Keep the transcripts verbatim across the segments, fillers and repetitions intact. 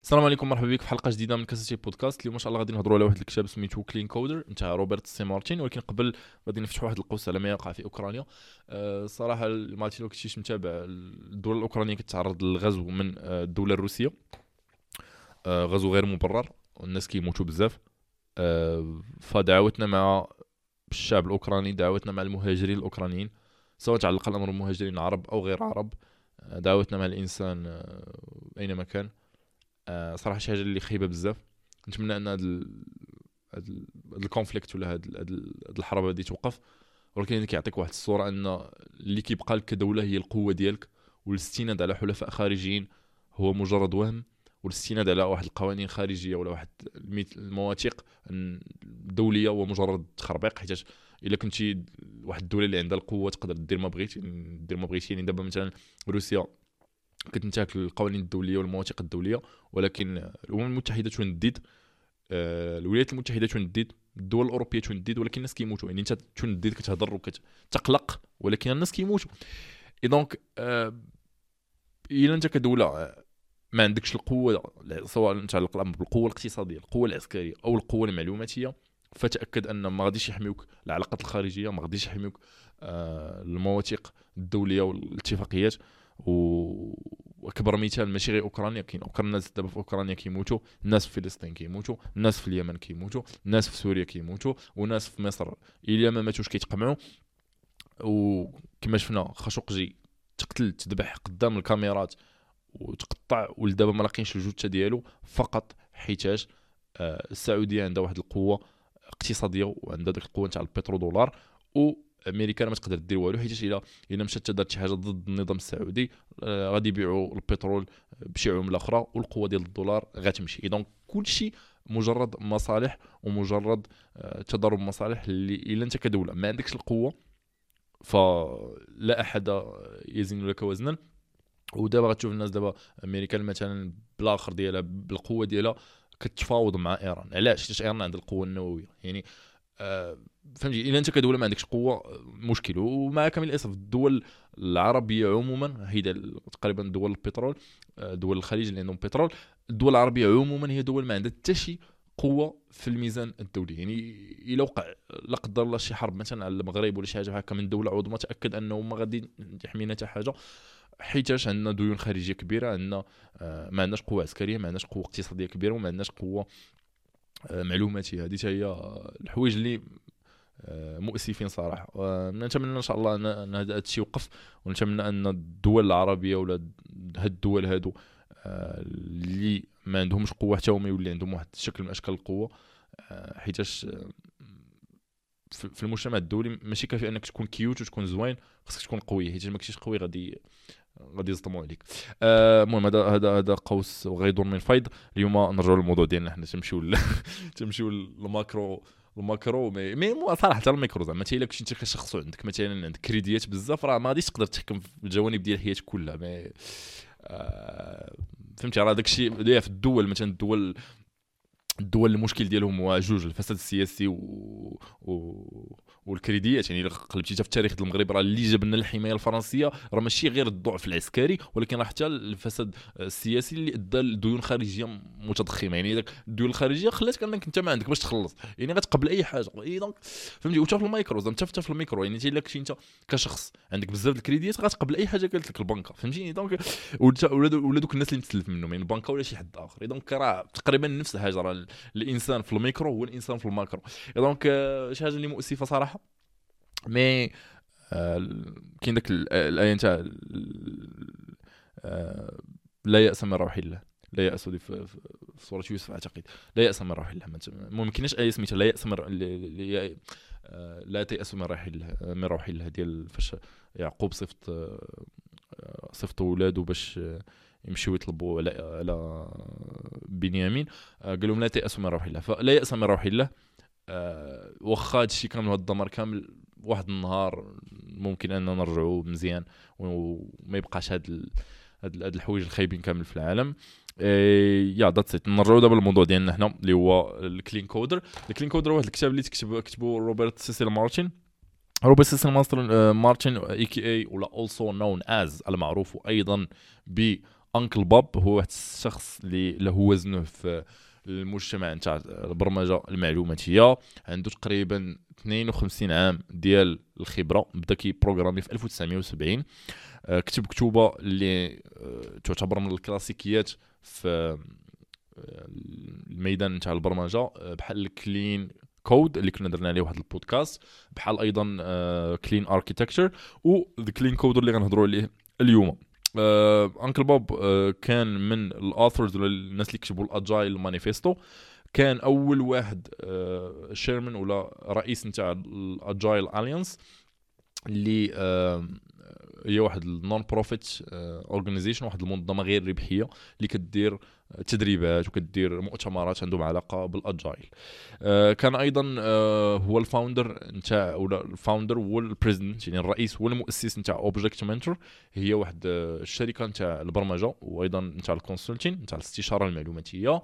السلام عليكم، مرحبا بك في حلقه جديده من كاسيتي بودكاست. اليوم ان شاء الله غادي نهضروا على واحد الكتاب سميتو كلين كودر نتاع روبرت سي مارتين، ولكن قبل غادي نفتحوا واحد القوس على ما يقع في اوكرانيا. أه صراحه مارتين لو كنتيش متابع، الدوله الاوكرانيه كتعرض للغزو من آه، الدوله الروسيه. أه غزو غير مبرر والناس كيموتوا بزاف. أه فدعوتنا مع الشعب الاوكراني، دعوتنا مع المهاجرين الاوكرانيين، سواء تعلق الامر بمهاجرين عرب او غير عرب. آه، دعوتنا مع الانسان آه، اينما كان. آه، صراحه شي حاجه اللي خايبه بزاف. نتمنى ان هاد ال... هاد ال... هاد الكونفليكت ولا هاد هاد ال- هاد الحرب هادي توقف، ولكن كيعطيك واحد الصوره ان اللي كيبقى لك كدوله هي القوه ديالك، والاستناد على حلفاء خارجيين هو مجرد وهم، والاستناد على واحد القوانين خارجيه ولا واحد الميت- المواثيق دوليه هو مجرد تخربيق. حيت الا كنتي واحد الدوله اللي عندها القوه تقدر دير ما بغيتي، دير ما بغيتي. يعني دابا مثلا روسيا كتنتهك القوانين الدوليه والمواثيق الدوليه، ولكن الامم المتحده تندد، آه، الولايات المتحده تندد، الدول الاوروبيه تندد، ولكن الناس كيموتوا. يعني انت تندد كتهضر وكتقلق، ولكن الناس كيموتوا. اي دونك آه، الا انت كدوله آه، ما عندكش القوه، سواء نتعلق الامر بالقوه الاقتصاديه، القوه العسكريه او القوه المعلوماتيه، فتاكد ان ما غاديش يحميوك العلاقات الخارجيه، ما غاديش يحميوك آه، المواثيق الدوليه والاتفاقيات. و واكبر مثال ماشي غير اوكرانيا، كاين اوكرانيا، الناس دابا في اوكرانيا كيموتوا، الناس في فلسطين كيموتوا، الناس في اليمن كيموتوا، الناس في سوريا كيموتوا، وناس في مصر الا ما ماتوش كيتقمعوا. وكما شفنا خاشقجي تقتل تذبح قدام الكاميرات وتقطع، ولدابا ما لاقينش الجثه ديالو، فقط حيتاش آه، السعوديه عندها واحد القوه اقتصاديه وعندها ديك القوه تاع البترو دولار، وامريكا ما تقدر دير والو. حيت الا الا مشات دارت شي حاجه ضد النظام السعودي، آه، غادي يبيعوا البترول بشي عمله اخرى والقوه ديال الدولار غتمشي. دونك كلشي مجرد مصالح ومجرد آه، تضارب مصالح، اللي الا انت كدوله ما عندكش القوه فلا احد يزن لك وزنا. ودابا غتشوف الناس دابا امريكا مثلا بالاخر ديالها بالقوه ديالها كتفاوض مع ايران. علاش؟ حيت ايران عندها القوه النوويه. يعني آه فهمتي، الا انت كدوله ما عندكش قوه آه، مشكل. ومع كامل الاسف الدول العربيه عموما هي دل- تقريبا دول البترول، آه، دول الخليج اللي عندهم بترول، الدول العربيه عموما هي دول ما عندها حتى شي قوه في الميزان الدولي. يعني الا وقع لا قدر الله شي حرب مثلا على المغرب ولا شي حاجه هكا من دوله عظمى، تاكد انه ما غادي يحمينا حتى حاجه، حيتاش عندنا ديون خارجيه كبيره، عندنا آه، ما عندناش قوه عسكريه، ما عندناش قوه اقتصاديه كبيره، وما عندناش قوه آه، معلوماتيه. هذه هي آه، الحوايج اللي آه، مؤسفين صراحه. ونتمنى ان شاء الله ان أن هذا الشيء يوقف، ونتمنى ان الدول العربيه ولا هاد الدول هادو آه، اللي ما عندهمش قوه حتى هما يولي عندهم واحد الشكل من اشكال القوه. آه، حيتاش آه، في في المجتمع الدولي ماشي كافي انك تكون كيوت وتكون زوين، خصك تكون قوي. حيت ما كنتيش قوي غادي غادي يصدموا عليك. آه، المهم هذا هذا هذا قوس وغيدور من فيض. اليوم نرجعوا للموضوع ديالنا، حنا تمشيو ل- تمشيو للماكرو. الماكرو مي مي مو صراحه حتى الميكرو، زعما انت الا كنتي انت كشخص عندك مثلا عندك كريديات بزاف، راه ما غاديش تقدر تحكم في الجوانب ديال حياتك كلها. مي آه فهمتي، راه داكشي اللي في الدول، مثلا الدول الدول المشكل ديالهم هو جوج: الفساد السياسي و... و... والكريديات. يعني الا قلبتي في التاريخ ديال المغرب، راه اللي جاب لنا الحمايه الفرنسيه راه ماشي غير الضعف العسكري، ولكن راه حتى الفساد السياسي اللي ادى لديون خارجيه متضخمه. يعني داك الديون الخارجيه خلاتك انك انت ما عندك باش تخلص، يعني غتقبل اي حاجه. اي دونك فهمتي. وتا في المايكرو، زعما حتى في الميكرو، يعني انت الا كنتي انت كشخص عندك بزاف د الكريديات غتقبل اي حاجه قالت لك البنكه، فهمتيني. دونك ولا ولا دوك الناس اللي متسلف منهم، يعني البنكه ولا شي حد اخر. دونك راه تقريبا نفس الحاجه، راه الانسان في الميكرو هو الانسان في الماكرو. دونك آه، شي حاجه اللي مؤسفه صراحه. مي آه، كاين داك ال- الايه نتاع آه، لا يأس من روح الله. لا يأس دي في, في, في سورة يوسف اعتقد. لا يأس من روح الله. ما ممكنش ايه سميتها لا يأس من ر- ل- ل- آه، لا تيأس من روح الله، من روح الله ديال فاش يعقوب صفت آه، صفت ولادو باش آه، يمشيو يطلبوا على على بنيامين. آه، قال لهم لا تيأسوا من روح الله. فلا يأس من روح الله. آه، واخا هادشي كامل، هاد الدمار كامل، واحد النهار ممكن اننا نرجعوا مزيان وما يبقاش هاد ال... هاد هاد الحوايج الخايبين كامل في العالم. إيه يا ذاتس ات. نرجعوا دابا للموضوع ديالنا هنا اللي هو الكلين كودر. الكلين كودر واحد الكتاب اللي تكتب كتبه روبرت سيسيل مارتن. روبرت سيسيل مارتن مارتن اي كي اي ولا also known as المعروف ايضا ب انكل بوب هو واحد الشخص اللي له وزنه في المجتمع نتاع البرمجه المعلوماتيه. عنده تقريبا اثنين وخمسين عام ديال الخبره، بدا كي بروغرامي في ألف وتسعمائة وسبعين. كتب كتوبه اللي تعتبر من الكلاسيكيات في الميدان نتاع البرمجه، بحال كلين كود اللي كنا درنا عليه واحد البودكاست، بحال ايضا كلين اركيتكتشر و ذا كلين كود اللي غنهضروا عليه اليوم. انكل بوب كان من الاثرز ولا الناس اللي كتبوا الاجايل مانيفيستو، كان اول واحد شيرمان ولا رئيس نتاع الاجايل اليانس اللي هي واحد النون بروفيت اورغانيزيشن، واحد المنظمه غير ربحيه اللي كدير تدريبات وكدير مؤتمرات عندهم علاقه بالاجايل. كان ايضا هو الفاوندر نتاع ولا الفاوندر هو البريزيدنت، يعني الرئيس والمؤسس نتاع اوبجكت منتور، هي واحد الشركه نتاع البرمجه وايضا نتاع الكونسلتين نتاع الاستشاره المعلوماتيه،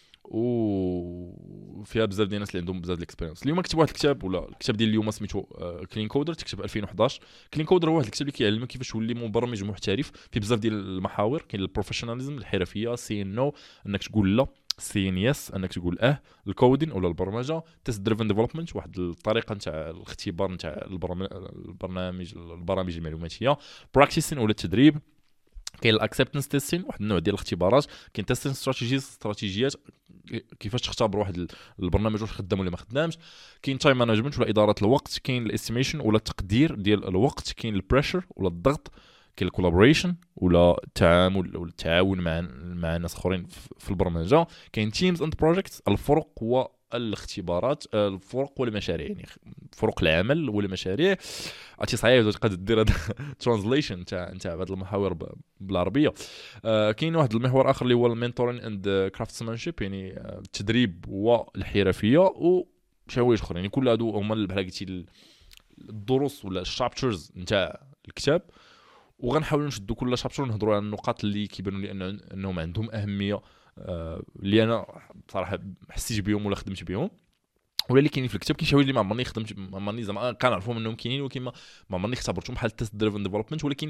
وفيها بزاف ديال الناس اللي عندهم بزاف الاكسبيرينس. اليوم كتب واحد الكتاب ولا الكتاب ديال اليوم سميتو كلين كودر، تكتب ألفين وحداش. كلين كودر هو واحد الكتاب اللي كيعلمك كيفاش تولي مبرمج محترف في بزاف ديال المحاور. كاين البروفيشناليزم، الحرفيه، سي نو انك تقول لا، سي ان يس انك تقول اه، الكودين ولا البرمجه، تيست دريفن ديفلوبمنت واحد الطريقه نتاع الاختبار نتاع البرنامج البرامج المعلوماتيه، براكتيسين ولا التدريب، كاين الاكسبتنس تيستين واحد النوع ديال الاختبارات، كاين تيستين استراتيجيز استراتيجيات كيفاش تختبر واحد البرنامج واش خدام ولا ما خدامش، كاين تايم مانجمنت ولا اداره الوقت، كاين الاستيميشن ولا التقدير ديال الوقت، كاين البريشر ولا الضغط، كاين الكولابوريشن ولا التعامل ولا التعاون مع مع ناس اخرين في البرمجه، كاين تيمز اند بروجيكتس، الفرق و الاختبارات، الفرق والمشاريع، يعني فرق العمل والمشاريع. عرفتي صعيب تقدر دير هذا ترانزليشن تاع تاع هذه المحاور بالعربيه. آه كاين واحد المحور اخر اللي هو المينتورين اند كرافتسمانشيب، يعني التدريب والحرفيه وشي حوايج اخرين. يعني كل هادو هما بحال قلتي الدروس ولا الشابترز نتاع الكتاب، وغنحاولوا نشدوا كل شابتر ونهضروا على النقاط اللي كيبانوا لي أن انهم عندهم اهميه، آه اللي انا بصراحه حسيت بهم ولا خدمت بهم، ولا اللي كاينين في الكتاب. كاين شي حوايج اللي ما عمرني خدمت، ما عمرني زعما كنعرفهم انهم كاينين، ولكن ما عمرني اختبرتهم بحال التيست دريفن ديفلوبمنت. ولكن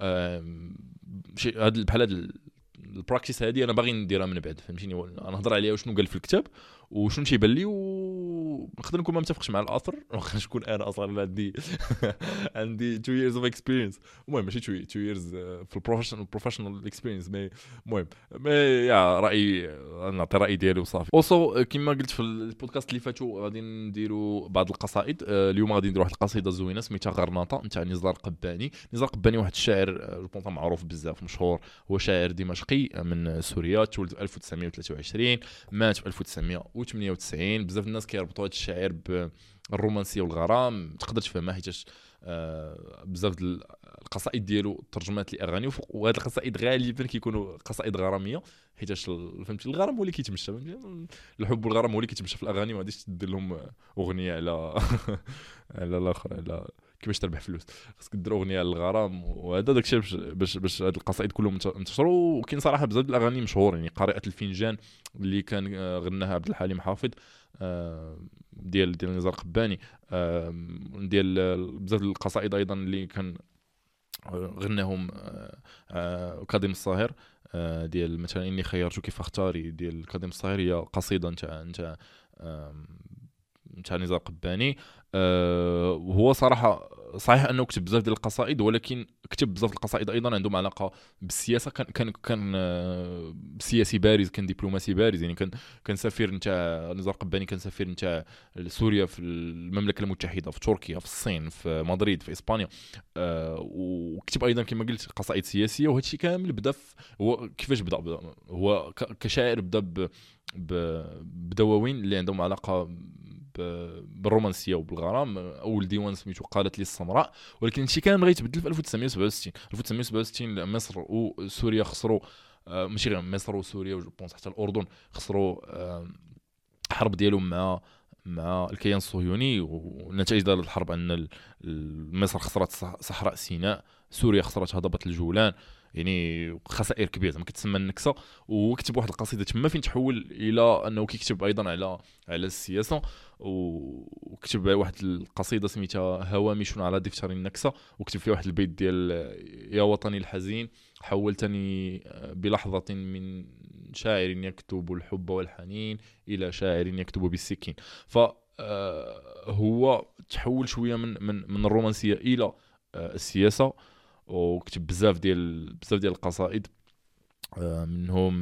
شي هاد بحال هاد البراكتيس هذه انا باغي نديرها من بعد، فهمتيني؟ انا نهضر عليها وشنو قال في الكتاب وشنو تيبان لي، ونقدر نكون ما متفقش مع الاثر، واخا نكون انا اصلا عندي عندي two years of experience. المهم ماشي two years في البروفيشنال بروفيشنال اكسبيرينس، مي المهم مي يا رايي نعطي رايي ديالي وصافي. اوسو كما قلت في البودكاست اللي فاتوا غادي نديروا بعض القصائد. اليوم غادي نديروا واحد القصيده زوينه سميتها غرناطه نتاع نزار قباني. نزار قباني واحد الشاعر جو بونطا معروف بزاف مشهور، هو شاعر دمشقي من سوريا، تولد في ألف وتسعمائة وثلاثة وعشرين، مات في ألف وتسعمائة وثمانية وتسعين. بزاف الناس كيربطوا هذا الشاعر بالرومانسيه والغرام، تقدر تفهمها حيتاش آه بزاف القصائد ديالو ترجمات لاغاني، وهاد القصائد غالبا كيكونوا قصائد غراميه، حيتاش فهمتي الغرام هو اللي كيتمشى، الحب والغرام هو اللي كيتمشى في الاغاني، ما غاديش دير لهم اغنيه على على الاخر على كيفاش تربح فلوس، خاصك دير اغنيه على الغرام. وهذا داكشي باش باش باش هاد القصائد كلهم انتشروا. وكاين صراحه بزاف د الاغاني مشهور، يعني قارئة الفنجان اللي كان غناها عبد الحليم حافظ ديال ديال نزار قباني، ديال بزاف القصائد ايضا اللي كان غناهم كاظم الصاهر، ديال مثلا اني خيرتك فاختاري ديال كاظم الصاهر، هي قصيده نتاع نتاع نتاع نزار قباني. وهو صراحه صحيح انه كتب بزاف ديال القصائد، ولكن كتب بزاف القصائد ايضا عندهم علاقه بالسياسه. كان كان كان سياسي بارز، كان دبلوماسي بارز، يعني كان كان سفير نتاع نزار قباني، كان سفير نتاع سوريا في المملكه المتحده، في تركيا، في الصين، في مدريد، في اسبانيا. وكتب ايضا كما قلت قصائد سياسيه. وهذا الشيء كامل بدا هو كيفاش بدا, بدا هو كشاعر بدا بدواوين اللي عندهم علاقه بالرومانسيه وبالغرام. اول ديوان سميتو قالت لي السمراء، ولكن هادشي كامل غيتبدل في ألف وتسعمائة وسبعة وستين. ألف وتسعمائة وسبعة وستين مصر وسوريا خسروا، ماشي غير مصر وسوريا وجوبونس حتى الاردن خسروا حرب ديالهم مع مع الكيان الصهيوني. ونتائج ديال الحرب ان مصر خسرت صحراء سيناء، سوريا خسرت هضبه الجولان، يعني خسائر كبيره زعما كتسمى النكسه. وكتب واحد القصيده تما فين تحول الى انه كيكتب ايضا على على السياسه. وكتب واحد القصيده سميتها هوامش على دفتر النكسه، وكتب فيها واحد البيت ديال يا وطني الحزين حولتني بلحظة من شاعر يكتب الحب والحنين إلى شاعر يكتب بالسكين. فهو تحول شوية من من من الرومانسية إلى السياسة، وكتب بزاف ديال بزاف ديال القصائد، منهم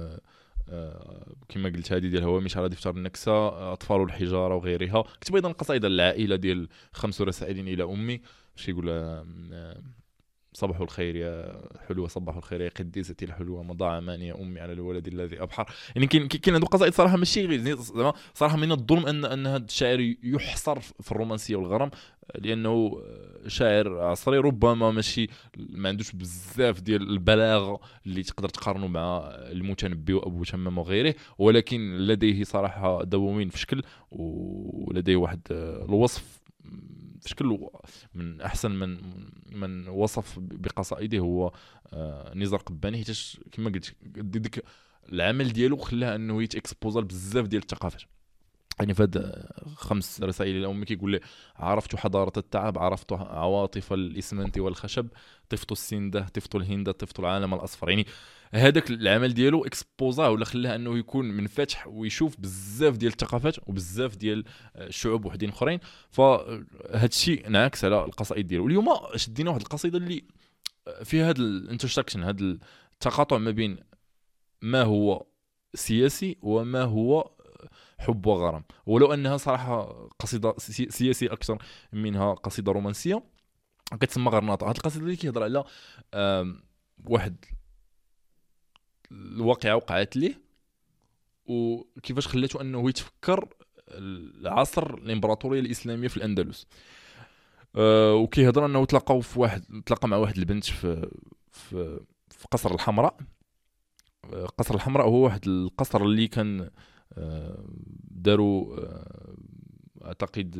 كما قلت هذه ديال هوامش على دفتر النكسة، أطفال الحجارة وغيرها. كتب أيضا قصائد العائلة ديال خمس رسائل إلى أمي، شي يقول صباح الخير يا حلوة، صباح الخير يا قديستي الحلوة، مضى عمان يا أمي على الولد الذي أبحر. يعني كاين كاين هذو قصائد صراحة ماشي غير صراحة من الظلم أن أن هذا الشاعر يحصر في الرومانسية والغرام، لأنه شاعر عصري ربما ماشي ما عندوش بزاف ديال البلاغة اللي تقدر تقارنه مع المتنبي وأبو تمام وغيره، ولكن لديه صراحة دواوين في شكل، ولديه واحد الوصف في شكل من احسن من من وصف بقصائده هو نزار قباني، حيت كما قلت ديك العمل ديالو خلاه انه يتاكسبوزا بزاف ديال الثقافات. يعني فهاد خمس رسائل الى امي كيقول لي: عرفت حضاره التعب، عرفت عواطف الاسمنت والخشب، طفت السنده، طفت الهند، طفت العالم الاصفر. يعني هذاك العمل ديالو اكسبوزا ولا خلاه انه يكون منفتح ويشوف بزاف ديال الثقافات وبزاف ديال الشعوب وحدين اخرين. فهاد الشيء انعكس على القصائد ديالو. اليوم شدينا واحد القصيده اللي فيها هاد الانترسكشن، هاد التقاطع ما بين ما هو سياسي وما هو حب وغرام، ولو انها صراحه قصيده سياسيه اكثر منها قصيده رومانسيه، كتسمى غرناطه. هاد القصيده اللي كيهضر على واحد الواقعه وقعت ليه وكيفاش خلاته انه يتفكر العصر الامبراطوريه الاسلاميه في الاندلس. أه وكيهضر انه تلاقاو في واحد تلاقى مع واحد البنت في في في قصر الحمراء. قصر الحمراء هو واحد القصر اللي كان داروا اعتقد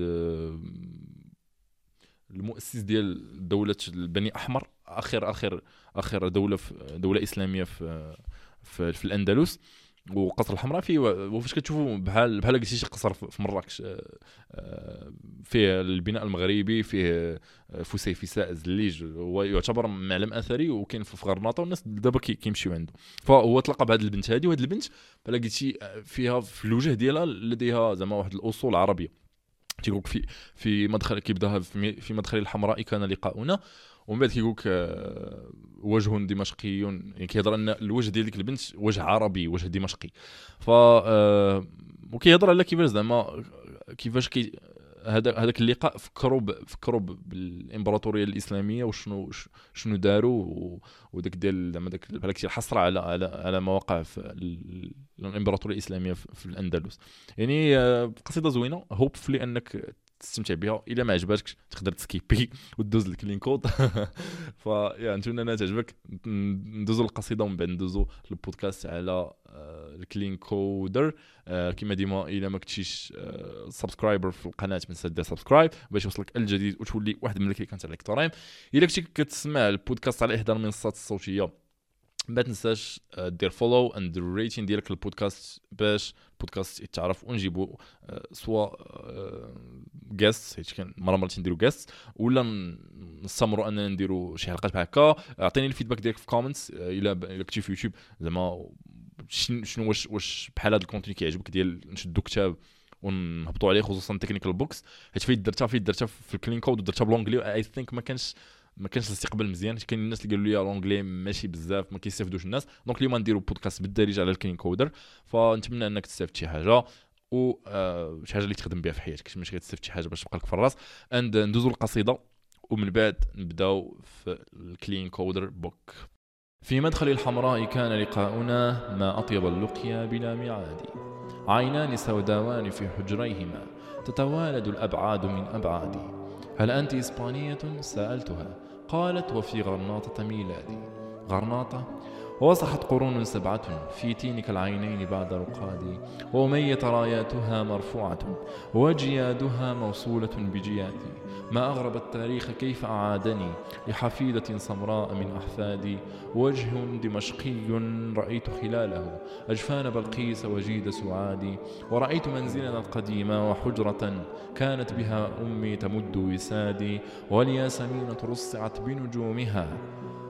المؤسس ديال دوله البني احمر، اخر اخر اخر دوله في دوله اسلاميه في في, في الاندلس. وقصر الحمراء فيه وفاش كتشوفوا بحال بحال قلتي شي قصر في مراكش، فيه البناء المغربي، فيه فسيفساء زليج، هو يعتبر معلم اثري وكاين في غرناطه والناس دابا كيمشيو عنده. فهو تلقى بهذه البنت هذه، وهذه البنت بحال قلتي فيها في الوجه ديالها لديها زعما واحد الاصول عربيه. تيقول في في مدخل كيبداها في مدخل الحمراء كان لقاؤنا، ومن بعد كيقولك وجه دمشقي، يعني كيهضر ان الوجه ديال ديك البنت وجه عربي، وجه دمشقي. ف وكيهضر على كيفاش زعما كيفاش كي هذا هذاك اللقاء فكروا فكروا بالامبراطوريه الاسلاميه وشنو شنو داروا، وداك ديال زعما داك بحال كثير حصر على على على مواقع في الامبراطوريه الاسلاميه في الاندلس. يعني قصيده زوينه، هوبفلي انك تستمتع بها. الا ما عجباتكش تقدر تسكيبي وتدوز الكلين كود. فيا نتمنى انها تعجبك. ندوزو القصيده ومن بعد ندوزو البودكاست على الكلين كودر. كما ديما الا ما كنتيش سبسكرايبر في القناه ما تنسى دير سبسكرايب باش يوصلك الجديد وتولي واحد من اللي كانت عليك ترايم. الا كنتي كتسمع البودكاست على احدى المنصات الصوتيه ما تنساش دير فولو اند ريتين ديالك البودكاست باش البودكاست يتعرف ونجيبوا سواء غيست، حيت كان مره مرتين نديروا غيست، ولا نستمروا اننا نديروا شي حلقات بحال هكا. اعطيني الفيدباك ديالك في كومنتس الا الا كنتي في يوتيوب زعما شنو واش واش بحال هذا الكونتوني كيعجبك ديال نشدوا كتاب ونهبطوا عليه، خصوصا تكنيكال بوكس، حيت فايت درتها فايت درتها في الكلين كود ودرتها بالونجلي. اي ثينك ما كانش ما كانش الاستقبال مزيان، كاين الناس اللي قالوا لي لونجلي ماشي بزاف ما كيستافدوش الناس. دونك اليوم نديروا بودكاست بالدارجه على الكلين كودر، فنتمنى انك تستافد شي حاجه و آه شي حاجه اللي تخدم بها في حياتك، ماشي غتستافد شي حاجه باش تبقى لك في الراس. اند ندوزوا القصيده ومن بعد نبداو في الكلين كودر بوك. في مدخل الحمراء كان لقاؤنا، ما أطيب اللقيا بلا ميعاد. عينان سوداوان في حجريهما، تتوالد الأبعاد من أبعادي. هل أنت إسبانية؟ سألتها، قالت وفي غرناطة ميلادي. غرناطة؟ وصحت قرون سبعة في تينك العينين بعد رقادي، وأمية راياتها مرفوعة وجيادها موصولة بجيادي. ما أغرب التاريخ كيف أعادني لحفيدة سمراء من أحفادي. وجه دمشقي رأيت خلاله أجفان بلقيس وجيد سعادي. ورأيت منزلنا القديم وحجرة كانت بها أمي تمد وسادي، والياسمين رصعت بنجومها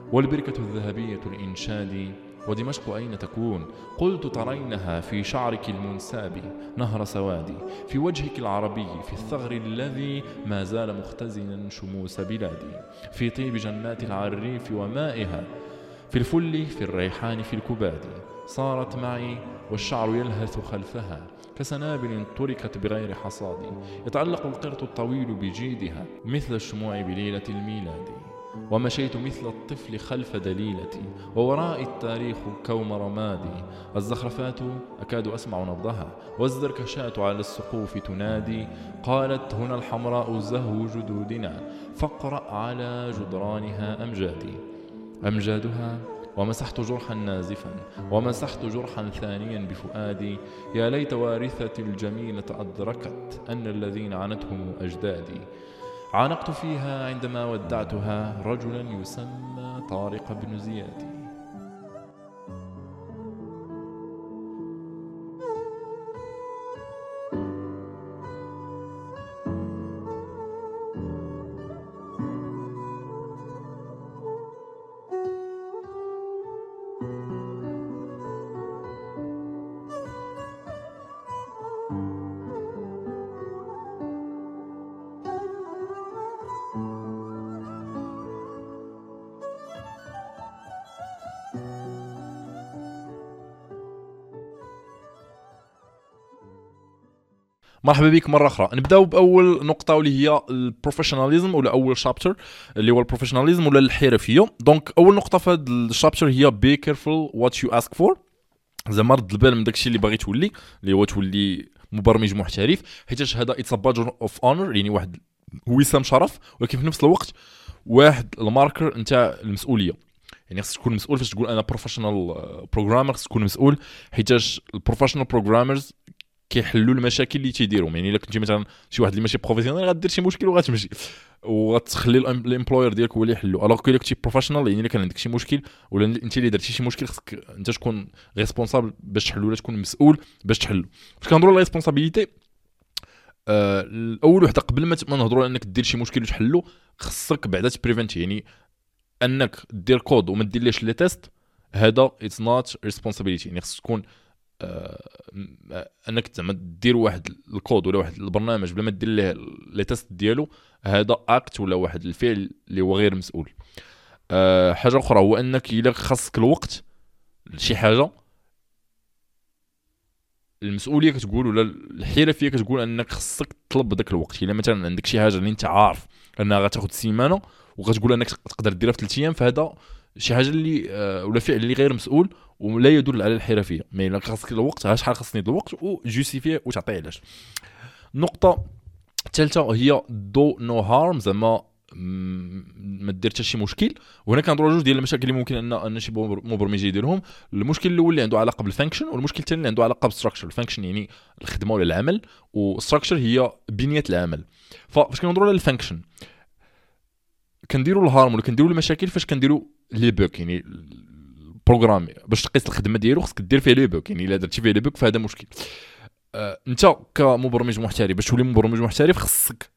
والبركة الذهبية الإنشاد ودمشق أين تكون؟ قلت ترينها في شعرك المنساب نهر سوادي، في وجهك العربي، في الثغر الذي ما زال مختزنا شموس بلادي، في طيب جنات العريف ومائها، في الفل، في الريحان، في الكباد. صارت معي والشعر يلهث خلفها كسنابل تركت بغير حصاد، يتعلق القرط الطويل بجيدها مثل الشموع بليلة الميلاد. ومشيت مثل الطفل خلف دليلتي ووراء التاريخ كوم رمادي، الزخرفات أكاد أسمع نبضها والزركشات على السقوف تنادي، قالت هنا الحمراء زهو جدودنا فاقرأ على جدرانها أمجادي. أمجادها ومسحت جرحا نازفا ومسحت جرحا ثانيا بفؤادي، يا ليت وارثتي الجميلة أدركت أن الذين عنتهم أجدادي. عانقت فيها عندما ودعتها رجلا يسمى طارق بن زياد. مرحبا بك مره اخرى. نبداو باول نقطه واللي هي البروفيشناليزم ولا اول شابتر اللي هو البروفيشناليزم ولا الحرفيه. دونك اول نقطه في هذا الشابتر هي بي كيرفول وات يو اسك فور، زعما رد البال من داكشي اللي باغي تولي، اللي هو تولي مبرمج محترف، حيت هذا اتس بادج اوف اونر، يعني واحد وسام شرف، ولكن في نفس الوقت واحد الماركر نتاع المسؤوليه. يعني خصك تكون مسؤول فاش تقول انا بروفيشنال بروغرامر، خصك تكون مسؤول حيت البروفيشنال بروغرامرز كيحلوا المشاكل اللي تيديرهم. يعني الا كنتي مثلا شي واحد اللي ماشي بروفيسيونيل غدير شي مشكل وغتمشي وغتخلي الامبلوير ديالك هو اللي يحلو. الوغ كو كنتي بروفيشنال، يعني الا كان عندك شي مشكل ولا انت اللي درتي شي مشكل، خصك انت تكون ريسبونسابل باش تحلو، ولا تكون مسؤول باش تحلو. فاش كنهضروا على ريسبونسابيلتي، آه الاول وحده قبل ما نهضروا على انك دير شي مشكل وتحلو، خصك بعدا تبريفنت، يعني انك دير كود وما ديرليش لي تيست، هذا اتس نوت ريسبونسابيلتي. يعني خصك تكون آه انك زعما دير واحد الكود ولا واحد البرنامج بلا ما دير ليه لي تيست ديالو، هذا اكت ولا واحد الفعل اللي هو غير مسؤول. أه حاجه اخرى هو انك الا خاصك الوقت لشي حاجه، المسؤوليه كتقول ولا الحرفيه كتقول انك خاصك تطلب داك الوقت. الا مثلا عندك شي حاجه اللي انت عارف انها غتاخذ سيمانه وغتقول انك تقدر ديرها في ثلاث ايام، فهذا شي حاجه اللي أه ولا فعل اللي غير مسؤول ولا يدل على الحرفيه. مي الا خاصك الوقت، شحال خاصني الوقت وجوستيفي وتعطي علاش. النقطه الثالثه هي دو نو هارم، زعما ما دير حتى شي مشكل. وهنا كنهضروا جوج ديال المشاكل اللي ممكن ان ان شي مبرمج يديرهم. المشكل الاول اللي عنده علاقه بالفانكشن، والمشكل الثاني اللي عنده علاقه بالستراكشر. الفانكشن يعني الخدمه ولا العمل، والستراكشر هي بنيه العمل. فاش كنهضروا على الفانكشن كنديروا الهارم ولا كنديروا المشاكل فاش كنديروا لي بوك، يعني بروغرام باش تقيس الخدمه ديالو خصك دير فيه لي بوك. يعني الا درتي فيه لي بوك فهذا مشكل. آه، انت كمبرمج محترف باش تولي مبرمج محترف خصك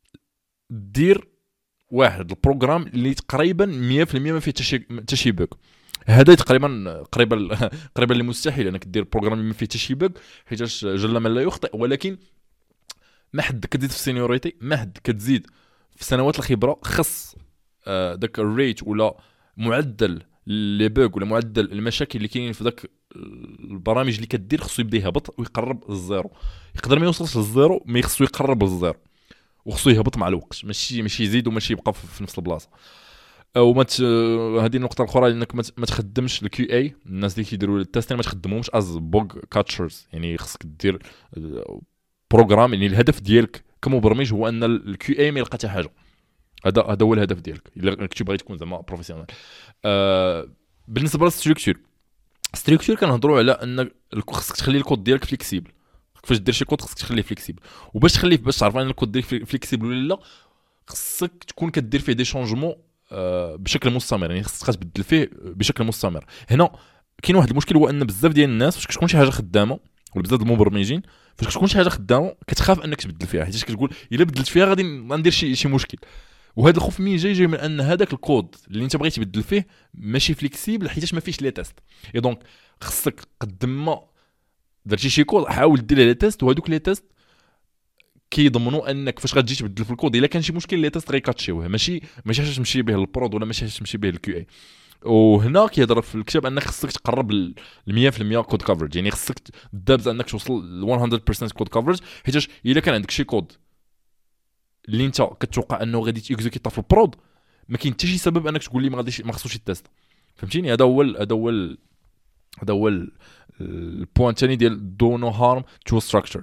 دير واحد البروغرام اللي تقريبا مية في المية ما فيه حتى شي بوك. هذا تقريبا قريبا قريبا لمستحيل انك دير بروغرام اللي ما فيه حتى شي بوك، حيت جل من لا يخطئ. ولكن ما حد كتزيد في السينيوريتي، ما حد كتزيد في سنوات الخبره، خص آه داك الريت ولا معدل لي بوغ ولا معدل المشاكل اللي كاينين في داك البرامج اللي كدير خصو يبدا يهبط ويقرب للزيرو. يقدر ما يوصلش للزيرو، مي خصو يقرب للزيرو وخصو يهبط مع الوقت، ماشي ماشي يزيد وماشي يبقى في نفس البلاصه. وما هذه النقطه الاخرى انك ما تخدمش الكيو اي. الناس اللي كيديروا التيست ما تخدمهمش از بوغ كاتشرز، يعني خصك دير بروغرام. يعني الهدف ديالك كمبرمج هو ان الكيو اي ما يلقى حتى حاجه. هذا هذا هو الهدف ديالك الا كنتي باغي تكون زعما بروفيسيونيل. آه بالنسبه للستركتور، ستركتور كنهضروا على ان خصك تخلي الكود ديالك فليكسيبل. فاش دير شي كود خصك تخليه فليكسيبل، وباش تخليه باش تعرف ان الكود ديالك فليكسيبل ولا لا، خصك تكون كدير فيه دي شونجمون آه بشكل مستمر. يعني خصك تبدل فيه بشكل مستمر. هنا كاين واحد المشكل، هو ان بزاف ديال الناس فاش كتكون شي حاجه خدامه، ولا بزاف المبرمجين فاش كتكون شي حاجه خدامه كتخاف انك تبدل فيها، حيت كتقول الا بدلت فيها غادي ندير شي شي مشكل. وهذا الخوف مين جاي جاي من ان هذاك الكود اللي انت بغيتي تبدل فيه ماشي فليكسيبل حيتاش ما فيش لي تيست. اي دونك خصك قد ما درتي شي كود حاول دير لي تيست، وهذوك لي تيست كيضمنوا انك فاش غتجي تبدل في الكود الا كان شي مشكل لي تيست غيكاتشيوه، ماشي ماشي حاجه تمشي به للبرود ولا ماشي حاجه تمشي به للكيو اي. وهنا كيهضر في الكتاب انك خصك تقرب ل مية في المية كود كفرج، يعني خصك دابز انك توصل ل مية بالمية كود كفرج، حيتاش الا كان عندك شي كود اللي انت كتوقع انه غادي تيكزيكيطا في البرود ما كاين حتى شي سبب انك تقول لي ما غاديش ما خصوش التيست. فهمتيني؟ هذا هو هذا هو هذا هو البوين الثاني ديال دو نو هارم تو ستراكشر.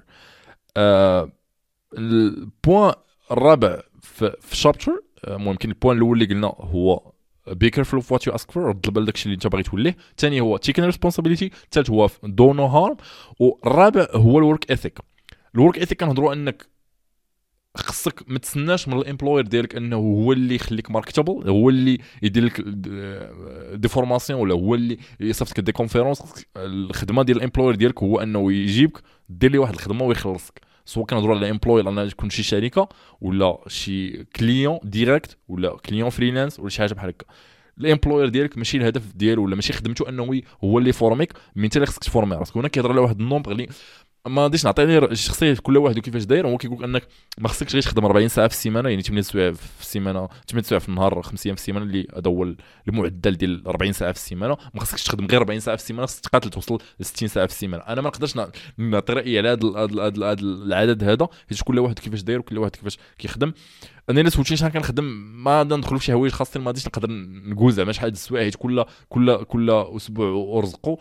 البوين الرابع في الشابتر ممكن البوين الاول اللي قلنا هو be careful of what you ask for، رد البال داكشي اللي انت باغي توليه. الثاني هو taking responsibility، الثالث هو do no harm، والرابع هو الورك ايثيك. الورك ايثيك كنهضروا انك خصك ما تسناش من الامبلوير ديالك انه هو اللي يخليك ماركتابل، هو اللي يدير لك دي فورماسيون ولا هو اللي يصيفط لك دي كونفيرونس. الخدمه ديال الامبلوير ديالك هو انه يجيبك دير لي واحد الخدمه ويخلصك، سواء كنهضروا على امبلوير انا تكون شي شركه ولا شي كليون ديريكت ولا كليون فريلانس ولا شي حاجه بحال هكا. الامبلوير ديالك ماشي الهدف ديالو ولا ماشي خدمته انه هو اللي فورميك، من انت اللي خصك تفورمي راسك. هنا كيهضر على واحد النومبر اللي ما غاديش نعطي غير الشخصيه كل واحد وكيفاش داير. هو كيقول انك ما خصكش غير تخدم أربعين ساعه في السيمانه، يعني ثمانية سوايع في السيمانه، ثمانية سوايع في النهار، خمس ايام في السيمانه، اللي هذا هو المعدل ديال أربعين ساعه في السيمانه. ما خصكش تخدم غير أربعين ساعه في السيمانه، خصك تقاتل توصل ل ستين ساعه في السيمانه. انا ما نقدرش نعطي رايي على هذا العدد هذا، حيت كل واحد كيفاش داير وكل واحد كيفاش كيخدم. انا الا سولتيني شحال كنخدم ما ندخلوا في شي حوايج خاصين، ما غاديش نقدر نقول زعما شحال السوايع، حيت كل كل كل اسبوع ورزقوا.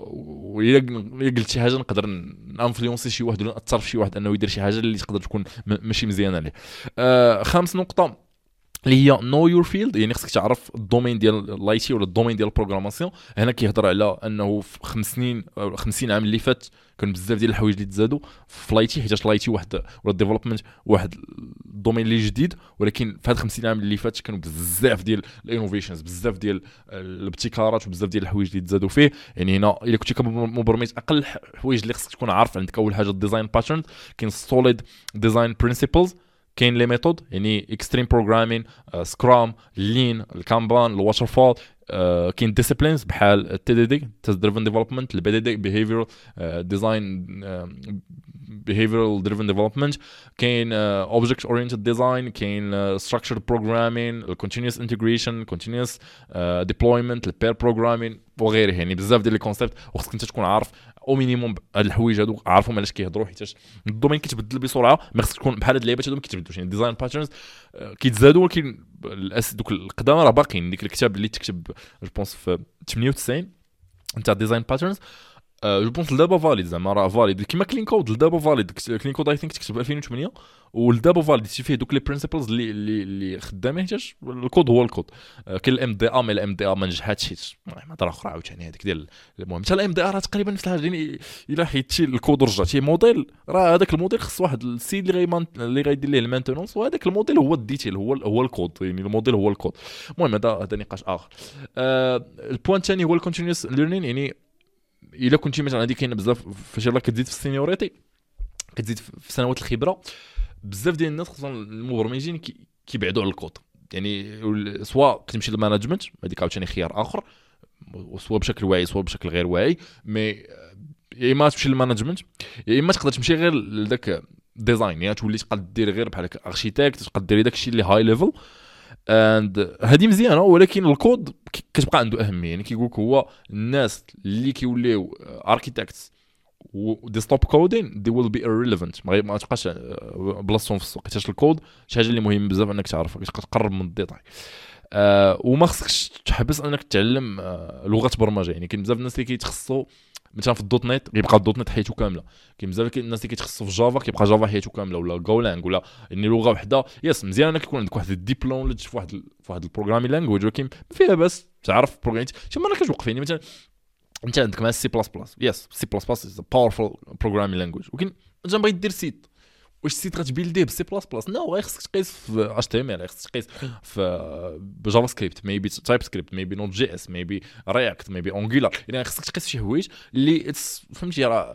وإلا قلت شي حاجه نقدر نانفلونسي شي واحد ولا ناثر في شي واحد انه يدير شي حاجه اللي تقدر تكون ماشي مزيانه ليه. آه خامس نقطه اللي هي نو يور فيلد، يعني خصك تعرف الدومين ديال الاي تي ولا الدومين ديال البروغراماسيون. هنا كيهضر على انه في خمس سنين او خمسين عام اللي فات كان بزاف ديال الحوايج اللي تزادوا في الاي تي، حيت الاي تي واحد ولا الديفلوبمنت واحد الدومين اللي جديد، ولكن في هاد خمسين عام اللي فات كانوا بزاف ديال الانوفيشنز، بزاف ديال الابتكارات وبزاف ديال الحوايج اللي تزادوا فيه. يعني هنا الا كنتي كمبرمج اقل حوايج اللي خصك تكون عارف عندك اول حاجه الديزاين باترن، كاين سوليد ديزاين برينسيبلز، كاين لي ميثود يعني اكستريم بروغرامين، سكرام، لين، الكانبان، الواتر فول. Uh, كاين ديسيبلينز بحال التي دي دي تيست دريفن ديفلوبمنت، البي دي دي بيهيفيرال ديزاين بيهيفيرال دريفن ديفلوبمنت، كاين اوبجكت اورينتد ديزاين، كاين ستراكشرد بروغرامين، الكونتينيوس انتجريشن، كونتينيوس ديبلويمنت، البير بروغرامين وغيره. يعني بزاف ديال لي كونسيبت وخصك انت تكون عارف او مينيموم هاد الحوايج هادو عارفهم علاش كيهضروا، حيت الدومين كيتبدل بسرعه. ما خصك تكون بحال هاد اللعيبات هادو ما كيتبدلوش، يعني ديزاين باترنز كيتزادوا ولكن الأس دوك القدام راه باقيين. ديك الكتاب اللي تكتب جو بونس في ثمانية وتسعين نتاع ديزاين باترنز جو بونس لدابا فاليد، زعما راه فاليد كيما كلين كود. لدابا فاليد كلين كود اي ثينك تكتب في ألفين وثمانية ولدابا فاليد فيه دوك لي برينسيبلز اللي اللي اللي خدامين، حيت الكود هو الكود. كاين الام دي ا، مي الام دي ا ما نجحاتش، حيت ما هضره اخرى عاوتاني هذيك ديال. المهم حتى الام دي ا راه تقريبا نفس الحاجه، يعني الا حيدتي الكود ورجعتي موديل راه هذاك الموديل خص واحد السيد اللي غي اللي غيدير ليه المانتينونس، وهذاك الموديل هو الديتيل هو هو الكود، يعني الموديل هو الكود. المهم هذا هذا نقاش اخر. آه البوينت الثاني هو الكونتينيوس ليرنين. يعني الا كنتي مثلا هذه كاينه بزاف فاش يلاه كتزيد في السينيوريتي، كتزيد في سنوات الخبره، بزاف ديال الناس خصوصا المبرمجين كيبعدوا على الكود. يعني سواء كتمشي للمانجمنت هذيك عاوتاني خيار اخر، سواء بشكل واعي سواء بشكل غير واعي. مي يا اما تمشي للمانجمنت يا اما تقدر تمشي غير لذاك ديزاين، يعني تولي تقدر دير غير بحال هكا اركيتكت، تقدر دير داك الشيء اللي هاي ليفل اند هذه مزيانه. ولكن الكود كتبقى عنده اهميه. يعني كيقولك هو الناس اللي كيوليو اركيتكتس ودي ستوب كودين دي ويل بي irrelevant، ما تبقاش بلاصتهم في السوق، حيت الكود شي حاجه اللي مهم بزاف انك تعرفها، تقرب من الديتاي. أه وما خصكش تحبس انك تتعلم أه لغه برمجه. يعني كاين بزاف الناس اللي كيتخصصوا مثلا في الدوت نت كيبقى الدوت نت حياته كامله، كاين بزاف الناس اللي كيتخصصوا في جافا كيبقى جافا حياته كامله، ولا جولانج ولا يعني لغه وحده. يس مزيان انك يكون عندك واحد الديبلوم في واحد في واحد البروغرامي لانجويج، ولكن فيها بس تعرف بروغرامي شي مره كتوقف. يعني مثلا انت عندك مع سي بلس بلس، يس سي بلس بلس از باورفul بروغرامي لانجويج، ولكن انت بغيت دير سيت، واش السيت غتبيلديه بسي بلس بلس؟ نو غير خصك تقيس في اتش تي ام ال، خصك تقيس في بجافا سكريبت، ميبي تايب سكريبت، ميبي نوت جي اس، ميبي رياكت، ميبي انجولار. يعني خصك تقيس شي حوايج اللي فهمتي راه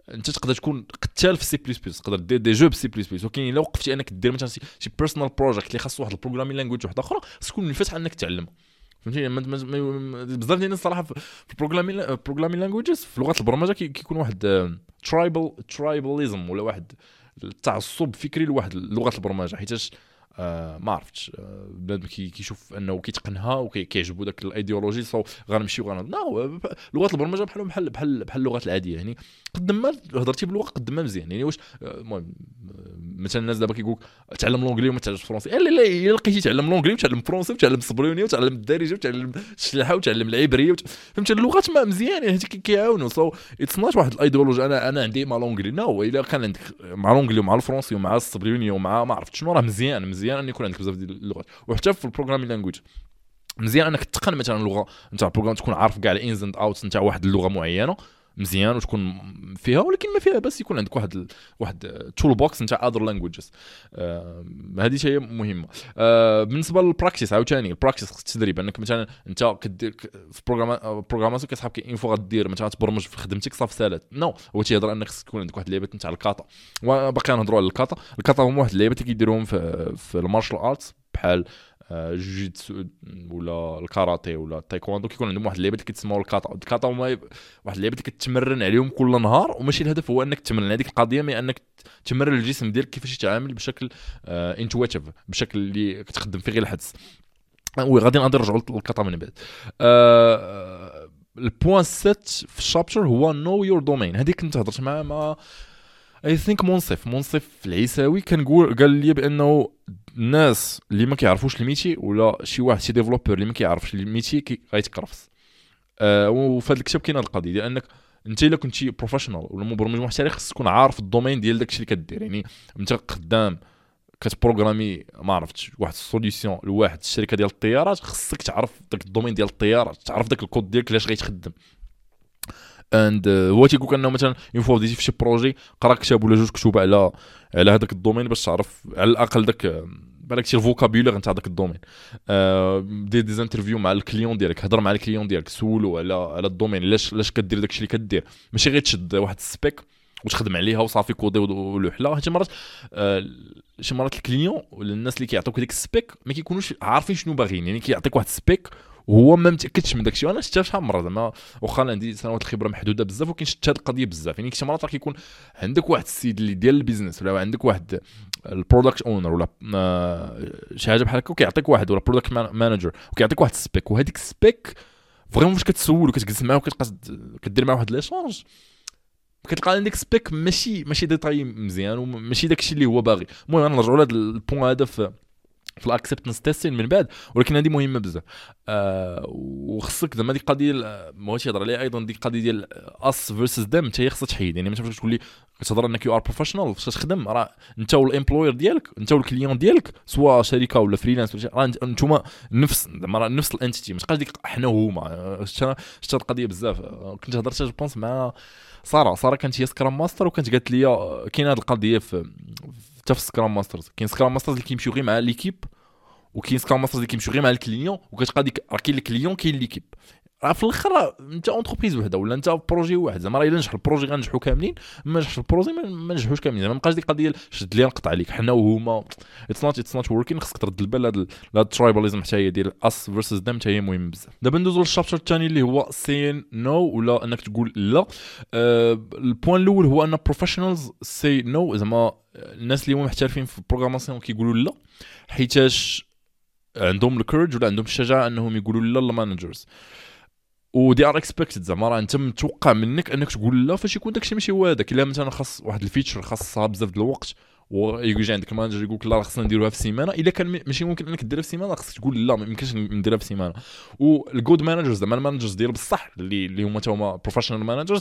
انت تقدر تكون قتال في سي بلس بلس، تقدر دير دي جو بسي بلس بلس، ولكن الا وقفتي انك دير مثلا شي بيرسونال بروجيكت اللي خاص واحد البروغرامين لانجويج واحده اخرى، خصك تكون منفتح انك تعلم. فهمتي بزاف ديال الناس صراحه في البروغرامين بروغرامين لانجويجز في لغه البرمجه كيكون واحد ترايبل ترايباليزم ولا واحد التعصب فكري لواحد لغه البرمجه، حيتاش آه ما عرفتش آه بنادم كي كيشوف انه كيتقنها وكيعجبو داك الايديولوجي سو غنمشيو غن نو لغه البرمجه بحال بحال بحال بحال اللغات العاديه. يعني قد ما هضرتي باللغه قد ما مزيان. يعني واش المهم مثلا الناس دابا كيقولك تعلم لونجلي وما تعلمش فرونسي، لا لا الا لقيتي تعلم لونجلي وتعلم فرونسي وتعلم الصبريونيه وتعلم الدارجه وتعلم الشلاحه وتعلم العبريه وت... فهمتي اللغات ما مزيان يعني كيعاونوا. سو اتس نوت واحد الايديولوجي انا انا عندي مع لونجلي نو. الا كان عندك مع لونجلي ومع الفرونسي ومع الصبريونيه ومع ما عرفت شنو راه مزيان مزيان ان يكون عندك بزاف ديال اللغات. وحتى في البروغرامين لانجويج مزيان انك تتقن مثلا لغه نتاع البروغرام، تكون عارف كاع الانز اند اوتس نتاع واحد اللغه معينه مزيان وتكون فيها، ولكن ما فيها بس يكون عندك واحد ال... واحد تول بوكس نتاع اذر لانجويجز. آه... هذه شيء مهمه. آه... بالنسبه للبراكتيس عاوتاني البراكتيس خصك تدريب انك مثلا انت كدير في بروغرام بروغراماسيون كتحاب ان فوا غدير مثلا تبرمج في خدمتك صافي سالات نو no. هو تيهضر انك خصك تكون عندك واحد اللعيبه نتاع الكاتا، وباقي نهضروا على الكاتا. الكاتا هما واحد اللعيبه اللي كيديروهم في في المارشال ارتس بحال جوجيتسو ولا الكاراتيه ولا التايكواندو، كيكون عندهم واحد اللعيبه اللي كيتسموا الكاتا. الكاتا هما واحد اللعيبه اللي كتمرن عليهم كل نهار، وماشي الهدف هو انك تمرن هذيك القضيه، مي انك تمرن الجسم ديالك كيفاش يتعامل بشكل انتويتيف آه بشكل اللي كتخدم فيه غير الحدس. وي غادي نقدر نرجعوا للكاتا من بعد. آه البوين سبعة في الشابتر هو نو يور دومين. هذيك كنت هضرت مع ما اي ثينك منصف منصف العيساوي كان قال لي بانه الناس اللي ما كيعرفوش الميتي ولا شي واحد شي ديفلوبر اللي ما كيعرفش الميتي كي غيتكرفس. أه وفي هذا الكتاب كاين هذه القضيه ديال انك انت الا كنتي بروفيشنال ولا مبرمج محترف خصك تكون عارف الدومين ديال داكشي اللي كدير. يعني انت قدام كتبروغرامي ما عرفتش واحد السوليوشن لواحد الشركه ديال الطيارات، خصك تعرف داك الدومين ديال الطيارات، تعرف داك الكود ديالك علاش غيتخدم. اند هو تيقول انه مثلا اون فوا بديتي في شي بروجي قرا كتاب ولا جوج كتب على على هذاك الدومين باش تعرف على الاقل داك بالك شي الفوكابولير نتاع داك الدومين. آه دير دي انترفيو مع الكليون ديالك، هضر مع الكليون ديالك، سولو على على الدومين علاش علاش كدير داكشي اللي كدير، ماشي غير تشد واحد السبيك وتخدم عليها وصافي كودي ولوحله. شي مرات آه شي مرات الكليون ولا الناس اللي كيعطوك ديك السبيك ما كيكونوش عارفين شنو باغيين، يعني كيعطيك واحد السبيك وهو ما متاكدش من داكشي. انا شفتها شحال من مره زعما واخا عندي سنوات الخبره محدوده بزاف، ولكن شفت هذه القضيه بزاف. يعني شي مرات راه كيكون عندك واحد السيد اللي ديال البيزنس ولا عندك واحد البرودكت اونر ولا شي حاجه بحال هكا وكيعطيك واحد ولا برودكت مانجر وكيعطيك واحد السبيك، وهذيك السبيك فريمون فاش كتسول وكتجلس معاه وكتبقى كدير معاه واحد ليشونج كتلقى عندك سبيك ماشي ماشي ديتاي مزيان وماشي داكشي اللي هو باغي. المهم نرجعوا لهذا البوين هذا في في الاكسبتنس تيستين من بعد، ولكن هذه مهمه بزاف. آه وخصك زعما ديك القضيه ما هوش يهضر عليها ايضا ديك القضيه ديال اس فيرسز ديم حتى هي خصها تحيد. يعني مثلا تقول لي كتهضر انك يو ار بروفيشنال فاش تخدم، راه انت والامبلوير ديالك انت والكليون ديالك سواء شركه ولا فريلانس ولا راه انتوما نفس زعما نفس الانتيتي، ما تبقاش ديك حنا وهما. شفت القضيه بزاف. كنت هضرت جوبونس مع ساره ساره كانت هي سكرام ماستر وكانت قالت لي كاين هذه القضيه في حتى في سكرام ماسترز. كاين سكرام ماسترز اللي كيمشيو غير مع ليكيب وكاين سكرام ماسترز اللي كيمشيو غير مع الكليون، وكتبقى ديك راه كاين الكليون كاين ليكيب. راه في الاخر انت اونتربريز وحده ولا انت بروجي واحد، زعما راه الا نجح البروجي غنجحوا كاملين، ما نجحش البروجي ما نجحوش كاملين. زعما ما بقاش ديك القضيه شد لي نقطع عليك حنا وهما اتس نوت اتس نوت وركين. خصك ترد البال لهاد لهاد الترايباليزم حتى هي ديال اس فيرسز دم حتى هي مهم بزاف. دابا ندوزو للشابتر الثاني اللي هو سين نو ولا انك تقول لا. أه البوين الاول هو ان بروفيشنالز سي نو، زعما الناس اللي هما محترفين في البروغراماسيون كيقولوا لا حيتاش عندهم الكورج ولا عندهم الشجاعه انهم يقولوا لا للمانجرز، و دي ار اكسبكتد. زعما راه انت متوقع منك انك تقول لا فاش يكون داكشي ماشي هو هذاك. الا مثلا خاص واحد الفيتشر خاصها بزاف د الوقت ويجي عندك المانجر يقول لك لا خصنا نديروها في سيمانه، الا كان ماشي ممكن انك ديرها في سيمانه خصك تقول لا ما يمكنش نديرها في سيمانه. والجود مانجرز زعما المانجرز ديال بصح اللي اللي هما تا هما بروفيشنال مانجرز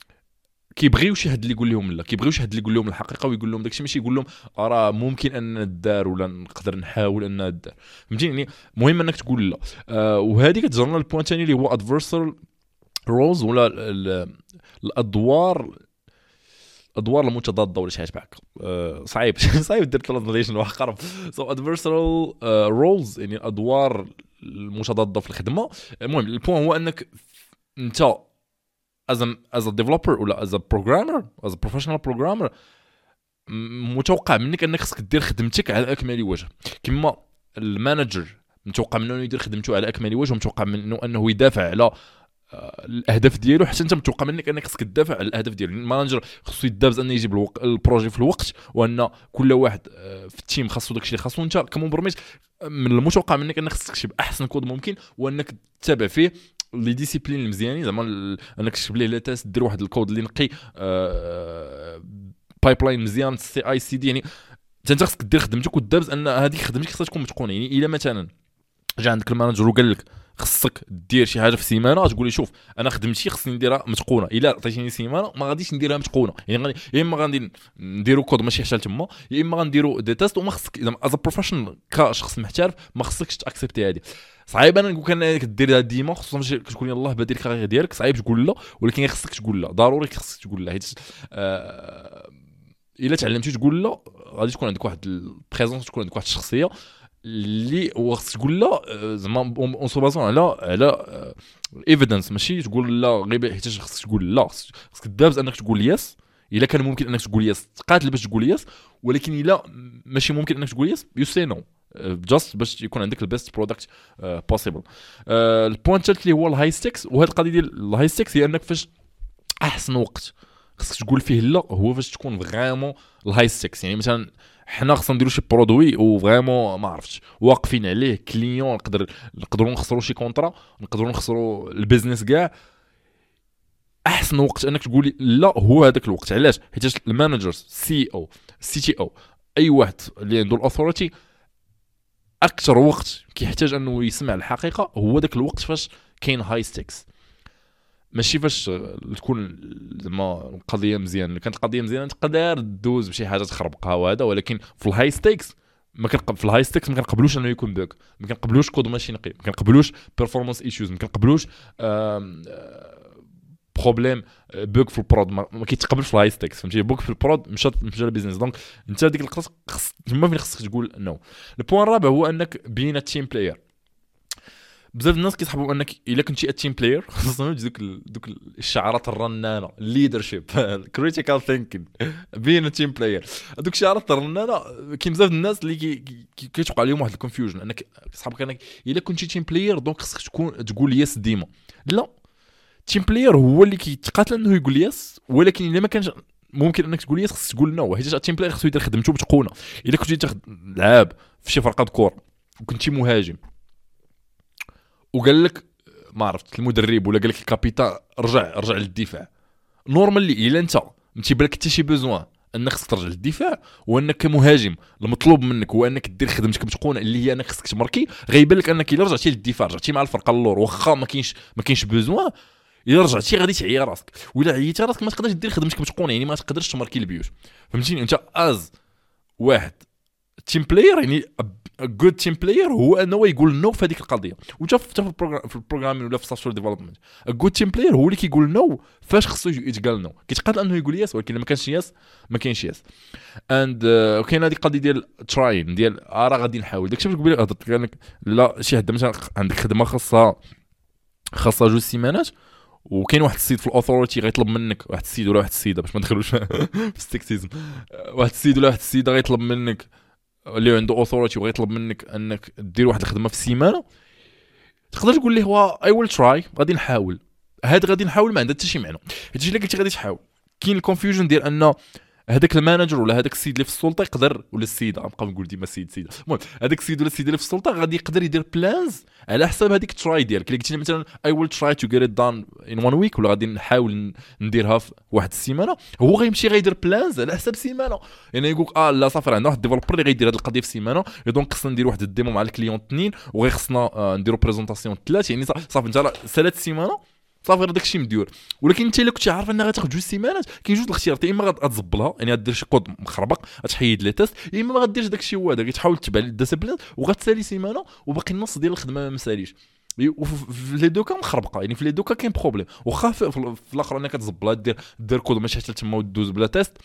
كيبغيو شي حد اللي يقول لهم لا، كيبغيو شي حد اللي يقول لهم الحقيقه ويقول لهم داكشي، ماشي يقول لهم راه ممكن ان ندار ولا نقدر نحاول ان ندار. فهمتيني؟ مهم انك تقول لا. آه وهذه كتجرنا البوين الثاني اللي هو ادفيرسال رولز ولا الادوار الادوار المتضاده ولا شي حاجه بحال هكا. صعيب صعيب دير ترانزليشن واحد قرب. سو ادفيرسال رولز يعني الادوار المتضاده في الخدمه. المهم البوين هو انك انت as a as a developer ولا as a programmer as a professional programmer متوقع منك انك خصك دير خدمتك على اكمل وجه. كما المانجر متوقع منه يدير خدمته على اكمل وجه ومتوقع منه انه يدافع على الاهداف ديالو، حتى انت متوقع منك انك خصك تدافع على الاهداف ديالو. المانجر خصو يدابز انه يجيب الوق... البروجي في الوقت، وان كل واحد في التيم خاصو داكشي اللي خاصو. انت كمبرمج من المتوقع منك انك خصك تكتب احسن كود ممكن، وانك تتابع فيه لي ديسيبلين المزيانين، زعما انك تكتب ليه لا تاس دير واحد الكود اللي نقي بايبلاين مزيان سي اي سي دي. يعني انت خصك دير خدمتك ودابز ان هذيك خدمتك خصها تكون متقونه. يعني الا مثلا جا عندك المانجر وقال لك خصك دير شي حاجه في سيمانه، تقول لي شوف انا خدمتي خصني نديرها متقونه، الا عطيتيني سيمانه ما غاديش نديرها متقونه. يعني غادي يا اما غادي نديرو كود ماشي حتى تما، يا اما غنديرو دي تيست. وما خصك اذا از بروفيشنال كشخص محترف ما خصكش تاكسبتي هذه. صعيب انا نقول لك دير ديما، خصوصا كتكون يلاه بادير الكارير ديالك، صعيب تقول لا، ولكن خصك تقول لا، ضروري خصك تقول لا. حيت آه الا تعلمتي تقول لا غادي تكون عندك واحد البريزونس، تكون عندك واحد الشخصيه اللي هو خصك تقول لا زعما اون سو بازون على على ايفيدنس، ماشي تقول لا غير حيت خصك تقول لا. خصك دابز انك تقول يس الا كان ممكن انك تقول يس، تقاتل باش تقول يس. ولكن الا ماشي ممكن انك تقول يس يو سي نو جاست باش يكون عندك البيست برودكت بوسيبل. البوينت الثالث اللي هو الهاي ستيكس، وهذه القضيه ديال الهاي ستيكس هي انك فاش احسن وقت خصك تقول فيه لا هو فاش تكون فريمون الهاي ستيكس. يعني مثلا حنا خصنا نديرو شي برودوي و فريمون ما عرفتش واقفين عليه كليون، نقدر نقدروا نخسروا شي كونطرا، نقدروا نخسروا البيزنس كاع. احسن وقت انك تقولي لا هو هذاك الوقت. علاش؟ حيت المانجرز سي او سي تي او اي واحد اللي عنده الاثوريتي اكثر وقت كيحتاج انه يسمع الحقيقه هو داك الوقت فاش كاين هاي ستيكس، ماشي فاش تكون زعما القضيه مزيان. كانت القضيه مزيانه تقدر دوز بشي حاجه تخربقها وهذا، ولكن في الهاي ستيكس ما كنقبل في الهاي ستيكس ما كنقبلوش انه يكون بوك، ما كنقبلوش كود ماشي نقي، ما كنقبلوش بيرفورمانس ايشوز، ما كنقبلوش بروبليم بوك في البرود، ما كيتقبلش في الهاي ستيكس. فهمتي؟ بوك في البرود مشى مشى البيزنس. دونك انت ديك القصه خص تما فين خصك تقول نو. البوين الرابع هو انك بين التيم بلاير. بزاف الناس كيسحبوا انك الا كنتي التيم بلاير خصهم دوك دوك الشعارات الرنانه، ليدرشيب، كريتيكال ثينكين، بين التيم بلاير. هذوك الشعارات الرنانه كاين بزاف الناس اللي كيتوقع عليهم واحد الكونفيوجن، انك كيسحبك انك الا كنتي تيم بلاير دونك خصك تكون تقول يس ديما. لا، تيم بلاير هو اللي كيتقاتل انه يقول يس، ولكن الا ما كانش ممكن انك تقول يس خصك تقول نو. حيت التيم بلاير خصو يدير خدمته بتقونه. الا كنتي تاخذ لعاب في شي فرقه كور وكنتي مهاجم وقال لك ما عرفت المدرب ولا قال لك الكابيتان رجع رجع للدفاع، نورمالي الا انت ما تيبانلك حتى شي بوزوان انك خصك ترجع للدفاع، وانك كمهاجم المطلوب منك هو انك دير خدمتك بتقونه اللي هي انك خصك تماركي، غيبان لك انك الا رجعتي للدفاع رجعتي مع الفرقه اللور واخا ما كاينش ما كاينش بوزوان، الا رجعتي غادي تعيا راسك. ولا عييتي راسك ما تقدرش دير خدمتك بتقونه، يعني ما تقدرش تماركي البيوت. فهمتيني؟ انت از واحد تيم بلاير، يعني جود تيم بلاير هو انه يقول نو في هذيك القضيه. وانت في البروغرام في البروغرامين ولا في السوفتوير ديفلوبمنت جود تيم بلاير هو اللي كيقول نو فاش خصو يتقال نو. كيتقاتل انه يقول يس، ولكن ما كانش يس ما كاينش يس. اند وكاين هذيك القضيه ديال تراين ديال راه غادي نحاول. داكشي باش قبيله هضرت لك لا شي حد مثلا عندك خدمه خاصه خاصه جوج سيمانات، وكاين واحد السيد في الاوثوريتي غيطلب منك، واحد السيد ولا واحد السيده باش ما ندخلوش في السكسيزم، واحد السيد ولا واحد السيده غيطلب منك اللي عنده اوثوريتي وغيطلب منك انك دير واحد الخدمه في السيمانه، تقدر تقول ليه هو اي ويل تراي، غادي نحاول. هاد غادي نحاول ما عندها حتى شي معنى، حيت الا قلتي غادي تحاول كاين الكونفيوجن ديال ان هذاك المانجر ولا هذاك السيد اللي في السلطه يقدر، ولا السيده غنبقى نقول ديما السيد سيده، المهم هذاك السيد ولا السيده اللي في السلطه غادي يقدر يدير بلانز على حساب هذيك تراي ديالك. الا قلتي مثلا اي ويل تراي تو جيت ات دان ان وان ويك، ولا غادي نحاول نديرها في واحد السيمانه، هو غيمشي غيدير بلانز على حساب سيمانه. يعني يقول اه لا صافي عندنا واحد ديفلوبر اللي غيدير هذه القضيه في سيمانه، دونك خصنا ندير واحد الديمو مع الكليون اثنين، وغيخصنا آه نديروا بريزونطاسيون ثلاث، يعني صافي انت ثلاث سيمانه صافي غير داكشي مديور. ولكن انت الا كنتي عارف انها غتاخذ جوج سيمانات كاين جوج الاختيارات، يا اما غتزبلها يعني غدير شي كود مخربق غتحيد لي تيست، يا اما ما غديرش داكشي هو هذا، غتحاول تتبع الديسيبلين وغتسالي سيمانه وباقي النص ديال الخدمه ما مساليش. وفي لي دوكا مخربقه، يعني في لي دوكا كاين بروبليم، واخا في الاخر انك تزبلها دير دير كود ماشي حتى تما ودوز بلا تيست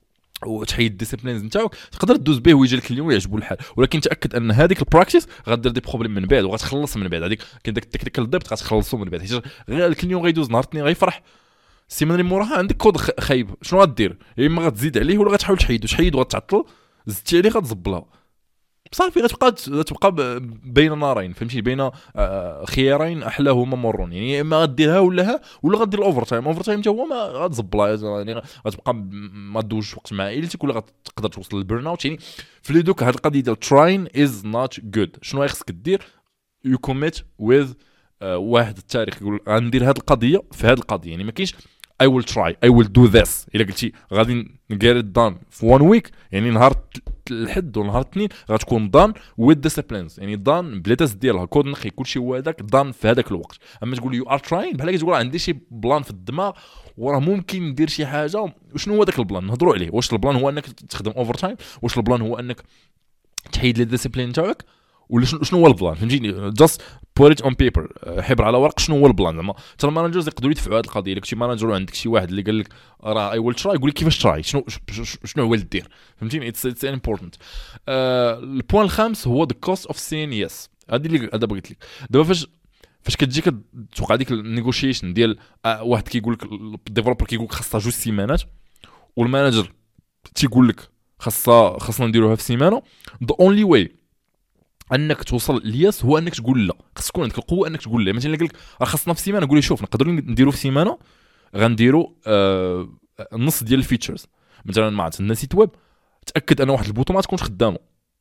وتحيد الديسيبلينز نتاعك، تقدر دوز به ويجي لك اليوم ويعجبو الحال. ولكن تاكد ان هذيك البراكتيس غدير دي بروبليم من بعد وغتخلص من بعد. هذيك كاين داك التكنيكال ضبط غتخلصوا من بعد، حيت غير الكليون غيدوز نهار اثنين غيفرح السيمانه اللي موراها عندك كود خايب، شنو غدير؟ يا اما غتزيد عليه ولا غتحاول تحيدو تحيد وغتعطل، زدتي عليه غتزبلها صافي، غتبقى غتبقى بين نارين فهمتي، بين خيارين احلاهما مرون، يعني يا اما غديرها ولا ها ولا غدير الاوفر تايم. اوفر تايم حتى هو ما غتزبلها، يعني غتبقى ما دوش وقت مع عائلتك ولا غتقدر توصل للبرن اوت. يعني في لي دوك هاد القضيه ديال تراين از نوت جود. شنو خصك دير؟ يو كوميت وذ واحد التاريخ يقول غندير هاد القضيه في هاد القضيه، يعني ما كاينش I will try I will do this. الا قلتي غادي get it done في one week، يعني نهار الحد ونهار الاثنين غتكون دان with disciplines، يعني دان بلا تاس ديالها كود نقي كلشي هو هذاك دان في هذاك الوقت. اما تقول يو ار تراين بحال كتقول عندي شي بلان في الدماغ وراه ممكن ندير شي حاجه، وشنو هو داك البلان نهضروا عليه. واش البلان هو انك تخدم اوفر تايم؟ واش البلان هو انك تحيد لي ديسيبلين تاعك؟ ولا شنو هو البلان؟ فهمتيني؟ جاست بوت ات اون بيبر، حبر على ورق شنو هو البلان. زعما حتى المانجرز يقدروا يدفعوا هذه القضيه. الا كنتي مانجر وعندك شي واحد اللي قال لك راه اي ويل تراي، يقول لك كيفاش تراي، شنو شنو هو اللي دير، فهمتيني؟ اتس اتس امبورطنت. البوين الخامس هو ذا كوست اوف سين يس. هذه اللي هذا بغيت لك دابا. فاش فاش كتجي كتوقع ديك النيغوشيشن ديال آه واحد كيقول لك الديفلوبر كيقول لك خاصها جوج سيمانات، والمانجر تيقول لك خاصها خاصنا نديروها في سيمانه، ذا اونلي واي انك توصل لياس هو انك تقول لا. خص تكون عندك القوه انك تقول لا. مثلا قال لك راه خاصنا في سيمانه، قول لي شوف نقدروا نديروا في سيمانه غنديروا آه نص ديال الفيتشرز. مثلا مع عندنا سيت ويب تاكد ان واحد البوطون ما تكونش خدامه،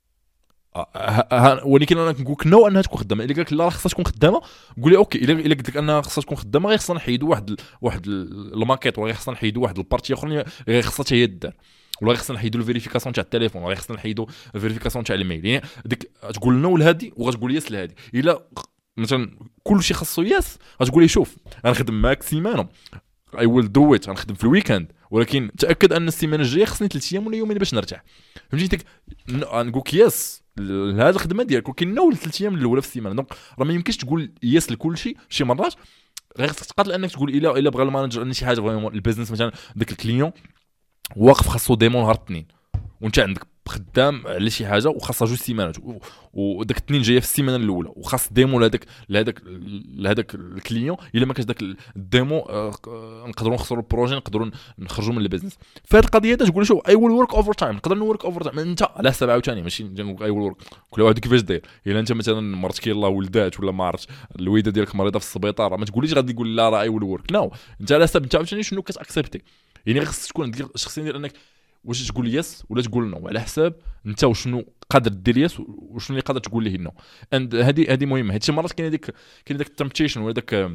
آه ولكن انا كنقول لك نو انها تكون خدامه. الا قال لك لا راه خاصها تكون خدامه، قول لي اوكي. الا الا قلت لك انها خاصها تكون خدامه غير خصنا نحيدوا واحد ال... واحد الماكيت، ولا خصنا نحيدوا واحد البارتي اخرى غير خصها حتى هي دار، ولا خصنا نحيدوا الفيريفيكاسيون تاع التليفون، ولا خصنا نحيدوا الفيريفيكاسيون تاع الميل. يعني ديك تقول نو لهادي وغتقول يس لهادي. الا مثلا كلشي خاصو يس غتقول لي شوف غنخدم معاك سيمانه اي ويل دو ات، غنخدم في الويكاند، ولكن تاكد ان السيمانه الجايه خصني ثلاث ايام ولا يومين باش نرتاح. فهمتي ديك نقول لك يس لهذه الخدمه ديالك، ولكن نو ثلاث ايام الاولى في السيمانه. دونك راه ما يمكنش تقول يس لكل شيء. شي مرات غير خصك تقاتل انك تقول الا الا بغى المانجر ان شي حاجه فريمون البيزنس، مثلا داك الكليون واقف خاصو ديمون نهار الاثنين وانت عندك خدام على شي حاجه وخاصها جوج سيمانات، وداك الاثنين جايه في السيمانه الاولى، وخاص ديمو لهذاك لهذاك لهذاك الكليون. الا ما كانش داك الديمو آه نقدروا نخسروا البروجي، نقدروا نخرجوا من البيزنس. فهاد القضيه هذا تقول شوف اي ويل ورك اوفر تايم، نقدر نورك اوفر تايم انت على حساب عاوتاني، ماشي نقول اي ويل ورك كل واحد كيفاش داير. الا انت مثلا مرتك يلاه ولدات ولا ما عرفتش الويده ديالك مريضه في السبيطار، ما تقوليش غادي يقول لا راه اي ويل ورك. نو انت على حساب انت عاوتاني شنو كتاكسبتي. يعني خصك تكون عندك الشخصيه ديال انك واش تقول يس ولا تقول نو، على حساب انت وشنو قادر دير يس وشنو اللي قادر تقول ليه نو. اند هذه هذه مهمه. هادشي مرات كاين هذيك كاين داك التمبتيشن ولا داك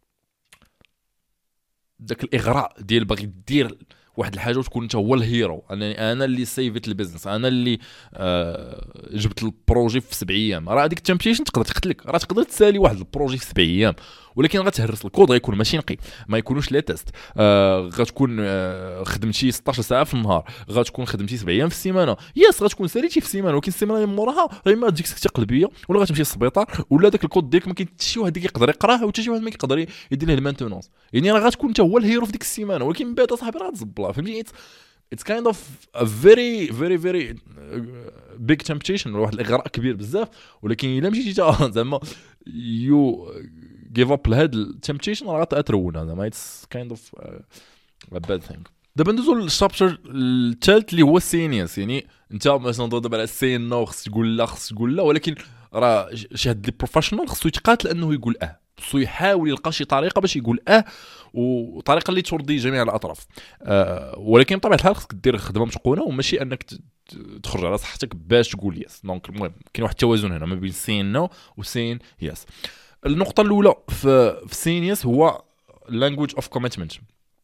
داك الاغراء ديال باغي دير واحد الحاجه وتكون انت هو الهيرو. انا انا اللي سيفيت البيزنس، انا اللي آه جبت البروجي في سبع ايام. راه هذيك التمبتيشن تقدر تقتلك. راه تقدر تسالي واحد البروجي في سبع ايام، ولكن غتهرس الكود، غيكون ماشي نقي، ما يكونوش لي تيست. آه غتكون آه خدمتي ستطاش ساعه في النهار، غتكون خدمتي سبع ايام في السيمانه. ياس غتكون ساليتي في السيمانه، ولكن السيمانه اللي موراها غير ما تجيك سكته قلبيه، ولا غتمشي للسبيطار، ولا داك الكود ديالك ما كاين حتى شي واحد يقدر يقراه وحتى شي واحد ما يقدر يدير له المانتونونس. يعني راه غتكون انت هو الهيرو في ديك السيمانه، ولكن من بعد صاحبي راه تزبلها. فهمتي؟ it's kind of a very very very big temptation، واحد الاغراء كبير بزاف. ولكن الا مشيتي زعما you give up لهاد التمبتيشن راه غترون. زعما it's kind of a bad thing. دابا ندوزو للشابتر الثالث اللي هو السينيس. يعني انت مثلا دابا على السين نو خص تقول لا خص تقول لا، ولكن راه شي هاد لي بروفيشنال خصو يتقاتل انه يقول اه، خصو يحاول يلقى شي طريقه باش يقول اه، وطريقه اللي ترضي جميع الاطراف. أه ولكن بطبيعه الحال خصك دير خدمه متقونه، وماشي انك تخرج على صحتك باش تقول يس. دونك المهم كاين واحد التوازن هنا ما بين سين نو وسين يس. النقطه الاولى في في سين يس هو language of commitment.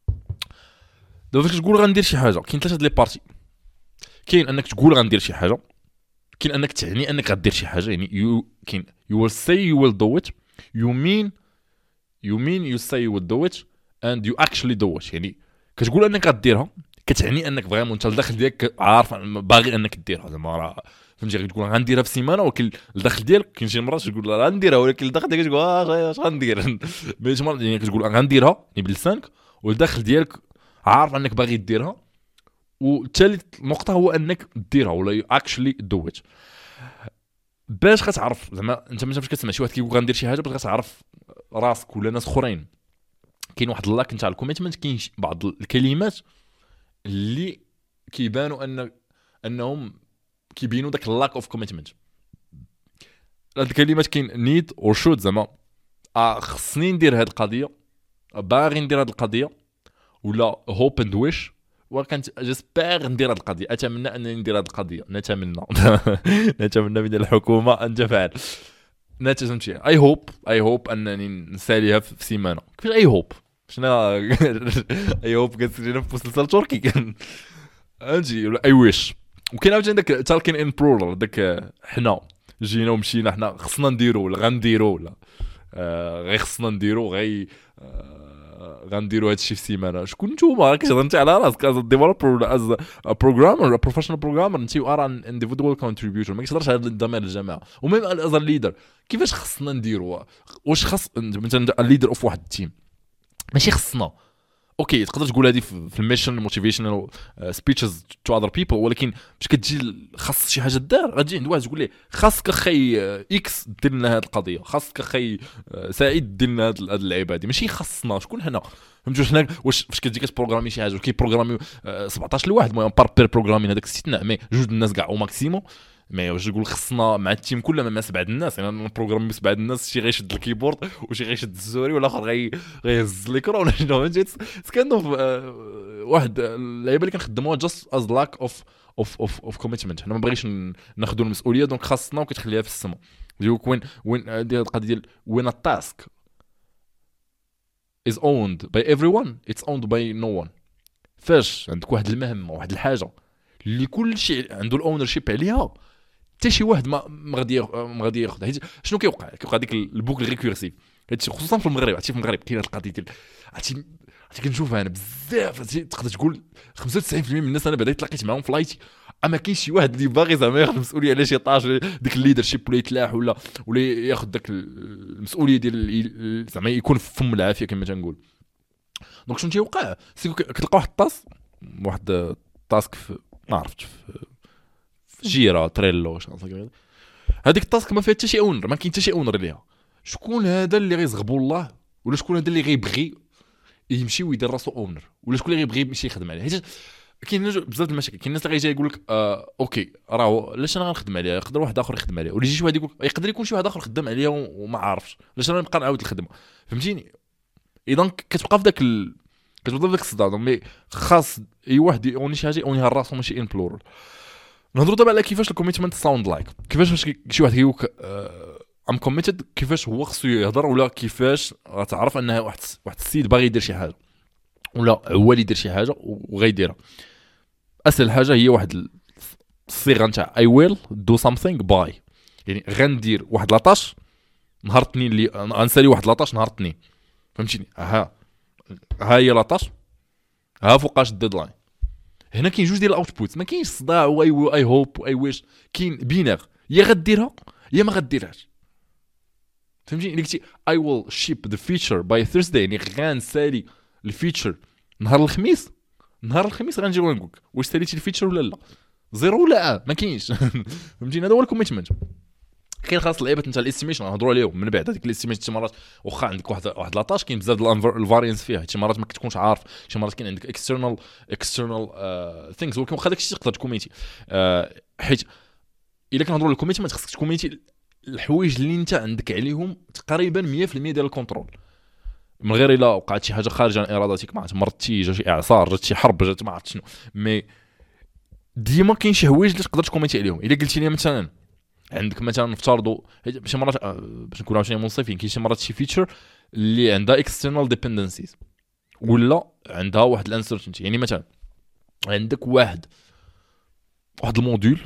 دابا فاش تقول غندير شي حاجه كاين ثلاثه لي بارتي. كاين انك تقول غندير شي حاجه، كاين انك تعني انك غدير شي حاجه، يعني يو كاين you will say you will do it، you mean you mean you say you will do it and you actually do it. يعني كتقول انك غديرها، كتعني انك فريمون انت الداخل ديالك عارف باغي انك ديرها. زعما راه فهمتي تقول غنديرها في سيمانه، ولكن الداخل ديالك كاين شي مرات تقول لا غنديرها، ولكن الداخل ديالك تقول اه اش غندير. مي شي مرات يعني كتقول غنديرها يعني بلسانك، والداخل ديالك عارف انك باغي ديرها. والثالث نقطه هو انك ديرها ولا you actually do it. باش كتعرف زعما انت مثلا فاش كتسمع شي واحد كيقول غندير شي حاجه باش كتعرف راسك ولا ناس اخرين كاين واحد اللاك نتاع الكوميتمنت. كاين بعض الكلمات اللي كيبانوا ان انهم كيبينوا داك اللاك اوف كوميتمنت. هاد الكلمات كاين نيد اور شود، زعما اه خصني ندير هاد القضيه، باغي ندير هاد القضيه، ولا هوب اند ويش، وكانت جيسبيغ ندير هاد القضيه، اتمنى انني ندير هاد القضيه، نتمنى نتمنى من الحكومه ان تفعل، نتمنى اي هوب اي هوب انني نساليها في سيمانه. كيفاش اي هوب؟ شنو اي هوب كتسجلها في مسلسل تركي اجي ولا اي ويش. وكاين عاوتاني داك تالكين ان برولر، داك حنا جينا ومشينا، حنا خصنا نديرو ولا غنديرو ولا آه غير خصنا نديرو غي آه غنديرو هادشي في سيمانه. شكون نتوما كتهضر انت على راسك از ديفلوبر ولا از بروغرامر بروفيشنال بروغرامر؟ انت ار ان انديفيدوال كونتريبيوتور، ما كتهضرش على ضمير الجماعه. وميم از ليدر كيفاش خصنا نديرو؟ واش خص مثلا الليدر اوف واحد التيم ماشي خصنا اوكي تقدر تقول هذه في الميشن موتيفيشنال سبيتشز تو اذر بيبل، ولكن باش كتجي خاص شي حاجه دار غتجي عند واحد تقول ليه خاصك اخي اكس دير لنا هذه القضيه، خاصك اخي سعيد دير لنا هذه اللعيبه هذه، ماشي خاصنا. شكون حنا؟ فهمتوا حنا واش فاش كتجي كتبروغرامي شي حاجه كي بروغرامي سبعطاش لواحد المهم بار بير بروغرامين هذاك استثناء، مي جوج الناس كاع او ماكسيموم. مي واش نقول خصنا مع التيم كله ما سبعه الناس، يعني نبروغرامي سبعه الناس، شي غيشد الكيبورد وشي غيشد الزوري والاخر غي غيهز الميكرو ولا شنو. فهمتي كانوا واحد اللعيبه اللي كنخدموها جاست از لاك اوف اوف اوف اوف كوميتمنت. حنا ما بغيش ناخذوا المسؤوليه دونك خاصنا وكتخليها في السما. ديك وين وين هذه القضيه ديال وين التاسك is owned by everyone it's owned by no one. فاش عندك واحد المهمه واحد الحاجه اللي كل شيء عنده الاونر شيب عليها، حتى شي واحد ما ما غادي ما غادي ياخذ. حيت شنو كيوقع؟ كيوقع ديك البوكل ريكورسيف، هادشي خصوصا في المغرب. عرفتي في المغرب كاين هاد القضيه ديال عرفتي عرفتي كنشوفها انا بزاف. عرفتي تقدر تقول خمسة وتسعين بالمية من الناس انا بعدا تلاقيت معاهم في لايتي، اما كاين شي واحد اللي باغي زعما ياخذ المسؤوليه على شي طاش ديك الليدر شيب ولا يتلاح ولا ولا ياخذ داك المسؤوليه ديال زعما يكون في فم العافيه كما تنقول. دونك شنو تيوقع؟ كتلقى واحد الطاس واحد التاسك ما عرفتش في جيرا تريلو شنو هذيك التاسك ما فيها حتى شي اونر، ما كاين حتى شي اونر ليها. شكون هذا اللي غيزغبو الله؟ ولا شكون هذا اللي غيبغي يمشي ويدير راسو اونر؟ ولا شكون اللي غيبغي يمشي يخدم عليه؟ حيت كاين بزاف د المشاكل. كاين الناس اللي غيجي يقول لك آه اوكي راه علاش انا غنخدم عليها؟ يقدر واحد اخر يخدم عليها، ولا يجي شي واحد يقول يقدر يكون شي واحد اخر خدام عليها وما عارفش علاش انا نبقى نعاود الخدمه. فهمتيني؟ اذا كتبقى في داك ال... كتبقى في داك الصداع. مي خاص اي واحد يوني شي حاجه يونيها راسو ماشي ان بلورال. نهضروا دابا على كيفاش الكوميتمنت ساوند لايك، كيفاش فاش شي واحد كيقول ام كوميتد كيفاش هو خصو يهضر، ولا كيفاش غتعرف انها واحد واحد السيد باغي يدير شي حاجه ولا هو اللي يدير شي حاجه وغيديرها. اسهل حاجه هي واحد الصيغه نتاع اي ويل دو سامثينغ باي، يعني غندير واحد لاطاش نهار اثنين اللي غنسالي واحد لاطاش نهار اثنين. فهمتيني؟ ها ها هي لاطاش، ها فوقاش الديدلاين. هنا كاين جوج ديال الاوتبوت، ما كاينش صداع واي اي هوب واي ويش، كاين بينار يا غديرها يا ما غديرهاش. فهمتيني؟ اللي قلتي اي ويل شيب ذا فيتشر باي ثيرزداي، يعني غنسالي الفيتشر نهار الخميس، نهار الخميس غنجي ونقولك واش ساليتي الفيتشر ولا لا، زيرو ولا اه ما كاينش. فهمتيني؟ هذا هو الكوميتمنت. كاين خاص لعيبه نتاع الاستيميشن نهضروا عليهم من بعد. هذيك الاستيميشن شي مرات واخا عندك واحد واحد لاطاش كاين بزاف ديال الفاريانس فيها، شي مرات ما كتكونش عارف، شي مرات كاين عندك اكسترنال اكسترنال ثينكس، ولكن واخا داكشي تقدر تكوميتي. آه حيت الا كنهضروا الكوميتمنت خصك تكوميتي الحوايج اللي انت عندك عليهم تقريبا مية بالمية ديال الكونترول، من غير الا وقعت شي حاجه خارج عن ارادتك، ما عرفت مرضتي جا شي اعصار جات شي حرب جات ما عرفت شنو. مي ديما كاين شي حوايج اللي تقدر تكوميتي عليهم. الا قلتي لي مثلا عندك مثلا نفترضوا شي مرات باش نكونوا عشان منصفين، كاين شي مرات شي فيتشر اللي عندها اكسترنال ديبندنسيز ولا عندها واحد الانسرتينتي. يعني مثلا عندك واحد واحد الموديول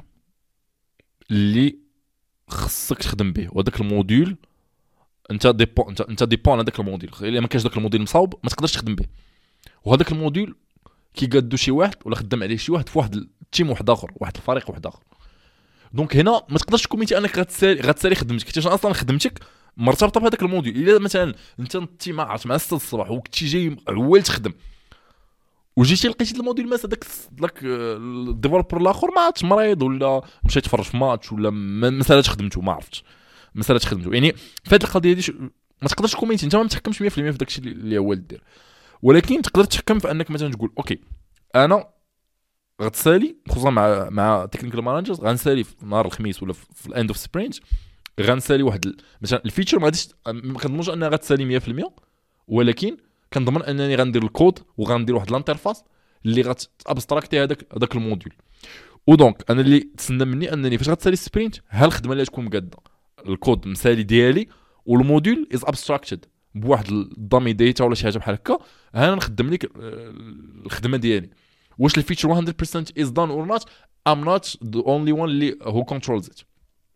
اللي خصك تخدم به، وهذاك الموديول انت ديبون انت انت ديبون على داك الموديل. الا ما كانش داك الموديل مصاوب ما تقدرش تخدم به. وهذاك الموديل كيقادو شي واحد ولا خدام عليه شي واحد في واحد التيم واحد اخر، واحد الفريق واحد اخر. دونك هنا ما تقدرش تكوميتي انك غتسالي غتسالي خدمتك، حيت اصلا خدمتك مرتبطه بهذاك الموديل. الا مثلا انت انت ما عرفت مع ستة الصباح وكنتي جاي عوال تخدم وجيتي لقيتي الموديل ماس داك داك الديفلوبر الاخر ما عرفتش مريض ولا مشى يتفرج في ماتش ولا ما سالاتش خدمته، ما عرفتش ما سالاتش خدمته. يعني في هذه القضيه هذه ما تقدرش تكومينتي انت ما متحكمش مية في المية في داكشي اللي هو دير، ولكن تقدر تحكم في انك مثلا تقول اوكي انا غتسالي خصوصا مع مع تكنيكال مانجرز غنسالي في نهار الخميس ولا في الاند اوف سبرينت غنسالي واحد ال... مثلا الفيتشر ما غاديش ما كنضمنش انها غتسالي مية في المية، ولكن كنضمن انني غندير الكود وغندير واحد الانترفاس اللي غتابستراكتي هذاك هذاك الموديول. ودونك انا اللي تسنى مني انني فاش غتسالي سبرينت ها الخدمه اللي تكون مقاده الكود مسالي ديالي والموديول از ابستراكتد بواحد الدامي ديتا ولا شي حاجه بحال هكا، ها انا نخدم لك الخدمه ديالي. واش الفيتشر مية بالمية is done or not I'm not the only one اللي who controls it.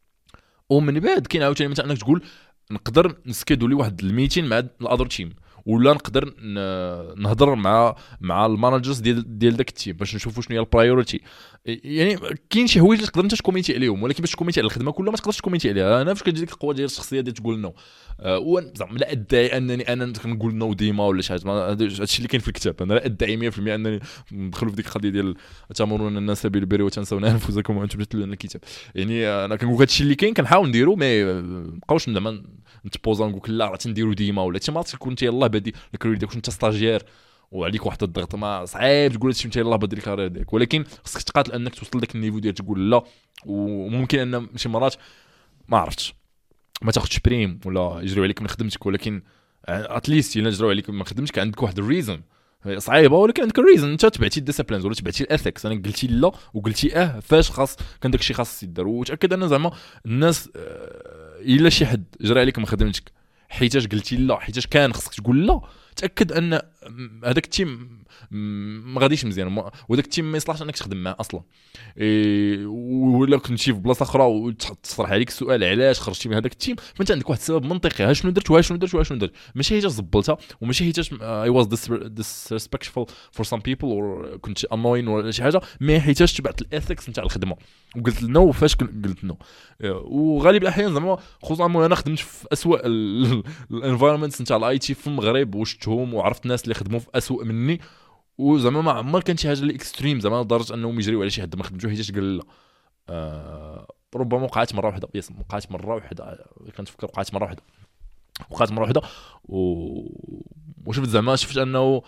ومن بعد كاين عاوتاني مثلا انك تقول نقدر نسكيدولي واحد الميتين مع الاذر تيم، ولا نقدر نهضر مع مع المانجرز ديال ديال داك التيم باش نشوفوا شنو هي البرايورتي. يعني كاين شي حوايج اللي تقدر انت تكومينتي عليهم، ولكن باش تكومينتي على الخدمه كلها ما تقدرش تكومينتي عليها. انا فاش كتجي ديك القوه ديال الشخصيه ديال تقول نو أه زعما لا ادعي انني انا كنقول نو ديما ولا شي حاجه، هادشي اللي كاين في الكتاب. انا لا ادعي مية في المية انني ندخلوا في ديك القضيه ديال تامرون الناس بالبر وتنسون انفسكم وانتم تتلون الكتاب. يعني انا كنقول هادشي اللي كاين كنحاول نديرو، مي مابقاوش زعما نتبوزا نقول لا راه تنديرو ديما ولا حتى ما تكون انت يلاه بادي الكارير ديالك انت ستاجير وعليك واحد الضغط ما صعيب تقول هادشي انت يلاه بادي الكارير ديالك، ولكن خصك تقاتل انك توصل لك النيفو ديال تقول لا. وممكن ان شي مرات ما عرفتش ما تاخذش بريم ولا يجريو عليك من خدمتك، ولكن اتليست الا جراو عليك من خدمتك عندك واحد الريزون صعيبه، ولكن عندك الريزون انت تبعتي الديسيبلينز ولا تبعتي الاثكس. انا قلتي لا وقلتي اه فاش خاص كان داكشي خاص يدار، وتاكد ان زعما الناس الا شي حد جرى عليك من خدمتك حيتاش قلتي لا حيتاش كان خصك تقول لا، تاكد ان هذاك التيم ما غاديش مزيان وداك التيم ما يصلحش انك تخدم معاه اصلا. إيه ولا كنتي في بلاصه اخرى وتصرح عليك السؤال علاش خرجتي من هذاك التيم، فانت عندك واحد السبب منطقي ها شنو درت وها شنو درت وها شنو درت، ماشي حيت زبلتها وماشي حيت اي واز disrespectful for some people or كنت annoying ولا شي حاجه، مي حيت تبعت الاثكس نتاع الخدمه وقلت نو فاش قلت نو. وغالب الاحيان زعما خصوصا انا خدمت في اسوء الانفايرمنتس نتاع الاي تي في المغرب وشفتهم وعرفت الناس اللي خدموا في اسوء مني، وزعما ما عمر كان شي حاجه اللي اكستريم زعما لدرجه انهم يجريو على شي حد ما خدمتو حيت قال لا. أه ربما وقعت مره واحده، يس وقعت مره واحده كنتفكر وقعت مره واحده وقعت مره واحده و... وشفت زعما شفت انه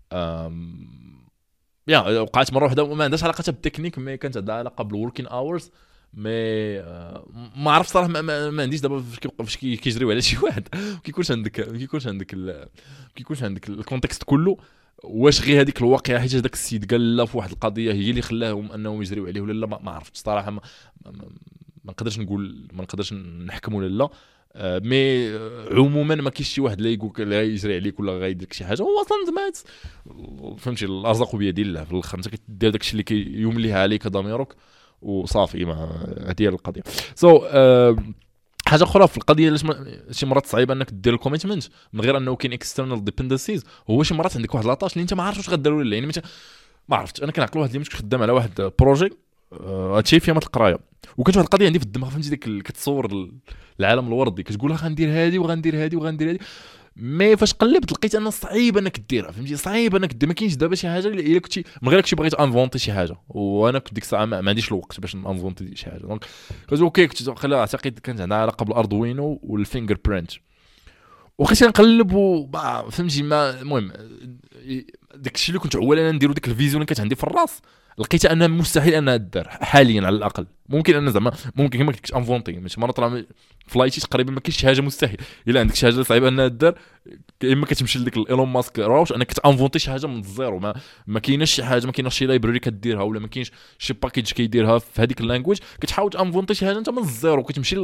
يا وقعت مره واحده وما عندهاش علاقه بالتكنيك، مي كانت عندها علاقه بالوركين اورز. مي ما عرفت صراحه ما, ما, ما عنديش دابا فاش كيجريو على شي واحد كيكونش عندك كيكونش عندك كيكونش عندك الكونتكست كله، واش غير هذيك الواقعه حيت هذاك السيد قال لا في واحد القضيه هي اللي خلاهم انهم يجريو عليه ولا لا، ما عرفتش صراحه. ما, ما, ما نقدرش نقول ما نقدرش نحكم ولا لا. آه مي عموما ما كاينش شي واحد اللي يقول لا يجري عليك ولا غايدير لك شي حاجه، هو اصلا زعما فهمتي الارزاق بيد الله في الاخر، انت كدير داكشي اللي كيمليها عليك ضميرك وصافي. ما هذه هي القضيه. سو so, uh, حاجه اخرى في القضيه علاش شي مرات صعيب انك دير الكوميتمنت من غير انه كاين اكسترنال ديبندنسيز، هو شي مرات عندك واحد لاطاش اللي انت ما عارف واش غدير ولا لا. يعني ما عرفتش انا كنعقل واحد اللي مش خدام على واحد بروجي هادشي فيها مات القرايه، وكانت واحد القضيه عندي في الدماغ فهمتي ديك كتصور العالم الوردي كتقول غندير هادي وغندير هادي وغندير هادي، مي فاش قلبت لقيت انه صعيب انك ديرها فهمتي صعيب انك دير. ما كاينش دابا شي حاجه الا كنتي من غير كنتي بغيت انفونتي شي حاجه، وانا كنت ديك الساعه ما عنديش الوقت باش انفونتي شي حاجه. دونك قلت اوكي كنت خليها اعتقد كانت عندها علاقه بالاردوينو والفينجر برينت، وخيت نقلب فهمتي ما المهم داكشي اللي كنت اولا نديرو ديك الفيزيون اللي كانت عندي في الراس لقيت انها مستحيل انها تدار حاليا على الاقل. ممكن ان زعما ممكن كما قلت لك انفونتي ماشي مره طلع فلايتي تقريبا ما كاينش شي حاجه مستحيل الا عندك شي حاجه صعيبه انها تدار، اما كتمشي لديك ايلون ماسك راوش انك تانفونتي شي حاجه من الزيرو. ما ما كايناش شي حاجه ما كايناش شي لايبراري كديرها ولا ما كاينش شي باكيج كيديرها في هذيك اللانجويج كتحاول تانفونتي شي حاجه انت من الزيرو كتمشي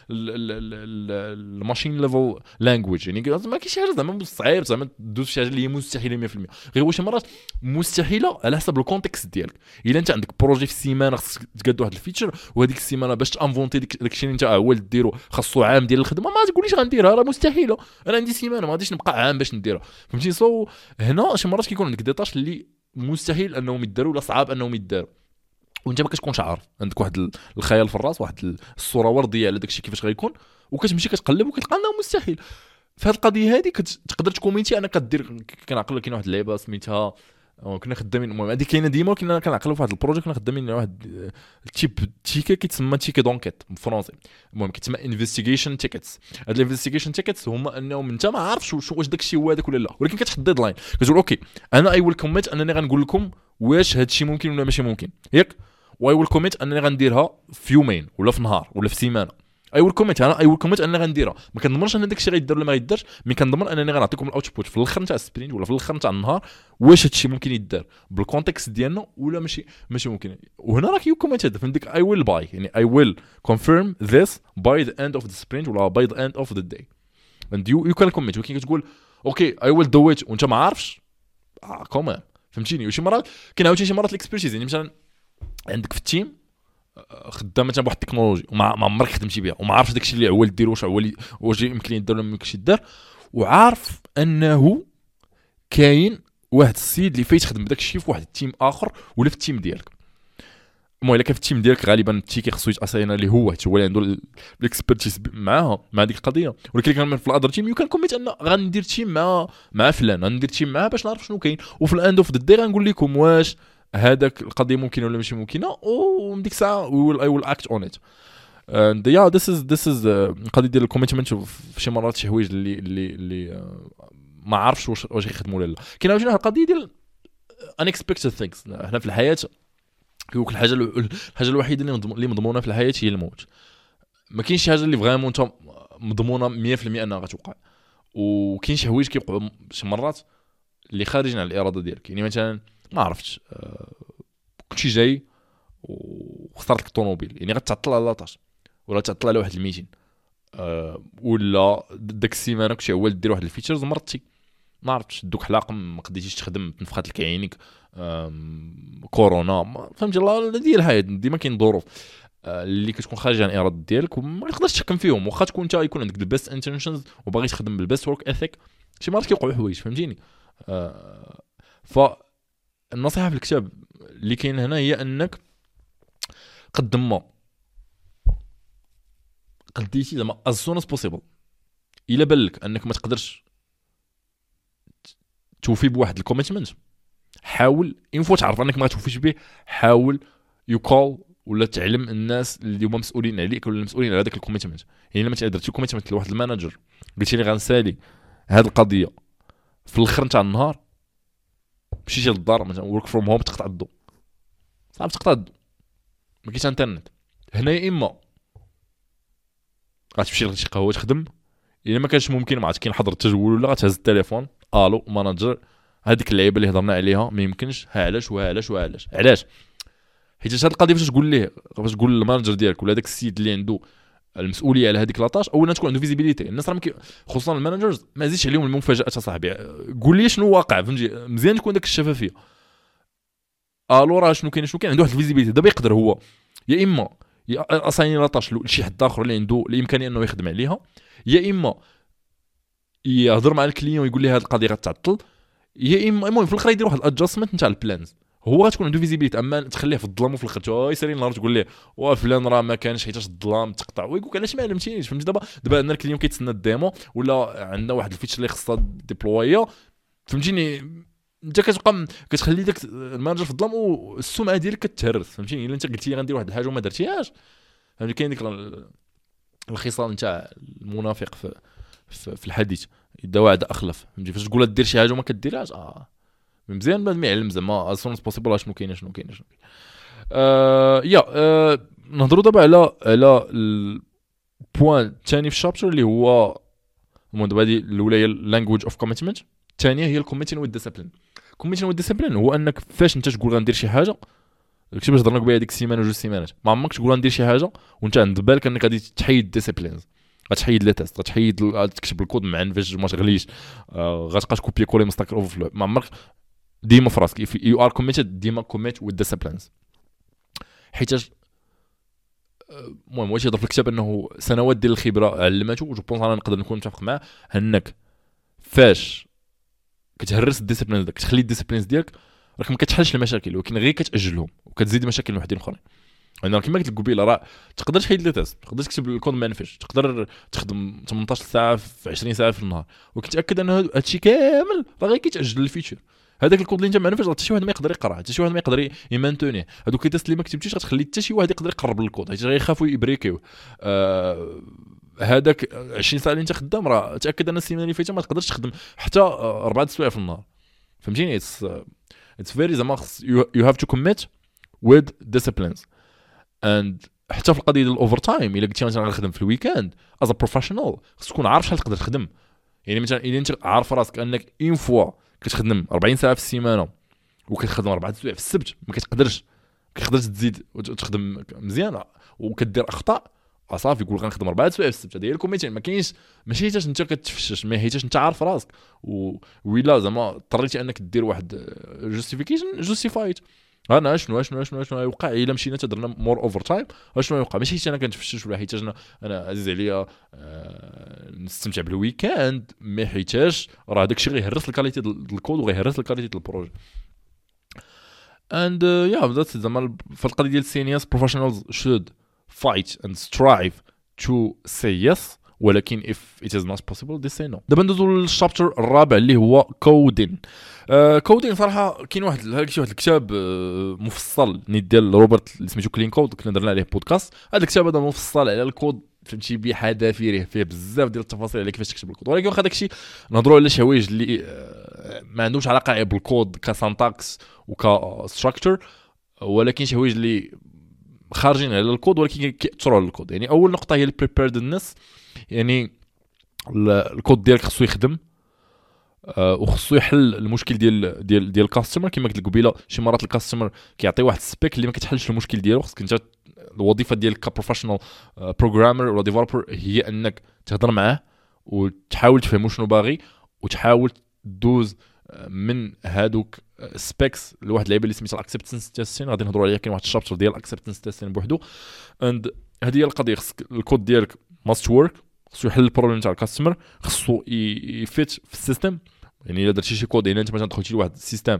الماشين ليفل لانجويج. يعني ما كاينش شي حاجه زعما صعيب زعما دوز شي حاجه اللي هي مستحيله مية في المية، غير واش مرات مستحيله على حسب الكونتكست ديالك. الا انت عندك بروجي في السيمانه خصك تقاد واحد الفيتشر وهذيك السيمانه باش تانفونتي داكشي اللي انت هو اللي ديرو خاصو عام ديال الخدمه، ما تقوليش غنديرها راه مستحيله. انا عندي سيمانه ما غاديش نبقى عام باش نديرها فهمتي. سو هنا شي مرات كيكون عندك ديطاش اللي مستحيل انهم يداروا ولا صعاب انهم يداروا وانت ما كتكونش عارف، عندك واحد الخيال في الراس واحد الصوره ورديه على داكشي كيفاش غيكون وكتمشي كتقلب وكتلقى انه مستحيل. فهاد القضيه هذه كتقدر تكومينتي انا كدير كنعقل كاين واحد اللعبه سميتها كنا خدامين. المهم هذه كاينه ديما، كنا كنعقلوا في واحد البروجيكت كنا خدامين على واحد التيب تيكي كيتسمى تيكي دونكيت بالفرنسي. المهم كيتسمى انفستيغيشن تيكيتس. هاد الانفستيغيشن تيكيتس هما انهم انت ما عارفش واش داك الشيء هو هذاك ولا لا، ولكن كتحط ديدلاين كتقول اوكي انا اي ويل كوميت انني غنقول لكم واش هاد الشيء ممكن ولا ماشي ممكن ياك، واي ويل كوميت انني غنديرها في يومين ولا في نهار ولا في سيمانه. اي ويل كوميت انا اي ويل كوميت انني غنديرها. ما كنضمنش ان داك الشيء غيدير ولا ما غيديرش، مي كنضمن انني غنعطيكم الاوتبوت في الاخر نتاع السبرينت ولا في الاخر نتاع النهار واش هاد الشيء ممكن يدار بالكونتكست ديالنا ولا ماشي ماشي ممكن. وهنا راك يو كوميت هذا فهمتك اي ويل باي يعني اي ويل كونفيرم ذس باي ذا اند اوف ذا سبرينت ولا باي ذا اند اوف ذا داي اند يو يو كان كوميت. ولكن كتقول اوكي اي ويل دو ات وانت ما عارفش اه كومان فهمتيني. وشي مرات كاين عاوتاني شي مرات الاكسبيرتيز يعني مثلا عندك في التيم خدام مثلا بواحد التكنولوجي وما ما عمرك خدمتي بها وما عارفش داكشي اللي عوال دير واش عوال واش يمكن يدير ولا ما يمكنش يدير، وعارف انه كاين واحد السيد اللي فايت خدم بداك الشيء في واحد التيم اخر ولا في التيم ديالك. المهم الا كان في التيم ديالك غالبا التيكي خصو يتاساينا اللي هو حيت هو اللي عنده الاكسبيرتيز معاها مع ديك القضيه. ولكن كان في الادر تيم يمكن كوميت ان غندير تيم مع مع فلان غندير تيم معاه باش نعرف شنو كاين، وفي الاند اوف ذا داي غنقول لكم واش هذاك القضيه ممكنه ولا ماشي ممكنه، ومن ديك الساعه وي ويل اي ويل اكت اون ات. اند يا ذس از ذس از القضيه ديال الكوميتمنت. في شي مرات شي حوايج اللي اللي اللي uh, ما عارفش واش واش يخدموا ولا لا. كاين عاوتاني واحد القضيه ديال unexpected things. حنا في الحياه كيقول الحاجه الحاجه الوحيده اللي اللي مضمونه في الحياه هي الموت. ما كاينش شي حاجه اللي فريمون انت مضمونه مية في المية انها غتوقع، وكاين شي حوايج كيوقعوا شي مرات اللي خارجين على الاراده ديالك. يعني مثلا ما عرفتش أه كلشي جاي وخسرت لك الطوموبيل يعني غتعطل على لاطاش ولا تعطل على واحد الميتين أه ولا داك السيمانه كلشي هو دير واحد الفيتشرز مرضتي ما عرفتش دوك حلاقه ما قديتيش تخدم تنفخات لك عينيك كورونا فهمتي الله ديال الحياه ديما كاين ظروف اللي كتكون خارجه عن الاراده ديالك وما تقدرش تحكم فيهم. واخا تكون انت يكون عندك البيست انتنشنز وباغي تخدم بالبيست ورك اثيك شي مرات كيوقعوا حوايج فهمتيني. أه فالنصيحه في الكتاب اللي كاين هنا هي انك قدم ما قديتي زعما as soon as possible الا بالك انك ما تقدرش توفي بواحد الكوميتمنت حاول انفو تعرف انك ما توفيش به حاول يقال ولا تعلم الناس اللي هما مسؤولين عليك ولا المسؤولين على هذاك الكوميتمنت. يعني لما درتي كوميتمنت لواحد المانجر قلتي لي غنسالي هذه القضيه في الاخر نتاع النهار مشيتي للدار مثلا ورك فروم هوم تقطع الضو صعب تقطع الضو ما كاينش انترنت هنا يا اما غتمشي لشي قهوه تخدم الا ما كانش ممكن ما عاد كاين حضر التجول ولا غتهز التليفون الو مانجر هذيك اللعيبه اللي هضرنا عليها ما يمكنش ها علاش وها علاش وها علاش علاش حيت هاد القضيه فاش تقول ليه فاش تقول للمانجر ديالك ولا داك السيد اللي عنده المسؤوليه على هذيك لاطاش اولا تكون عنده فيزيبيليتي. الناس راه خصوصا المانجرز ما زيدش عليهم المفاجات اصاحبي قول لي شنو واقع فهمتي مزيان تكون داك الشفافيه الو راه شنو كاين شنو كاين عنده واحد الفيزيبيليتي دابا يقدر هو يا اما اصايني لاطاش لشي حد اخر اللي عنده الامكانيه انه يخدم عليها يا اما يهضر مع الكليون ويقول لي هذه القضيه غتعطل يا اما المهم في الاخر يدير واحد الادجستمنت نتاع البلانز هو غتكون عنده فيزيبيليتي. اما تخليه في الظلام وفي الاخر تو يسالي النهار تقول ليه وا فلان راه ما كانش حيت الظلام تقطع ويقول لك علاش ما علمتينيش فهمتي. دابا دابا عندنا الكليون كيتسنى الديمو ولا عندنا واحد الفيتشر اللي خصها ديبلويا فهمتيني انت كتبقى كتخلي داك المانجر في الظلام والسمعه ديالك كتهرس فهمتيني. الا انت قلتي غندير واحد الحاجه وما درتيهاش فهمتي كاين ديك الخصال نتاع المنافق في في الحديث اذا وعد اخلف فهمتي. فاش تقول دير شي حاجه وما كديرهاش اه مزيان بعد ما يعلم زعما اسونس بوسيبل شنو كاين شنو كاين شنو كاين آه يا آه نهضروا دابا على على البوين الثاني في الشابتر اللي هو المهم دابا هذه الاولى هي اللانجويج اوف كوميتمنت الثانيه هي الكوميتين والديسيبلين. الكوميتين والديسيبلين هو انك فاش انت تقول غندير شي حاجه داكشي باش هضرنا بها هذيك السيمانه جوج سيمانات ما عمرك تقول غندير شي حاجه وانت عند بالك انك غادي تحيد ديسيبلينز غتحيد لي تيست غتحيد تكتب الكود معن فاش ما تغليش آه غتبقى تكوبي كولي مستقر اوفر ما عمرك ديما في راسك يو ار كوميتد ديما كوميت وذ ديسيبلينز حيت المهم واش يضرب في الكتاب انه سنوات ديال الخبره علمته جو بونس انا نقدر نكون متفق معاه انك فاش كتهرس الديسيبلينز داك تخلي الديسيبلينز ديالك راك ما كتحلش المشاكل ولكن غير كتاجلهم وكتزيد مشاكل وحدين اخرين. انا كما قلت لك قبيله راه تقدر تحيد لي تيست تقدر تكتب الكود ما ينفعش تقدر تخدم ثمانية عشر ساعه في عشرين ساعه في النهار وكتاكد ان هادشي كامل راه غير كيتاجل الفيتشر هذاك الكود اللي انت ما عرفتش حتى شي واحد ما يقدر يقراه، حتى شي واحد ما يقدر يمانتونيه. هذوك التيست اللي ما كتبتيش غتخلي حتى شي واحد يقدر يقرب للكود، حيت غيخافوا يبريكيو. آه هذاك عشرين ساعه اللي انت خدام، راه تاكد ان السيمانه اللي فاتت ما تقدرش تخدم حتى اربعه السوايع في النهار. فهمتيني؟ اتس اتس فيري زعما you have to commit with disciplines. and حتى في القضيه ديال الاوفر تايم، الا قلتي مثلا غنخدم في الويكاند از بروفيشنال، خصك تكون عارف شحال تقدر تخدم. يعني مثلا الا انت عارف راسك انك اون فوا كتخدم أربعين ساعه في السيمانه وكتخدم اربعه السوايع في السبت، ما كتقدرش كتقدرش تزيد وتخدم مزيان وكدير اخطاء، صافي يقول غنخدم اربعه سوايع في السبت. هذه هي الكوميتين. ما كاينش ماشي حيتاش انت كتفشش، ما حيتاش انت عارف راسك و ويلا زعما اضطريتي انك دير واحد جوستيفيكيشن جوستيفايد. انا شنو شنو شنو شنو يوقع الا مشينا تدرنا مور اوفر تايم، شنو يوقع؟ ماشي حيت انا كنتفشش ولا حيتاش انا انا عزيز عليا أه نستمتع بالويكاند، مي حيتاش راه داكشي غيهرس الكاليتي ديال الكود وغيهرس الكاليتي ديال البروجي. and uh, yeah that's زعما في القضيه ديال السينياس professionals should fight and strive to say yes، ولكن if it is not possible they say no. دابا ندوزو للشابتر الرابع اللي هو كودين. آه كودين صراحه كاين واحد هذاك شي واحد الكتاب آه مفصل نيت ديال روبرت اللي سميتو كلين كود، كنا درنا عليه بودكاست. هذا الكتاب هذا مفصل على الكود، فهمتي بحذافيره، فيه بزاف ديال التفاصيل على كيفاش تكتب الكود. ولكن واخا داكشي نهضروا على شي حوايج اللي آه ما عندهمش علاقه بالكود كسانتاكس وكستراكشر، ولكن شي حوايج اللي خارجين على الكود ولكن كيأثروا على الكود. يعني اول نقطه هي البريبيردنس، يعني الكود ديالك خصو يخدم أه وخصو يحل المشكل ديال ديال ديال الكاستمر. كما قلت لك قبيله شي مرات الكاستمر كيعطي واحد السبيك اللي ما كتحلش المشكل ديالو، خصك انت الوظيفه ديالك كبروفيشنال بروغرامر ولا ديفلوبر هي انك تهضر معاه وتحاول تفهمو شنو باغي وتحاول دوز من هادوك سبيكس لواحد اللعيبه اللي سميتها الاكسبتنس تيستين. غادي نهضروا عليها، كاين واحد الشابتر ديال الاكسبتنس تيستين بوحدو. اند هذه هي القضيه، خصك الكود ديالك ماست ورك، خصو يحل البروبليم تاع الكاستمر، خصو يفيت في السيستم. يعني الا درتي شي كود، يعني انت مثلا دخلتي لواحد السيستم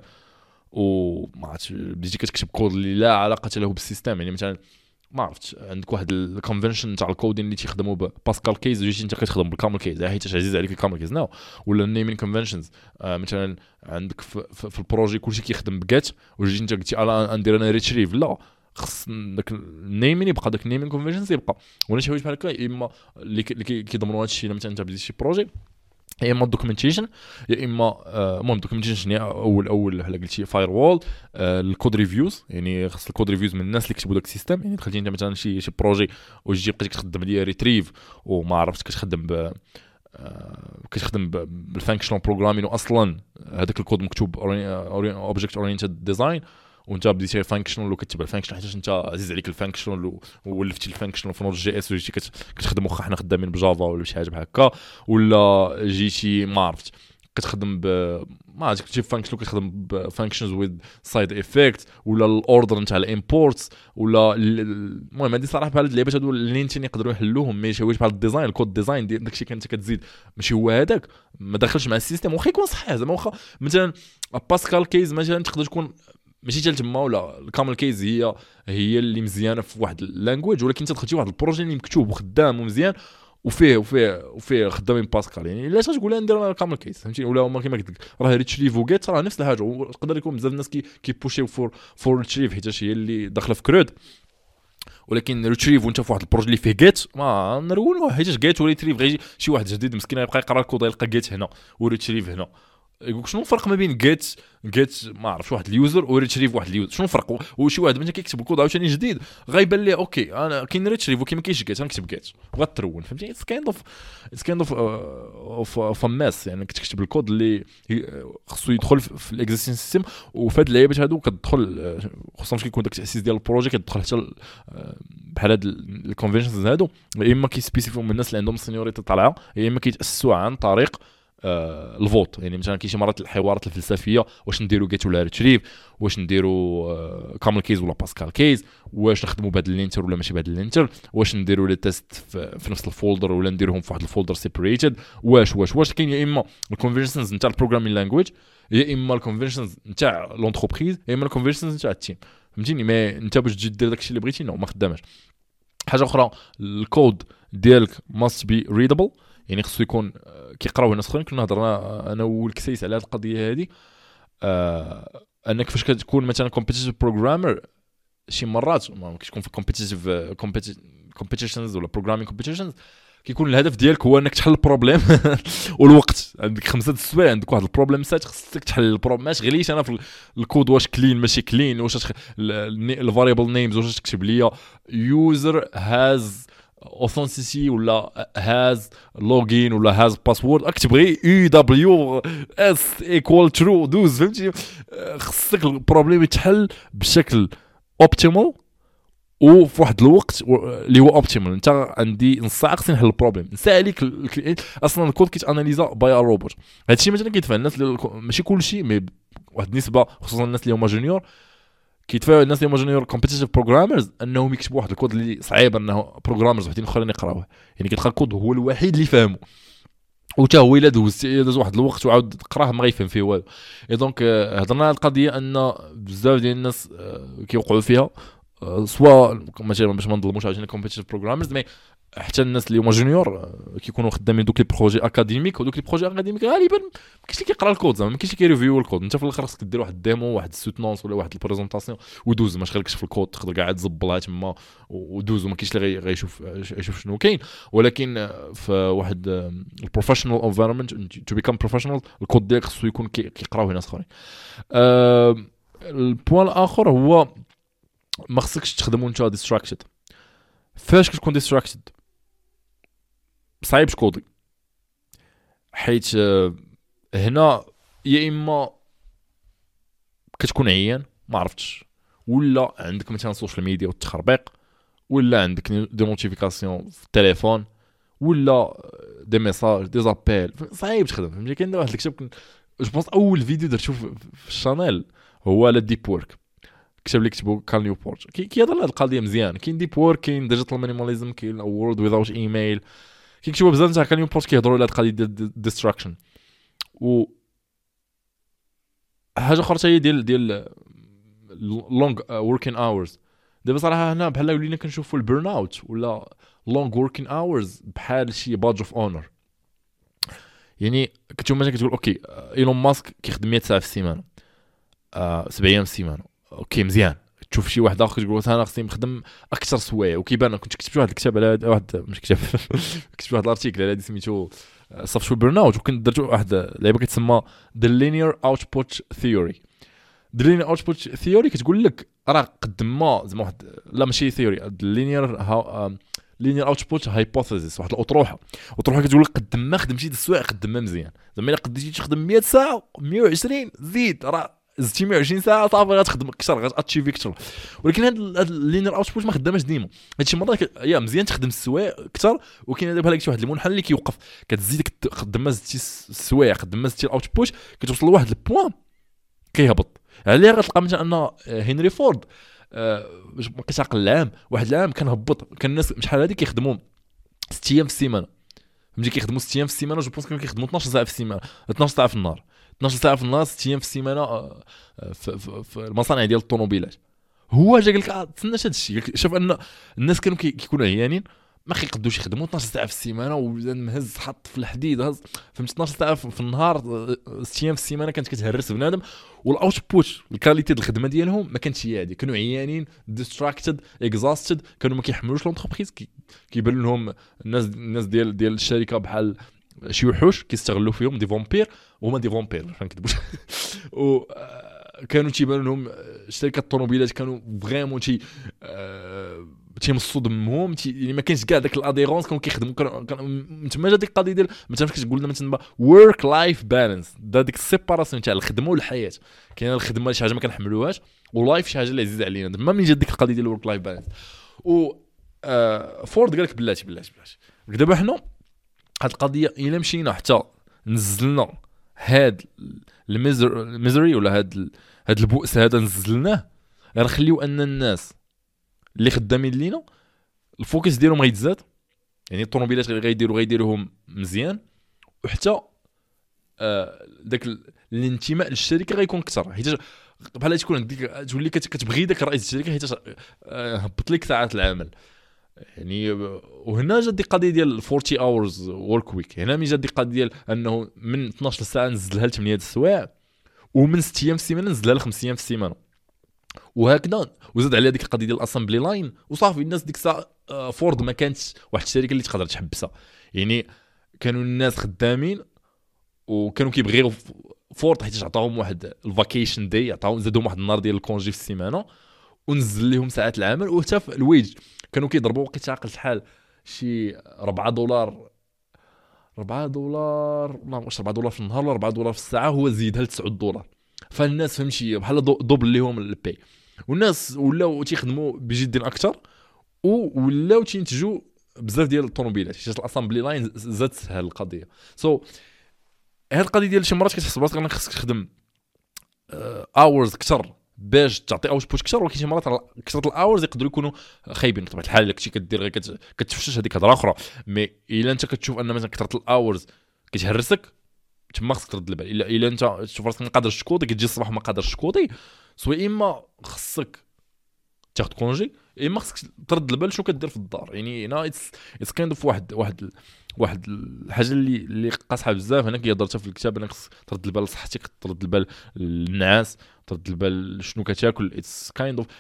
وما عرفتش بديتي كتكتب كود اللي لا علاقه له بالسيستم، يعني مثلا ما عرفتش عندك واحد الكونفنشن تاع الكودين اللي تيخدموا بباسكال كيز وجيتي انت كتخدم بالكامل كيز، حيت عزيز عليك الكامل كيز نو، ولا النيمين كونفنشنز. آه مثلا عندك في, في, في البروجي كلشي كيخدم بجيت وجيتي انت قلتي انا ندير انا ريتريف، لا خص داك النيمين يبقى، داك النيمين كونفنشنز يبقى. ولا شي حوايج بحال هكا يا اما اللي كيضمنوا هذا الشيء لما انت بديتي شي بروجي، يا اما الدوكيومنتيشن، يا اما المهم الدوكيومنتيشن هي اول اول بحال قلتي فاير وول. آه الكود ريفيوز، يعني خاص الكود ريفيوز من الناس اللي كتبوا داك السيستم. يعني دخلتي انت مثلا شي شي بروجي وجيتي بقيتي كتخدم عليا ريتريف وما عرفتش كتخدم ب آه كتخدم بالفانكشنال بروغرامين، واصلا هذاك الكود مكتوب اوبجكت اورينتد ديزاين وانت بديتي فانكشنال وكتبع الفانكشنال حيت انت عزيز عليك الفانكشنال وولفتي الفانكشنال في نوت جي اس وجيتي كتخدم واخا حنا خدامين بجافا ولا شي حاجه بحال هكا، ولا جيتي ما عرفت كتخدم ب ما عرفتش كتجيب فانكشن كتخدم بفانكشنز ويز سايد افكت، ولا الاوردر نتاع الامبورتس، ولا المهم هذه صراحه بحال هاد اللعيبات هادو اللي انت يقدروا يحلوهم. ماشي واش بحال الديزاين الكود ديزاين ديال داكشي كنت كتزيد ماشي هو هذاك ما داخلش مع السيستم، واخا يكون صحيح زعما واخا مثلا باسكال كيز مثلا تقدر تكون ماشي حتى تما، ولا الكامل كيز هي هي اللي مزيانه في واحد اللانجويج، ولكن انت دخلتي واحد البروجي اللي مكتوب وخدام ومزيان وفيه وفيه وفيه خدامين باسكال، يعني علاش تقول لها ندير انا الكامل كيس فهمتي؟ ولا هما كما قلت لك راه ريتريف وجيت راه نفس الحاجه، ويقدر يكون بزاف الناس كي كيبوشيو فور فور ريتريف حيت هي اللي داخله في كرود، ولكن ريتريف وانت في واحد البروجي اللي فيه جيت ما نرولوه حيت جيت وريتريف غيجي شي واحد جديد مسكين يبقى يقرا الكود يلقى جيت هنا وريتريف هنا. يقولك شنو الفرق ما بين جيت جيت ما عرفتش واحد اليوزر وريتريف واحد اليوزر، شنو الفرق؟ وشي واحد مثلا كيكتب الكود عاوتاني جديد غيبان ليه اوكي انا كاين ريتريف وكاين ما كاينش جيت غنكتب جيت وغترون فهمتي؟ اتس كايند اوف اتس كايند اوف اوف اوف ماس، يعني كتكتب الكود اللي خصو يدخل في الاكزيستين سيستم. وفي هاد اللعيبات هادو كتدخل خصوصا كيكون داك التاسيس ديال البروجي كتدخل حتى بحال هاد الكونفنشنز هادو، يا اما كيسبيسيفيو من الناس اللي عندهم سينيوريتي طالعه، يا اما كيتاسسوا عن طريق آه الفوت. يعني مثلا كاين شي مرات الحوارات الفلسفيه واش نديروا جيت ولا ريتريف، واش نديروا آه كامل كيز ولا باسكال كيز، واش نخدموا بهذا اللينتر ولا ماشي بهذا اللينتر، واش نديروا لي تيست في, في نفس الفولدر ولا نديروهم في واحد الفولدر سيبريتد، واش واش واش كاين يا اما الكونفرجنز نتاع البروغرامين لانجويج، يا اما الكونفرجنز نتاع لونتربريز، يا اما الكونفرجنز نتاع التيم فهمتيني؟ ما انت باش تجي دير داكشي اللي بغيتي نو ما خداماش. حاجه اخرى الكود ديالك ماست بي ريدابل، يعني خصو يكون كيقراوه الناس اخرين. كنا هضرنا انا والكسيس على هذه القضيه هذه. آه انك فاش كتكون مثلا كومبيتيتيف بروغرامر شي مرات ما كتكون في كومبيتيتيف كومبيتيشنز ولا بروغرامينغ كومبيتيشنز كيكون الهدف ديالك هو انك تحل البروبليم والوقت عندك خمسة السوايع عندك واحد البروبليم سات خصك تحل البروبليم ما تغليش انا في الكود واش كلين ماشي كلين واش الفاريبل نيمز واش تكتب ليا يوزر هاز اوثنتيسي ولا هاز لوجين ولا هاز باسورد اكتب غير يو دبليو اس ايكوال ترو دوز فهمتي خصك البروبليم يتحل بشكل اوبتيمال وفي واحد الوقت اللي هو اوبتيمال. انت عندي نص ساعه خصني نحل البروبليم نسى عليك اصلا الكود كيت اناليزا باي ا روبوت. هادشي مثلا كيتفهم الناس ماشي كلشي مي واحد النسبه خصوصا الناس اللي هما جونيور كيتفاهم الناس اللي هما جونيور كومبيتيتيف بروغرامرز انهم يكتبوا واحد الكود اللي صعيب انه بروغرامرز وحدين اخرين يقراوه يعني كيلقى الكود هو الوحيد اللي فاهمه وتا هو الا دوز دوز واحد الوقت وعاود قراه ما غيفهم فيه والو. اي دونك هضرنا على القضيه ان بزاف ديال الناس كيوقعوا فيها سواء مثلا باش ما نظلموش عاوتاني كومبيتيتيف بروغرامرز مي حتى الناس اللي هما جونيور كيكونوا خدامين دوك لي بروجي اكاديميك ودوك لي بروجي اكاديميك غالبا ما كاينش اللي كيقرا الكود زعما ما كاينش اللي كيريفيو الكود. انت في الاخر خصك دير واحد الديمو واحد السوتنونس ولا واحد البريزونطاسيون ودوز ما شغلكش في الكود تقدر كاع تزبلها تما ودوز وما كاينش اللي غيشوف يشوف شنو كاين. ولكن في واحد البروفيشنال انفايرمنت تو بيكام بروفيشنال الكود ديالك خصو يكون كيقراوه ناس اخرين. أه البوان الاخر هو ما خصكش تخدموا نتا ديستراكتد. فاش كتكون ديستراكتد صعيب تكودي حيت هنا يا اما كتكون عيان ما عرفتش ولا عندك مثلا السوشيال ميديا والتخربيق ولا عندك دي نوتيفيكاسيون في التليفون ولا دي ميساج دي زابيل صعيب تخدم. فهمتي كاين واحد الكتاب جو بونس اول فيديو درتو في الشانيل هو على ديب وورك كتب لي كتبوا كان نيوبورت كي كيهضر على هذه القضيه مزيان. كاين ديب وورك كاين ديجيتال مينيماليزم كاين وورلد ويزاوت ايميل كيكتبوا بزاف تاع كان نيوبورت كيهضروا على هذه القضيه ديال ديستراكشن. و حاجه اخرى هي ديال ديال لونغ وركين اورز. دابا صراحه هنا بحال ولينا كنشوفوا البيرن اوت ولا لونغ وركين اورز بحال شي بادج اوف اونر. يعني كتشوف مثلا كتقول اوكي ايلون ماسك كيخدم مية ساعه في السيمانه آه سبع ايام في السيمانه اوكي مزيان. تشوف شي واحد اخر تقول انا خصني نخدم اكثر سوايع وكيبان كنت كتبت واحد الكتاب على واحد مش كتاب كتبت واحد الارتيكل على هذه سميتو صفشو البيرن اوت وكنت درت واحد لعبه كتسمى The Linear Output Theory. The Linear Output Theory كتقول لك راه قد ما زعما واحد لا ماشي ثيوري The Linear Linear Output Hypothesis واحد الاطروحه اطروحه كتقول لك قد ما خدمتي د السوايع قد ما مزيان. زعما الا قديتي تخدم مية ساعه مية وعشرين زيد راه زدتي مية وعشرين ساعه صافي غتخدم اكثر غاتشيفي اكثر. ولكن هذا اللينير اوتبوت ما خدامش ديما. هادشي مرات يا مزيان تخدم السوايع اكثر وكاين دابا بحال واحد المنحنى اللي كيوقف كتزيد قد ما زدتي السوايع قد ما زدتي الاوتبوت كتوصل لواحد البوان كيهبط. عليه غتلقى مثلا ان هنري فورد أه ما كيتعقل العام واحد العام كان هبط كان الناس شحال هادي كيخدموا ست ايام في السيمانه. فهمتي كيخدموا ست ايام في السيمانه جو بونس كانوا كيخدموا اثناش ساعه في السيمانه اثناش ساعه في النهار اثناش ساعه في النهار ست ايام في السيمانه في, في, في المصانع ديال الطوموبيلات. هو جا قال لك تسناش هذا الشيء شوف ان الناس كانوا كيكونوا عيانين ما كيقدوش يخدموا اثناش ساعه في السيمانه ومهز حط في الحديد هز فهمت اثناش ساعه في النهار ست ايام في السيمانه كانت كتهرس بنادم والاوتبوت الكاليتي ديال الخدمه ديالهم ما كانتش هي هذه. كانوا عيانين ديستراكتد اكزاستد كانوا ما كيحملوش لونتربريز كيبان لهم الناس الناس ديال ديال الشركه بحال شي وحوش كيستغلوا فيهم دي فامبير وهما دي فامبير ما نكذبوش. و كانوا تيبان لهم شركات الطوموبيلات كانوا فريمون تي تيمصوا دمهم يعني ما كاينش كاع داك الاديرونس كانوا كيخدموا كان تما جا ديك القضيه ديال مثلا كتقول لنا مثلا ورك لايف بالانس ديك السيباراسيون تاع الخدمه والحياه. كاينه الخدمه شي حاجه ما كنحملوهاش ولايف شي حاجه اللي عزيزه علينا. تما من جا ديك القضيه ديال ورك لايف بالانس و فورد قال لك بلاتي بلاتي بلاتي دابا حنا هاد القضيه الا مشينا حتى نزلنا هاد الميزري ولا هاد هاد البؤس هذا نزلناه غنخليو ان الناس اللي خدامين لينا الفوكس ديالهم غيتزاد يعني الطوموبيلات غيديروا غيديروهم مزيان وحتى آه داك الانتماء للشركه غيكون اكثر حيت بحال تكون عندك تولي كتبغي داك رئيس الشركه حيت هبط لك ساعات العمل يعني. وهنا جات دي قضيه ديال أربعين اورز ورك ويك. هنا ملي جات دي قضيه ديال انه من اثناش ساعه نزلها ل ثمانية السوايع ومن ست ايام في السيمانه نزلها ل خمس ايام في السيمانه وهكذا. وزاد عليها ديك القضيه ديال الاسامبلي لاين وصافي. الناس ديك الساعه فورد ما كانتش واحد الشركه اللي تقدر تحبسها، يعني كانوا الناس خدامين وكانوا كيبغيو فورد حيت عطاهم واحد الفاكيشن داي، عطاهم زادهم واحد النهار ديال الكونجي في السيمانه ونزل لهم ساعات العمل. وحتى في الويج كانوا كيضربوا وقيت عاقل شحال شي أربعة دولار أربعة دولار ما واش أربعة دولار في النهار ولا أربعة دولار في الساعه، هو زيدها ل تسعة دولار. فالناس فهمتي بحال دوبل ليهم البي، والناس ولاو تيخدموا بجد اكثر ولاو تينتجوا بزاف ديال الطوموبيلات حيت الاسامبلي لاين زاد سهل القضيه. سو so, هاد القضيه ديال شي مرات كتحس براسك انك خصك تخدم اورز اكثر باش تعطي اوت بوت اكثر، ولكن شي مرات كثره الاورز يقدروا يكونوا خايبين بطبيعه الحال. داكشي كدير غير كتفشش هذيك هضره اخرى. مي الا انت كتشوف ان مثلا كثره الاورز كتهرسك تما خصك ترد البال. الا الا انت تشوف راسك ما قادرش تكودي كتجي الصباح ما قادرش تكودي، سواء اما خصك تاخذ كونجي اما خصك ترد البال شنو كدير في الدار. يعني هنا اتس اتس كايند اوف واحد واحد واحد الحاجه اللي اللي قاصحه بزاف. هنا كيهضر في الكتاب انك خصك ترد البال لصحتك، ترد البال للنعاس، ترد البال شنو كتاكل. اتس كايند اوف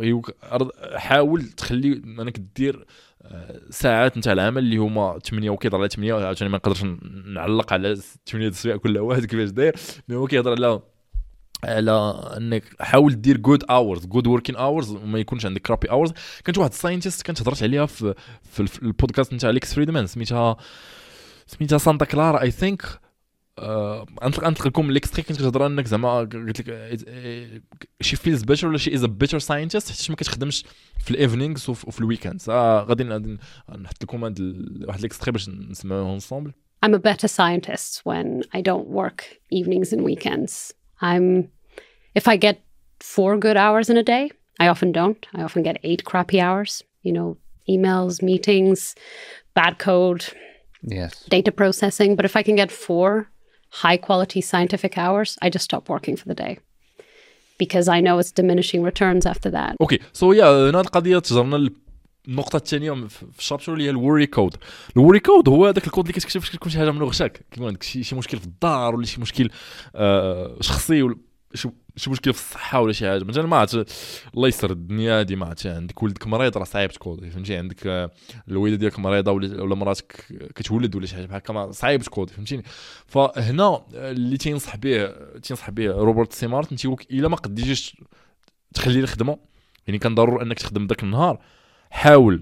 حاول تخلي انك دير ساعات نتاع العمل اللي هما ثمانية وكيضر على ثمانية عشان ما نقدرش نعلق على ثمانية السوايع كل واحد كيفاش داير. مي هو كيهضر على على انك حاول دير جود اورز جود وركين اورز وما يكونش عندك كرابي اورز. كانت واحد الساينتيست كانت هضرت عليها في في البودكاست نتاع اليكس فريدمان سميتها سميتها سانتا كلارا اي ثينك. انطلق لكم الاكستري. كنت كتهضر انك زعما قلت لك شي فيلز بيتر ولا شي از ا بيتر ساينتيست حيت ما كتخدمش في الايفنينغز وفي الويكاندز. آه غادي نحط لكم هاد واحد الاكستري باش نسمعوه انصامبل. I'm a better scientist when I don't work evenings and weekends. I'm if I get four good hours in a day, I often don't. I often get eight crappy hours, you know, emails, meetings, bad code, yes, data processing. But if I can get four high quality scientific hours, I just stop working for the day because I know it's diminishing returns after that. Okay, so yeah, هنا القضيه تجرنا النقطه الثانيه في الشابتر اللي هي الوري كود. الوري كود هو هذاك الكود اللي كتكتب فاش كتكون شي حاجه من غشاك، كيكون عندك شي شي مشكل في الدار ولا شي مشكل آه شخصي ولا شي شي مشكل في الصحه ولا شي حاجه مثلا ما عرفت الله يسر الدنيا دي ما عرفت عندك ولدك مريض راه صعيب تكودي فهمتي، عندك آه الوالده ديالك مريضه ولا ولا مراتك كتولد ولا شي حاجه بحال هكا صعيب تكودي فهمتيني. فهنا اللي تينصح به تينصح به روبرت سي مارتن تيقول الا ما قديتيش تخلي الخدمه يعني كان ضروري انك تخدم داك النهار حاول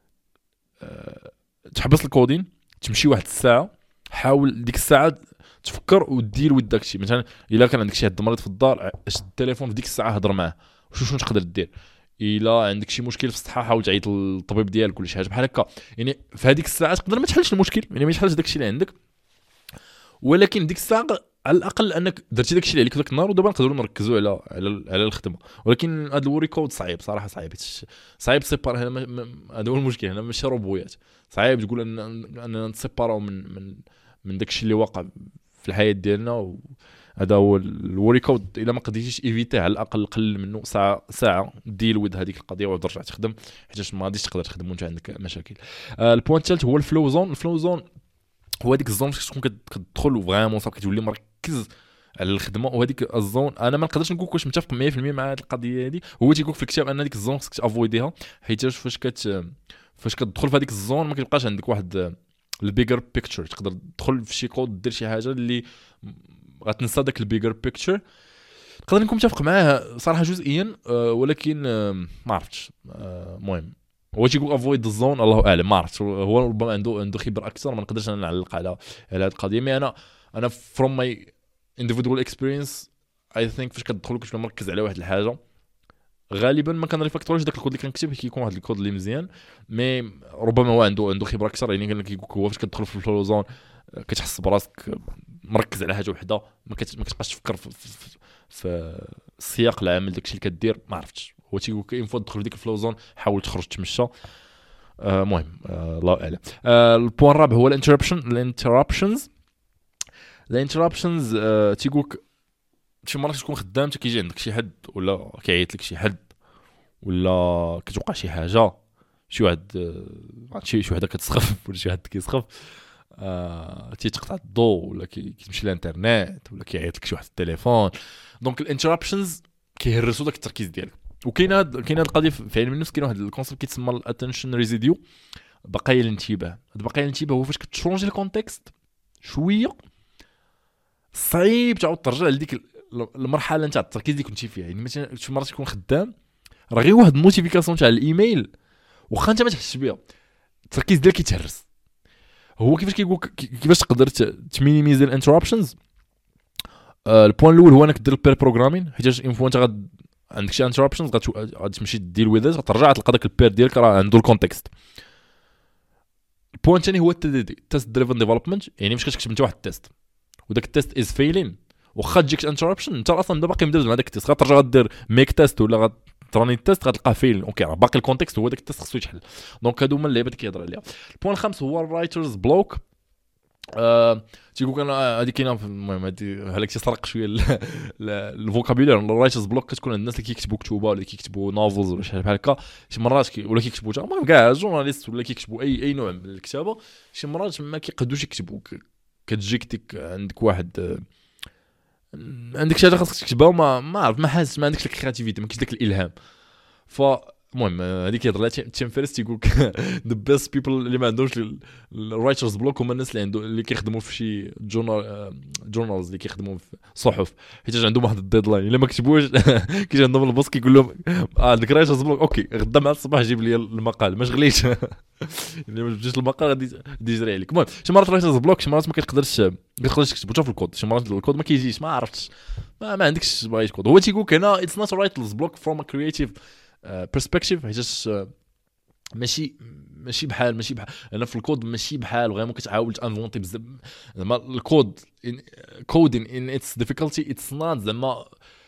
أه تحبس الكودين تمشي واحد الساعه، حاول ديك الساعه تفكر ودير ود داكشي. مثلا الا كان عندك شي حد مريض في الدار شد التليفون في ديك الساعه هضر معاه وشوف شنو تقدر دير. الا عندك شي مشكل في الصحه حاول تعيط للطبيب ديالك ولا شي حاجه بحال هكا. يعني في هذيك الساعه تقدر ما تحلش المشكل يعني ما يحلش داكشي اللي عندك، ولكن ديك الساعه على الاقل انك درتي داكشي اللي عليك ذاك النهار ودابا نقدروا نركزوا على على على الخدمه. ولكن هذا الوري كود صعيب صراحه صعيب صعيب سيبار. هنا هذا هو المشكل، هنا ماشي روبويات صعيب تقول ان اننا نسيباراو من من من داكشي اللي واقع في الحياه ديالنا. هذا هو الوري كود. الا ما قدرتيش ايفيتيه على الاقل قلل منه ساعه ساعه ديل ود هذيك القضيه وترجع تخدم حيت ما غاديش تقدر تخدم وانت عندك مشاكل. آه البوينت الثالث هو الفلو زون. الفلو زون هو هذيك الزون فاش تكون كتدخل فريمون صافي كتولي مركز على الخدمه. وهذيك الزون انا ما نقدرش نقول واش متفق مية بالمية مع هذه القضيه هذه. هو تيقول في الكتاب ان هذيك الزون خصك تافويديها حيت فاش كت فاش كتدخل في هذيك الزون ما كيبقاش عندك واحد البيجر بيكتشر. تقدر تدخل في شي كود دير شي حاجه اللي غتنسى داك البيجر بيكتشر. نقدر نكون متفق معاه صراحه جزئيا أه ولكن أه ما عرفتش. المهم أه هو تيقول افويد الزون الله اعلم ما عرفتش. هو ربما عنده عنده خبره اكثر ما نقدرش انا نعلق على على هذه القضيه. مي انا انا فروم ماي individual experience I think فاش كتدخل كتبقى مركز على واحد الحاجه غالبا ما كان ريفاكتوريش داك الكود اللي كنكتب كيكون واحد الكود اللي مزيان. مي ربما هو عنده عنده خبره اكثر يعني قال لك هو فاش كتدخل في الفلو زون كتحس براسك مركز على حاجه وحده ما كتبقاش تفكر في, في, في سياق العمل داكشي اللي كدير ما عرفتش. هو تيقول كاين فوا تدخل في ديك الفلو زون حاول تخرج تمشى. المهم آه الله اعلم. آه البوان الرابع هو الانتربشن الانتربشنز الانتربشنز آه تيقول شي مرات تكون خدام حتى كيجي عندك شي حد ولا كيعيط لك شي حد ولا كتوقع شي حاجه شي واحد شي شي وحده كتسخف ولا شي حد كيسخف آه تيتقطع الضوء ولا كيمشي الانترنت ولا كيعيط لك شي واحد في التليفون. دونك الانترابشنز كيهرسوا داك التركيز ديالك. وكاينه كاينه القضيه في علم النفس، كاين واحد الكونسيبت كيتسمى الاتنشن ريزيديو، بقايا الانتباه. هاد بقايا الانتباه هو فاش كتشونجي الكونتكست شويه صعيب تعاود ترجع لديك المرحله نتاع التركيز اللي كنتي فيها. يعني مثلا شي مرات تكون خدام راه غير واحد النوتيفيكاسيون تاع الايميل واخا انت ما تحسش بها التركيز ديالك كيتهرس. هو كيفاش كيقول كيفاش تقدر تمينيميزي الانترابشنز. آه البوين الاول هو انك دير البير بروغرامين، حيت اون فوا انت غاد عندك شي انترابشنز غادي تمشي دير ويز غترجع تلقى داك البير ديالك راه عنده الكونتكست. البوين الثاني هو التيست دريفن ديفلوبمنت، يعني مش كتكتب انت واحد التيست وداك التيست از فيلين واخا تجيك انترابشن انت اصلا دابا باقي مدرب مع داك التيست، غترجع غدير ميك تيست ولا غتراني التيست غتلقاه فيلين. اوكي راه باقي الكونتكست هو داك التيست خصو يتحل. دونك هادو هما اللعيبات اللي كيهضر عليها. البوين الخامس هو الرايترز بلوك. آه، تيقول كان هذه كاينه. المهم هذه هلاك تيسرق شويه الفوكابولير. الرايترز بلوك كتكون عند الناس اللي كيكتبوا كتوبه ولا كيكتبوا نوفلز ولا شي بحال هكا. شي مرات كي ولا كيكتبوا المهم كاع جورناليست ولا كيكتبوا اي اي نوع من الكتابه. شي مرات ما كيقدوش يكتبوا، كتجيك ديك عندك واحد عندك شي حاجه خاصك تكتبها وما ما عرف ما حاسس ما عندكش الكرياتيفيتي، ما كاينش داك الالهام. ف المهم هذيك كيهضر لها تيم فيرس تيقول ذا بيست بيبل اللي ما عندهمش الرايترز بلوك هما الناس اللي عندهم اللي كيخدموا في شي جورنال جورنالز اللي كيخدموا في صحف، حيت عندهم واحد الديدلاين الا ما كتبوش كيجي عندهم البوس كيقول لهم اه عندك رايترز بلوك اوكي غدا مع الصباح جيب لي المقال ما شغليش اللي ما جبتيش المقال غادي يجري عليك. المهم شي مرات رايترز بلوك شي مرات ما كتقدرش ما كتقدرش تكتب حتى في الكود، شي مرات الكود ما كيجيش ما عرفتش ما, ما عندكش باغي كود. هو تيقول هنا اتس نوت رايترز بلوك فروم ا كرييتيف برسبكتيف، حيت ماشي ماشي بحال ماشي بحال انا في الكود ماشي بحال غير ممكن تحاول تانفونتي بزاف. زعما الكود كودين ان اتس ديفيكولتي اتس نوت زعما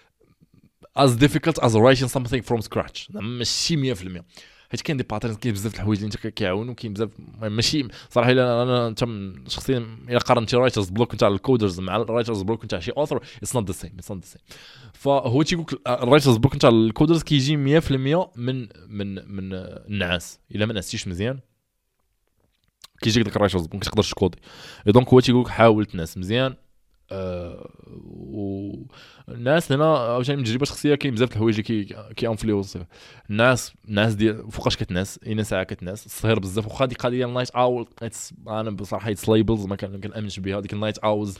as difficult as writing something from scratch. زعما ماشي مية في المية، حيت كاين دي باترنز كاين بزاف د الحوايج اللي انت كيعاونوا كاين بزاف ماشي صراحه. الا انا انت شخصيا الا قارنتي رايترز بلوك نتاع الكودرز مع الرايترز بلوك نتاع شي اوثر اتس نوت ذا سيم اتس نوت ذا سيم. فهو تيقول الرايترز بلوك نتاع الكودرز كيجي مية في المية من من من النعاس. الا ما نعستيش مزيان كيجيك داك الرايترز بلوك تقدرش تكودي. دونك هو تيقول حاول تنعس مزيان. أه والناس هنا عاوتاني من تجربه شخصيه كاين بزاف د الحوايج اللي كي كيانفلونسيو الناس. الناس ديال فوقاش كتنعس اين ساعه كتنعس الصهير بزاف. واخا ديك القضيه النايت اول انا بصراحه يتس ليبلز ما كنامنش بها. ديك النايت اولز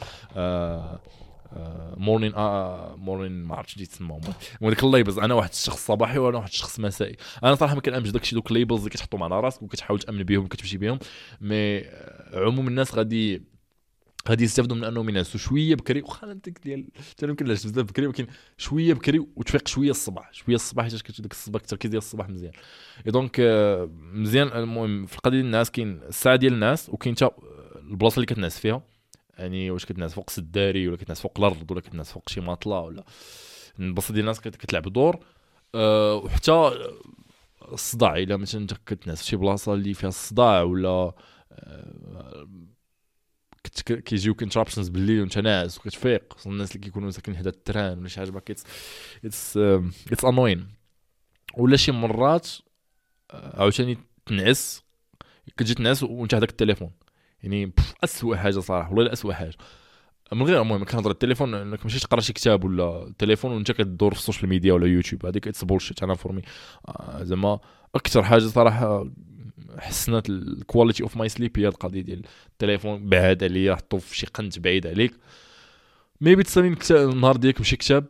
مورنين مورنين ما عرفتش ديت تسمى وديك الليبلز. انا واحد الشخص صباحي وانا واحد الشخص مسائي. انا صراحه ما كنامنش داكشي دوك الليبلز اللي كتحطهم على راسك وكتحاول تامن بهم وكتمشي بهم. مي عموم الناس غادي غادي يستافدوا من انهم ينعسوا شويه بكري. واخا ديك ديال حتى يمكن نعس بزاف بكري ولكن شويه بكري وتفيق شويه الصباح شويه الصباح حيت كتجي ديك الصباح التركيز ديال الصباح مزيان. اي دونك مزيان. المهم في القضيه ديال الناس كاين الساعه ديال الناس وكاين حتى البلاصه اللي كتنعس فيها. يعني واش كتنعس فوق السداري ولا كتنعس فوق الارض ولا كتنعس فوق شي ماطله ولا البلاصه ديال الناس كتلعب دور. أه وحتى الصداع الا مثلا انت كتنعس في شي بلاصه اللي فيها الصداع ولا أه كيجيوك انترابشنز بالليل وانت ناعس وكتفيق. الناس اللي كيكونوا ساكنين حدا التران ولا شي حاجه باكيت اتس اتس انوين. ولا شي مرات عاوتاني تنعس كتجي تنعس وانت هذاك التليفون. يعني اسوء حاجه صراحه والله اسوء حاجه من غير المهم كنهضر التليفون انك ماشي تقرا شي كتاب ولا التليفون وانت كدور في السوشيال ميديا ولا يوتيوب. هذيك اتس بولشيت. انا فورمي زعما اكثر حاجه صراحه حسنت الكواليتي اوف ماي سليب هي القضيه ديال التليفون بعاد عليا حطو في شي قنت بعيد عليك. ميبي تسالين النهار ديالك بشي كتاب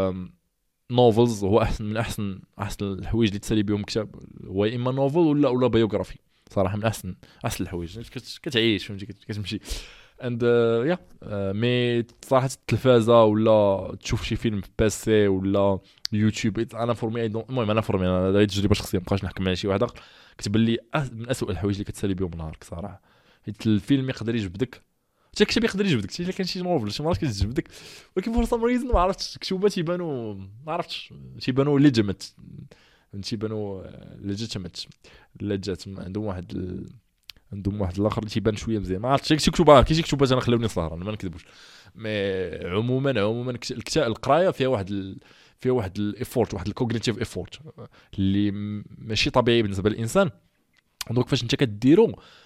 نوفلز هو احسن من احسن احسن الحوايج اللي تسالي بهم كتاب هو اما نوفل ولا ولا بايوغرافي صراحه من احسن احسن الحوايج كتعيش فهمتي كتمشي اند يا مي صراحه التلفازه ولا تشوف شي فيلم في باسي ولا يوتيوب انا فورمي المهم انا فورمي انا هذه تجربه شخصيه مابقاش نحكم على شي واحد اخر كتب لي من اسوء الحوايج اللي كتسالي بهم نهارك صراحه. حيت الفيلم يقدر يجبدك حتى كتاب يقدر يجبدك حتى الا كان شي نوفل شي مرات كتجبدك ولكن فور سام ريزن ما عرفتش كتوبات تيبانوا ما عرفتش تيبانوا ليجيمت تيبانوا ليجيتيمت لجات عندهم واحد ال... عندهم واحد الاخر اللي تيبان شويه مزيان ما عرفتش شي كتوبه كاين شي كتوبات انا خلاوني سهران ما نكذبوش. مي عموما عموما الكتاب القرايه فيها واحد ال... فيها واحد الايفورت واحد الكوغنيتيف ايفورت اللي ماشي طبيعي بالنسبه للانسان. دونك فاش انت كديرو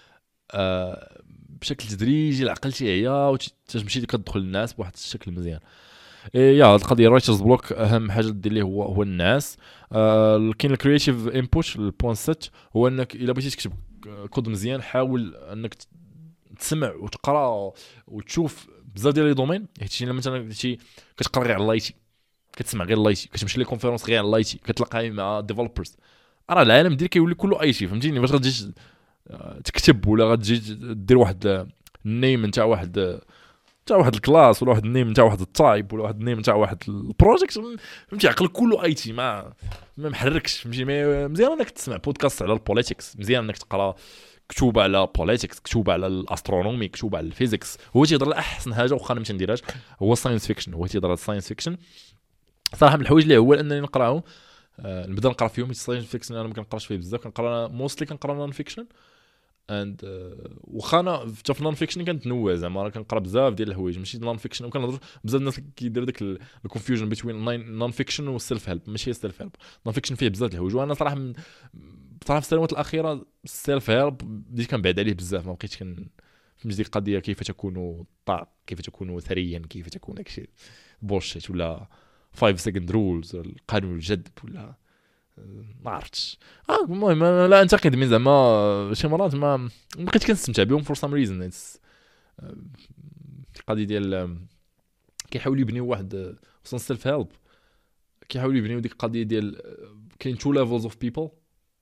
آه بشكل تدريجي العقل تيعيا وتمشي كتدخل الناس بواحد الشكل مزيان. يا هاد القضيه رايترز بلوك اهم حاجه دير ليه هو هو الناس. آه كاين الكرييتيف انبوت البوين ست هو انك الا بغيتي تكتب كود مزيان حاول انك تسمع وتقرا وتشوف بزاف ديال لي دومين. حيت الا مثلا شي كتقرا غير على لايتي كتسمع غير لايتي كتمشي لي كونفيرونس غير على لايتي كتلاقى مع ديفلوبرز راه العالم ديالك كيولي كله اي شي فهمتيني. باش غتجي تكتب ولا غتجي دير واحد النيم نتاع واحد تاع واحد الكلاس ولا واحد النيم نتاع واحد التايب ولا واحد النيم نتاع واحد البروجيكت فهمتي عقلك كله اي تي ما ما محركش فهمتي. مزيان انك تسمع بودكاست على البوليتيكس مزيان انك تقرا كتب على بوليتيكس كتب على الاسترونومي كتب على الفيزيكس. هو تيهضر احسن حاجه واخا انا ما تنديرهاش هو الساينس فيكشن. هو تيهضر على الساينس فيكشن صراحه من الحوايج اللي هو انني نقراهم أه نبدا نقرا فيهم. الساينس فيكشن انا ما كنقراش فيه بزاف كنقرا موستلي كنقرا نون فيكشن اند uh, واخا انا في نون فيكشن كنتنوع زعما كنقرا بزاف ديال الحوايج ماشي نون فيكشن. وكنهضر بزاف الناس كيدير داك الكونفيوجن بين نون فيكشن والسيلف هيلب. ماشي سيلف هيلب نون فيكشن فيه بزاف د الحوايج وانا صراحه من بصراحه في السنوات الاخيره السيلف هيلب بديت كنبعد عليه بزاف ما بقيتش كن فهمت ديك القضيه كيف تكون طاق كيف تكون ثريا كيف تكون داكشي بوشيت ولا خمسة سكند رولز القانون الجذب ولا ما عرفتش. اه المهم لا انتقد من زعما شي مرات ما بقيت كنستمتع بهم فور سام ريزن. القضيه ديال كيحاولوا يبنيو واحد خصوصا سيلف هيلب كيحاولوا يبنيو ديك القضيه ديال كاين تو ليفلز اوف بيبل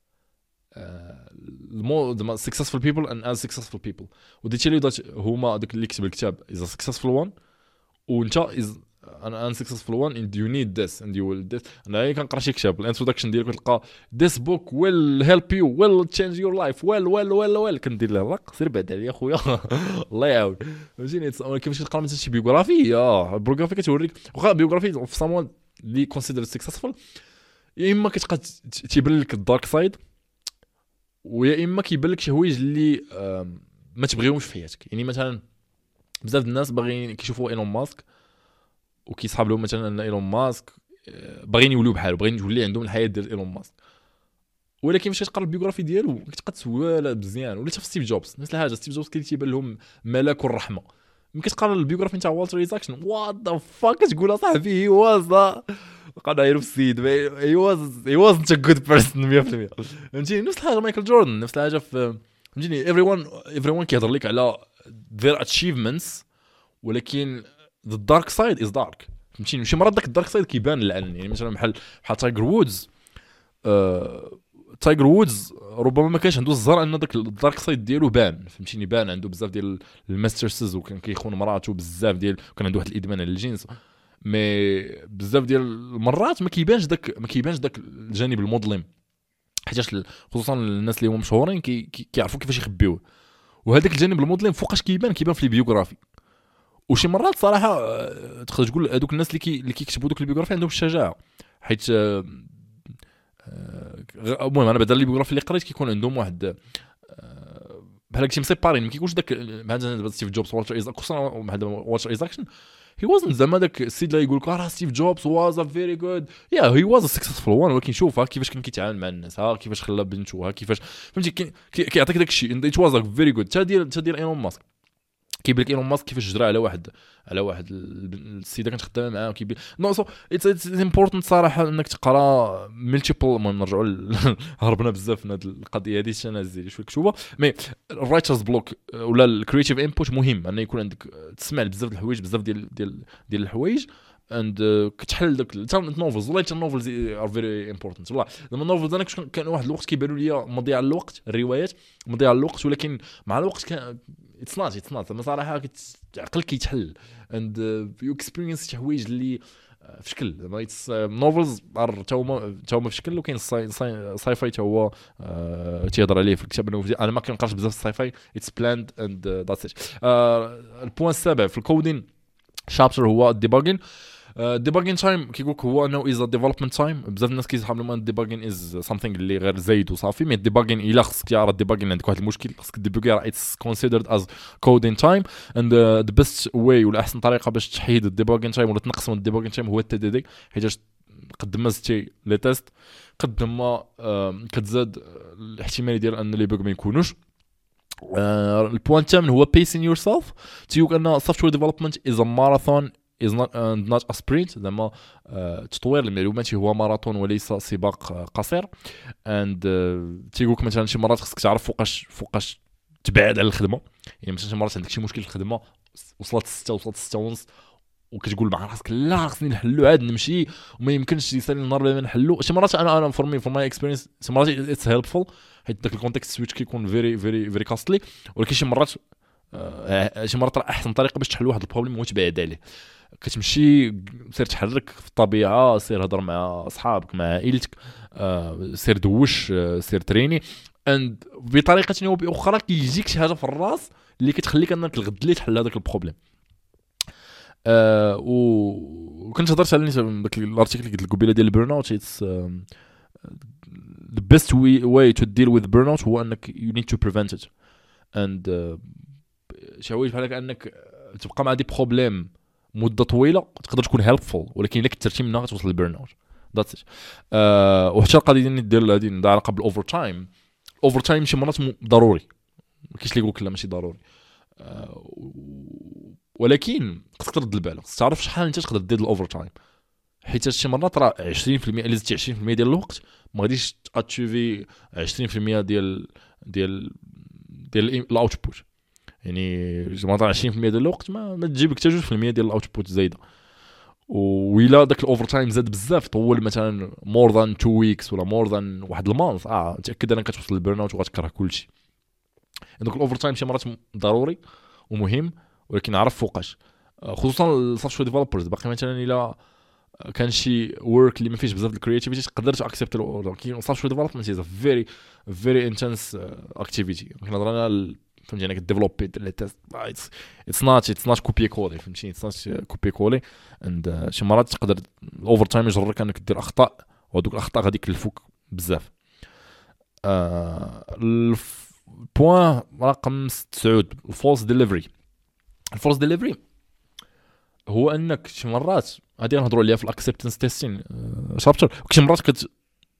المور سكسسفul people and as successful people وديتي اللي هما داك اللي كتب الكتاب is a successful one وانت is an unsuccessful one and you need this and you will this. انا كنقرا شي كتاب الانتروداكشن ديالو كتلقى this book will help you will change your life well well well well كندير له لا سير بعد عليا خويا الله يعاون فهمتيني. كيفاش تقرا مثلا شي بيوغرافي اه بيوغرافي كتوريك واخا بيوغرافي في someone اللي كونسيدر successful يا اما كتبقى تيبان لك الدارك سايد ويا اما كيبان لك شي حوايج اللي ما تبغيهمش في حياتك. يعني مثلا بزاف الناس باغيين كيشوفوا ايلون ماسك وكيصحاب لهم مثلا ان ايلون ماسك باغيين يوليو بحاله باغيين يولي عندهم الحياه ديال ايلون ماسك ولكن فاش كتقرا البيوغرافي ديالو كتبقى تسوالا مزيان. ولا حتى ستيف جوبز نفس الحاجه ستيف جوبز كيتيبان لهم ملك الرحمه ملي كتقرا البيوغرافي نتاع والتر ايزاكسون وات ذا فاك كتقول صاحبي هي واز قاعد يعرف السيد هي واز هي واز انت جود بيرسون مية بالمية فهمتيني. نفس الحاجه مايكل جوردن نفس الحاجه في فهمتيني everyone everyone كيهضر لك على their achievements ولكن the dark side is dark فهمتيني. شي مرات داك الدارك سايد كيبان الان يعني مثلا بحال بحال تايجر وودز آه... تايجر وودز ربما ما كانش عنده الزر ان داك الدارك سايد ديالو بان فهمتيني. بان عنده بزاف ديال الماسترسز وكان كيخون مراته بزاف ديال كان عنده واحد الادمان على الجنس مي بزاف ديال المرات ما كيبانش داك ما كيبانش داك الجانب المظلم حيتاش خصوصا الناس اللي هما مشهورين كي... كي... كيعرفوا كيفاش يخبيوه. وهذاك الجانب المظلم فوقاش كيبان كيبان في البيوغرافي. وشي مرات صراحه تقدر تقول هذوك الناس اللي كي اللي كيكتبوا دوك البيوغرافي عندهم الشجاعه حيت المهم انا بدل البيوغرافي اللي قريت كيكون عندهم واحد بحال هكا مسيبارين ما كيكونش داك مثلا ستيف جوبز والتر ايزاك خصوصا هذا والتر ايزاكسون هي وازن زعما داك السيد اللي يقول لك راه ستيف جوبز واز ا فيري جود يا هي واز ا سكسسفول وان ولكن شوف كيفاش كان كيتعامل مع الناس ها كيفاش خلى بنته ها كيفاش فهمتي كيعطيك داك الشيء انت واز ا فيري جود تا ديال تا ديال ايلون ماسك كيبان لك ايلون ماسك كيفاش جرى على واحد على واحد السيده كانت خدامه معاه كيبان نو سو اتس امبورطنت صراحه انك تقرا ملتيبل. المهم نرجعوا هربنا بزاف من هذه القضيه هذه انا زيد شويه كتوبه مي الرايترز بلوك ولا الكرييتيف انبوت مهم ان يكون عندك تسمع بزاف د الحوايج بزاف ديال ديال ديال الحوايج اند كتحل داك النوفلز ولا النوفلز ار فيري امبورطنت. والله زعما النوفلز انا كان واحد الوقت كيبانوا لي مضيع الوقت الروايات مضيع الوقت ولكن مع الوقت كان اتس نوت اتس نوت صراحه عقلك كيتحل اند يو اكسبيرينس شي حوايج اللي في شكل زعما اتس نوفلز تا هما تا هما في شكل. وكاين الساي فاي تا هو تيهضر عليه في الكتاب انا ما كنقراش بزاف الساي فاي اتس بلاند اند ذاتس ات. البوين السابع في الكودين شابتر هو الديباجين. الديباجين تايم كيقول لك هو انه از ديفلوبمنت تايم. بزاف الناس كيسحب لهم الديباجين از سامثينغ اللي غير زايد وصافي مي الديباجين الا خصك تعرف الديباجين عندك واحد المشكل خصك ديبوغي راه اتس كونسيدرد از كودين تايم اند ذا بيست واي ولا احسن طريقه باش تحيد الديباجين تايم ولا تنقص من الديباجين تايم هو التي دي دي حيت قد ما زدتي لي تيست قد ما كتزاد الاحتمال ديال ان لي بوغ ما يكونوش البوان الثامن هو pacing yourself. تيقول ان software development is a marathon is not uh, not a sprint. زعما uh, تطوير المعلومات هو ماراثون وليس سباق uh, قصير. and uh, تيقولك مثلا شي مرات خصك تعرف فوقاش فوقاش تبعد على الخدمه. يعني مثلا شي مرات عندك شي مشكل في الخدمه وصلت ستة وصلت ستة ونص وكتقول مع راسك لا خصني نحلو عاد نمشي وما يمكنش يسالي النهار بلا ما نحلو. شي مرات انا انا فور مي فور ماي اكسبيرينس شي مرات اتس هيلبفول حيت داك الكونتكست سويتش كيكون فيري فيري فيري كاستلي. ولكن شي مرات آه شي مرات راه احسن طريقه باش تحل واحد البروبليم هو تبعد عليه. كتمشي سير تحرك في الطبيعه، سير هضر مع اصحابك مع عائلتك، آه سير دوش، آه سير تريني اند بطريقه او باخرى كيجيك شي حاجه في الراس اللي كتخليك انك الغد اللي تحل هذاك البروبليم. آه وكنت هضرت على داك الارتيكل اللي قلت لك قبيله ديال البيرن اوت. اتس the best way, way to deal with burnout هو انك you need to prevent it and uh, شي حوايج بحال هكا انك تبقى مع دي بروبليم مده طويله تقدر تكون helpful، ولكن الا كثرتي منها غتوصل للبيرن اوت. ذاتس ات. وحتى القضيه ديال هذه عندها علاقه بالاوفر تايم. اوفر تايم شي مرات ضروري، ما كاينش اللي يقول لك لا ماشي ضروري، آه ولكن خصك ترد البال، خصك تعرف شحال انت تقدر دير الاوفر تايم. حيت شي مرات راه عشرين بالمية الا زدتي عشرين بالمية ديال الوقت ما غاديش تاتشيفي عشرين بالمية ديال ديال ديال الاوتبوت. يعني شي مرات عشرين بالمية ديال الوقت ما, ما تجيب لك حتى جوج بالمية ديال الاوتبوت زايده. وإلا داك الاوفر تايم زاد بزاف طول مثلا مور ذان تو ويكس ولا مور ذان واحد المانث، اه تاكد انك كتوصل للبيرن اوت وغتكره كلشي. دونك الاوفر تايم شي مرات ضروري ومهم، ولكن عرف فوقاش، خصوصا السوفت وير ديفلوبرز. باقي مثلا الا كان شي ورك اللي ما فيش بزاف الكرياتيفيتي تقدر تاكسبت الاوردر. كاين سوفت وير ديفلوبمنت از فيري فيري انتنس اكتيفيتي. كنهضر انا فهمتي انا كديفلوبي لي تيست اتس نوت اتس نوت كوبي كولي، فهمتيني اتس نوت كوبي كولي. اند شي مرات تقدر الاوفر تايم يجرك انك دير اخطاء، وهذوك الاخطاء غادي يكلفوك بزاف. البوان رقم تسعة الفولس ديليفري. الفولس ديليفري هو انك شي مرات غادي نهضروا عليها في الاكسبتنس تيستين شابتر. شي مرات كت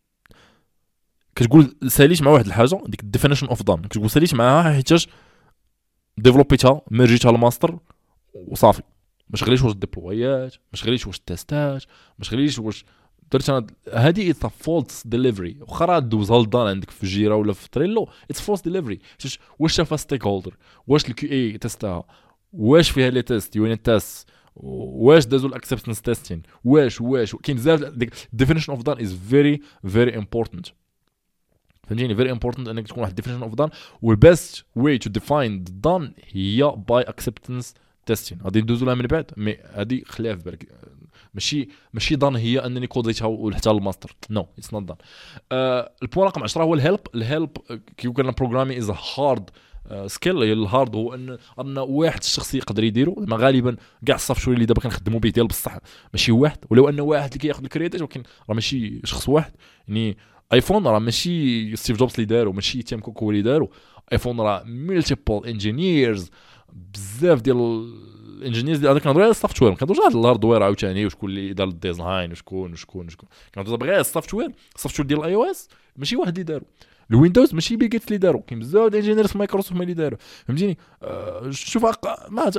كتقول ساليت مع واحد الحاجه ديك الديفينيشن اوف دان، كتقول ساليت معها حيتاش ديفلوبيتها ميرجيتها الماستر وصافي، ما شغليش واش الديبلويات، ما شغليش واش التيستات، ما شغليش واش درت انا. هذه اتس فولس ديليفري. واخا دوزها لدان عندك في جيرا ولا في تريلو اتس فولس ديليفري. واش شافها ستيك هولدر، واش الكيو اي تيستها، واش فيها لي تيست يونيت تيست، واش دازو الاكسبتنس تيستين، واش واش كاين بزاف. ديك ديفينيشن اوف دان از فيري فيري امبورتانت، فهمتيني فيري امبورتانت انك تكون واحد ديفينيشن اوف دان. والبيست واي تو ديفاين دان هي باي اكسبتنس تيستين. غادي ندوزو لها من بعد، مي هذه خليها في بالك. ماشي ماشي دان هي انني كوديتها وحتى الماستر، نو اتس نوت دان. البوان رقم عشرة هو الهيلب. الهيلب كيقول لنا بروغرامي از هارد سكيل. هي الهارد هو ان ان واحد الشخص يقدر يديرو. ما غالبا كاع الصافت وير اللي دابا كنخدموا به ديال بصح ماشي واحد، ولو ان واحد اللي كياخذ الكريديت، ولكن راه ماشي شخص واحد. يعني ايفون راه ماشي ستيف جوبز اللي دارو، ماشي تيم كوك هو اللي دارو. ايفون راه ملتيبل انجينيرز، بزاف ديال الانجينيرز ديال هذاك. كنهضروا على السوفت وير، ما كنهضروش على الهاردوير عاوتاني وشكون اللي دار الديزاين وشكون وشكون وشكون. كنهضروا غير على السوفت وير. السوفت وير ديال الاي او اس ماشي واحد اللي دارو. الويندوز ماشي بيل جيتس اللي دارو، كاين بزاف ديال الانجينيرز في مايكروسوفت هما اللي دارو، فهمتيني. أه شوف أق... ما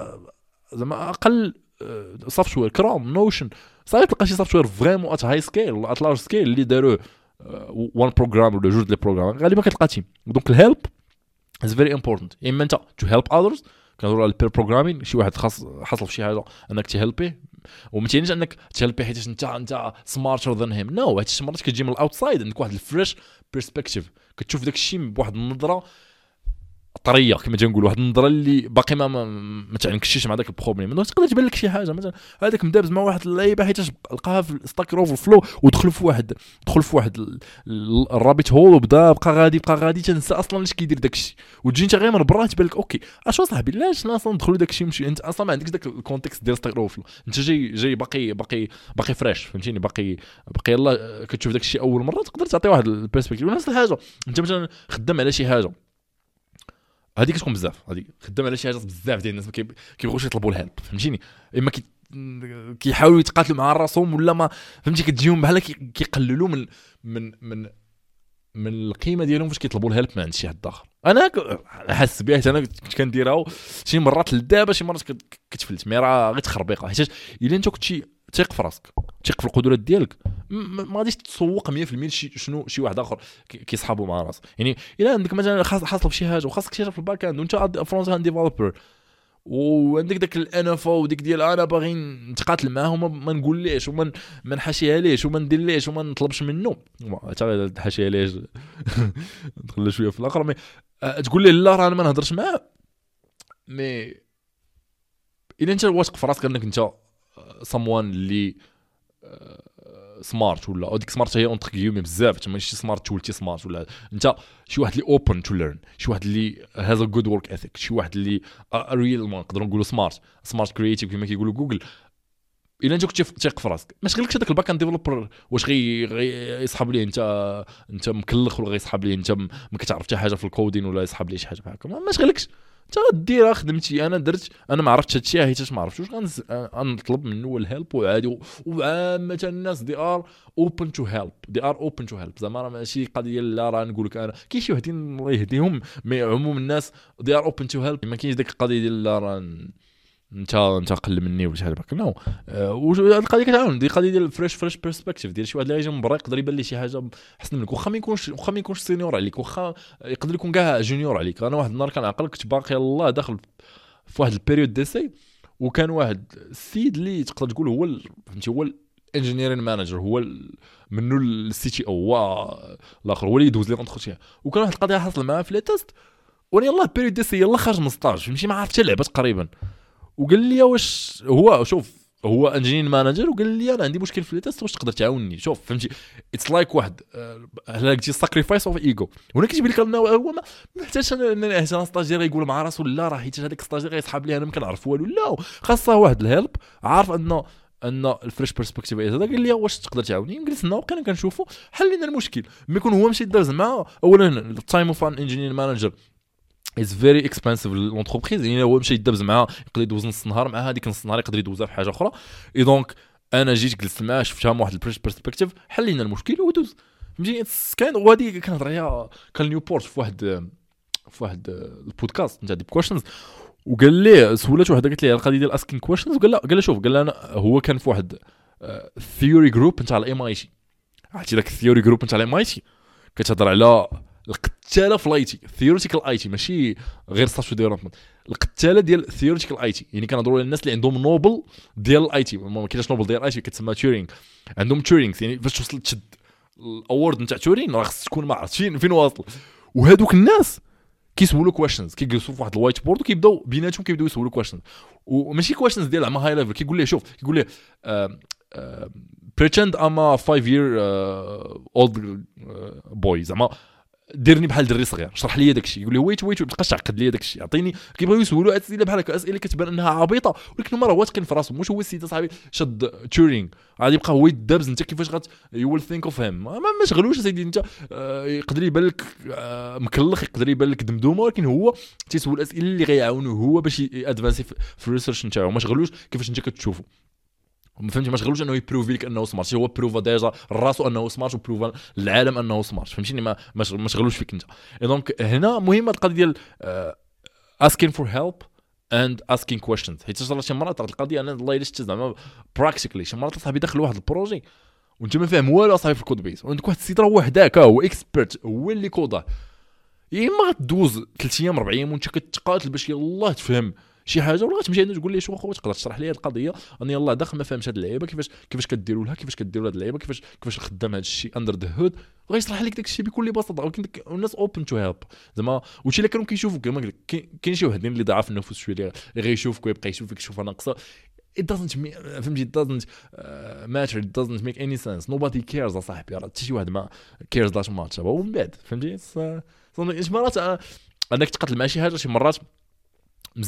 زعما اقل سوفت وير كروم نوشن صافي تلقى شي سوفت وير فريمون ات هاي سكيل ولا ات لارج سكيل اللي داروا وان بروغرام ولا جوج ديال بروغرام. غالبا كتلقى تيم. دونك الهيلب از فيري امبورتانت. اما انت تو هيلب اذرز، كنهضروا على البير بروغرامين، شي واحد خاص حصل في شي حاجه انك تهلبيه. وما تيعنيش انك تهلبيه حيت انت انت سمارتر ذان هيم، نو. هادشي مرات كتجي من الاوتسايد، عندك واحد الفريش بيرسبكتيف، كتشوف داك الشيء بواحد النظره طريه كما تنقول، واحد النظره اللي باقي ما ما, ما تعنكشيش مع داك البروبليم. دونك تقدر تبان لك شي حاجه مثلا هذاك مدابز مع واحد اللعيبه حيت لقاها في ستاك اوفر فلو ودخل في واحد دخل في واحد الرابط هول وبدا بقى غادي بقى غادي تنسى اصلا اش كيدير داك الشيء. وتجي انت غير من برا تبان لك اوكي اش صاحبي علاش اصلا ندخلوا داك الشيء مشي انت اصلا ما عندكش داك الكونتكست ديال ستاك اوفر فلو. انت جاي جاي باقي باقي باقي فريش، فهمتيني، باقي باقي يلاه كتشوف داك الشيء اول مره تقدر تعطي واحد البيرسبكتيف. ونفس الحاجه انت مثلا خدام على شي حاجه هذيك كتكون بزاف، هذيك خدام على شي حاجه بزاف ديال الناس ما كيبغوش يطلبوا الهيلب، فهمتيني. اما كي كيحاولوا يتقاتلوا مع راسهم ولا ما فهمتي، كتجيهم بحال كيقللوا من من من من القيمه ديالهم فاش كيطلبوا الهلب من عند شي حد اخر. انا حاسس بها انا كنت كنديرها شي مرات لدابا شي مرات كتفلت مي راه غير تخربيقه حيت الا انت كنتي ثيق في راسك ثيق في القدرات ديالك ما غاديش تسوق مية في المية شنو شي واحد اخر كيصحابوا مع راسه. يعني الا عندك مثلا حاصل في شي حاجه وخاصك تكتشف في الباك اند وانت فرونت اند ديفلوبر وعندك داك الانفا وديك ديال انا باغي نتقاتل معاه وما ما نقوليش وما ما نحاشيها ليش وما نديرليش وما نطلبش منه حتى تحاشيها ليش ندخل شويه في الاخر مي تقول لي لا راه انا ما نهضرش معاه. مي الا انت واثق في راسك انك انت someone اللي سمارت ولا ديك سمارت هي اونتر كيومي بزاف ماشي سمارت تولتي سمارت ولا انت شي واحد اللي اوبن تو ليرن شي واحد اللي هاز ا جود ورك اثيك شي واحد اللي ريل ما نقدروا نقولوا سمارت سمارت كرييتيف كما كيقولوا جوجل. الا انت كنت ثيق في راسك ما شغلكش هذاك الباك اند ديفلوبر واش غي يصحاب ليه انت انت مكلخ ولا غيصحاب ليه انت ما كتعرف حتى حاجه في الكودين ولا يصحاب ليه شي حاجه بحال هكا ما شغلكش انت غدير خدمتي. انا درت انا ما عرفتش هادشي حيت ما عرفتوش غنطلب منه الهيلب وعادي وعامه الناس دي ار اوبن تو هيلب دي ار اوبن تو هيلب زعما راه ماشي قضيه لا راه نقول لك انا كاين شي وحدين الله يهديهم مي عموم الناس دي ار اوبن تو هيلب ما كاينش ديك القضيه ديال لا راه انت انت قل مني ولا شي حاجه هكا نو. القضيه كتعاون دي قضيه ديال فريش فريش برسبكتيف ديال شي واحد اللي يجي من برا يقدر يبان ليه شي حاجه احسن منك واخا ما يكونش واخا ما يكونش سينيور عليك واخا يقدر يكون كاع جونيور عليك. انا واحد النهار كنعقل كنت باقي يلاه داخل في واحد البيريود ديسي وكان واحد السيد اللي تقدر تقول هو فهمتي هو الانجينيرين مانجر هو منه السي تي او هو الاخر هو اللي يدوز لي اونتروتيان وكان واحد القضيه حصل معاه في لي تيست وانا يلاه بيريود ديسي يلاه خارج من ستاج فهمتي ما عرفت حتى لعبه تقريبا وقال لي واش هو شوف هو انجينير مانجر وقال لي انا عندي مشكل في التيست واش تقدر تعاونني. شوف فهمتي اتس لايك واحد هلا قلتي ساكريفايس اوف ايجو هنا كتبان لك انه هو ما محتاجش انا انا ستاجير يقول مع راسو لا راه حيت هذاك ستاجير يسحب لي انا ما كنعرف والو لا خاصه واحد الهيلب عارف انه ان الفريش برسبكتيف هذا قال لي واش تقدر تعاوني جلسنا وكان كنشوفوا حلينا المشكل ما يكون هو مشي داز معاه اولا التايم اوف ان انجينير مانجر is very expensive لونتربريز يعني هو مشى يدبز معاه يقدر يدوز نص نهار مع هذيك نص نهار يقدر يدوزها في حاجه اخرى اي دونك انا جيت جلست معاه شفتها من واحد البريش برسبكتيف حلينا المشكل ودوز فهمتي كان وهذه كنهضر عليها كان نيوبورت في واحد في واحد البودكاست نتاع ديب كويشنز وقال ليه سولات وحده قالت ليه القضيه ديال اسكين كويشنز وقال له قال له شوف قال له انا هو كان في واحد ثيوري جروب نتاع الام اي تي عرفتي داك الثيوري جروب نتاع الام اي تي كتهضر على القتاله في الاي تي ثيوريتيكال اي تي ماشي غير سوفت ديفلوبمنت القتاله ديال ثيوريتيكال اي تي يعني كنهضروا على الناس اللي عندهم نوبل ديال الاي تي ما كاينش نوبل ديال الاي تي كتسمى تورينغ عندهم تورينغ يعني فاش توصل تشد الاورد نتاع تورينغ راه خصك تكون ما عرفتش فين فين واصل وهذوك الناس كيسولوا كويشنز كيجلسوا في واحد الوايت بورد وكيبداو بيناتهم كيبداو يسولوا كويشنز وماشي كويشنز ديال زعما هاي ليفل كيقول ليه شوف كيقول ليه pretend I'm a five year uh, old uh, boy زعما ديرني بحال دري صغير شرح لي داكشي يقول لي ويت ويت ما تبقاش تعقد لي داكشي عطيني كيبغيو يسولوا اسئله بحال هكا اسئله كتبان انها عبيطه ولكن هما راه واثقين في راسهم واش هو السيد صاحبي شد تورينغ غادي يبقى هو يدابز انت كيفاش غت يو ويل ثينك اوف هيم ما مشغلوش سيدي انت آه يقدر يبان لك آه مكلخ يقدر يبان لك دمدومه ولكن هو تيسول اسئله اللي غيعاونوه هو باش ادفانسي في الريسيرش نتاعو ما شغلوش كيفاش انت كتشوفو ما فهمتي ما شغلوش انه يبروفي لك انه سمارت هو بروفا ديجا راسو انه سمارت وبروفا للعالم انه سمارت فهمتيني ما ما شغلوش فيك انت. دونك هنا مهمه القضيه ديال asking for help and asking questions حيت صرا شي مرات القضيه انا الله الا شفت زعما براكتيكلي شي مرات صاحبي داخل واحد البروجي وانت ما فاهم والو صاحبي في الكود بيس وعندك واحد السيد راه هو حداك هو اكسبيرت هو اللي كودا يا اما غدوز ثلاث ايام اربع ايام وانت كتقاتل باش يلاه تفهم شي حاجه ولا غتمشي عندو تقول ليه شو اخو تقدر تشرح لي هذه القضيه انا يلاه داخل ما فهمش هذه اللعيبه كيفاش كيفاش كديروا لها كيفاش كديروا هذه اللعيبه كيفاش كيفاش خدام هذا الشيء اندر ذا هود غيشرح لك داك الشيء بكل بساطه ولكن الناس اوبن تو هيلب زعما وشي اللي كانوا كيشوفوك كما قلت كاين شي وحدين اللي ضعاف النفوس شويه اللي غيشوفك ويبقى يشوفك شوف انا ناقصه it doesn't فهمتي it doesn't uh, matter it doesn't make any sense nobody cares صاحبي راه حتى شي واحد ما cares that much ومن بعد فهمتي شي مرات انك تقاتل مع شي حاجه شي مرات مزيان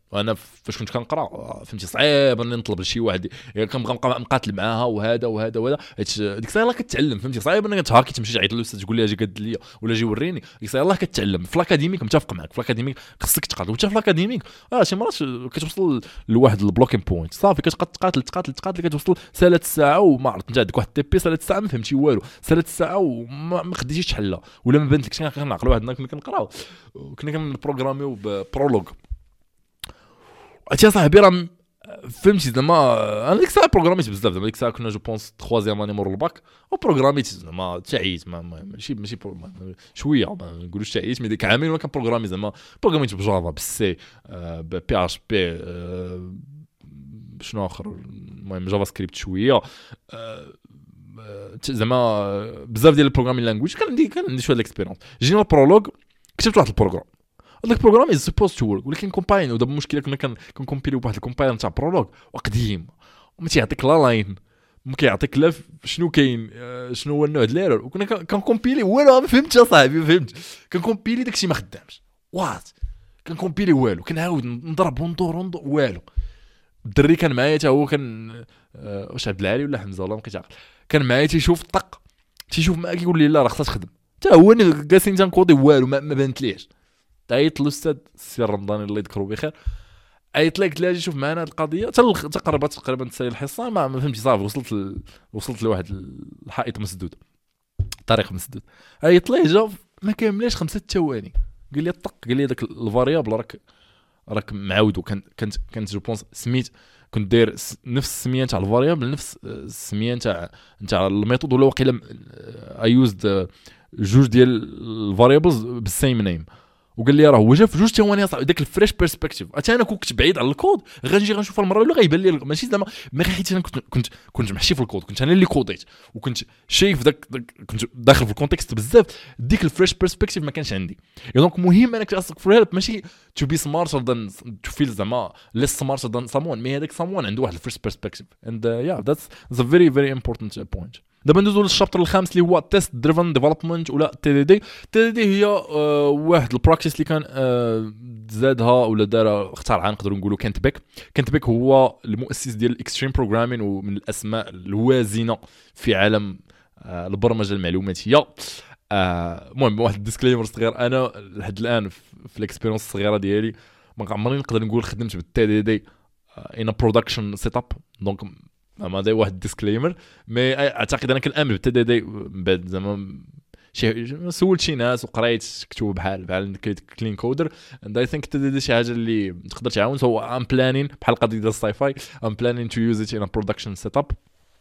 وانا فاش كنت كنقرا فهمتي صعيب اني نطلب لشي واحد كنبقى نبقى مقاتل معاها وهذا وهذا وهذا ديك الساعه يلاه كتعلم فهمتي صعيب انك تهاكي تمشي تعيط للاستاذ تقول لي اجي قد لي ولا جي وريني ديك الساعه يلاه كتعلم. في الاكاديميك متفق معك في الاكاديميك خصك تقاتل وانت في الاكاديميك اه شي مرات كتوصل لواحد البلوكين بوينت صافي كتقاتل تقاتل تقاتل تقاتل كتوصل ثلاث ساعه وما عرفت انت عندك واحد تي بي ثلاث ساعه ما فهمتي والو ثلاث ساعه وما خديتيش تحلها ولا ما بانتلكش. كنعقل واحد كنا كنقراو كنا كنبروغراميو ببرولوج عرفتي صاحبي راه فهمتي زعما انا ديك الساعه بروغراميت بزاف زعما ديك الساعه كنا جو بونس ثلاثيام اني مور الباك وبروغراميت زعما تعيت ماشي ماشي شويه ما نقولوش تعيت مي ديك عامين ولا كان بروغرامي زعما بروغراميت بجافا بالسي بي اتش بي شنو اخر المهم جافا سكريبت شويه زعما بزاف ديال البروغرامين لانجويج كان عندي كان عندي شويه الاكسبيريونس. جينا البرولوج كتبت واحد البروغرام هذاك البروغرام از سبوز تو ورك ولكن كومباين ودابا المشكله كنا كنكومبيليو بواحد الكومبايلر تاع برولوج وقديم وما تيعطيك لا لاين ما كيعطيك لا شنو كاين شنو هو النوع ديال الايرور وكنا كنكومبيلي والو ما فهمتش اصاحبي فهمت كنكومبيلي داكشي ما خدامش وات كنكومبيلي والو كنعاود نضرب وندور وندور والو. الدري كان معايا حتى هو كان واش عبد العالي ولا حمزه والله ما كنتعقل كان معايا تيشوف طق تيشوف معاك كيقول لي لا راه خصها تخدم حتى هو جالسين تنكودي والو ما بانت ليش. عيط الاستاذ السي رمضان الله يذكره بخير عيط لك تلاجي شوف معنا هذه القضيه حتى قربت تقريبا تسالي الحصه ما, ما فهمتش صافي وصلت ل... وصلت لواحد الحائط مسدود طريق مسدود. عيط ليه جا ما كاملاش خمسة ثواني قال لي طق قال لي داك الفاريابل راك راك معاود وكان كانت كانت جو بونس سميت كنت داير نفس السميه تاع الفاريابل نفس السميه تاع تاع الميثود ولا واقيلا اي يوزد جوج ديال الفاريابلز بالسيم نيم وقال لي راه هو جا في جوج ثواني صاحبي داك الفريش بيرسبكتيف. حتى انا كنت بعيد على الكود غنجي غنشوف المره الاولى غيبان لي ماشي زعما ما حيت انا كنت كنت كنت محشي في الكود كنت انا اللي كوديت وكنت شايف داك, داك كنت داخل في الكونتكست بزاف ديك الفريش بيرسبكتيف ما كانش عندي. دونك مهم انك تاسك فور هيلب ماشي تو بي سمارتر ذان تو فيل زعما ليس سمارتر ذان سامون مي هذاك سامون عنده واحد الفريش بيرسبكتيف اند يا ذاتس ا فيري فيري امبورتانت بوينت. دابا ندوزو للشابتر الخامس اللي هو تيست دريفن ديفلوبمنت ولا تي دي دي. تي دي دي هي آه واحد البراكتيس اللي كان آه زادها ولا دارها اخترعها نقدروا نقولوا كانت بيك. كانت بيك هو المؤسس ديال الاكستريم بروغرامين ومن الاسماء الوازنه في عالم آه البرمجه المعلوماتيه. المهم آه واحد الديسكليمر صغير انا لحد الان في الاكسبيريونس الصغيره ديالي ما عمرني نقدر نقول خدمت بالتي دي دي ان برودكشن سيت اب دونك ما داي واحد ديسكليمر مي اعتقد انا كنامن بالتي دي دي بعد زعما شي سولت شي ناس وقريت كتب بحال بحال كلين كودر اند اي ثينك التي دي دي شي حاجه اللي تقدر تعاون. سو ام بلانين بحال القضيه ديال الساي فاي ام بلانين تو يوز ات ان برودكشن سيت اب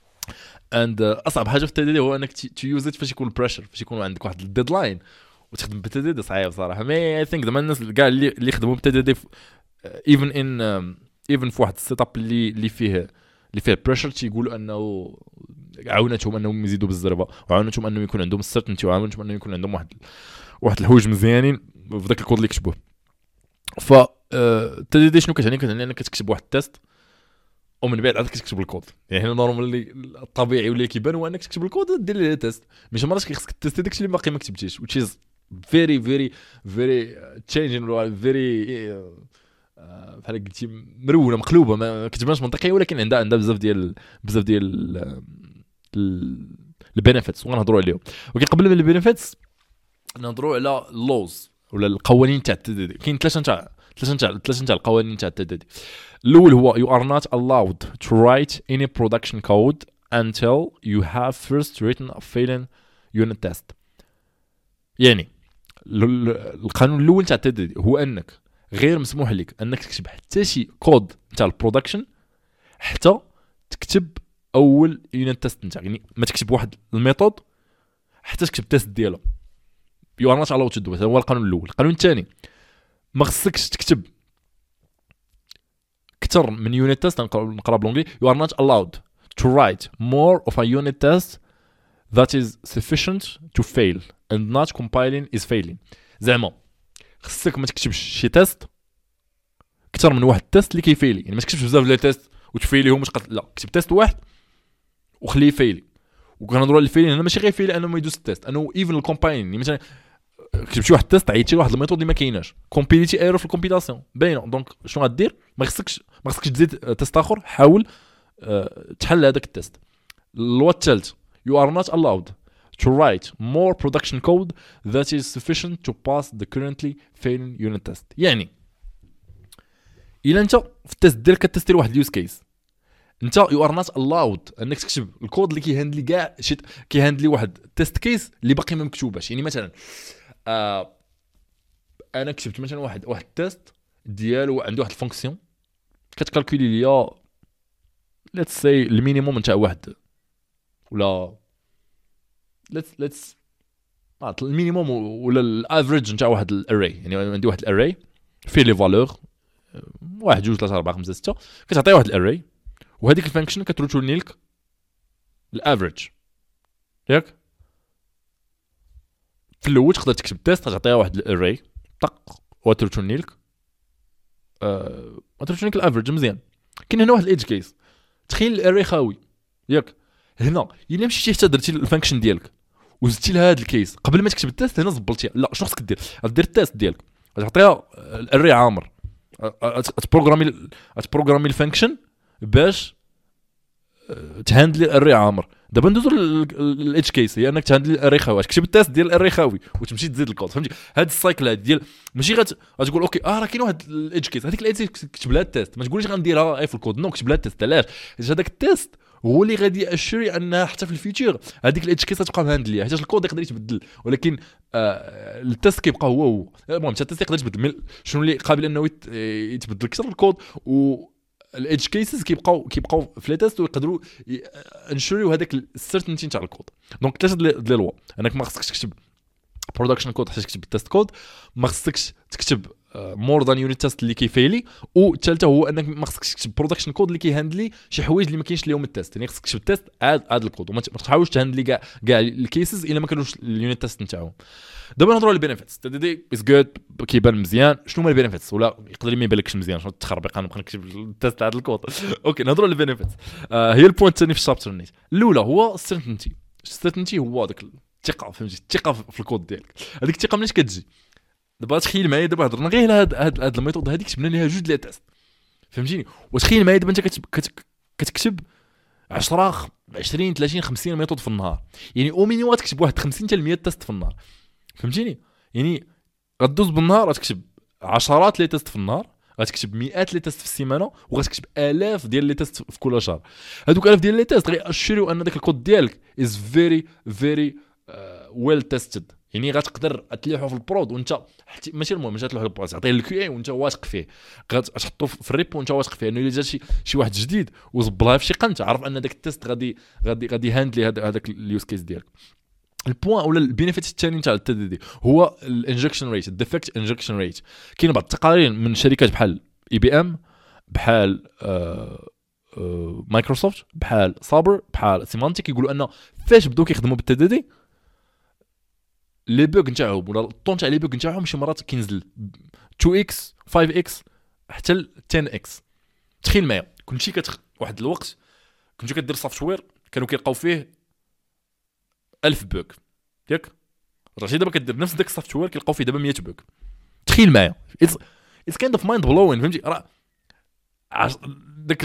اند اصعب حاجه في التي دي دي هو انك تو يوز ات فاش يكون بريشر فاش يكون عندك واحد الديدلاين وتخدم بالتي دي دي صعيب صراحه. مي اي ثينك زعما الناس كاع اللي اللي خدموا بالتي دي دي ايفن ان ايفن في واحد السيت اب اللي اللي فيه اللي فيه بريشر تيقولوا انه عاونتهم انهم يزيدوا بالزربه وعاونتهم انهم يكون عندهم السيرتينتي وعاونتهم انهم يكون عندهم واحد واحد الحوايج مزيانين في ذاك الكود اللي كتبوه. ف التي دي شنو كتعني كتعني انك كتكتب واحد التيست ومن بعد عاد كتكتب الكود. يعني هنا نورمالي الطبيعي ولا كيبان هو انك تكتب الكود دير ليه تيست مش مرات كيخصك تيستي داكشي اللي باقي ما كتبتيش which is very very very changing very بحال قلتي مرونه مقلوبه ما كتبانش منطقيه ولكن عندها عندها بزاف ديال بزاف ديال البينيفيتس وغنهضروا عليهم. ولكن قبل من البينيفيتس نهضروا على اللوز ولا القوانين تاع التي دي دي. كاين ثلاثه تاع ثلاثه تاع ثلاثه تاع القوانين تاع التي دي دي. الاول هو you are not allowed to write any production code until you have first written a failing unit test. يعني القانون الاول تاع التي دي دي هو انك غير مسموح لك انك تكتب حتى شي كود تاع البرودكشن حتى تكتب اول يونت تيست نتاعك. يعني ما تكتب واحد الميثود حتى تكتب تيست ديالو يو ار نوت الاود تو دو. هذا هو القانون الاول. القانون الثاني ما خصكش تكتب اكثر من يونت تيست نقرا بالانجلي يو ار نوت الاود to write more of a unit test that is sufficient to fail and not compiling is failing. زعما خصك ما تكتبش شي تيست اكثر من واحد تيست اللي كيفيلي. يعني ما تكتبش بزاف ديال التيست وتفيليهم وتقط لا كتب تيست واحد وخليه يفيلي. وكنهضروا على الفيلين هنا ماشي غير فيلي انه ما يدوز التيست انه ايفن الكومباين. يعني مثلا كتبت شي واحد التيست عيطتي لواحد الميثود اللي ما كايناش كومبيليتي ايرور في الكومبيلاسيون باينه دونك شنو غدير ما خصكش ما خصكش تزيد تيست اخر حاول أه تحل هذاك التيست. اللوا الثالث you are not allowed to write more production code that is sufficient to pass the currently failing unit test. يعني الا انت في التيست ديالك كتستي واحد اليوز كيس انت you are not allowed انك تكتب الكود اللي كيهندلي كاع شي كيهندلي واحد تيست كيس اللي باقي ما مكتوباش. يعني مثلا آه انا كتبت مثلا واحد واحد التيست ديالو عنده واحد الفونكسيون كتكالكولي ليا ليتس سي المينيموم نتاع واحد ولا ليتس ليتس المينيموم ولا الافريج نتاع واحد الاري. يعني عندي واحد الاري فيه لي فالور واحد جوج ثلاثة أربعة خمسة ستة كتعطي واحد الاري وهذيك الفانكشن كتريتورني لك الافريج ياك. في الاول تقدر تكتب تيست تعطيها واحد الاري طق وتريتورني لك اه وتريتورني لك الافريج مزيان. كاين هنا واحد الايدج كيس تخيل الاري خاوي ياك. هنا الا مشيتي حتى درتي الفانكشن ديالك وزدتي لها هذا الكيس قبل ما تكتب التيست هنا زبلتيها. لا شنو خصك دير؟ غدير التيست ديالك غتعطيها الاري عامر تبروغرامي تبروغرامي الفانكشن باش تهاندلي الاري عامر. دابا ندوزو للاتش كيس هي انك تهاندلي الاري خاوي تكتب التيست ديال الاري خاوي وتمشي تزيد الكود. فهمتي هاد السايكل هاد ديال ماشي غت... غتقول اوكي اه راه كاين واحد الاتش كيس هذيك الاتش كتب لها التيست ما تقوليش غنديرها اي في الكود نو كتب لها التيست. علاش؟ حيت هذاك التيست هو اللي غادي ياشري انها حتى في الفيوتشر هذيك الاتش كيس غتبقى مهاندليه حيت الكود يقدر يتبدل ولكن آه التيست كيبقى هو هو. المهم حتى التيست يقدر يتبدل شنو اللي قابل انه يتبدل اكثر الكود و الادج كيسز كيبقاو كيبقاو في لي تيست ويقدروا انشوريو هذاك السيرتينتي نتاع الكود. دونك ثلاثه ديال لي لوا انك ما خصكش تكتب برودكشن كود حتى تكتب التيست كود ما خصكش تكتب مور ذان يونيت تيست اللي كيفيلي والثالثه هو انك ما خصكش تكتب برودكشن كود اللي كيهاندلي شي حوايج اللي ما كاينش ليهم التيست. يعني خصك تكتب التيست عاد عاد الكود وما تحاولش تهاندلي كاع كاع الكيسز الا ما كانوش اليونيت تيست نتاعهم. دابا نهضروا على البينيفيتس تي دي از جود كيبان مزيان. شنو هما البينيفيتس ولا يقدر ما يبانلكش مزيان شنو التخربيق انا نبقى نكتب التيست تاع الكود. اوكي نهضروا على البينيفيتس. آه هي البوينت الثاني في الشابتر نيت. الاولى هو السيرتينتي. السيرتينتي هو داك الثقه فهمتي الثقه في الكود ديالك. هذيك الثقه منين كتجي؟ دابا تخيل معايا دابا هضرنا غير على هاد هاد, هاد الميثود هذيك كتبنا ليها جوج لي تيست فهمتيني. وتخيل معايا دابا انت كتب كتكتب عشرة عشرين ثلاثين خمسين ميثود في النهار. يعني او مينيموم تكتب واحد خمسين حتى مية تيست في النهار فهمتيني. يعني غدوز بالنهار غتكتب عشرات لي تيست في النهار غتكتب مئات لي تيست في السيمانه وغتكتب الاف ديال لي تيست في كل شهر. هذوك الاف ديال لي تيست غيأشريو ان داك الكود ديالك از فيري فيري ويل تيستد. يعني غتقدر تلوحو في البرود وانت ماشي المهم ماشي تلوحو في البرود تعطيه الكيو اي وانت واثق فيه غتحطو في الريب وانت واثق فيه انه الا جا شي شي واحد جديد وزبلها في شي قنت عرف ان داك التيست غادي غادي غادي هاندلي هذاك اليوز كيس ديالك. البوين ولا البينيفيت الثاني نتاع التي دي دي هو الانجكشن ريت الديفكت انجكشن ريت. كاين بعض التقارير من شركات بحال اي بي ام بحال آه آه مايكروسوفت بحال صابر بحال سيمانتيك يقولوا ان فاش بداو كيخدموا بالتي دي دي لي بوغ نتاعهم ولا الطون تاع لي بوغ نتاعهم شي مرات كينزل اثنين اكس خمسة اكس حتى ل عشرة اكس. تخيل معايا كنتي كت واحد الوقت كنتي كدير سوفتوير كانوا كيلقاو فيه ألف بوغ ياك رجعتي دابا كدير نفس داك السوفتوير كيلقاو فيه دابا مية بوغ. تخيل معايا اتس اتس كايند اوف مايند بلوين فهمتي راه داك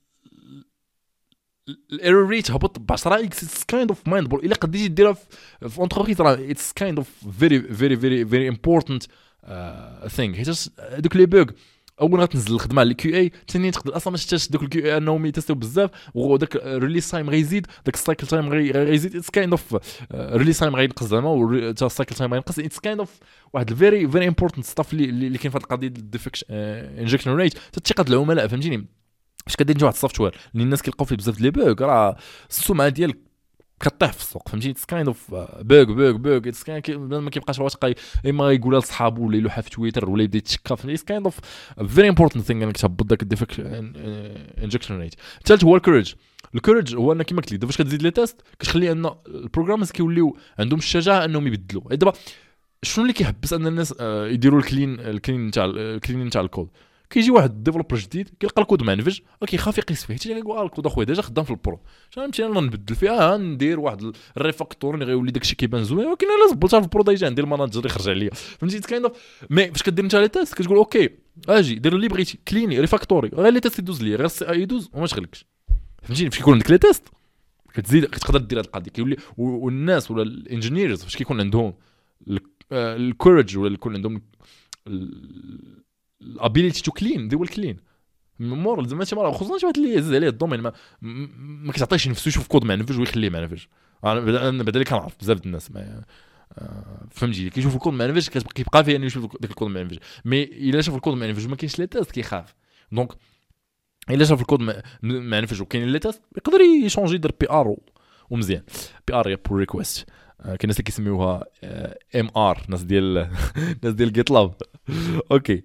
الايرور ريت هبط ب عشرة اكس. اتس كايند اوف مايند بلوين الا قديتي ديرها في اونتربريز راه اتس كايند اوف فيري فيري فيري فيري امبورتانت ثينغ. حيت دوك لي بوغ اول ما تنزل الخدمه على الكيو اي ثاني تقدر اصلا ما تشتاش دوك الكيو اي انهم يتستيو بزاف وداك ريليس تايم غيزيد داك السايكل تايم غيزيد. اتس كايند اوف ريليس تايم غينقص زعما وتا السايكل تايم غينقص. اتس كايند اوف واحد الفيري فيري امبورتانت ستاف اللي اللي كاين في هذه القضيه الديفكشن انجكشن ريت ثقه العملاء فهمتيني. فاش كدير واحد السوفتوير اللي الناس كيلقاو فيه بزاف لي بوغ راه السمعه ديالك كطيح في السوق فهمتي. اتس كايند اوف بوغ بوغ بوغ اتس كاين ما كيبقاش واثق اما يقولها لصحابو ولا يلوحها في تويتر ولا يبدا يتشكى. اتس كايند اوف فيري امبورتانت ثينغ انك تهبط داك الديفكت انجكشن ريت. الثالث هو الكوريج. الكوريج هو انك كما قلت لي دابا فاش كتزيد لي تيست كتخلي ان البروغرامرز كيوليو عندهم الشجاعه انهم يبدلوا. دابا شنو اللي كيحبس ان الناس يديروا الكلين الكلين تاع الكلين تاع الكود؟ كيجي واحد ديفلوبر جديد كيلقى الكود منفج وكيخاف يقيس فيه، حتى كيقول الكود اخويا ديجا خدام في البرو، فهمتي انا نبدل فيها ندير واحد الريفاكتور اللي غيولي داكشي كيبان زوين، ولكن الا زبلتها في البرو ديجا عندي الماناجر يخرج عليا، فهمتي كاين مي فاش كدير انت لي تيست كتقول اوكي اجي دير اللي بغيتي كليني ريفاكتوري غير لي تيست يدوز ليا غير السي اي يدوز وما شغلكش، فهمتيني فاش كيكون عندك لي تيست كتزيد كتقدر دير هاد القضيه كيولي، والناس ولا الانجينيرز فاش كيكون عندهم الكورج ولا يكون عندهم الابيليتي تو كلين دي ويل كلين مور زعما شي مره خصوصا شي واحد اللي يهز عليه الدومين ما ما كيعطيش نفسه يشوف كود منفج ويخليه منفج. انا بعدا اللي كنعرف بزاف د الناس ما فهمتي كيشوف الكود منفج كيبقى فيه انه يشوف داك الكود منفج، مي الا شاف الكود منفج ما كاينش لي تيست كيخاف، دونك الا شاف الكود منفج وكاين لي تيست يقدر يشونجي يدير بي ار ومزيان. بي ار هي بول ريكويست، كاين ناس كيسميوها ام ار، ناس ديال ناس ديال جيت لاب. اوكي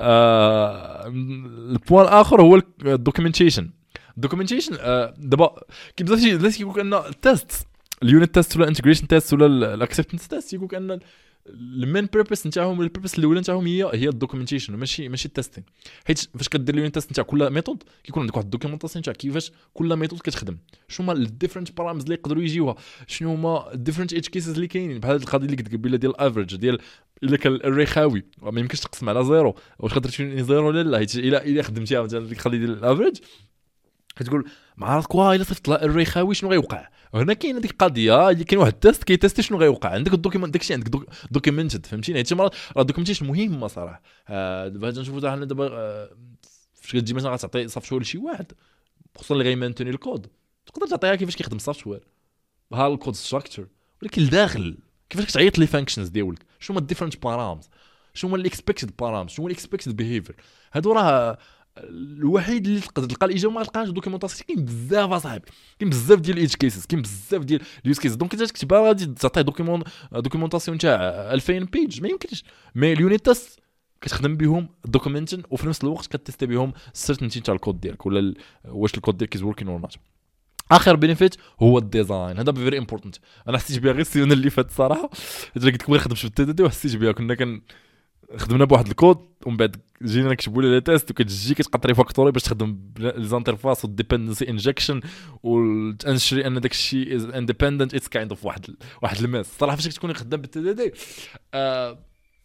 البوان الاخر هو الدوكيومنتيشن. الدوكيومنتيشن دابا كيف بزاف الناس كيقول ان التيست اليونت تيست ولا الانتجريشن تيست ولا الاكسبتنس تيست يقول ان المين بيربس نتاعهم ولا البيربس الاولى نتاعهم هي هي الدوكيومنتيشن ماشي ماشي التيستين، حيت فاش كدير اليونت تيست نتاع كل ميثود كيكون عندك واحد الدوكيومنتاسيون نتاع كيفاش كل ميثود كتخدم، شنو هما الديفرنت بارامز اللي يقدروا يجيوها، شنو هما الديفرنت ايدج كيسز اللي كاينين، بحال القضيه اللي قلت قبيله ديال الافريج ديال الا كان الاري خاوي ما يمكنش تقسم على زيرو واش تقدر تشوف زيرو ولا لا، حيت الا الا خدمتيها مثلا ديك القضيه ديال الافريج كتقول مع راسك واه الا صيفط لها الري خاوي شنو غيوقع. هنا كاين هذيك القضيه كاين واحد التيست كيتيستي شنو غيوقع، عندك الدوكيمنت داكشي عندك دوكيمنتد فهمتيني، حيت مرات راه الدوكيمنتيشن مهمه صراحه. دابا نشوفوا حنا دابا فاش كتجي مثلا غتعطي سوفت وير لشي واحد خصوصا اللي غيمانتوني الكود تقدر تعطيها كيفاش كيخدم السوفت وير بحال الكود ستراكشر، ولكن الداخل كيفاش كتعيط لي فانكشنز ديالك شنو هما الديفرنت بارامز شنو هما الاكسبكتد بارامز شنو هو الاكسبكتد بيهيفير، هادو راه الوحيد اللي تقدر تلقى الاجابه ما تلقاش دوكيومونطاسيون. كاين بزاف اصاحبي كاين بزاف ديال الايدج كيسز كاين بزاف ديال اليوز كيسز، دونك انت تكتبها غادي تعطي دوكيمون دوكيومونطاسيون تاع ألفين بيج ما يمكنش، مي اليونيت تيست كتخدم بهم دوكيومنتين وفي نفس الوقت كتيستي بهم السيرتينتي تاع الكود ديالك ولا واش الكود ديالك از وركين اور نوت. اخر بينيفيت هو الديزاين، هذا فيري امبورطنت. انا حسيت بها غير السيزون اللي فات الصراحه، قلت لك ما نخدمش في التي دي دي وحسيت بها كنا كن خدمنا بواحد الكود ومن بعد جينا نكتبوا لي تيست وكتجي كتقطري فاكتوري باش تخدم ليزانترفاس والديبندنسي انجكشن وتنشري ان داك الشيء از اندبندنت اتس كايند اوف واحد واحد الماس. صراحه فاش كتكوني خدام بالتي دي دي آه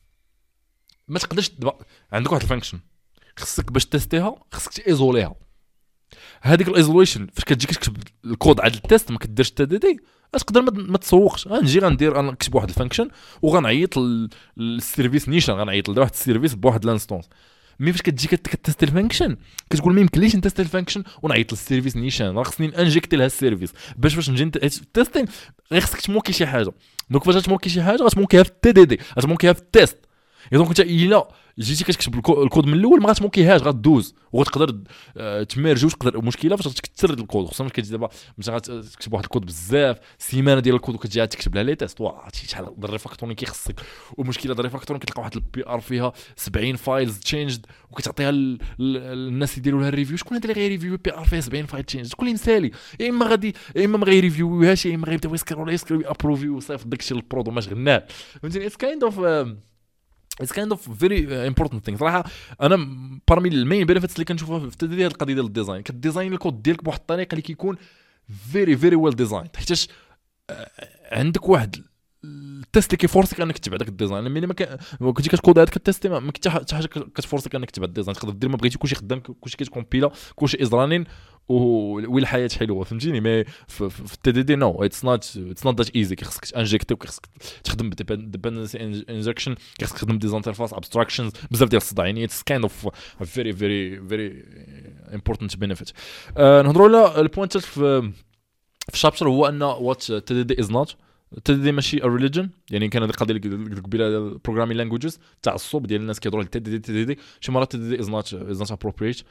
ما تقدرش دبا عندك واحد الفانكشن خصك باش تيستيها خصك تايزوليها، هذيك الايزوليشن فاش كتجي كتكتب الكود على التيست ما كديرش التي دي دي تقدر ما تسوقش. غنجي غندير انا نكتب واحد الفانكشن وغنعيط للسيرفيس نيشان غنعيط لواحد السيرفيس بواحد لانستونس، مي فاش كتجي كتست الفانكشن كتقول ما يمكنليش نتست الفانكشن ونعيط للسيرفيس نيشان، راه خصني انجكتي لها السيرفيس باش فاش نجي تيستين غير خصك تموكي شي حاجه. دونك فاش تموكي شي حاجه غتموكيها في التي دي دي غتموكيها في التيست، دونك انت الا جيتي كتكتب الكود من الاول ما غتموكيهاش غدوز وغتقدر تميرجي وتقدر المشكله فاش غتكثر الكود خصوصا ملي كتجي دابا مثلا غتكتب واحد الكود بزاف سيمانه ديال الكود وكتجي تكتب لها لي تيست واه شحال الريفاكتورين كيخصك، والمشكله ديال الريفاكتورين كتلقى واحد البي ار فيها سبعين فايلز تشينجد وكتعطيها للناس يديروا لها الريفيو. شكون هذا اللي غيريفيو بي ار فيها سبعين فايل تشينجد؟ شكون اللي مسالي؟ يا اما غادي يا اما ما غيريفيوهاش يا اما غيبداو يسكروا يسكروا ابروفي وصيفط داكشي للبرود وما شغلناه. فهمتيني اتس كايند اوف It's kind of very important thing. صراحه انا بارمي المين بينيفيتس اللي كنشوفها في التدريب هذه القضيه ديال الديزاين، كديزاين الكود ديالك بواحد الطريقه اللي كيكون very very well designed، حيتاش عندك واحد التيست اللي كيفورسك انك تتبع داك الديزاين. ملي ما كنتي كتكود هذاك التيست ما كنت حتى حاجه كتفورسك انك تتبع الديزاين، تقدر دير ما بغيتي كلشي خدام كلشي كيتكومبيلا كلشي ازرانين والحياه حلوه فهمتيني. مي في التي دي دي نو اتس نوت اتس نوت ذات ايزي، كيخصك تانجكتي وكيخصك تخدم بالديبندنسي انجكشن كيخصك تخدم ديزانترفاس ابستراكشنز بزاف ديال الصداع، يعني اتس كايند اوف فيري فيري فيري امبورطنت بينيفيت. نهضروا على البوينت في في الشابتر هو ان وات تي دي دي از نوت تي دي دي ماشي ا ريليجن، يعني كان هذه القضيه اللي قلت قبيله البروغرامين لانجويجز تعصب ديال الناس كيهضروا على تي دي دي تي دي دي شي مرات تي دي دي از نوت از نوت ابروبريت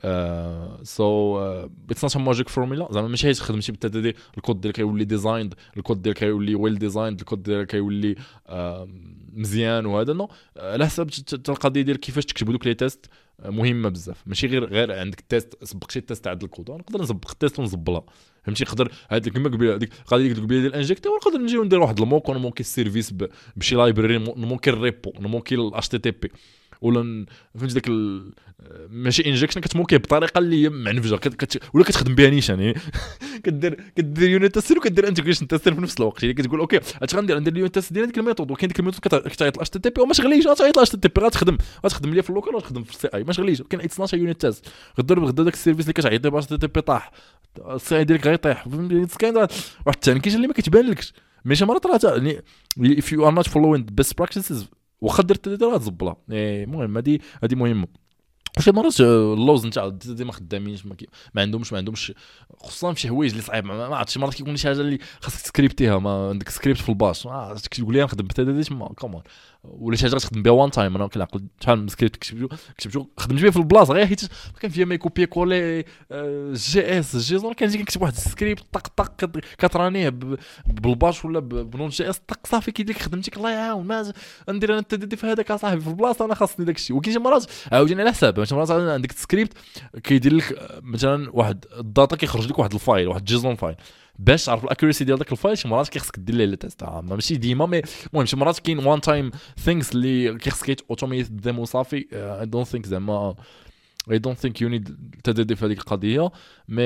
سو اتس نوت ا ماجيك فورمولا، زعما ماشي تخدم شي بالتي دي دي الكود ديالك كيولي ديزايند الكود ديالك كيولي ويل ديزايند الكود ديالك كيولي مزيان وهذا نو على حسب القضيه ديال كيفاش تكتبوا دوك لي تيست مهمه بزاف. ماشي غير غير عندك تيست سبق شي تيست عند الكود نقدر نسبق التيست ونزبلها فهمتي. نقدر هذيك كما قبيله هذيك القضيه اللي قلت قبيله ديال الانجكتور نقدر نجيو ندير واحد الموك ونمونكي السيرفيس بشي لايبراري نمونكي الريبو نمونكي الاتش تي تي بي ولا فهمتي داك ال... ماشي انجكشن كتموكي بطريقه اللي هي معنفجه كت... ولا كتخدم بها نيشان يعني كدير كدير يونت تيست وكدير انتجريشن تيست في نفس الوقت يعني كتقول اوكي اش غندير ندير اليونت تيست ديال ديك الميثود وكاين ديك الميثود كتعيط الاش تي بي وما شغليش غتعيط الاش تي بي غتخدم غتخدم ليا في اللوكال وغتخدم في السي اي ما شغليش كاين اثناش يونت تيست غدير غدا داك السيرفيس اللي كتعيط باش تي بي طاح السي اي ديالك غيطيح كاين واحد التانكيج اللي ما كتبانلكش ماشي مرات راه يعني if you are not following the best practices واخا درت هذه راه تزبلها المهم هذه هذه مهمه وشي مرات اللوز نتاع دي ما خدامينش ما, ما عندهمش ما عندهمش خصوصا في شي حوايج اللي صعيب ما عرفتش شي مرات كيكون شي حاجه اللي خاصك تسكريبتيها ما عندك سكريبت في الباش اه تقول لي نخدم بتا دي تما كومون ولا شي حاجه تخدم بها وان تايم انا كنعقل شحال من سكريبت كتبتو كتبتو خدمت به في البلاصه غير حيت كان فيها ما كوبي كولي جي اس جي زون كنجي كنكتب واحد السكريبت طق طق كترانيه بالباش ولا بنون جي اس طق صافي كيدير لك خدمتك الله يعاون ما ندير انا التدي في هذاك صاحبي في البلاصه انا خاصني داك الشيء وكاين شي مرات عاوتاني على حساب شي مرات عندك السكريبت كيدير لك مثلا واحد الداتا كيخرج لك واحد الفايل واحد جيزون فايل باش تعرف الاكيورسي ديال داك الفايل شي مرات كيخصك دير ليه لي تيست ماشي ديما مي المهم شي مرات كاين وان تايم ثينكس اللي كيخصك اوتوميت ديمو صافي اي دونت ثينك زعما اي دونت ثينك يو نيد تدريب في هذيك القضيه مي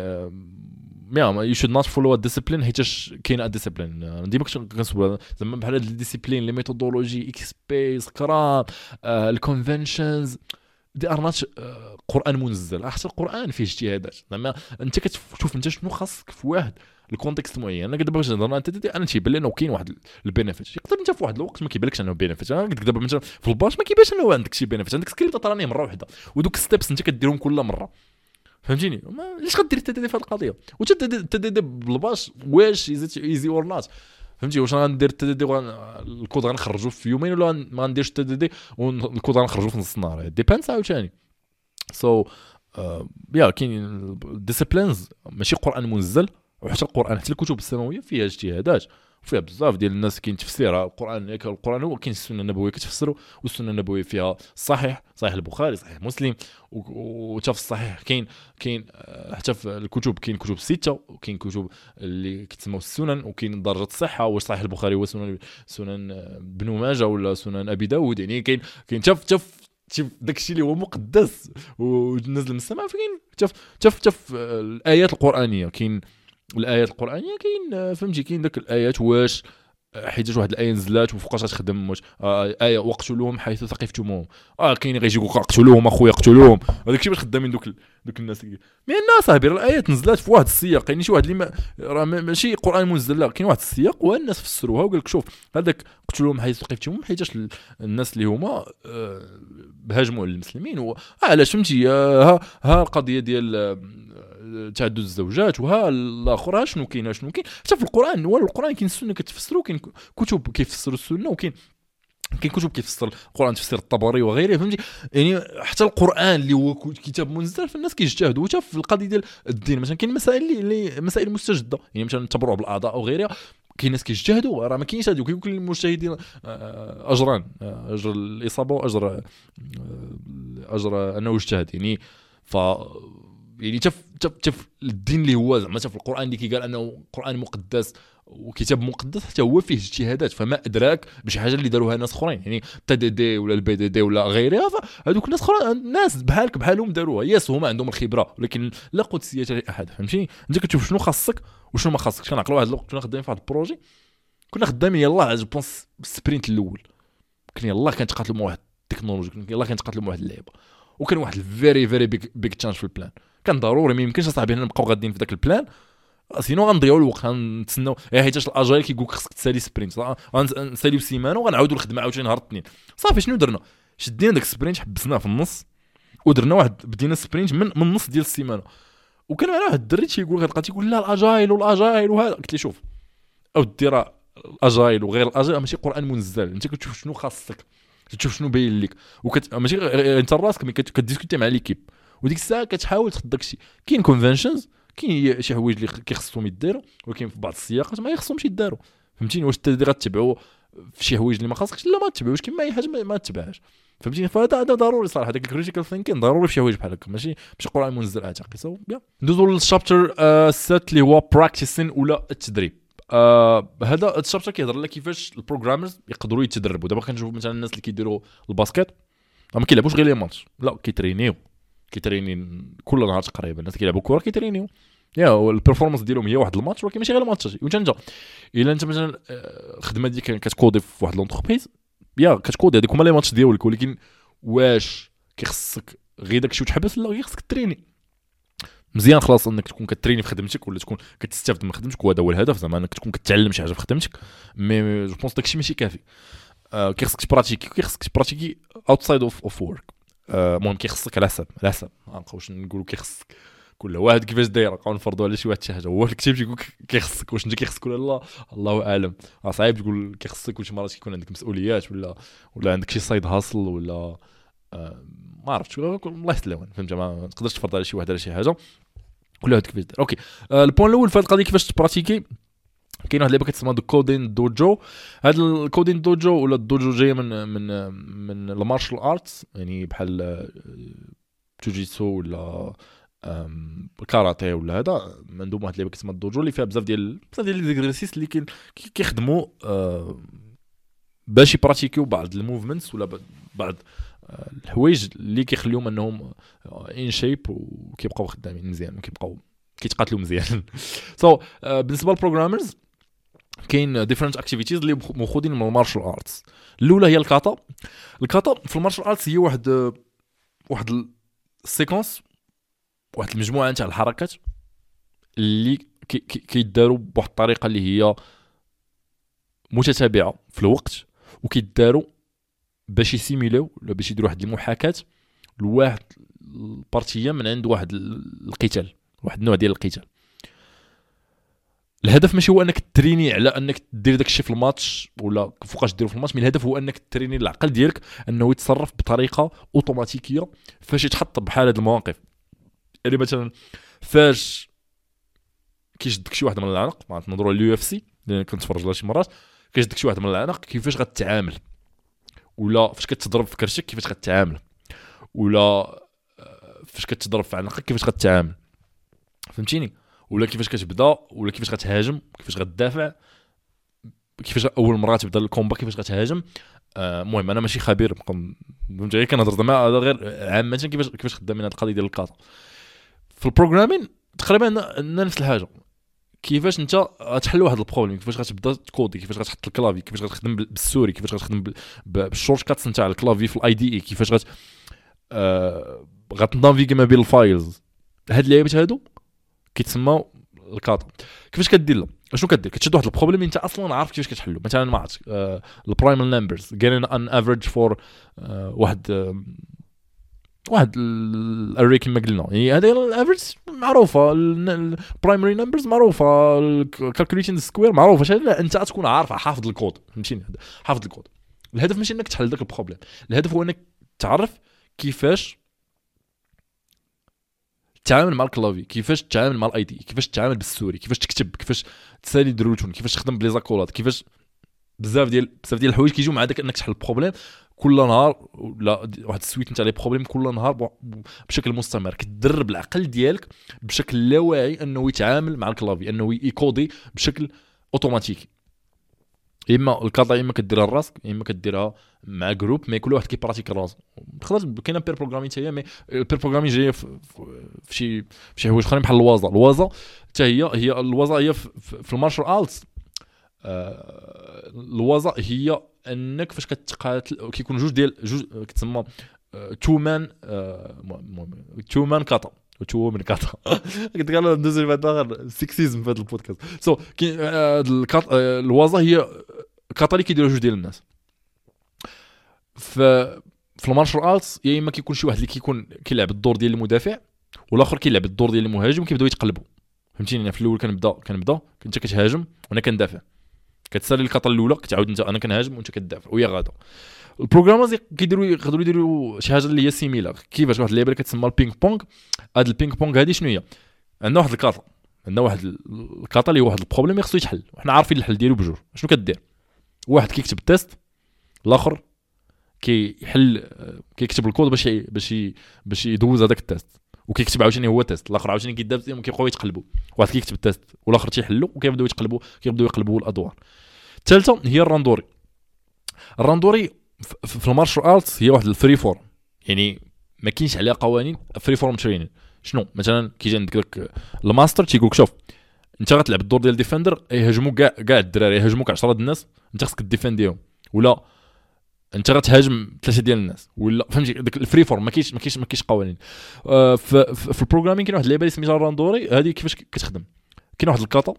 مي يو شود نوت فولو ا ديسيبلين حيتاش كاين ا ديسيبلين ديما كنسول زعما بحال هاد الديسيبلين لي ميثودولوجي اكس بي سكرام الكونفنشنز دي ارنات قران منزل حتى القران فيه اجتهادات زعما انت كتشوف انت شنو خاصك في واحد الكونتكست معين انا دابا باش نهضر انت انا تيبان لي انه كاين واحد البينيفيت يقدر انت في واحد الوقت ما كيبانلكش انه بينيفيت انا قلت دابا مثلا في الباش ما كيبانش انه عندك شي بينيفيت عندك سكريبت طرانيه مره واحده ودوك ستيبس انت كديرهم كل مره فهمتيني علاش غدير التدريب في هذه القضيه واش التدريب بالباش واش ايزي اور نوت فهمتي واش غندير التدريب الكود غنخرجوه في يومين ولا ما غنديرش التدريب والكود غنخرجوه في نص النهار ديبينس عاوتاني سو يا كاين ديسيبلينز ماشي قران منزل وحتى القران حتى الكتب السماويه فيها اجتهادات وفيها بزاف ديال الناس كاين تفسيرها القران ياك القران هو كاين السنه النبويه كتفسروا والسنه النبويه فيها صحيح صحيح البخاري صحيح مسلم وحتى في الصحيح كاين كاين حتى في الكتب كاين كتب سته وكاين كتب اللي كتسموا السنن وكاين درجه الصحه واش صحيح البخاري هو سنن سنن ابن ماجه ولا سنن ابي داود يعني كاين كاين حتى حتى شوف داكشي اللي هو مقدس ونزل من السماء فين شوف شوف شوف الايات القرانيه كاين الايات القرانيه كاين فهمتي كاين داك الايات واش حيت واحد الايه نزلات وفوقاش غتخدم واش آه ايه وقتلوهم حيث ثقفتموهم اه كاين غيجي يقول قتلوهم اخويا قتلوهم هذاك الشيء باش خدامين دوك دوك الناس مي الناس صاحبي الايات نزلات في واحد السياق كاين شي واحد اللي ما راه ماشي قران منزل لا كاين واحد السياق والناس فسروها وقال لك شوف هذاك قتلوهم حيث ثقفتموهم حيتاش الناس اللي هما آه هاجموا على المسلمين و علاش فهمتي ها ها القضيه ديال تعدد الزوجات وها الاخر شنو كاين شنو كاين حتى في القران ولا القران كاين السنه كتفسروا كاين كتب كيفسروا السنه وكاين كاين كتب كيفسر القران تفسير الطبري وغيره فهمتي يعني حتى القران اللي هو كتاب منزل فالناس كيجتهدوا حتى في القضيه ديال الدين مثلا كاين مسائل اللي مسائل مستجده يعني مثلا التبرع بالاعضاء او غيرها كاين ناس كيجتهدوا راه ما كاينش هذوك كل المجتهدين اجران اجر الاصابه واجر اجر انه اجتهد يعني ف يعني شوف شوف شوف الدين اللي هو زعما في القران اللي كيقال انه قران مقدس وكتاب مقدس حتى هو فيه اجتهادات فما ادراك بشي حاجه اللي داروها ناس اخرين يعني تي دي دي ولا البي دي دي ولا غيرها هذوك الناس اخرين ناس بحالك بحالهم داروها ياس هما عندهم الخبره ولكن لا قدسيه لاحد فهمتي انت كتشوف شنو خاصك وشنو ما خاصكش كنعقلوا واحد الوقت كنا خدامين في واحد البروجي كنا خدامين يلاه جو بونس السبرينت الاول كنا يلاه كنتقاتلوا مع واحد التكنولوجي كنا يلاه كنتقاتلوا مع واحد اللعبه وكان واحد الفيري فيري بيج بيج تشانج في البلان كان ضروري ما يمكنش اصاحبي حنا نبقاو غاديين في داك البلان سينو غنضيعوا الوقت غنتسناو حيتاش الاجايل كيقول لك خصك تسالي سبرينت غنساليو سيمانه وغنعاودوا الخدمه عاوتاني نهار الاثنين صافي شنو درنا شدينا داك السبرينت حبسناه في النص ودرنا واحد بدينا سبرينت من من النص ديال السيمانه وكان معنا واحد الدري تيقول غتلقى تيقول لا الاجايل والاجايل وهذا قلت لي شوف او دير الاجايل وغير الاجايل ماشي قران منزل انت كتشوف شنو خاصك تشوف شنو باين لك وكت ماشي انت راسك ملي كديسكوتي مع ليكيب وديك الساعه كتحاول تاخذ داكشي كاين كونفنشنز كاين شي حوايج اللي كيخصهم يديروا ولكن في بعض السياقات ما يخصهمش يداروا فهمتيني واش انت غتتبعوا في شي حوايج اللي ما خاصكش لا ما تتبعوش كما اي حاجه ما تتبعهاش فهمتيني فهذا هذا ضروري صراحه داك الكريتيكال ثينكين ضروري في شي حوايج بحال هكا ماشي ماشي قران منزل اعتقد سو بيان ندوزو للشابتر سات اللي هو براكتيسين ولا التدريب آه هذا الشابتر كيهضر لنا كيفاش البروغرامرز يقدروا يتدربوا دابا كنشوفوا مثلا الناس اللي كيديروا الباسكيت ما كيلعبوش غير لي ماتش، لا كيترينيو كيتريني كل نهار تقريبا. الناس كيلعبوا كره كيترينيو، يا البيرفورمانس ديالهم هي واحد الماتش، ولكن ماشي غير الماتش. وانت انت الا انت مثلا الخدمه ديالك كتكودي في واحد لونتربريز، يا كتكودي هذيك هما لي ماتش ديالك، ولكن واش كيخصك غير داكشي وتحبس؟ لا، غير خصك تريني مزيان خلاص، انك تكون كتريني في خدمتك ولا تكون كتستافد من خدمتك، وهذا هو الهدف زعما انك تكون كتعلم شي حاجه في خدمتك. مي جو بونس داكشي ماشي كافي. آه كيخصك تبراتيكي كيخصك تبراتيكي اوتسايد اوف اوف وورك. المهم كيخصك على حساب على حساب ما نبقاوش نقولوا كيخصك كل واحد كيفاش داير، نبقاو نفرضوا على شي واحد شي حاجه. هو الكتاب تيقول كيخصك، واش انت كيخصك ولا لا الله اعلم. راه صعيب تقول كيخصك، وشي مرات كيكون عندك مسؤوليات ولا ولا عندك شي سايد هاسل ولا آه ما عرفتش، الله يسلم فهمت. ما تقدرش تفرض على شي واحد على شي حاجه، كل واحد كيفاش داير. اوكي آه البوين الاول في هذه القضيه كيفاش تبراتيكي، كاين واحد اللعبه كتسمى دو كودين دوجو. هاد الكودين دوجو ولا الدوجو جايه من من من المارشال ارتس، يعني بحال جوجيتسو ولا كاراتيه ولا هذا. عندهم واحد اللعبه كتسمى الدوجو اللي فيها بزاف ديال بزاف ديال ليزيكزارسيس اللي كي كيخدموا باش يبراتيكيو بعض الموفمنتس ولا بعض الحوايج اللي كيخليهم انهم ان شيب وكيبقاو خدامين مزيان وكيبقاو كيتقاتلوا مزيان. سو so, uh, بالنسبه للبروغرامرز كاين ديفرنت اكتيفيتيز اللي ماخذين من المارشال ارتس. الاولى هي الكاتا. الكاتا في المارشال ارتس هي واحد واحد السيكونس، واحد المجموعه تاع الحركات اللي كيداروا كي بواحد الطريقه اللي هي متتابعه في الوقت، وكيداروا باش يسيميليو ولا باش يديروا واحد المحاكاه لواحد البارتيه من عند واحد القتال، واحد النوع ديال القتال. الهدف ماشي هو انك تريني على انك دير داك الشيء في الماتش ولا فوقاش ديرو في الماتش، من الهدف هو انك تريني العقل ديالك انه يتصرف بطريقه اوتوماتيكيه فاش يتحط بحال هاد المواقف. يعني مثلا فاش كيشدك شي واحد من العنق، ما نهضروا على اليو اف سي اللي كنت نتفرج لها شي مرات، كيشدك شي واحد من العنق كيفاش غتتعامل، ولا فاش كتضرب في كرشك كيفاش غتتعامل، ولا فاش كتضرب في عنقك كيفاش غتتعامل، فهمتيني؟ ولا كيفاش كتبدا، ولا كيفاش غتهاجم، كيفاش غتدافع، كيفاش اول مره تبدا الكومبا كيفاش غتهاجم. المهم آه انا ماشي خبير، فهمت غير كنهضر زعما هذا غير عامه كيفاش كيفاش خدامين هذه القضيه ديال الكاتا. في البروغرامين تقريبا نفس الحاجه، كيفاش انت غتحل واحد البروبليم، كيفاش غتبدا تكودي، كيفاش غتحط الكلافي، كيفاش غتخدم بالسوري، كيفاش غتخدم بالشورت كاتس نتاع الكلافي في الاي دي اي، كيفاش غت آه غتنافيغي ما بين الفايلز. هاد اللعيبات هادو كيتسموا الكاتا. كيفاش كدير له؟ شنو كدير؟ كتشد واحد البروبليم انت اصلا عارف كيفاش كتحلو. مثلا ما عرفتش آه البرايمال نمبرز جيرين ان افريج فور واحد آه واحد الاري كما قلنا، يعني هذه الافريج معروفه، البرايمري نمبرز معروفه، الكالكوليشن سكوير معروفه. شنو انت تكون عارف حافظ الكود، فهمتيني؟ حافظ الكود. الهدف ماشي انك تحل داك البروبليم، الهدف هو انك تعرف كيفاش تتعامل مع الكلافي، كيفاش تتعامل مع الاي دي، كيفاش تتعامل بالسوري، كيفاش تكتب، كيفاش تسالي دروتون، كيفاش تخدم بلي زاكولات، كيفاش بزاف ديال بزاف ديال الحوايج كيجيو مع داك انك تحل البروبليم كل نهار، ولا واحد السويت نتاع لي بروبليم كل نهار بشكل مستمر. كتدرب العقل ديالك بشكل لا واعي انه يتعامل مع الكلافي، انه يكودي بشكل اوتوماتيكي. اما الكاتا اما كديرها لراسك، اما كديرها مع جروب، مي كل واحد كيبراتيك راسو. تقدر كاينه بير بروغرامين حتى هي، مي البير بروغرامين جايه في شي في شي حوايج اخرين بحال الوازا. الوازا حتى هي هي الوازا هي في المارشال ارتس. آه الوازا هي انك فاش كتقاتل كيكون جوج ديال جوج كتسمى تو مان تو مان كاتا تو من كاتا. قلت قال ندوز بعدا سكسيزم في هذا البودكاست. سو كاين الوازا هي كاتا اللي كيديروا جوج ديال الناس في في المارشال ارتس. يا اما كيكون شي واحد اللي كيكون كيلعب الدور ديال المدافع، والاخر كيلعب الدور ديال المهاجم، وكيبداو يتقلبوا. فهمتيني؟ في الاول كنبدا كنبدا كنت كتهاجم وانا كندافع، كتسالي الكاتا الاولى كتعاود انت انا كنهاجم وانت كتدافع ويا غادا. البروغرامرز كيديروا يقدروا يديروا شي حاجه اللي هي سيميلار. كيفاش واحد اللعبه كتسمى البينغ بونغ. هاد البينغ بونغ هادي شنو هي؟ عندنا واحد الكاتا، عندنا واحد الكاتا اللي هو واحد البروبليم خصو يتحل، وحنا عارفين الحل ديالو بجوج. شنو كدير؟ واحد كيكتب التيست، الاخر كيحل كيكتب الكود باش باش باش يدوز هذاك التيست، وكيكتب عاوتاني هو تيست، الاخر عاوتاني كيدابز وكيبقاو يتقلبوا. واحد كيكتب التيست والاخر تيحلو، وكيبداو يتقلبوا كيبداو يقلبوا الادوار. الثالثه هي الراندوري. الراندوري في المارشال ارتس هي واحد الفري فورم، يعني ما كاينش عليها قوانين فري فورم ترينين. شنو مثلا كيجي عندك داك الماستر تيقولك شوف انت غتلعب الدور ديال ديفندر يهاجموا كاع كاع الدراري يهاجموك عشرة د الناس انت خصك ديفنديهم ولا انت غتهاجم ثلاثه ديال الناس ولا فهمتي داك الفري فورم ما كاينش ما كاينش ما كاينش قوانين. آه في, في البروغرامين كاين واحد اللعبه اللي سميتها راندوري هذه كيفاش كتخدم كاين واحد الكاطا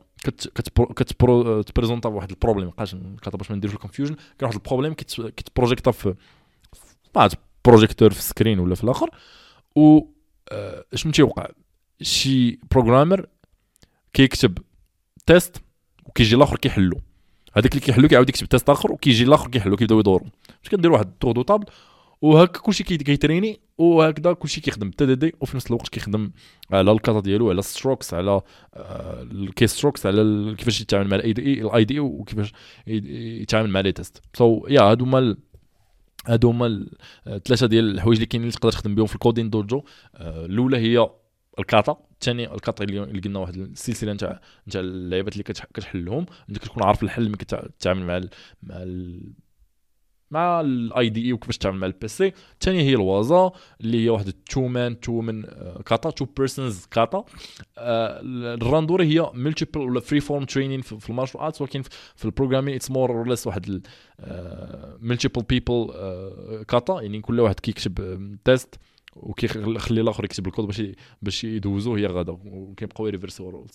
كت كتبريزونطا واحد البروبليم مابقاش الكاطا باش ما نديروش الكونفيوجن كاين واحد البروبليم كتبروجيكتا في بعض بروجيكتور في السكرين ولا في الاخر و آه شنو تيوقع شي بروغرامر كيكتب تيست وكيجي الاخر كيحلو هذاك اللي كيحلو كيعاود يكتب تيست اخر وكيجي الاخر كيحلو كيبداو يدوروا باش كندير واحد طور دو طابل وهكا كلشي كيتريني وهكذا كلشي كيخدم تي دي دي وفي نفس الوقت كيخدم على الكاتا ديالو على الستروكس على الكيس ستروكس على كيفاش يتعامل مع الاي دي اي الاي دي وكيفاش يتعامل مع لي تيست. سو يا هادو هما هادو هما ثلاثه ديال الحوايج اللي كاينين اللي تقدر تخدم بهم في الكودين دوجو. الاولى هي الكاتا الثاني الكاتا اللي قلنا واحد السلسله نتاع نتاع اللعيبات اللي كتحلهم انت كتكون عارف الحل ملي كتعامل مع ال مع ال مع الاي دي اي وكيفاش تعامل مع البي سي. الثانيه هي الوازا اللي هي واحد التو مان تو من كاتا تو بيرسونز كاتا. الراندوري هي ملتيبل ولا فري فورم ترينين في المارشال ارتس ولكن في البروغرامين اتس مور اور ليس واحد ملتيبل بيبل كاتا يعني كل واحد كيكتب تيست وكيخلي الاخر يكتب الكود باش باش يدوزوه هي غدا وكيبقاو ريفرسو رولز.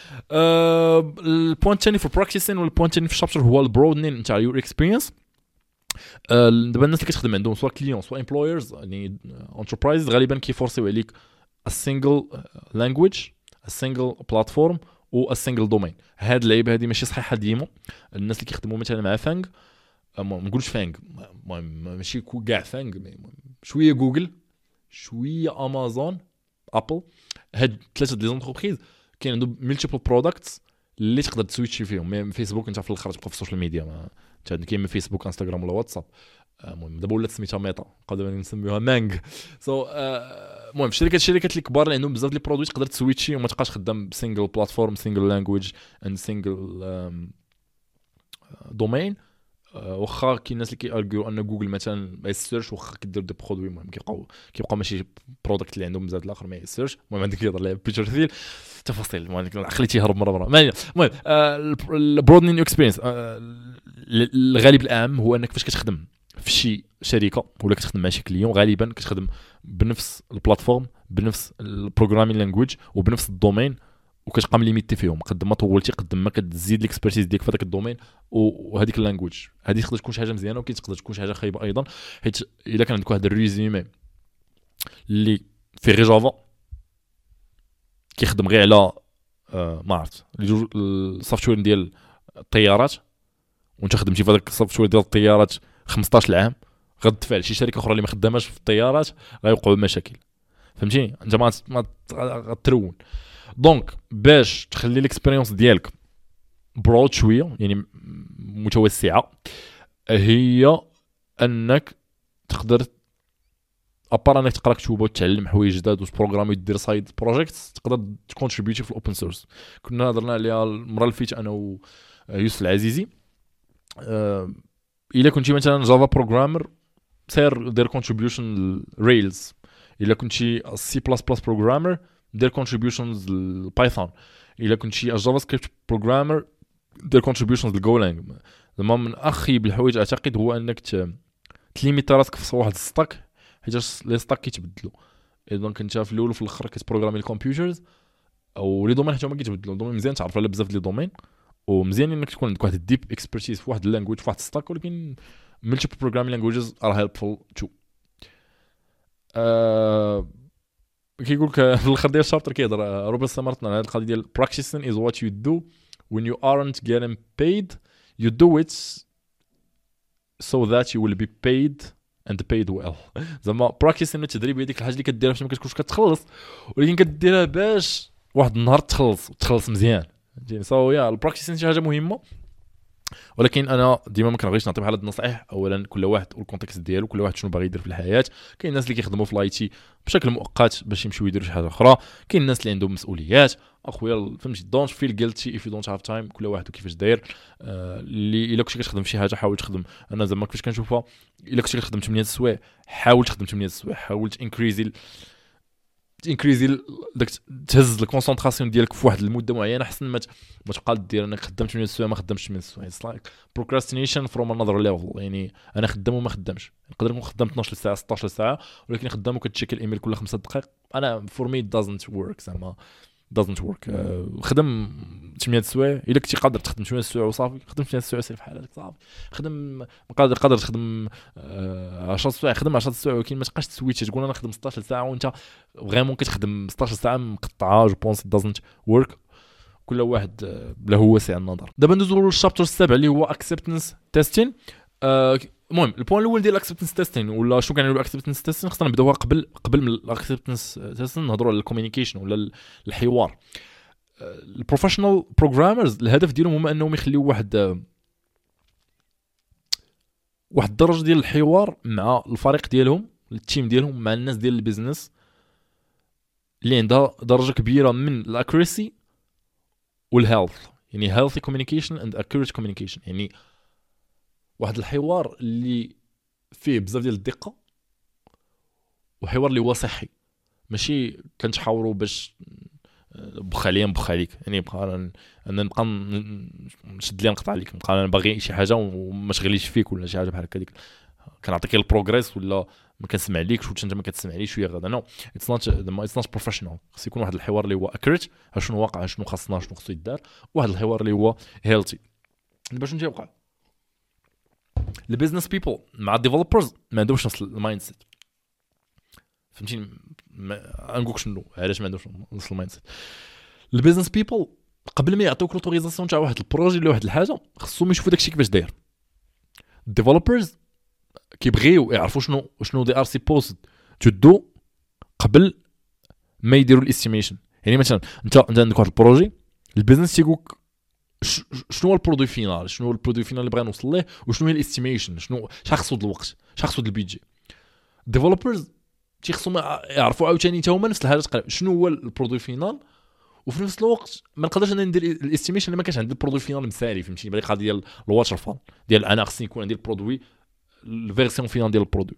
أه البوينت الثاني في البراكتيسين والبوينت الثاني في الشابتر هو البرودنين نتاع يور اكسبيرينس. أه دابا الناس اللي كتخدم عندهم سواء كليون سواء امبلويرز يعني انتربرايز غالبا كيفورسيو عليك ا سينجل لانجويج ا سينجل بلاتفورم و ا سينجل دومين. هاد اللعيبه هذه ماشي صحيحه ديما. الناس اللي كيخدموا مثلا مع فانغ ما نقولش فانغ المهم ماشي كاع فانغ شويه جوجل شويه امازون ابل هاد ثلاثه دي زونتربريز كاين عندهم ملتيبل برودكتس اللي تقدر تسويتشي فيهم. مي فيسبوك انت في الاخر تبقى في السوشيال ميديا ما انت كاين فيسبوك انستغرام ولا واتساب. المهم دابا ولات سميتها ميتا قادرين نسميوها مانغ. سو المهم الشركات الشركات الكبار اللي عندهم بزاف ديال البرودوي تقدر تسويتشي وما تبقاش خدام بسينجل بلاتفورم سينجل لانجويج اند سينجل دومين. واخا كاين الناس اللي كيارغيو ان جوجل مثلا ما يسيرش واخا كدير دي برودوي المهم كيبقاو كيبقاو ماشي برودكت اللي عندهم بزاف الاخر ما يسيرش. المهم عندك يهضر على بيتر تفاصيل المهم عقلي تيهرب مره مره. المهم البرودنين اكسبيرينس الغالب الاعم هو انك فاش كتخدم في شي شركه ولا كتخدم مع شي كليون غالبا كتخدم بنفس البلاتفورم بنفس البروغرامين لانجويج وبنفس الدومين وكتبقى ليميتي فيهم قد ما طولتي قد ما كتزيد ليكسبيرتيز ديالك في هذاك الدومين وهذيك اللانجويج. هذه تقدر تكون شي حاجه مزيانه وكاين تقدر تكون شي حاجه خايبه ايضا حيت الا كان عندك واحد الريزومي اللي في غير جافا كيخدم غير على آه ما عرفت السوفتوير ديال الطيارات وانت خدمتي في هذاك السوفتوير ديال الطيارات خمسطاش عام غتدفع لشي شركه اخرى اللي ما خداماش في الطيارات غيوقعوا مشاكل فهمتيني انت ما ما غترون. دونك باش تخلي الاكسبيريونس ديالك برود شويه يعني متوسعه هي انك تقدر ابار انك تقرا كتب وتعلم حوايج جداد وتبروغرامي ودير سايد بروجيكتس تقدر تكونتريبيوتي في الاوبن سورس. كنا هضرنا عليها المره اللي فاتت انا ويوسف العزيزي. أه الا كنتي مثلا جافا بروغرامر سير دير كونتريبيوشن ريلز. الا كنتي سي بلس بلس بروغرامر دير كونتريبيوشنز لبايثون. الا كنتي جافا سكريبت بروغرامر دير كونتريبيوشنز لجولانج. زعما من اخيب الحوايج اعتقد هو انك تليميت راسك في واحد الستاك حيت لي ستاك كيتبدلوا. دونك انت في الاول وفي الاخر كتبروغرامي الكمبيوترز او لي دومين حتى هما كيتبدلوا. دومين مزيان تعرف على بزاف ديال لي دومين ومزيان انك تكون عندك واحد الديب اكسبرتيز في واحد اللانجويج في واحد الستاك ولكن ملتيبل بروغرامين لانجويجز ار هيلبفول تو. أه كيقول لك في الاخر ديال الشابتر كيهضر روبن سامرتنا على هذه القضيه ديال practicing is what you do when you aren't getting paid you do it so that you will be paid and paid well. زعما practicing التدريب هي ديك الحاجه اللي كديرها باش ما كتكونش كتخلص ولكن كديرها باش واحد النهار تخلص وتخلص مزيان. سو يا البراكتيسين شي حاجه مهمه ولكن انا ديما ما كنبغيش نعطي بحال هاد النصائح. اولا كل واحد والكونتكست ديالو، كل واحد شنو باغي يدير في الحياه. كاين الناس اللي كيخدموا في لاي تي بشكل مؤقت باش يمشيو يديروا شي حاجه اخرى، كاين الناس اللي عندهم مسؤوليات. اخويا فهمتي، دونت فيل جيلتي اف يو دونت هاف تايم. كل واحد وكيفاش داير. آه اللي الا كنتي كتخدم في شي حاجه حاول تخدم. انا زعما كيفاش كنشوفها، الا كنتي كتخدم ثمانية السوايع حاول تخدم ثمانية السوايع، حاول تنكريزي انكريزي داك تهز الكونسونطراسيون ديالك في واحد المده معينه، حسن ما ما تبقى دير انك خدمت ثمانية السوايع ما خدمتش ثمانية السوايع. اتس لايك بروكراستينيشن فروم انذر ليفل. يعني انا خدام وما خدامش، نقدر نكون خدام اثناش ساعه ستطاش ساعه ولكن خدام وكتشيك الايميل كل خمسة دقائق. انا فور مي دازنت ورك، زعما doesn't work. أه خدم ثمانية السوايع الا كنتي قادر تخدم ثمانية السوايع وصافي، خدم ثمانية السوايع سير في حالك صافي. خدم قادر قادر تخدم أه عشرة السوايع، خدم عشرة السوايع، ولكن ما تبقاش تسويتش تقول انا خدم ستطاش ساعه وانت فريمون كتخدم ستطاش ساعه مقطعه. جو بونس doesn't work. كل واحد له هو وسع النظر. دابا ندوزو للشابتر السابع اللي هو acceptance testing. أه المهم البوين الاول ديال الاكسبتنس تيستين ولا شنو كنعملوا الاكسبتنس تيستين، خصنا نبداوها قبل قبل من الاكسبتنس تيستين نهضروا على الكوميونيكيشن ولا الحوار. البروفيشنال بروغرامرز الهدف ديالهم هما انهم يخليوا واحد واحد الدرجه ديال الحوار مع الفريق ديالهم، التيم ديالهم، مع الناس ديال البيزنس اللي عندها درجه كبيره من الاكوريسي والهيلث. يعني healthy communication and accurate communication، يعني واحد الحوار اللي فيه بزاف ديال الدقه وحوار اللي هو صحي، ماشي كنتحاوروا باش بخ عليا بخ عليك. يعني بقى انا نبقى نشد لي نقطع عليك، نبقى انا باغي شي حاجه وما شغليش فيك ولا شي حاجه بحال هكا، ديك كنعطيك البروغريس ولا ما كنسمع ليكش وانت ما كتسمعليش شويه غدا. نو اتس نوت اتس نوت بروفيشنال. خص يكون واحد الحوار اللي هو اكريت، شنو واقع، شنو خاصنا، شنو خصو يدار، واحد الحوار اللي هو هيلثي. باش شنو تيوقع البيزنس بيبل مع الديفلوبرز ما عندهمش نفس المايند سيت. فهمتيني؟ نقولك شنو علاش ما عندهمش نفس المايند سيت. البيزنس بيبل قبل ما يعطيوك لوتوريزاسيون تاع واحد البروجي ولا واحد الحاجه خصهم يشوفوا داكشي كيفاش داير. الديفلوبرز كيبغيو يعرفوا شنو شنو دي ار سيبوزد تو دو قبل ما يديروا الاستيميشن. يعني مثلا انت انت عندك واحد البروجي، البيزنس تيقولك شنو هو البرودوي فينال، شنو هو البرودوي فينال اللي بغا نوصل ليه، وشنو هي الاستيميشن، شنو شحال خصو د الوقت، شحال خصو د البيدجي. الديفلوبرز تيخصهم يعرفوا عاوتاني حتى هما نفس الحاجه تقريبا، شنو هو البرودوي فينال، وفي نفس الوقت ما نقدرش انا ندير الاستيميشن اللي ما كانش عندي البرودوي فينال مسالي. فهمتيني؟ بغي قضيه ديال الواتر فال ديال انا خصني يكون عندي البرودوي الفيرسيون فينال ديال البرودوي.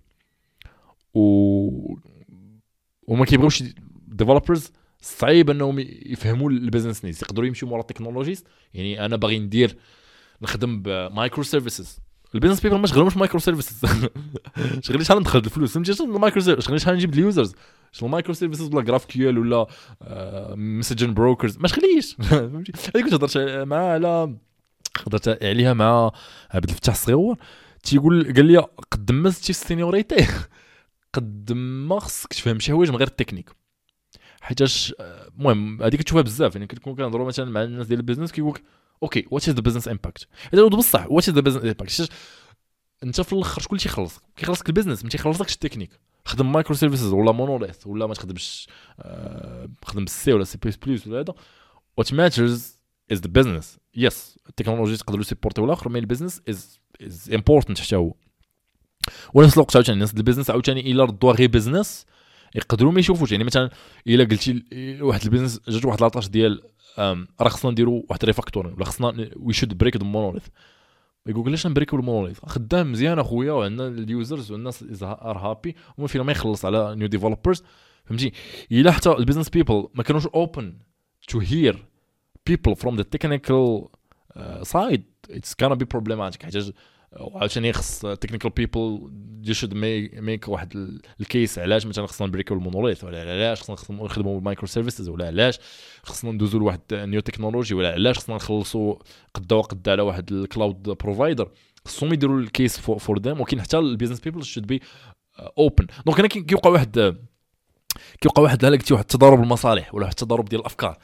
و وما كيبغيوش ديفلوبرز صعيب انهم يفهموا البيزنس نيز، يقدروا يمشيو مورا التكنولوجيست. يعني انا باغي ندير نخدم بمايكرو سيرفيسز، البيزنس بيبل ما شغلهمش مايكرو سيرفيسز. شغلي شحال ندخل الفلوس، فهمتي؟ شنو المايكرو سيرفيس، شغلي شحال نجيب اليوزرز، شنو المايكرو سيرفيسز ولا جراف كيو ال ولا مسجن بروكرز، ما شغليش. فهمتي؟ هذيك كنت هضرت مع على هضرت عليها مع عبد الفتاح الصغيور، تيقول قال لي قد ما زدتي السينيوريتي قد ما خصك تفهم شي حوايج من غير التكنيك. حيتاش المهم هذيك تشوفها بزاف. يعني كتكون كنهضروا مثلا مع الناس ديال البيزنس كيقولك اوكي وات از ذا بيزنس امباكت، هذا بصح وات از ذا بيزنس امباكت. انت في الاخر شكون اللي تيخلصك؟ كيخلصك البيزنس، ما تيخلصكش التكنيك. خدم مايكرو سيرفيسز ولا مونوليث ولا ما تخدمش آه خدم بالسي ولا سي بلس بلس ولا هذا. وات ماترز از ذا بيزنس. يس التكنولوجي تقدروا سيبورتيو الاخر، مي البيزنس از از امبورتنت حتى هو. ونفس الوقت عاوتاني الناس ديال البيزنس عاوتاني الا ردوا غير بيزنس يقدروا ما يشوفوش. يعني مثلا الا قلتي واحد البيزنس جات واحد لاطاش ديال راه خصنا نديروا واحد ريفاكتورين ولا خصنا وي شود بريك ذا مونوليث، يقول علاش نبريكو المونوليث، خدام مزيان اخويا وعندنا اليوزرز والناس ار هابي وما فينا ما يخلص على نيو ديفلوبرز. فهمتي؟ الا حتى البيزنس بيبل ما كانوش اوبن تو هير people from the technical uh, side it's gonna be problematic. حيت عشان يخص technical people you should make, make واحد الكيس علاش مثلا خصنا نبريكو المونوليث، ولا علاش خصنا نخدموا بالمايكرو سيرفيسز، ولا علاش خصنا ندوزوا لواحد نيو تكنولوجي، ولا علاش خصنا نخلصوا قدا وقدا على واحد الكلاود بروفايدر. خصهم يديروا الكيس فور ذيم. ولكن حتى البيزنس بيبل should be open. دونك هنا كيوقع واحد كيوقع واحد بحال قلتي واحد التضارب المصالح ولا واحد التضارب ديال الافكار.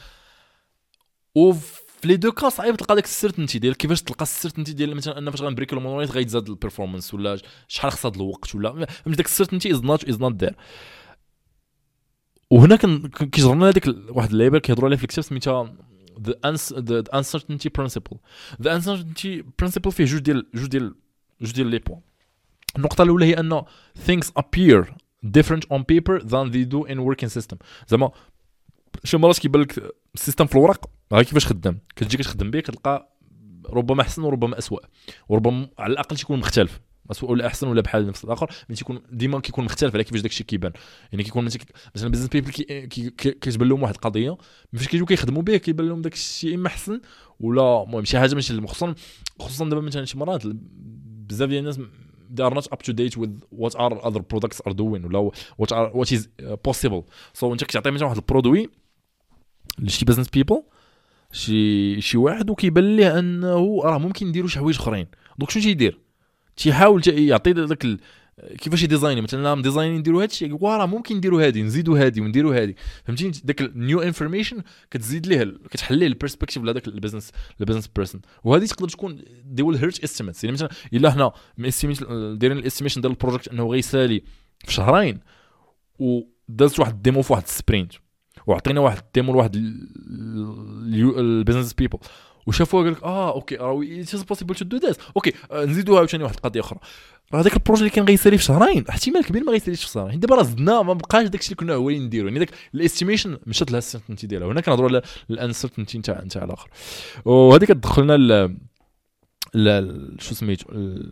وفي لي دو كا صعيب تلقى داك السيرتينتي ديال كيفاش تلقى السيرتينتي ديال مثلا ان فاش غنبريكو المونوليث غيتزاد البيرفورمانس ولا شحال خصها الوقت ولا فهمتي داك السيرتينتي از نوت از نوت ذير. وهنا كيجرنا هذيك واحد اللعيبه كيهضروا عليها في الكتاب سميتها the, uns- the uncertainty principle. the uncertainty principle فيه جوج ديال جوج ديال جوج ديال لي بوين. النقطه الاولى هي ان things appear different on paper than they do in working system. زعما شي مرات كيبان لك السيستم في الورق ها كيفاش خدام، كتجي كتخدم به كتلقى ربما احسن وربما اسوء، وربما على الاقل تيكون مختلف، اسوء ولا احسن ولا بحال نفس الاخر، ملي تيكون ديما كيكون مختلف على كيفاش داكشي كيبان. يعني كيكون مثلا بزنس بيبل كي كيتبان لهم واحد القضيه فاش كيجيو كيخدموا به كيبان لهم داكشي اما احسن ولا المهم شي حاجه ماشي، خصوصا خصوصا دابا مثلا شي مرات بزاف ديال الناس they are not up to date with what are other products are doing ولا what are what is possible. so انت كتعطي مثلا واحد البرودوي لشي بزنس بيبل شي شي واحد وكيبان ليه انه راه ممكن نديروا شي حوايج اخرين، دونك شنو تيدير؟ تيحاول يعطي داك ال... كيفاش يديزايني مثلا مديزاينين نديروا هادشي يقول راه ممكن نديروا هادي نزيدوا هادي ونديروا هادي، فهمتيني؟ داك النيو انفورميشن كتزيد ليه كتحل ليه البيرسبكتيف لهذاك البيزنس البيزنس بيرسون، وهذه تقدر تكون دي ويل هيرت استيميتس. يعني مثلا الا حنا دايرين الاستيميشن ديال البروجيكت انه غيسالي في شهرين ودازت واحد الديمو في واحد السبرينت وعطينا واحد الديمو لواحد البيزنس بيبل وشافوها قال لك اه اوكي راه ات از بوسيبل تو دو ذات اوكي نزيدوها عاوتاني واحد القضيه اخرى، راه هذاك البروجي اللي كان غيسالي في شهرين احتمال كبير ما غيساليش في شهرين. دابا راه زدنا ما بقاش داكشي اللي كنا هوالين نديرو، يعني داك الاستيميشن مشات لها السيرتينتي ديالها. هنا كنهضروا على الانسيرتينتي نتاع نتاع الاخر، وهذه كتدخلنا ل ل شو سميتو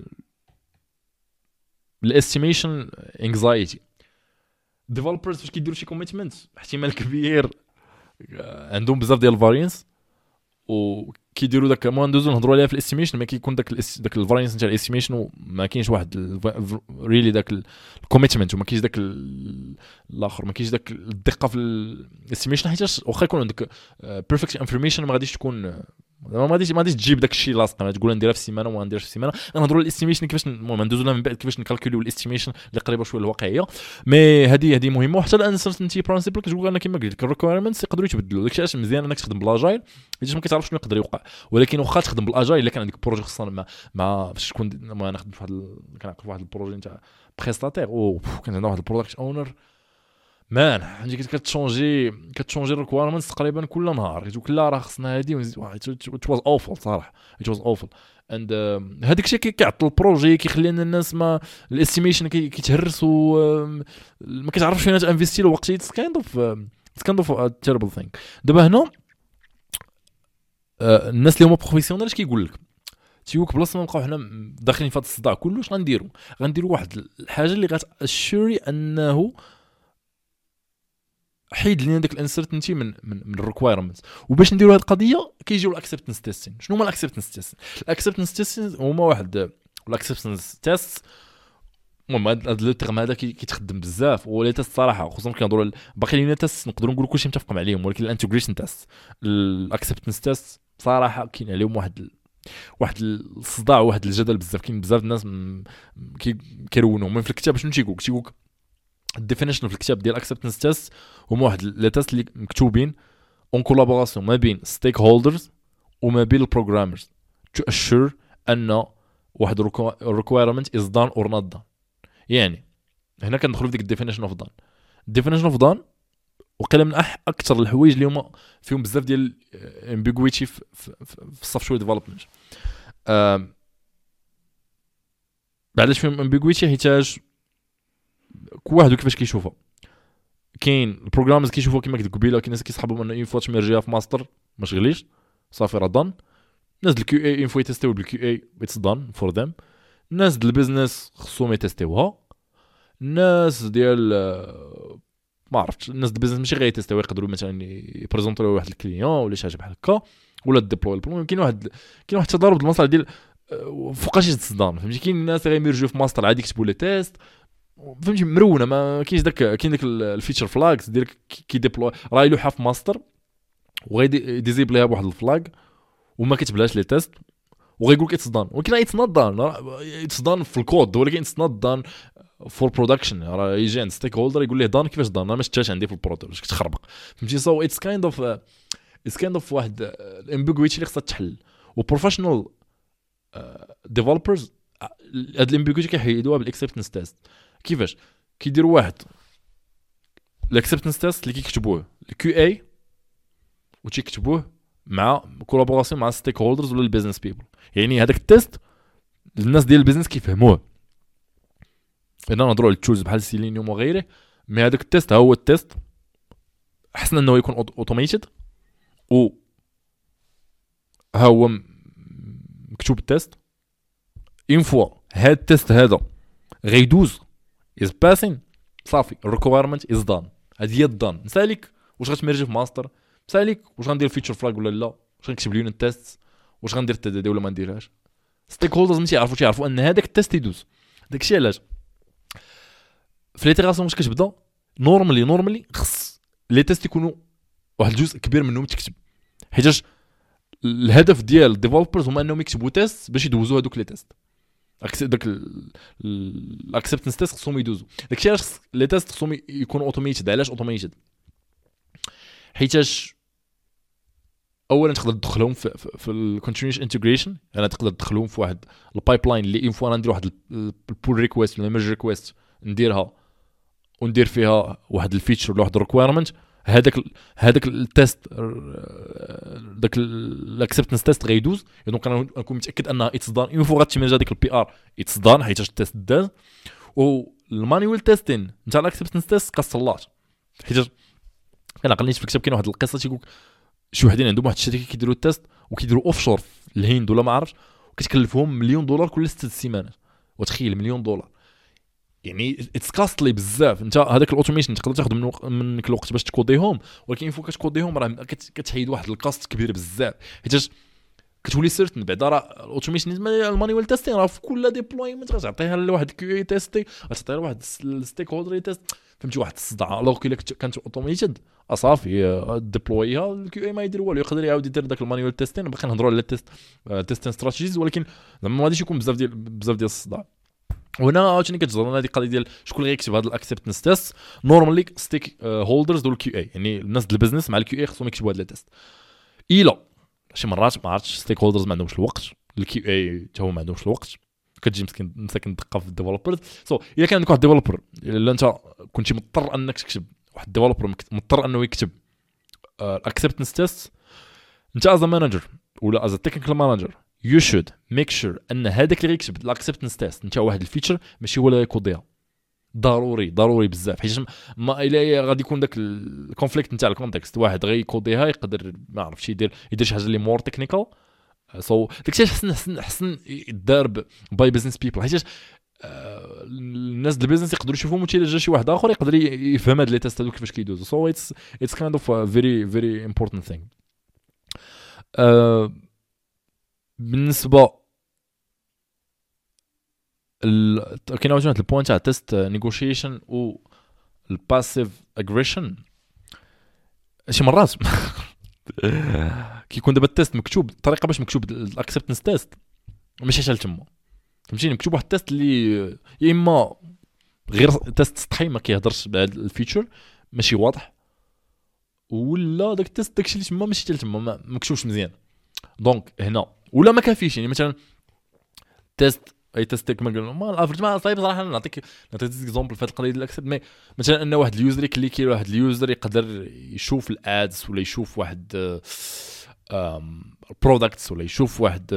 الاستيميشن انكزايتي. ديفلوبرز فاش كيديروا شي كوميتمنت احتمال كبير عندهم بزاف ديال الفارينس وكيديروا داك ما ندوزو نهضروا عليها في الاستيميشن، ما كيكون داك الاس... داك الفارينس نتاع الاستيميشن وما كاينش واحد ريلي داك الكوميتمنت وما كاينش داك الاخر ما كاينش داك الدقه في الاستيميشن، حيت واخا يكون عندك بيرفكت انفورميشن ما غاديش تكون ما غاديش ما غاديش تجيب داك الشيء لاصق تقول نديرها في السيمانه وما نديرش في السيمانه. غنهضروا على الاستيميشن كيفاش المهم ندوزو لها من بعد كيفاش نكالكوليو الاستيميشن اللي قريبه شويه للواقعيه. مي هذه هذه مهمه، وحتى الانسرتينتي برينسيبل كتقول انا كما قلت لك الريكويرمنتس يقدروا يتبدلوا. داكشي علاش مزيان انك تخدم بالاجايل حيت ما كتعرفش شنو يقدر يوقع، ولكن واخا تخدم بالاجايل الا كان عندك بروجي خصوصا مع مع فاش تكون ما نخدم في واحد كنعقل في واحد البروجي نتاع بريستاتير او كان عندنا واحد البرودكت اونر مان عندي كتشونجي كتشونجي الريكويرمنتس تقريبا كل نهار كتقول لا راه خصنا هذه ونزيد واحد ات واز اوفل صراحه ات واز اوفل اند هذاك الشيء كيعطل البروجي كيخلي ان الناس ما الاستيميشن كيتهرس وما كتعرفش فين تانفيستي له وقت اتس كايند اوف اتس كايند اوف تيربل ثينك. دابا هنا الناس اللي هما بروفيسيونيل اش كيقول لك تيوك بلاصه ما نبقاو حنا داخلين في هذا الصداع كله اش غنديروا غنديروا واحد الحاجه اللي غتاشوري انه حيد لينا داك الانسرتينتي من من, من الريكويرمنتس. وباش نديروا هذه القضيه كيجيو الاكسبتنس تيستين. شنو هما الاكسبتنس تيستين؟ الاكسبتنس تيستين هما واحد الاكسبتنس تيست المهم هذا لو تيرم هذا كيتخدم بزاف ولا تيست صراحه خصوصا كنهضروا باقي لينا تيست نقدروا نقولوا كلشي متفق عليهم، ولكن الانتجريشن تيست الاكسبتنس تيست صراحه كاين عليهم واحد ال... واحد الصداع واحد الجدل بزاف. كاين بزاف الناس م... كيرونوا من في الكتاب شنو تيقول تيقول الديفينيشن في الكتاب ديال اكسبتنس تيست هما واحد لي تيست اللي مكتوبين اون كولابوراسيون ما بين ستيك هولدرز وما بين البروغرامرز تو اشور ان واحد الريكويرمنت از دان اور نوت دان. يعني هنا كندخلوا في ديك الديفينيشن اوف دان. الديفينيشن اوف دان وقيله من أح اكثر الحوايج اللي هما فيهم بزاف ديال امبيغويتي في في السوفت وير ديفلوبمنت. علاش فيهم امبيغويتي؟ حيتاج كل واحد كيفاش كيشوفها. كاين البروغرامرز كيشوفوا كما قلت قبيله كاين ناس كيصحابوا انه انفو تمرجيها في ماستر ما شغليش صافي راه دان. الناس ديال الكيو اي انفو يتيستيو بالكيو اي اتس دان فور ذم. الناس ديال البيزنس خصهم يتيستيوها. الناس ديال ما عرفتش الناس ديال البيزنس ماشي غيتيستيو يقدروا مثلا يبريزونطيو واحد الكليون ولا شي حاجه بحال هكا ولا ديبلوي البروبليم. كاين واحد كاين واحد التضارب المصالح ديال فوقاش يتصدام فهمتي. كاين الناس غيمرجيو في ماستر عادي يكتبوا لي تيست فهمتي مرونه ما كاينش داك كاين داك الفيتشر فلاجز ديال كي ديبلوي راه يلوحها في ماستر وغيدي ديزيبليها بواحد الفلاج وما كتبلاش لي تيست وغيقول لك اتس دان، ولكن اتس نوت دان اتس دان في الكود ولكن اتس نوت دان فور برودكشن. راه يجي عند ستيك هولدر يقول ليه دان كيفاش دان انا ما شفتهاش عندي في البرودكت واش كتخربق فهمتي. سو اتس كايند اوف اتس كايند اوف واحد الامبيغويتي اللي خصها تحل. وبروفيشنال ديفلوبرز هاد الامبيغويتي كيحيدوها بالاكسبتنس تيست. كيفاش كيديروا واحد الاكسبتنس تيست اللي كيكتبوه الكيو اي وتيكتبوه مع كولابوراسيون مع ستيك هولدرز ولا البيزنس بيبل. يعني هذاك التيست الناس ديال البيزنس كيفهموه. انا نهضروا على التولز بحال سيلينيوم وغيره، مي هذاك التيست هو التيست حسن انه يكون اوتوميتد و ها هو مكتوب التيست. اون فوا هاد التيست هذا غيدوز از باسين صافي الريكويرمنت از دان. هذه هي الدان. نسالك واش غتمرجي في ماستر، نسالك واش غندير فيتشر فلاج ولا لا، واش غنكتب اليونت تيست، واش غندير التدادي ولا ما نديرهاش. ستيك هولدرز ماشي يعرفوا يعرفوا ان هذاك التيست يدوز. داكشي علاش في ليتيراسيون واش كتبدا نورمالي نورمالي خص لي تيست يكونوا واحد الجزء كبير منهم تكتب، حيتاش الهدف ديال الديفلوبرز هما انهم يكتبوا تيست باش يدوزوا هذوك لي تيست. داك الاكسبتنس تيست خصهم يدوزوا. داكشي علاش لي تيست خصهم يكونوا اوتوميتد. علاش اوتوميتد؟ حيتاش اولا تقدر تدخلهم في في الكونتينيوس انتجريشن. انا تقدر تدخلهم في واحد البايب لاين اللي ان فوا ندير واحد البول ريكويست ولا ميرج ريكويست نديرها وندير فيها واحد الفيتشر ولا واحد الريكويرمنت، هذاك هذاك التيست داك الاكسبتنس تيست غيدوز. دونك انا نكون متاكد انها اتس دان اون فوا غتمرج هذيك البي ار اتس دان حيت التيست داز. والمانيوال تيستين نتاع الاكسبتنس تيست كصلات، حيت انا قلنيت في الكتاب كاين واحد القصه تيقول شي وحدين عندهم واحد الشركه كيديروا التيست وكيديروا اوف شور في الهند ولا ما عرفتش، وكتكلفهم مليون دولار كل ست سيمانات. وتخيل مليون دولار يعني اتس كاستلي بزاف. انت هذاك الاوتوميشن تقدر تاخذ من منك الوقت باش تكوديهم، ولكن فوق كتكوديهم راه كتحيد واحد الكاست كبير بزاف. حيت كتولي سيرتن بعدا راه الاوتوميشن المانيوال تيستين راه في كل ديبلويمنت غتعطيها لواحد كيو اي تيستي، غتعطيها لواحد الستيك هولدر تيست، فهمتي واحد الصداع. الوغ كي كانت اوتوميتد اصافي ديبلويها الكيو اي ما يدير والو، يقدر يعاود يدير داك المانيوال تيستين. باقي نهضروا على التيست تيستين استراتيجيز، ولكن زعما ما غاديش يكون بزاف ديال بزاف ديال الصداع. وهنا عاوتاني كتجرنا هذه القضيه ديال شكون اللي غيكتب هذا الاكسبتنس تيست. نورمالي ستيك هولدرز دول الكيو اي، يعني الناس ديال البيزنس مع الكيو اي خصهم يكتبوا هذا التيست. الا شي مرات ما عرفتش ستيك هولدرز ما عندهمش الوقت، الكيو اي حتى هو ما عندهمش الوقت، كتجي مسكين مساكن دقه في الديفلوبرز. سو so, الا كان عندك واحد ديفلوبر الا انت كنتي مضطر انك تكتب، واحد الديفلوبر مضطر انه يكتب الاكسبتنس تيست، انت از مانجر ولا از تكنيكال مانجر you should make sure ان هذاك اللي غيكتب الاكسبتنس تيست نتاع واحد الفيتشر ماشي هو اللي غيكوديها. ضروري ضروري بزاف، حيت ما الا غادي يكون داك الكونفليكت نتاع الكونتكست، واحد غيكوديها يقدر ما عرفتش يدير يدير شي حاجه اللي مور تكنيكال. سو داكشي حسن حسن حسن يدار باي بزنس بيبل، حيت الناس ديال البيزنس يقدروا يشوفوا متى جا شي واحد اخر يقدر يفهم هاد لي تيست هذوك كيفاش كيدوزو. سو اتس اتس كايند اوف فيري فيري امبورطانت ثينغ. بالنسبه ال... كاين واحد البوينت تاع تيست نيغوشيشن و الباسيف اجريشن. شي مرات كيكون دابا التيست مكتوب الطريقه باش مكتوب الاكسبتنس تيست ماشي حتى تما، فهمتيني؟ مكتوب واحد التيست اللي يا اما غير تيست سطحي ما كيهضرش بهذا الفيتشر ماشي واضح، ولا داك التيست داكشي اللي تما ماشي حتى تما ما مكتوبش مزيان. دونك هنا ولا ما كافيش. يعني مثلا تيست اي تيست كما قلنا ما الافرج ما صايب صراحه. نعطيك نعطيك اكزامبل في هذه القضيه ديال الاكسبت. مي مثلا ان واحد اليوزر كليكي واحد اليوزر يقدر يشوف الادز ولا يشوف واحد برودكتس ولا يشوف واحد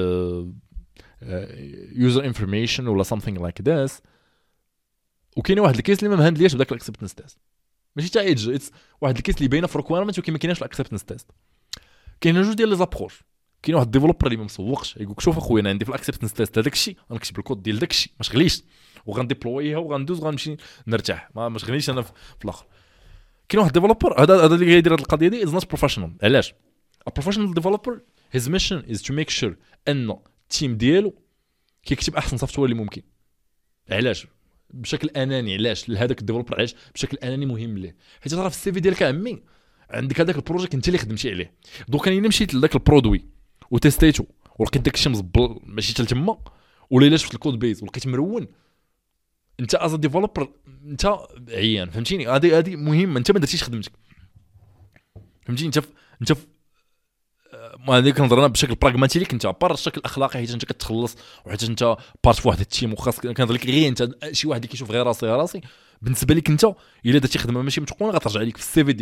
يوزر انفورميشن ولا something like this، وكاين واحد الكيس اللي ما مهندلياش بداك الاكسبتنس تيست ماشي تاع ايدج، واحد الكيس اللي باينه في ريكويرمنت ولكن ما كايناش الاكسبتنس تيست. كاين جوج ديال لي زابروش. كاين واحد الديفلوبر اللي ما مسوقش يقول لك شوف اخويا انا عندي في الاكسبتنس تيست هذاك الشيء غنكتب الكود ديال داك الشيء ما شغليش وغنديبلويها وغندوز وغنمشي نرتاح ما ما شغليش انا في الاخر. كاين واحد ديفلوبر هذا هذا اللي غيدير هذه القضيه دي از نوت بروفيشنال. علاش؟ ا بروفيشنال ديفلوبر هيز ميشن از تو ميك شور ان التيم ديالو كيكتب احسن سوفتوير اللي ممكن. علاش؟ بشكل اناني. علاش لهذاك الديفلوبر؟ علاش بشكل اناني مهم ليه؟ حيت راه في السي في ديالك عمي عندك هذاك البروجيكت انت اللي خدمتي عليه. دوك انا مشيت لذاك البرودوي وتيستيتو ولقيت داك الشيء مزبل ماشي حتى تما، ولا الا شفت الكود بيز ولقيت مرون، انت از ديفلوبر انت عيان. فهمتيني؟ هذه هذه مهمه. انت ما درتيش خدمتك، فهمتيني؟ انت انت ما هذيك نظرنا بشكل براغماتي ليك انت بار الشكل الاخلاقي، حيت انت كتخلص وحيت انت بارت في واحد التيم وخاص كنظر لك غير انت شي واحد اللي كيشوف غير راسي راسي. بالنسبه لك انت الا درتي خدمه ماشي متقونه غترجع لك في السي في ديالك.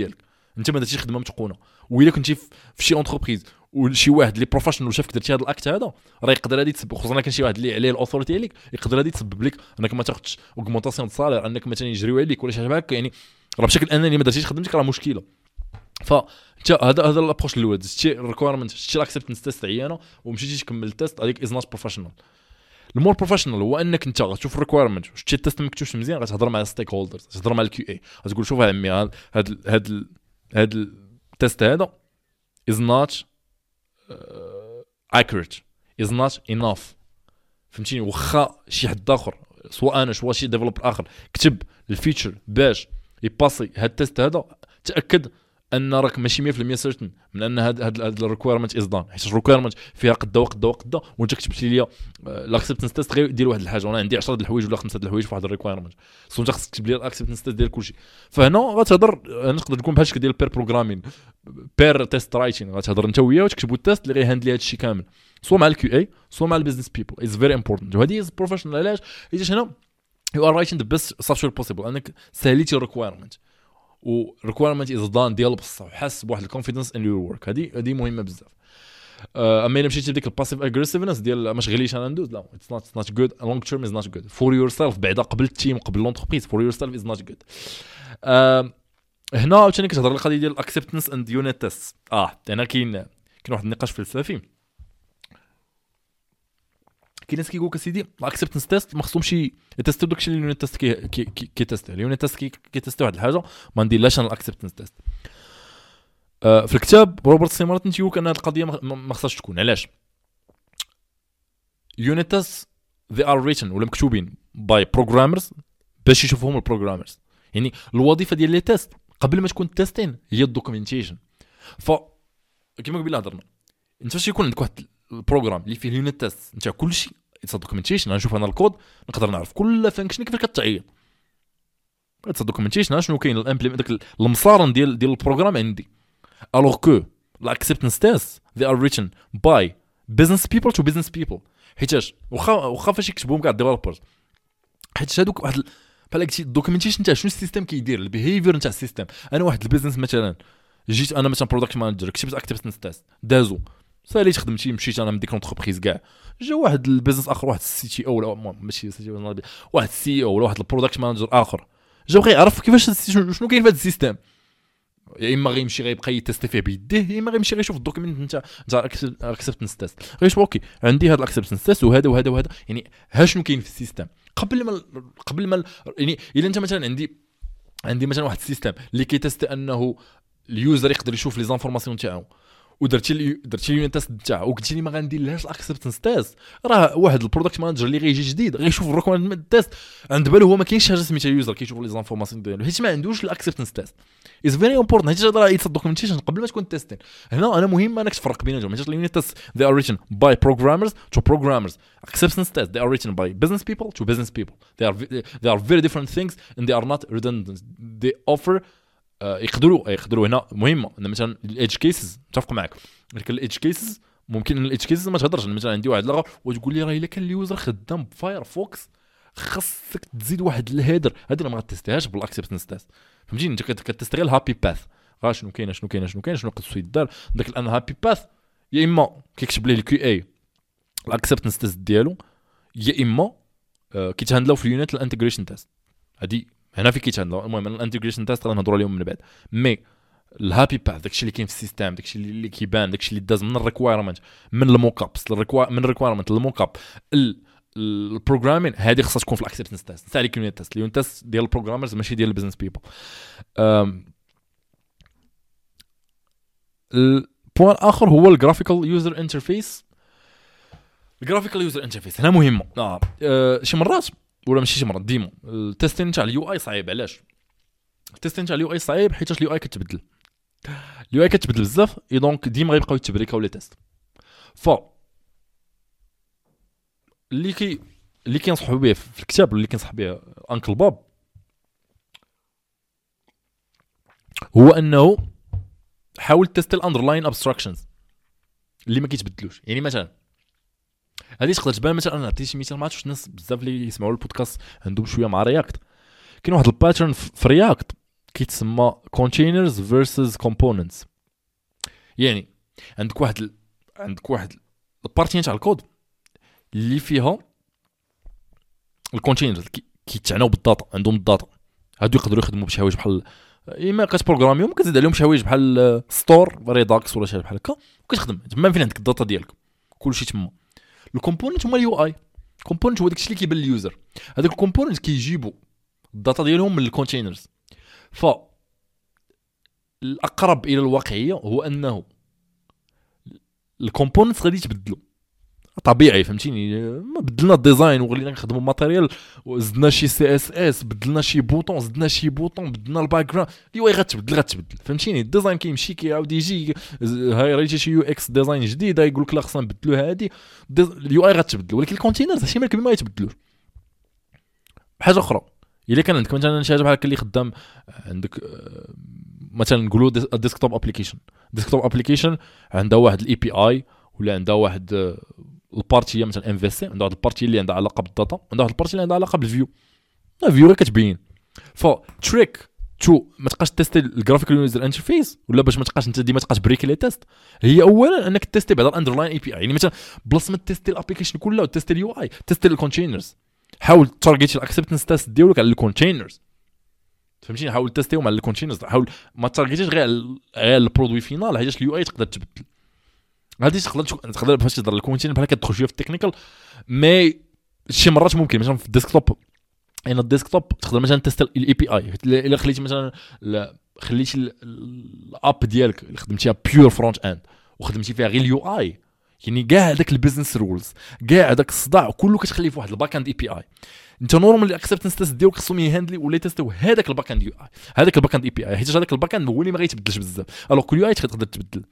انت ما درتيش خدمه متقونه. والا كنتي في شي اونتربريز وشي واحد لي بروفيشنال شافك درتي هذا الاكت هذا راه يقدر هذه تسبب، خصوصا كان شي واحد اللي عليه الاوثوريتي عليك يقدر هذه تسبب لك انك ما تاخذش اوغمونطاسيون دو سالير، انك مثلا يجريو عليك ولا شي حاجه هكا. يعني راه بشكل انني ما درتيش خدمتك راه مشكله. فانت هذا هذا الابروش الاول، دزتي الريكويرمنت، شتي الاكسبتنس تيست عيانه ومشيتي تكمل التيست، هذيك از نوت بروفيشنال. المور بروفيشنال هو انك انت غتشوف الريكويرمنت وشتي التيست مكتوبش مزيان، غتهضر مع الستيك هولدرز، غتهضر مع الكيو اي، غتقول شوف عمي هذا هذا هذا التيست هذا is not uh, accurate is not enough. فهمتيني؟ واخا شي حد اخر سواء انا سواء شي ديفلوبر اخر كتب الفيتشر باش يباسي هاد التيست هذا، تاكد ان راك ماشي مية بالمية سيرتن من ان هاد هاد الريكويرمنت از دان، حيت الريكويرمنت فيها قدا وقدا وقدا وانت كتبتي لي الاكسبتنس تيست غير دير واحد الحاجه وانا عندي عشرة د الحوايج ولا خمسة د الحوايج في واحد الريكويرمنت، سو انت خصك تكتب لي الاكسبتنس تيست ديال كلشي. فهنا غتهضر نقدر تكون بحال شكل ديال بير بروغرامين بير تيست رايتين، غتهضر انت وياه وتكتبوا التيست اللي غيهاندلي هذا الشيء كامل سواء مع الكيو اي سواء مع البيزنس بيبل. از فيري امبورتانت. وهذه از بروفيشنال. علاش؟ حيت هنا يو ار رايتين ذا بيست سوفتوير بوسيبل، انك سهليتي الريكويرمنت و requirement is done ديال بصح وحس بواحد الكونفيدنس ان يور ورك. هذه هذه مهمه بزاف. اما الا مشيتي لديك الباسيف اغريسيفنس ديال ما شغليش انا ندوز، لا اتس نوت نوت جود لونج تيرم، از نوت جود فور يور سيلف. بعدا قبل التيم قبل لونتربريز فور يور سيلف از نوت جود. هنا عاوتاني كتهضر القضيه ديال الاكسبتنس اند يونت تيست. اه هنا كاين كاين واحد النقاش فلسفي. كاين ناس كيقول لك اسيدي الاكسبتنس تيست ما خصهمش يتيستو داكشي اللي اليونت تيست كي كي تيست اليونت تيست كي تيست واحد الحاجه ما نديرلاش انا الاكسبتنس تيست. آه في الكتاب روبرت سي مارتن تيقول ان هذه القضيه ما خصهاش تكون. علاش؟ يونت تيست they are written ولا مكتوبين باي بروغرامرز باش يشوفوهم البروغرامرز. يعني الوظيفه ديال لي تيست قبل ما تكون تيستين هي الدوكيومنتيشن. ف كما قبيله هضرنا انت فاش يكون عندك واحد البروغرام اللي فيه اليونت تيست انت كلشي اتس دوكيومنتيشن، نشوف انا الكود نقدر نعرف كل فانكشن كيفاش كتعيط. اتس دوكيومنتيشن شنو كاين الامبليمنت داك المصارن ديال ديال البروغرام عندي. الوغ كو الاكسبتنس تيست they are written by business people to business people. حيتاش واخا واخا فاش يكتبوهم كاع ديفلوبرز، حيت هذوك واحد بحال قلتي الدوكيومنتيشن تاع شنو السيستم كيدير البيهيفير نتاع السيستم. انا واحد البيزنس مثلا جيت انا مثلا برودكت مانجر كتبت اكتيفيتي تيست دازو ساليت خدمتي مشيت انا من ديك لونتربريز كاع جا واحد البيزنس اخر واحد السي تي او ولا ماشي سي تي او واحد السي او ولا واحد البرودكت مانجر اخر جا بغى يعرف كيفاش شنو كاين في هذا السيستم. يا اما غيمشي غيبقى يتيستي فيه بيديه، يا اما غيمشي غيشوف الدوكيمنت نتاع نتاع الاكسبتنس تيست غيشوف اوكي عندي هذا الاكسبتنس تيست وهذا وهذا وهذا. يعني ها شنو كاين في السيستم قبل ما قبل ما يعني الا انت مثلا عندي عندي مثلا واحد السيستم اللي كيتيست انه اليوزر يقدر يشوف لي زانفورماسيون تاعو ودرتي لي درتي لي التيست تاعو وقلتي لي ما غنديرلهاش الاكسبتنس تيست، راه واحد البرودكت مانجر اللي غيجي جديد غيشوف الريكويرمنت تيست عند بالو هو ما كاينش حاجه سميتها يوزر كيشوف لي زانفورماسيون ديالو حيت ما عندوش الاكسبتنس تيست. از فيري امبورطنت حيت هذا راه يتص دوكيومنتيشن قبل ما تكون تيستين. هنا انا مهم انك تفرق بينهم. حيت اليونت تيست they are written by programmers to programmers. acceptance test they are written by business people to business people. they are they are very different things and they are not redundant. they offer uh, يقدروا يقدروا هنا مهمه ان مثلا الايدج كيسز متفق معك. لكن الايدج كيسز ممكن الايدج كيسز ما تهضرش. مثلا عندي واحد لغه وتقول لي راه الا كان اليوزر خدام بفايرفوكس خاصك تزيد واحد الهيدر، هذه ما غاتستيهاش بالاكسبتنس تيست. فهمتيني؟ انت كتستغل الهابي باث غا شنو كاين شنو كاين شنو كاين شنو خصو يدار داك الان هابي باث. يا اما كيكتب ليه الكيو اي الاكسبتنس تيست ديالو، يا اما آه كيتهندلاو في اليونت الانتجريشن تيست. هذه هنا في كيتهندلاو. المهم الانتجريشن تيست غنهضروا عليهم من بعد. مي الهابي باث داكشي اللي كاين في السيستم داكشي اللي كيبان داكشي اللي داز من الريكويرمنت من الموك ابس من الريكويرمنت للموك اب البروغرامين هذه خصها تكون في الاكسبتنس تيست تاع اليونت تيست. اليونت تيست ديال البروغرامرز ماشي ديال البيزنس بيبل. البوان اخر هو الجرافيكال يوزر انترفيس. الجرافيكال يوزر انترفيس هنا مهمه. اه, آه شي مرات ولا ماشي شي مرات ديما التيستين تاع اليو اي صعيب. علاش التيستين تاع اليو اي صعيب؟ حيت اليو اي كتبدل اليو اي كتبدل بزاف اي دونك ديما غيبقاو يتبريكاو لي تيست. ف اللي كي اللي كينصحوا به في الكتاب اللي كينصح به انكل باب هو انه حاول تيست الاندرلاين ابستراكشنز اللي ما كيتبدلوش. يعني مثلا هذه تقدر تبان مثلا انا عطيت شي مثال ما عرفتش الناس بزاف اللي يسمعوا البودكاست عندهم شويه مع رياكت. كاين واحد الباترن في رياكت كيتسمى containers versus components. يعني عندك واحد ال... عندك واحد البارتي تاع الكود اللي فيها الكونتينرز كيتعناو بالداتا، عندهم الداتا هادو يقدروا يخدموا بشي حوايج بحال اما كتبروغراميهم كتزيد عليهم شي حوايج بحال ستور ريداكس ولا شي بحال هكا وكتخدم تما فين عندك الداتا ديالك كلشي تما. الكومبوننت هما اليو اي. كومبوننت هو داكشي اللي كيبان لليوزر. هذاك الكومبوننت كيجيبوا الداتا ديالهم من الكونتينرز. ف الاقرب الى الواقعيه هو انه الكومبوننت غادي يتبدلوا طبيعي، فهمتيني؟ ما بدلنا الديزاين وغلينا نخدموا ماتيريال وزدنا شي سي اس اس، بدلنا شي بوطون، زدنا شي بوطون، بدلنا الباك جراوند، اليو اي غتبدل غتبدل فهمتيني؟ الديزاين كيمشي كيعاود يجي، هاي راه شي يو اكس ديزاين جديد يقول لك لا خصنا نبدلوا هادي، اليو اي غتبدل. ولكن الكونتينرز شي مالك ما يتبدلوش. حاجه اخرى الا كان عندك مثلا شي حاجه بحال اللي خدام عندك مثلا نقولوا ديسكتوب ابليكيشن، ديسكتوب ابليكيشن عندها واحد الاي بي اي ولا عندها واحد البارتي هي مثلا ام في سي، عندها واحد البارتي اللي عندها علاقه بالداتا، عندها واحد البارتي اللي عندها علاقه بالفيو. الفيو غير كتبين. فتريك تو ما تبقاش تيستي الجرافيكال يوزر انترفيس ولا باش ما تبقاش انت ديما تبقاش بريكي لي تيست، هي اولا انك تيستي بعدا الاندرلاين اي بي اي. يعني مثلا بلاص ما تيستي الابليكيشن كلها وتيستي اليو اي، تيستي الكونتينرز. حاول تارجيتي الاكسبتنس تيست ديالك على الكونتينرز، فهمتيني؟ حاول تيستيهم على الكونتينرز، حاول ما تارجيتيش غير غير البرودوي فينال، حيت اليو اي تقدر تبدل. هادي تقدر تقدر فاش تهضر الكونتينر بحال كتدخل شويه في التكنيكال، مي شي مرات ممكن مثلا في الديسكتوب. انا الديسكتوب تقدر مثلا تيست الاي بي اي الا خليتي مثلا خليتي الاب ديالك اللي خدمتيها بيور فرونت اند وخدمتي فيها غير اليو اي، يعني كاع هذاك البيزنس رولز كاع هذاك الصداع كله كتخليه في واحد الباك اند اي بي اي. انت نورمال الاكسبتنس تيست ديالك خصهم يهاندلي ولا تيستيو هذاك الباك اند يو اي، هذاك الباك اند اي بي اي، حيت هذاك الباك اند هو اللي ما غيتبدلش بزاف. الوغ كل يو اي تقدر تبدل.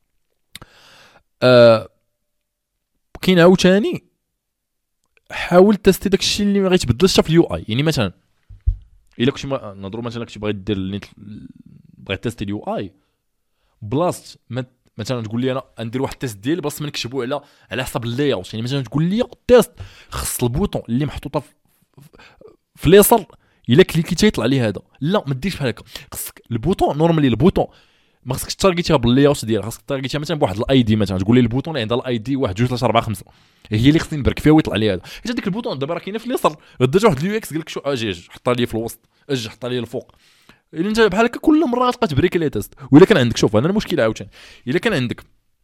آه كاين عاوتاني حاول تستي داك الشيء اللي ما غيتبدلش في اليو اي. يعني مثلا الا كنتي نهضروا مثلا كنتي باغي دير بغيت تيستي اليو اي بلاصه مثلا تقول لي انا ندير واحد التيست ديالي بلاصه ما نكتبوا على على حسب اللاي اوت. يعني مثلا تقول لي التيست خص البوطون اللي محطوطه في, في اليسار الا كليكيتي يطلع لي هذا، لا ما ديرش بحال هكا. خصك البوطون نورمالي البوطون ما خصكش تارجيتيها باللاي اوت ديالها، خصك تارجيتيها مثلا بواحد الاي دي. مثلا تقول لي البوطون اللي عندها الاي دي واحد جوج ثلاثة أربعة خمسة هي اللي خصني نبرك فيها ويطلع لي هذا. حيت هذيك البوطون دابا راه كاينه في اليسار، درت واحد اليو اكس قال لك شو اجي حطها لي في الوسط، اجي حطها لي الفوق. الا انت بحال هكا كل مره غتبقى تبريكي لي تيست. ولا كان عندك شوف انا المشكله عاوتاني الا كان عندك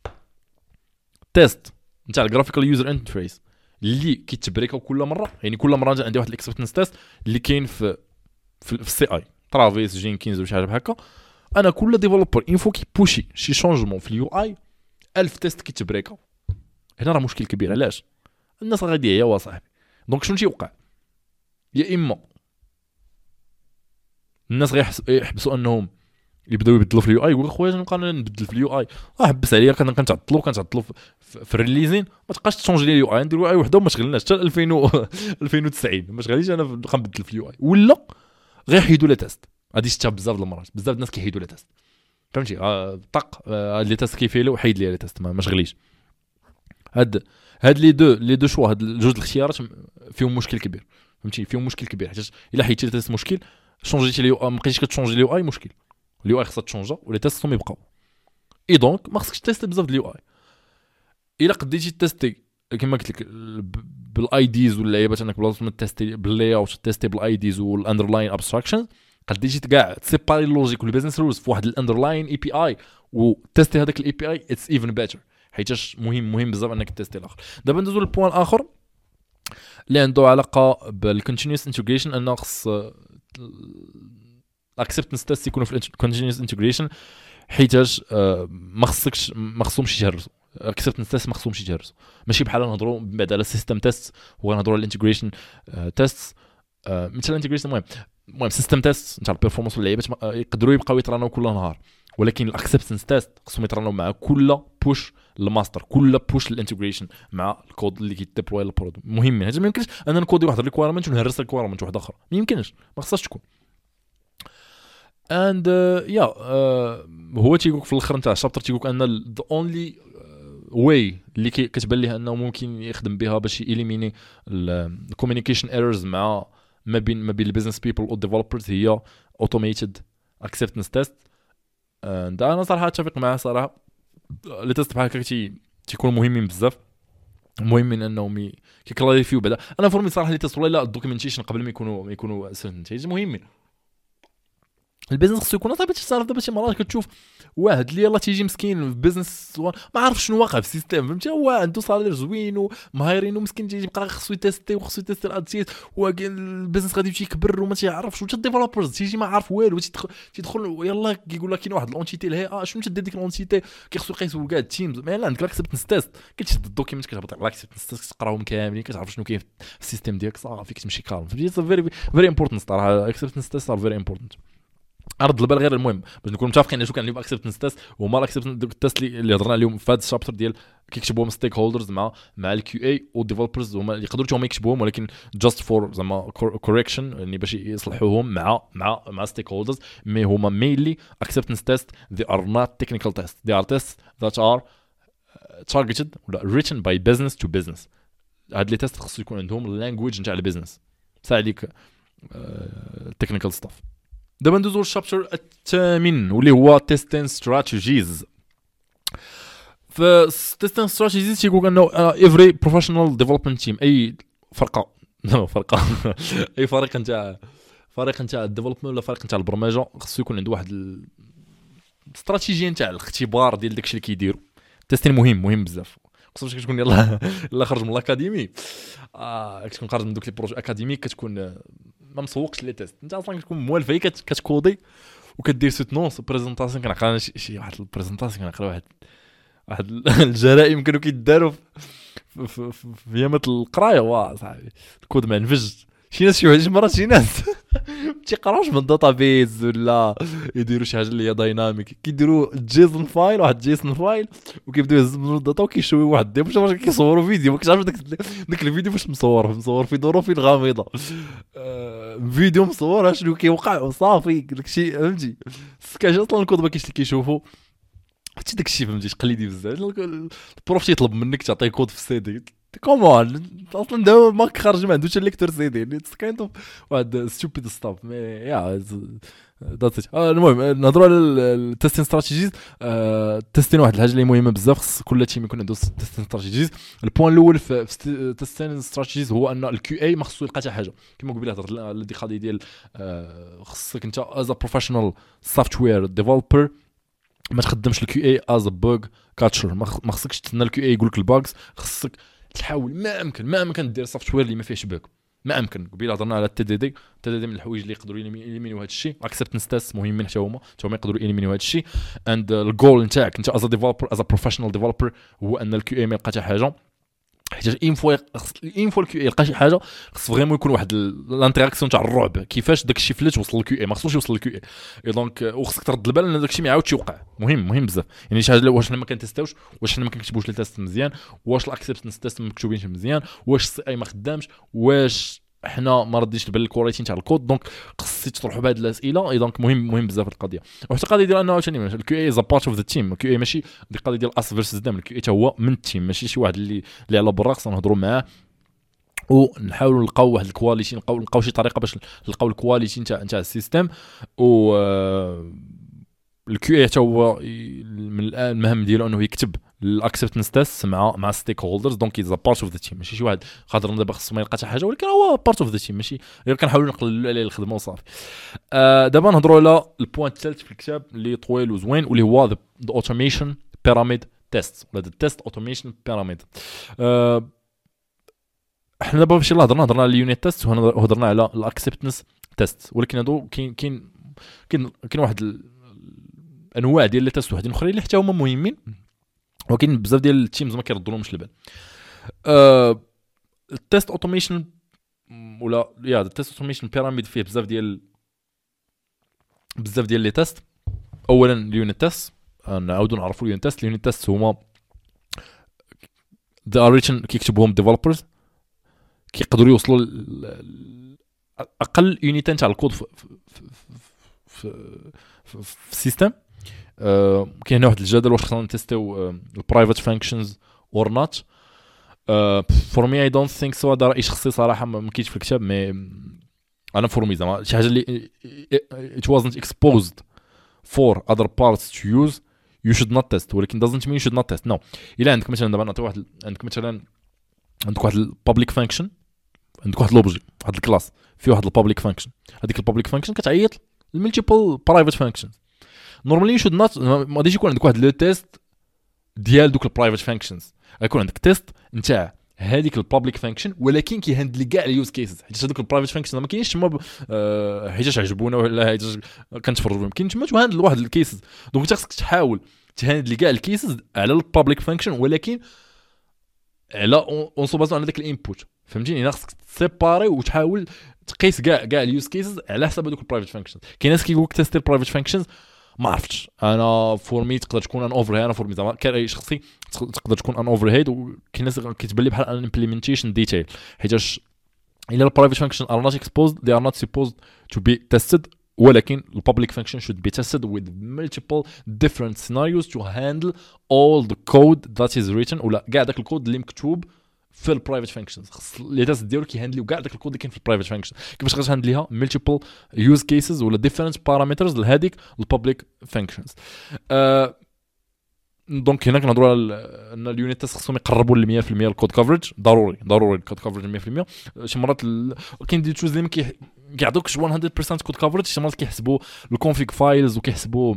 تيست نتاع الجرافيكال يوزر انترفيس اللي كيتبريكاو كل مره، يعني كل مره عندي واحد الاكسبتنس تيست اللي كاين في في السي اي ترافيس جينكينز ولا شي حاجه بحال هكا. انا كل ديفلوبر انفو كي بوشي شي شونجمون في اليو اي ألف تيست كيتبريكاو. هنا راه مشكل كبير. علاش؟ الناس غادي هي واصاحبي. دونك شنو تيوقع؟ يا اما الناس غيحبسوا انهم يبداو يبدلوا في اليو اي، يقول خويا نبقى نبدل في اليو اي، اه حبس عليا كنتعطلوا كنتعطلوا في الريليزين، ما تبقاش تشونجي لي اليو اي، ندير يو اي وحده وما تشغلناش حتى ألفين ألفين وتسعين ما تشغليش انا نبقى نبدل في اليو اي. ولا غيحيدوا لي تيست. غادي شفتها بزاف د المرات، بزاف الناس كيحيدوا لي تيست فهمتي؟ آه طق آه لي تيست كيفيلو وحيد لي لي تيست ما شغليش. هاد هاد لي دو لي دو شوا هاد جوج الاختيارات فيهم مشكل كبير فهمتي؟ فيهم مشكل كبير حيت الا حيدتي لي تيست مشكل، شونجيتي لي ما بقيتيش كتشونجي اليو اي مشكل. اليو اي خصها تشونجا ولي تيست خصهم يبقاو. اي دونك ما خصكش تيستي بزاف د اليو اي. الا قديتي تيستي كما قلت لك بالاي ديز واللعيبات انك بلاصه ما تيستي باللاي اوت تيستي بالاي ديز والاندرلاين ابستراكشن، قديتي كاع تسيباري اللوجيك والبيزنس رولز في واحد الاندرلاين اي بي اي وتيستي هذاك الاي بي اي اتس ايفن بيتر، حيتاش مهم مهم بزاف انك تيستي الاخر. دابا ندوزو للبوان الاخر اللي عنده علاقه بالكونتينيوس انتجريشن. ان خص الاكسبتنس تيست يكونوا في الكونتينيوس انتجريشن، حيتاش ما خصكش ما خصهمش يجهرسوا الاكسبتنس تيست، ما خصهمش يجهرسوا. ماشي بحال نهضروا بعد على السيستم تيست ونهضروا على الانتجريشن تيست. مثلا الانتجريشن المهم المهم سيستم تيست نتاع البيرفورمانس واللعيبات يقدروا يبقاو يطرانوا كل نهار، ولكن الاكسبتنس تيست خصهم يطرانوا مع كل بوش الماستر، كل بوش الانتجريشن مع الكود اللي كيديبلوي البرودكت. مهم هذا ما يمكنش انا نكودي واحد الريكويرمنت ونهرس الريكويرمنت واحده اخرى، ما يمكنش، ما خصهاش تكون. اند يا هو تيقولك في الاخر نتاع الشابتر تيقولك ان ذا اونلي واي اللي كتبان ليه انه ممكن يخدم بها باش يليميني الكوميونيكيشن ايرورز مع ما بين ما بين البيزنس بيبل والديفلوبرز هي اوتوميتد اكسبتنس تيست. انا صراحه اتفق معاه صراحه. لي تيست بحال هكا تي تيكونوا مهمين بزاف، مهمين انهم كيكلاريفيو بعدا. انا فورمي صراحه لي تيست والله لا الدوكيومنتيشن قبل ما يكونوا ما يكونوا سنتيج مهمين. البيزنس خصو يكون طيب تصرف. دابا شي مرات كتشوف واحد اللي يلاه تيجي مسكين في بيزنس ما عارف شنو واقع في السيستم، فهمتي؟ هو عنده صالير زوين ومهايرين ومسكين تيجي يبقى خصو يتيستي وخصو يتيستي الادسيت، والبيزنس غادي يمشي يكبر وما تيعرفش. وتا الديفلوبرز تيجي ما عارف والو، تيدخل يلاه كيقول لك كاين واحد لونتيتي لهي اه شنو تدير ديك لونتيتي، كيخصو يقيسوا كاع التيمز. ما لا عندك الاكسبتنس تيست كتشد الدوكيمنت كتهبط على الاكسبتنس تيست كتقراهم كاملين كتعرف شنو كاين في السيستم ديالك صافي كتمشي كالم. فهمتي؟ فيري فيري امبورطنت صراحه. الاكسبتنس تيست ار فيري امبورطنت. عرض البال غير المهم باش نكونوا متفقين على شو كان اللي اكسبتنس تيست وما الاكسبتنس تيست اللي هضرنا عليهم في هذا الشابتر ديال كيكتبوهم ستيك هولدرز مع مع الكيو اي والديفلوبرز، هما اللي يقدروا هما يكتبوهم ولكن جاست فور زعما كوريكشن يعني باش يصلحوهم مع مع مع ستيك هولدرز. مي هما مينلي اكسبتنس تيست they are not technical tests, they are tests that are targeted ولا written by business to business. هاد لي تيست خصو يكون عندهم اللانجويج نتاع البيزنس ساعه عليك التكنيكال ستاف. دابا ندوزو للشابتر الثامن واللي هو تيستين ستراتيجيز. ف تيستين ستراتيجيز تيقول انه every professional development team اي فرقه لا فرقه اي فريق نتاع فريق نتاع الديفلوبمنت ولا فريق نتاع البرمجه خصو يكون عنده واحد الاستراتيجيه نتاع الاختبار ديال داكشي اللي كيديروا. تيستين مهم مهم بزاف، خصوصا كتكون يلاه يلاه خرج من الاكاديمي اه كتكون خارج من دوك لي بروجي اكاديميك كتكون ما مسوقش لي تيست. انت اصلا كتكون موالفه كتكودي وكدير سوتنونس بريزونطاسيون. كنعقل شي واحد البريزونطاسيون كنعقل واحد واحد الجرائم كانوا كيداروا في في في ايامات القرايه. واه صاحبي الكود ما نفج. شي ناس شي مرات شي ناس تيقراوش من داتابيز ولا يديروا شي حاجه اللي هي دايناميك، كيديروا جيسون فايل واحد جيسون فايل وكيبداو يهزوا الداتا وكيشويو واحد ديال باش كيصوروا فيديو. ما كتعرفش داك داك الفيديو واش مصور مصور في ظروف غامضه آه فيديو مصور شنو كيوقع وصافي داكشي فهمتي. كاش اصلا الكود ما كاينش اللي كيشوفوا حتى داكشي فهمتي قليدي بزاف. البروف تيطلب منك تعطيه كود في السي دي كومون اصلا دابا ماك خارج ما عندوش ليكتور سي دي اتس كايند اوف واحد ستوبيد ستاف مي يا ذاتس. المهم نهضروا على التيستين استراتيجيز. تيستين واحد الحاجه اللي مهمه بزاف، خص كل تيم يكون عنده تيستين استراتيجيز. البوين الاول في تيستين استراتيجيز هو ان الكيو اي ما خصو يلقى حتى حاجه كما قبيله هضرت على دي قضيه ديال خصك انت از بروفيشنال سوفتوير ديفلوبر ما تخدمش الكيو اي از بوغ كاتشر. ما خصكش تستنى الكيو اي يقول لك الباجز، خصك تحاول ما امكن ما امكن دير سوفتوير اللي ما فيهش باك ما امكن. قبيله هضرنا على التي دي دي التي دي دي من الحوايج اللي يقدروا يليمينيو هذا الشيء. اكسبتنس تيست مهمين حتى هما حتى هما يقدروا يليمينيو هذا الشيء. اند الجول نتاعك انت از ديفلوبر از بروفيشنال ديفلوبر هو ان الكيو اي ما يلقى حتى حاجه. حيت ان فوا ان فوا الكيو اي يلقى شي حاجه خص فريمون يكون واحد الانتراكسيون تاع الرعب كيفاش داك الشيء فلت وصل للكيو اي ما خصوش يوصل للكيو اي. دونك وخصك ترد البال ان داك الشيء ما يعاودش يوقع. مهم مهم بزاف يعني شي حاجه واش حنا ما كنتستاوش، واش حنا ما كنكتبوش لي تيست مزيان، واش الاكسبتنس تيست ما مكتوبينش مزيان، واش السي اي ما خدامش، واش حنا ما رديش البال الكواليتي تاع الكود. دونك خصك تطرحوا بهاد الاسئله. اي دونك مهم مهم بزاف القضيه. وحتى القضيه ديال انه عاوتاني الكيو اي از بارت اوف ذا تيم. الكيو اي ماشي دي القضيه ديال اس فيرسز دام. الكيو اي حتى هو من التيم ماشي شي واحد اللي اللي على برا. خصنا نهضروا معاه ونحاولوا نلقاو واحد الكواليتي نلقاو نلقاو شي طريقه باش نلقاو الكواليتي نتاع نتاع السيستم. و الكيو اي حتى هو من الان المهام ديالو انه يكتب الاكسبتنس تيست مع مع ستيك هولدرز. دونك از بارت اوف ذا تيم ماشي شي واحد خاطر دابا خصو ما يلقى حتى حاجه ولكن هو بارت اوف ذا تيم ماشي غير كنحاولوا نقللوا عليه الخدمه وصافي. آه دابا نهضروا على البوين الثالث في الكتاب اللي طويل وزوين واللي هو ذا اوتوميشن بيراميد تيست ولا ذا تيست اوتوميشن بيراميد. احنا دابا فاش يلاه هضرنا هضرنا على اليونيت تيست وهضرنا على الاكسبتنس تيست، ولكن هادو كاين كاين كاين كاين واحد الانواع ديال لي تيست وحدين اخرين اللي حتى هما مهمين ولكن بزاف ديال التيمز ما كيردولهمش البال. أه التيست اوتوميشن ولا يا التيست اوتوميشن بيراميد فيه بزاف ديال بزاف ديال لي تيست. اولا اليونيت تيست نعاودوا نعرفوا اليونيت تيست. اليونيت تيست هما the origin كيكتبوهم ديفلوبرز كيقدروا يوصلوا اقل يونيتين تاع الكود في في في, في السيستم. أه كاين هنا واحد الجدل واش خصنا نتيستيو البرايفت فانكشنز اور نوت. فور مي اي دونت ثينك سو. هذا راي شخصي صراحه ما كاينش في الكتاب مي انا فور مي زعما شي حاجه اللي it wasn't exposed for other parts to use you should not test. ولكن doesn't mean you should not test. no. الا عندك مثلا دابا نعطي واحد عندك مثلا عندك واحد البابليك فانكشن، عندك واحد لوبجي واحد الكلاس فيه واحد البابليك فانكشن، هذيك البابليك فانكشن كتعيط الملتيبل برايفت فانكشنز. نورمالي شود نوت ما غاديش يكون عندك واحد لو تيست ديال دوك البرايفت فانكشنز، غيكون عندك تيست نتاع هذيك البابليك فانكشن ولكن كيهندل كاع اليوز كيسز، حيت هذوك البرايفت فانكشن ما كاينش تما أه حيتاش عجبونا ولا حيتاش كنتفرجوا، كاين تما تهندل واحد الكيسز. دونك انت خصك تحاول تهندل كاع الكيسز على البابليك فانكشن ولكن على اون سو بازون على داك الانبوت، فهمتيني؟ خصك تسيباري وتحاول تقيس كاع كاع اليوز كيسز على حسب هذوك البرايفت فانكشنز. كاين ناس كيقول لك تيستي البرايفت فانكشنز، ما عرفتش انا فور مي تقدر تكون ان اوفر هيد، انا فور مي زعما كاي شخصي تقدر تكون ان اوفر هيد، وكاين ناس كتبان لي بحال ان امبليمنتيشن ديتيل، حيتاش الا البرايفت فانكشن ار نوت exposed they are not supposed to be tested، ولكن البابليك فانكشن should be tested with multiple different scenarios to handle all the code that is written، ولا كاع داك الكود اللي مكتوب في البرايفت فانكشنز. خص لي تيست ديالو كيهاندليو كاع داك الكود اللي كاين في البرايفت فانكشن. كيفاش غتهاندليها؟ ملتيبل يوز كيسز ولا ديفرنت بارامترز لهذيك البابليك فانكشنز. أه دونك هنا كنهضروا على ان اليونيت تيست خصهم يقربوا ل مية بالمية الكود كفرج، ضروري ضروري الكود كفرج مية بالمية. شي مرات ال... كاين دي تشوز اللي ما كيعطوكش مية بالمية كود كفرج، شي مرات كيحسبوا الكونفيغ فايلز وكيحسبوا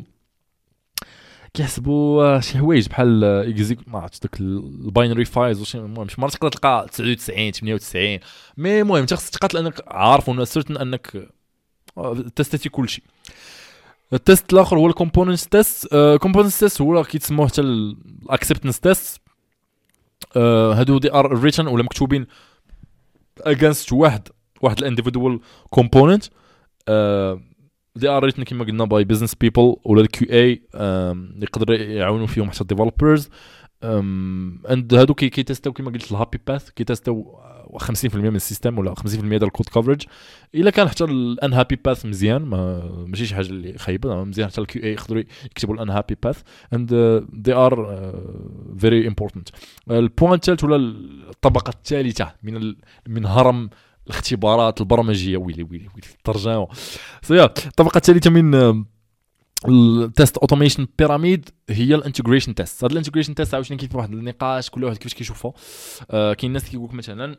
كيحسبوا شي حوايج بحال اكزيك ما عرفتش داك الباينري فايلز وشي. المهم شي مرات تقدر تلقى تسعة وتسعين ثمانية وتسعين، مي المهم انت خصك تقاتل انك عارف ولا سيرتن انك تيستيتي كلشي. التيست الاخر هو الكومبوننت تيست. كومبوننت تيست هو كيتسموه حتى الاكسبتنس تيست. هادو دي ار ريتن ولا مكتوبين اجينست واحد واحد الانديفيدوال كومبوننت. دي ار ريتن كما قلنا باي بزنس بيبل ولا الكيو اي يقدر يعاونوا فيهم حتى الديفلوبرز. اند هادو كي كيتيستاو كما قلت الهابي باث، كيتيستاو خمسين بالمية من السيستم ولا خمسين بالمية ديال الكود كفرج. الا كان حتى الان هابي باث مزيان، ما ماشي شي حاجه اللي خايبه مزيان، حتى الكيو اي يقدروا يكتبوا الان هابي باث اند دي ار فيري امبورطنت. البوين الثالث ولا الطبقه الثالثه من ال... من هرم الاختبارات البرمجيه، ويلي ويلي ويلي الترجمه سيا. الطبقه الثالثه من التيست اوتوميشن بيراميد هي الانتجريشن تيست. هاد الانتجريشن تيست عاوتاني كاين واحد النقاش كل واحد كيفاش كيشوفها. آه كاين ناس كيقول لك مثلا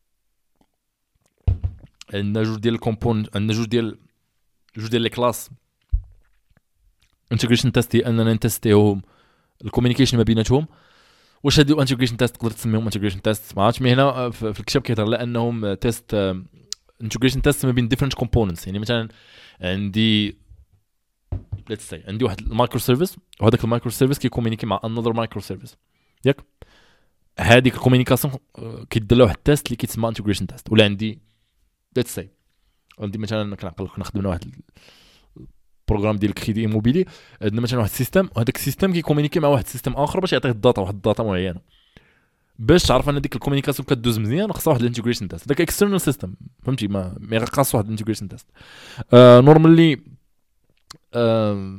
عندنا جوج ديال الكومبون، عندنا جوج ديال جوج ديال لي كلاس انتجريشن تيست، هي اننا نتيستيهم الكوميونيكيشن ما بيناتهم. واش هادو انتجريشن تيست تقدر تسميهم انتجريشن تيست؟ ما عرفتش، مي هنا في الكتاب كيهضر على انهم تيست انتجريشن تيست ما بين ديفرنت كومبوننتس. يعني مثلا عندي ليتس سي عندي واحد المايكرو سيرفيس، وهذاك المايكرو سيرفيس كيكومونيكي مع انذر مايكرو سيرفيس، ياك هذيك الكومونيكاسيون كيدير لها واحد التيست اللي كيتسمى انتجريشن تيست. ولا عندي ليتس سي عندي مثلا كنعقل نخدم واحد البروغرام ديال الكريدي ايموبيلي، عندنا مثلا واحد السيستم، وهذاك السيستم كيكومونيكي مع واحد السيستم اخر باش يعطيه الداتا، واحد الداتا معينه. باش تعرف ان ديك الكومونيكاسيون كدوز مزيان خصها واحد الانتجريشن تيست. داك اكسترنال سيستم فهمتي، ما ما خاص واحد الانتجريشن تيست. نورمالي آه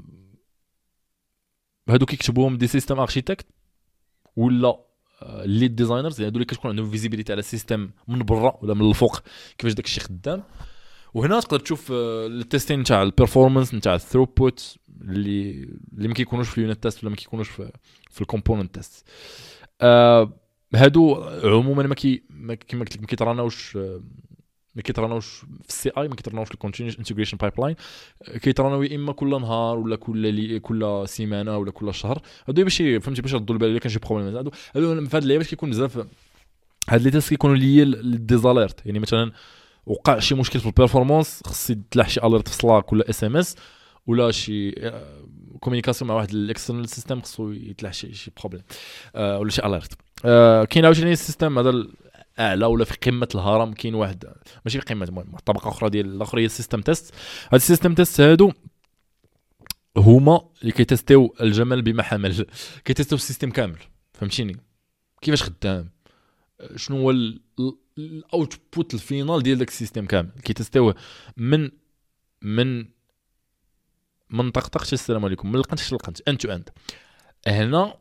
هادو كيكتبوهم دي سيستم اركيتكت ولا ليد ديزاينرز، يعني هادو اللي كتكون عندهم فيزيبيليتي على السيستم من برا ولا من الفوق كيفاش داك الشيء خدام. وهنا تقدر تشوف التيستين نتاع البيرفورمانس نتاع الثروبوت اللي اللي ما كيكونوش في اليونت تيست ولا ما كيكونوش في في الكومبوننت تيست. آه هادو عموما ما كي كما قلت لك ما كيتراناوش ما كيتراناوش في السي اي، ما كيتراناوش في الكونتينيوس انتجريشن بايبلاين، كيتراناو يا اما كل نهار ولا كل لي كل سيمانه ولا كل شهر. هادو باش فهمتي باش ردوا البال الا كان شي بروبليم. هادو هادو في هاد اللعيبات كيكون بزاف هاد لي تيست كيكونوا ليا للديزاليرت. يعني مثلا وقع شي مشكل في البيرفورمانس خص يطلع شي اليرت في سلاك ولا اس ام اس، ولا شي كومونيكاسيون مع واحد الاكسترنال سيستم خصو يطلع شي شي بروبليم آه ولا شي اليرت. آه كاين عاوتاني السيستم هذا اعلى ولا في قمه الهرم، كاين واحد ماشي في قمه، المهم طبقه اخرى ديال الاخر هي السيستم تيست. هاد السيستم تيست هادو هما اللي كيتيستيو الجمل بما حمل، كيتيستيو السيستم كامل فهمتيني كيفاش خدام، شنو هو الاوتبوت الفينال ديال داك السيستم كامل، كيتيستيوه من من من طقطقه السلام عليكم من القنت حتى القنت انت تو اند. هنا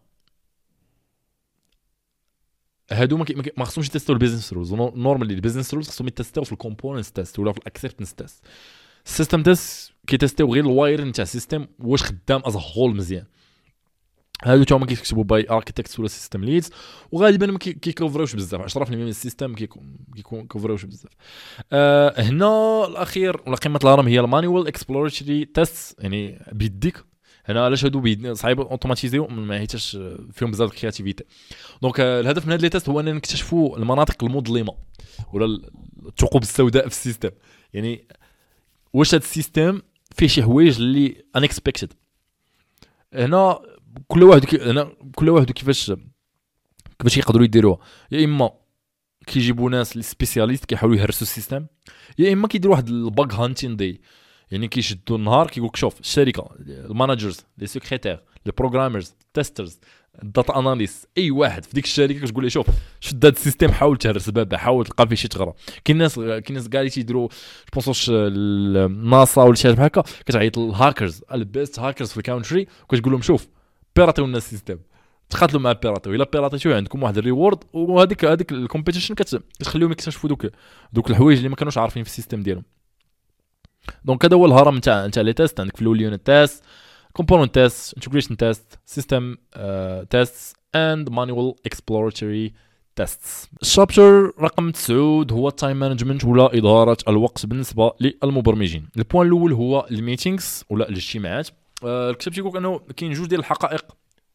هادو ما خصهمش يتيستيو البيزنس رولز. نورمالي البيزنس رولز خصهم يتيستيو في الكومبوننتس تيست ولا في الاكسبتنس تيست. السيستم تيست كيتيستيو غير الواير نتاع السيستم واش خدام از هول مزيان. هادو تاهما كيكتبوا باي اركيتكتس ولا سيستم ليدز، وغالبا ما كيكوفروش بزاف، عشرة بالمية من السيستم كيكون كيكون كوفروش بزاف. أه هنا الاخير ولا قمه الهرم هي المانيوال اكسبلوراتوري تيست، يعني بيديك. هنا علاش هادو بيدنا صعيب اوتوماتيزيو ما حيتاش فيهم بزاف الكرياتيفيتي. دونك الهدف من هاد لي تيست هو اننا نكتشفوا المناطق المظلمه ولا الثقوب السوداء في السيستم، يعني واش هاد السيستم فيه شي حوايج اللي انكسبكتد. هنا كل واحد كي هنا كل واحد كيفاش كيفاش يقدروا يديروها، يا اما كيجيبوا ناس اللي سبيسياليست كيحاولوا يهرسوا السيستم، يا اما كيديروا واحد الباغ هانتين دي، يعني كيشدوا النهار كيقول لك شوف الشركه المانجرز لي سيكريتير لي بروغرامرز تيسترز الداتا اناليست اي واحد في ديك الشركه كتقول له شوف شد هذا السيستم حاول تهرس بابا، حاول تلقى فيه شي ثغره. كاين ناس كاين ناس كاع تيديروا جوبونسوش الناسا ولا شي حاجه بحال هكا كتعيط للهاكرز البيست هاكرز في الكونتري وكتقول لهم شوف بيراتيو لنا السيستم، تقاتلوا مع بيراتيو، الا بيراتيو عندكم واحد الريورد، وهذيك هذيك الكومبيتيشن كتخليهم يكتشفوا دوك دوك الحوايج اللي ما كانوش عارفين في السيستم ديالهم. دونك هذا هو الهرم نتاع نتاع لي تيست. عندك في الاول يونت تيست، كومبوننت تيست، انتجريشن تيست، سيستم تيست اند مانوال اكسبلوراتوري تيستس. الشابتر رقم تسعة هو التايم مانجمنت ولا اداره الوقت بالنسبه للمبرمجين. البوان الاول هو الميتينغز ولا الاجتماعات. أه الكتاب تيقول انه كاين جوج ديال الحقائق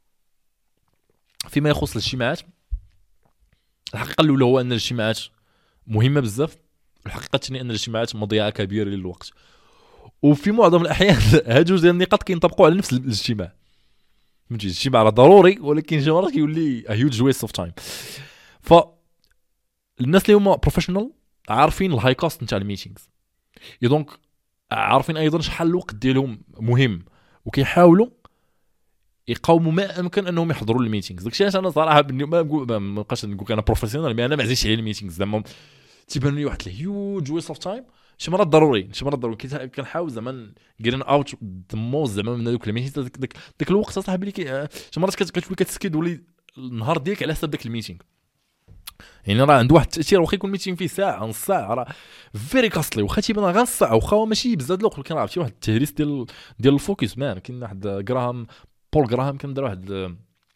فيما يخص الاجتماعات. الحقيقه الاولى هو ان الاجتماعات مهمه بزاف، الحقيقه الثانيه ان الاجتماعات مضيعه كبيره للوقت، وفي معظم الاحيان هاد جوج ديال النقاط كينطبقوا على نفس الاجتماع. فهمتي الاجتماع راه ضروري ولكن شي مرات كيولي ا هيوج ويست اوف تايم. ف الناس اللي هما بروفيشنال عارفين الهاي كوست نتاع الميتينغز، دونك عارفين ايضا شحال الوقت ديالهم مهم، وكيحاولوا يقاوموا ما امكن انهم يحضروا الميتينغز. داكشي علاش انا صراحه ما نقول ما بقاش نقول انا بروفيسيونال، مي انا ما عزيزش على الميتينغز زعما تيبان لي واحد الهيوج ويست اوف تايم. شي مرات ضروري شي مرات ضروري كنحاول زعما جيرين اوت ذا موست زعما من هذوك الميتينغز. داك داك الوقت صاحبي اللي شي مرات كتولي كتسكيد ولي النهار ديالك على حساب داك الميتينغ، يعني راه عنده واحد التاثير. واخا يكون ميتينغ فيه ساعه نص ساعه راه فيري كاستلي، واخا تيبان غير نص ساعه، واخا ماشي بزاف الوقت، ولكن راه عرفتي واحد التهريس ديال ديال الفوكس مان. كاين واحد جراهام بول جراهام كان دار واحد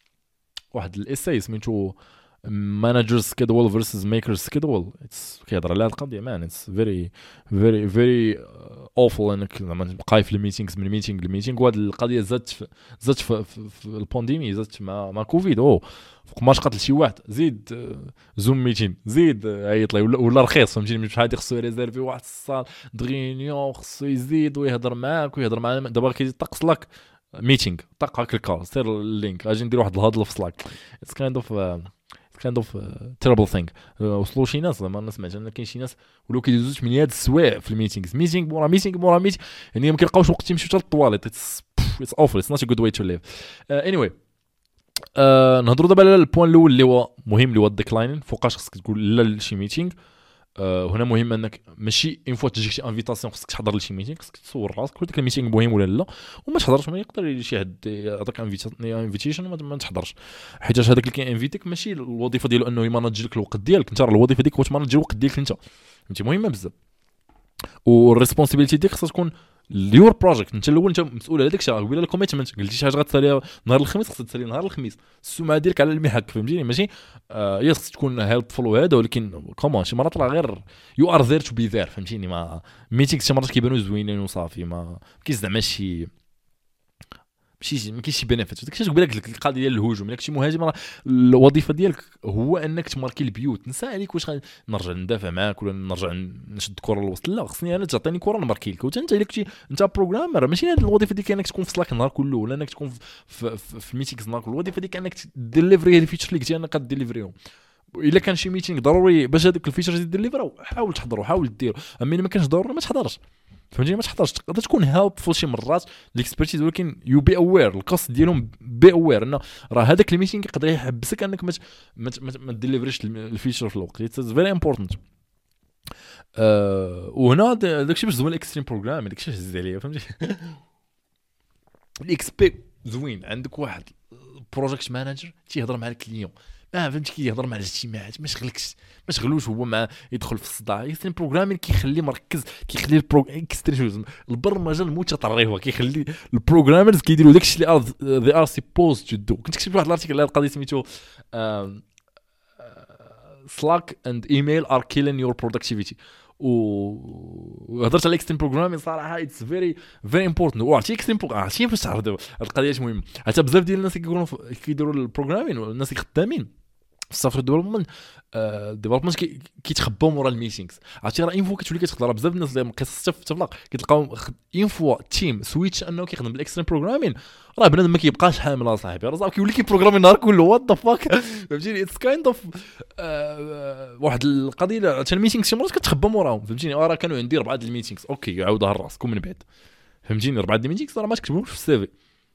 واحد الايساي سميتو مانجرز سكيدول فيرسز ميكرز سكيدول. اتس كيهضر على هذه القضيه مان. اتس فيري فيري فيري اوفل انك زعما تبقاي في الميتينغز من ميتينغ لميتينغ. وهذه القضيه زادت زادت في, في, في البانديمي، زادت مع مع كوفيد. او فوق ما قتل شي واحد زيد زوم ميتين زيد عيط لي ولا, ولا رخيص فهمتيني. مش هادي خصو يريزيرفي واحد الصال دغينيون خصو يزيد ويهضر معاك ويهضر معنا. دابا كيطقس لك ميتينغ طق هاك الكار سير اللينك اجي ندير واحد الهضله في سلاك. اتس كايند اوف كايند اوف تيربل ثينغ. وصلوا شي ناس زعما انا سمعت ان كاين شي ناس ولاو كيدوزو ثمانية السوايع في الميتينغز، ميتينغ مورا ميتينغ مورا ميتينغ، يعني ما كيلقاوش وقت يمشيو حتى للطواليت. اتس اتس اوفل اتس نوت ا جود واي تو ليف. اني واي نهضروا دابا على البوان الاول اللي هو مهم اللي هو الديكلاين. فوقاش خصك تقول لا لشي ميتينغ. أه هنا مهم انك ماشي اون فوا تجيك شي انفيتاسيون خصك تحضر لشي ميتينغ، خصك تصور راسك واش داك الميتينغ مهم ولا لا، وما تحضرش. ما يقدر شي حد يعطيك انفيتيشن ما تحضرش، حيت هذاك اللي كينفيتيك ماشي الوظيفه ديالو انه يماناج لك الوقت ديالك انت، راه الوظيفه ديالك هو تماناج الوقت ديالك انت. فهمتي مهمه بزاف، والريسبونسابيلتي ديالك خصها تكون اليور بروجيكت. انت الاول انت مسؤول على داك الشيء. قبيله الكوميتمنت قلتي شي حاجه غتساليها نهار الخميس خصك تسالي نهار الخميس. السمعه ديالك على المحك فهمتيني، ماشي آه يا خصك تكون هيلبفول وهذا، ولكن كومون شي مرات راه غير يو ار ذير تو بي ذير فهمتيني. ما ميتينغ شي مرات كيبانوا زوينين وصافي، ما كاينش زعما شي ماشي ما كاينش شي بينيفيت. داكشي تقول لك القضيه ديال الهجوم. الا كنتي مهاجم راه الوظيفه ديالك هو انك تماركي البيوت. نسى عليك واش نرجع ندافع معاك ولا نرجع نشد الكره للوسط، لا خصني انا تعطيني كره نماركي لك. وانت الا كنتي انت بروغرامر ماشي هذه الوظيفه ديالك انك تكون في سلاك النهار كله، ولا انك تكون في في, في الميتينغز النهار كله. الوظيفه ديالك انك ديليفري هذه فيتشر اللي قلتي انا كديليفريهم. الا كان شي ميتينغ ضروري باش هذوك الفيتشرز يديليفراو حاول تحضروا حاول ديروا، اما ما كانش ضروري ما تحضرش فهمتيني. ما تحضرش تقدر تكون هيلبفول شي مرات الاكسبرتيز، ولكن يو بي اوير الكوست ديالهم بي اوير انه راه هذاك الميتينغ يقدر يحبسك انك ما ما ما ديليفريش الفيتشر في الوقت. اتس فيري امبورطنت. أه وهنا داكشي باش زوين الاكستريم بروغرام داكشي هز عليا فهمتي. الاكسبي زوين عندك واحد بروجيكت مانجر تيهضر مع الكليون اه فهمتي كيهضر مع الاجتماعات ما شغلكش ما شغلوش هو مع يدخل في الصداع. يسن بروغرامين كيخليه مركز كيخلي البرو اكستريم البرمجه المتطرفه كيخلي البروغرامرز كيديروا داكشي اللي ذي ار سيبوز تو دو. كنت كتبت واحد الارتيكل على القضيه سميتو سلاك اند ايميل ار كيلين يور برودكتيفيتي وهضرت على الاكستريم بروغرامين صراحه اتس فيري فيري امبورتانت. وعرفتي اكستريم بروغرامين عرفتي فاش عرضوا القضيه مهمه حتى بزاف ديال الناس كيقولوا كيديروا البروغرامين والناس اللي خدامين في السوفتوير ديفلوبمنت ديفلوبمنت كيتخباو مورا الميتينغز. عرفتي راه انفو كتولي كتهضر بزاف الناس اللي قصص تفلق كتلقاو انفو تيم سويتش انه كيخدم بالاكستريم بروغرامين راه بنادم ما كيبقاش حامل اصاحبي راه كيولي كيبروغرامي النهار كله وات ذا فاك فهمتيني. اتس كايند اوف واحد القضيه حتى الميتينغ شي مرات كتخبى موراهم فهمتيني. راه كانوا عندي اربعه د الميتينغز اوكي عاودها راسكم من بعد فهمتيني. اربعه د الميتينغز راه ما تكتبوش في السي في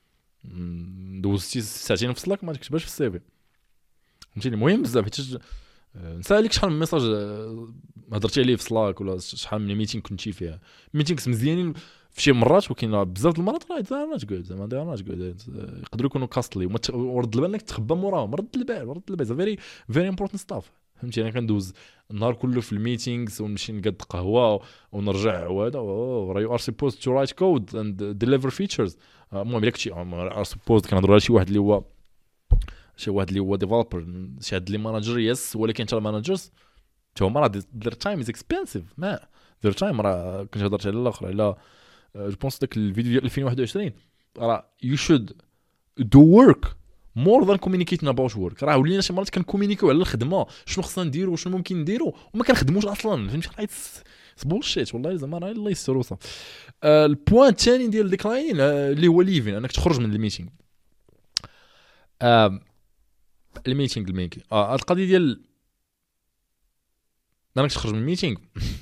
دوزتي ساعتين في سلاك ما تكتبهاش في السي في فهمتيني. المهم بزاف حيت نسالك شحال من ميساج هضرتي عليه في سلاك ولا شحال من ميتينغ كنتي فيها. ميتينغز مزيانين في شي مرات ولكن بزاف د المرات راه زعما تقعد زعما داير تقعد يقدروا يكونوا كاستلي ورد البال انك تخبى موراهم. رد البال رد البال فيري فيري امبورطنت ستاف فهمتي. انا كندوز النهار كله في الميتينغز ونمشي نقاد قهوه ونرجع وهذا راه يو ار سيبوز تو رايت كود اند ديليفر فيتشرز. المهم الا كنتي ار سيبوز كنهضروا على شي واحد اللي هو شي واحد اللي هو ديفلوبر شي هاد لي ماناجر يس ولكن حتى الماناجرز حتى هما راه their time is expensive ما their time راه كنت هضرت على الاخر على جو بونس داك الفيديو ديال ألفين وواحد وعشرين راه you should do work more than communicating about work. راه ولينا شي مرات كنكومونيكيو على الخدمه شنو خصنا نديرو وشنو ممكن نديرو وما كنخدموش اصلا فهمتي. راه بولشيت والله زعما راه الله يستر وصافي. البوين الثاني ديال ديكلاين اللي هو ليفين انك تخرج من الميتينغ. الميتينغ الميكي اه القضيه ديال انك تخرج من الميتينغ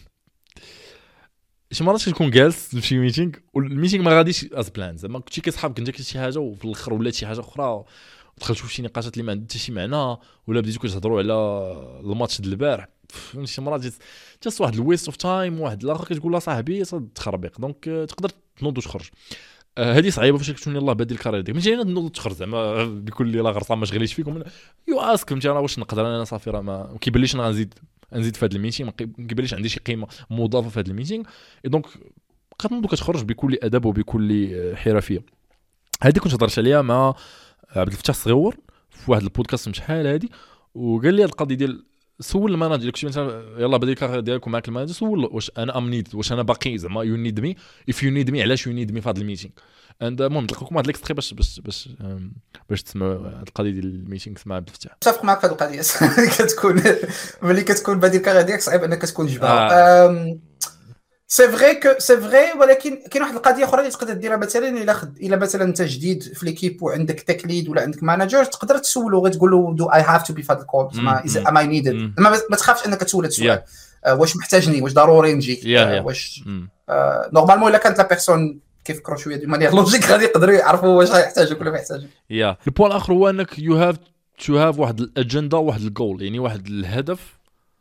شي مرات كتكون جالس في شي ميتينغ والميتينغ ما غاديش از بلان زعما كنتي كتصحاب كنت كنت شي حاجه وفي الاخر ولات شي حاجه اخرى ودخلتوا في شي نقاشات اللي ما عندها حتى شي معنى ولا بديتوا كتهضروا على الماتش ديال البارح شي مرات جات واحد الويست اوف تايم واحد الاخر كتقول له صاحبي تخربيق دونك تقدر تنوض وتخرج. هذه صعيبه فاش كتكون يلاه بادي الكارير ديالك ماشي انا نوض تخرج زعما بكل لا غرصه ما شغليش فيكم يو اسك فهمتي راه واش نقدر انا صافي راه ما كيبانليش انا غنزيد نزيد في هذا الميتينغ ما كيبانليش عندي شي قيمه مضافه في هذا الميتينغ دونك كتنوض كتخرج بكل ادب وبكل حرفيه. هذه كنت هضرت عليها مع عبد الفتاح الصغيور في واحد البودكاست شحال هذه وقال لي هذه القضيه ديال سول الماناجر كنتي مثلا يلاه بادي الكارير ديالك معاك الماناجر سول واش انا ام نيد واش انا باقي زعما يو نيد مي اف يو نيد مي علاش يو نيد مي في هذا الميتينغ. عند المهم نلقاكم واحد ليكستري باش باش باش باش تسمعوا القضيه ديال الميتينغ مع عبد الفتاح. متفق معك في هذه القضيه كتكون ملي كتكون بادي الكارير ديالك صعيب انك تكون جبار. آه. سي فري كو سي فري ولكن كاين واحد القضيه اخرى اللي تقدر ديرها مثلا الا خد الا مثلا انت جديد في ليكيب وعندك تك ليد ولا عندك ماناجر تقدر تسولو غير تقول له دو اي هاف تو بي في هذا الكول زعما ام اي نيدد ما تخافش انك تسول هذا السؤال uh, واش محتاجني واش ضروري نجي yeah, yeah. uh, واش نورمالمون الا كانت لا بيرسون كيفكروا شويه دو مانيير لوجيك غادي يقدروا يعرفوا واش غيحتاجوك ولا ما يحتاجوك. يا البوين الاخر هو انك يو هاف تو هاف واحد الاجنده واحد الجول يعني واحد الهدف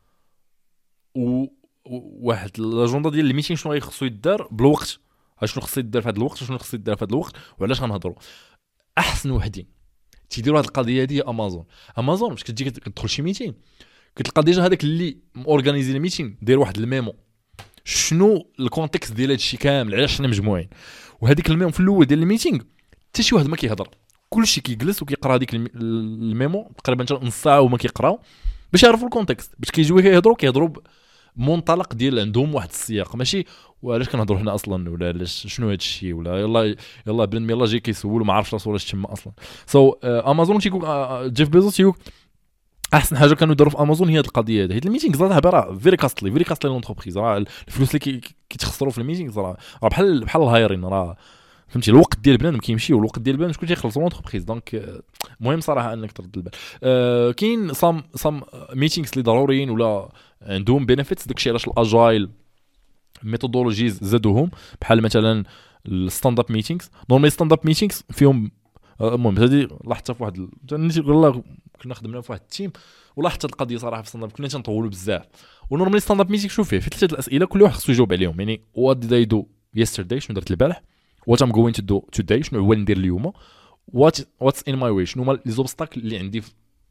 و واحد الاجنده ديال الميتينغ شنو غيخصو يدار بالوقت شنو خصو يدار في هذا الوقت شنو خصو يدار في هذا الوقت وعلاش غنهضروا. احسن وحدين تيديروا هذه القضيه هذه امازون امازون باش كتجي كتدخل شي ميتينغ كتلقى ديجا هذاك اللي اورغانيزي الميتينغ داير واحد الميمو شنو الكونتكست ديال هذا الشيء كامل علاش حنا مجموعين وهذيك الميمو في الاول ديال الميتينغ حتى شي واحد ما كيهضر كلشي كيجلس وكيقرا هذيك الميمو تقريبا حتى نص ساعه وما كيقراو باش يعرفوا الكونتكست باش كيجيو كيهضروا كيهضروا منطلق ديال عندهم واحد السياق ماشي وعلاش كنهضروا هنا اصلا ولا علاش شنو هذا الشيء ولا يلا يلا بنادم يلا جاي كيسول وما عرفش راسو واش تما اصلا. سو so, امازون تيقول جيف بيزوس تيقول احسن حاجه كانوا يديروا في امازون هي هذه القضيه هذه حيت الميتينغ صراحه راه فيري كاستلي فيري كاستلي لونتربريز راه الفلوس اللي كيتخسروا في الميتينغ راه بحال بحال الهايرين راه فهمتي الوقت ديال بنادم كيمشي والوقت ديال بنادم شكون تيخلصوا لونتربريز دونك مهم صراحه انك ترد البال. أه كاين صام صام ميتينغز اللي ضروريين ولا عندهم بينيفيتس داكشي علاش الاجايل ميثودولوجيز زادوهم بحال مثلا الستاند اب ميتينغز نورمالي ستاند اب ميتينغز فيهم المهم هذه لاحظتها في واحد والله كنا خدمنا في واحد التيم ولاحظت القضيه صراحه في ستاند اب كنا تنطولوا بزاف ونورمالي ستاند اب ميتينغ شوف فيه في ثلاثه الاسئله كل واحد خصو يجاوب عليهم يعني وات ديد اي دو يسترداي شنو درت البارح وات ام جوين تو دو توداي شنو هو ندير اليوم وات واتس ان ماي واي شنو هما لي زوبستاكل اللي عندي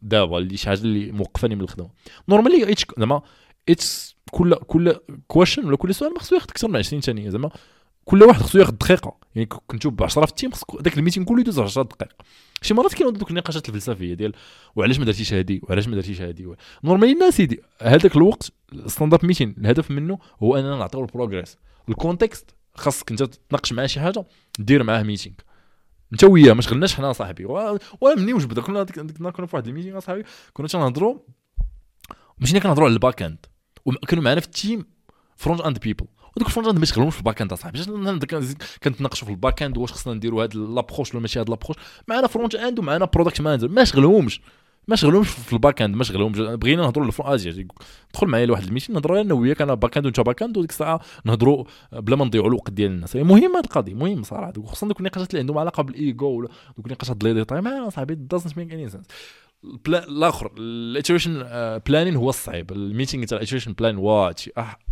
دابا اللي شي حاجه اللي موقفاني من الخدمه نورمالي اتش زعما اتس كل كل كويشن ولا كل سؤال ما خصو ياخذ اكثر من عشرين ثانيه زعما كل واحد خصو ياخذ دقيقه يعني كنتو ب عشرة في التيم خصك داك الميتين كله يدوز عشرة دقائق شي مرات كاينوا دوك النقاشات الفلسفيه ديال وعلاش ما درتيش هادي وعلاش ما درتيش هادي نورمالي الناس يدي هذاك الوقت ستاند اب ميتين الهدف منه هو اننا نعطيو البروغريس الكونتكست خاصك انت تناقش معاه شي حاجه دير معاه ميتينغ انت وياه ما شغلناش حنا صاحبي ولا مني واش بدا كنا كنا كنا في واحد الميتينغ صاحبي كنا تنهضروا ماشي كنهضروا على الباك اند وكانوا معنا في التيم فرونت اند بيبل ودوك الفرونت اند ما شغلهمش في الباك اند صاحبي كنتناقشوا في الباك اند واش خصنا نديروا هاد لابروش ولا ماشي هاد لابروش معنا فرونت اند ومعنا برودكت مانجر ما شغلهمش ما شغلهمش في الباك اند ما شغلهمش بغينا نهضروا للفرونت اجي دخل معايا لواحد الميتين نهضروا انا وياك انا باك اند وانت باك اند وديك الساعه نهضروا بلا ما نضيعوا الوقت ديال الناس مهم هاد القضيه مهم صراحه خصوصا دوك النقاشات اللي عندهم علاقه بالايجو ولا دوك النقاشات ديال لي تايم انا صاحبي دازنت ميك اني سنس الاخر الاتريشن بلانين هو الصعيب الميتينغ تاع الاتريشن بلان واتشي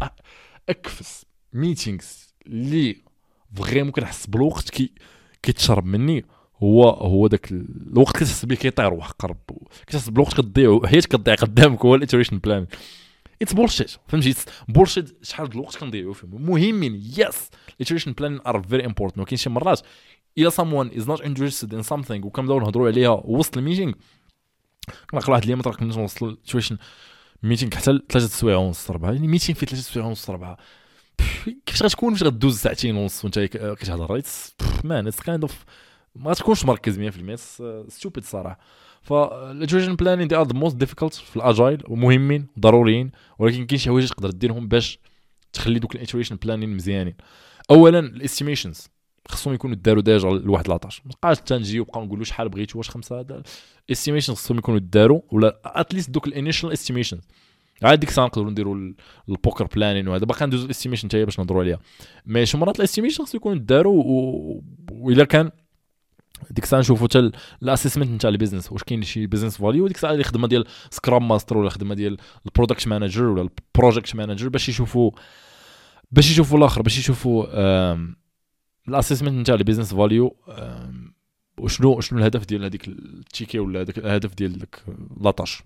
اكفس ميتينغز اللي فريمون كنحس بالوقت كي كيتشرب مني هو هو داك الوقت كتحس به كيطير وحق رب كتحس بالوقت كتضيع حياتك كتضيع قدامك هو الاتريشن بلان اتس بولشيت فهمتي بولشيت شحال د الوقت كنضيعوا فيه مهمين يس الاتريشن بلان ار فيري امبورطنت ولكن شي مرات الا someone is not interested in something وكنبداو نهضروا عليها وسط الميتينغ كنلقى واحد اليوم ترك نوصل الاتريشن ميتينغ حتى ثلاثة سوايع ونص ربعه يعني ميتينغ فيه ثلاثة سوايع ونص ربعه كيفاش غتكون فاش غدوز ساعتين ونص وانت كتهضر مان اتس كايند اوف ما تكونش مركز مية بالمية ستوبيد صراحه فالاتريشن بلانين دي ار ذا موست ديفيكولت في الاجايل ومهمين ضروريين ولكن كاين شي حوايج تقدر ديرهم باش تخلي دوك الاتريشن بلانين مزيانين اولا الاستيميشنز خصهم يكونوا داروا ديجا لواحد لاطاش ما بقاش تنجي وبقاو نقولوا شحال بغيتو واش خمسه هذا الاستيميشنز خصهم يكونوا داروا ولا اتليست دوك الانيشال استيميشنز عاد ديك الساعه نقدروا نديروا البوكر بلانين وهذا باقي ندوزو الاستيميشن حتى هي باش نهضروا عليها مي شي مرات الاستيميشن خصو يكونوا داروا والا كان ديك الساعه نشوفوا حتى الاسسمنت نتاع البيزنس واش كاين شي بيزنس فاليو ديك الساعه اللي خدمه ديال سكرام ماستر ولا خدمه ديال البرودكت مانجر ولا البروجيكت مانجر باش يشوفوا باش يشوفوا الاخر باش يشوفوا الاسسمنت نتاع البيزنس فاليو وشنو شنو الهدف ديال هذيك التيكي ولا هذاك الهدف ديال داك لاطاش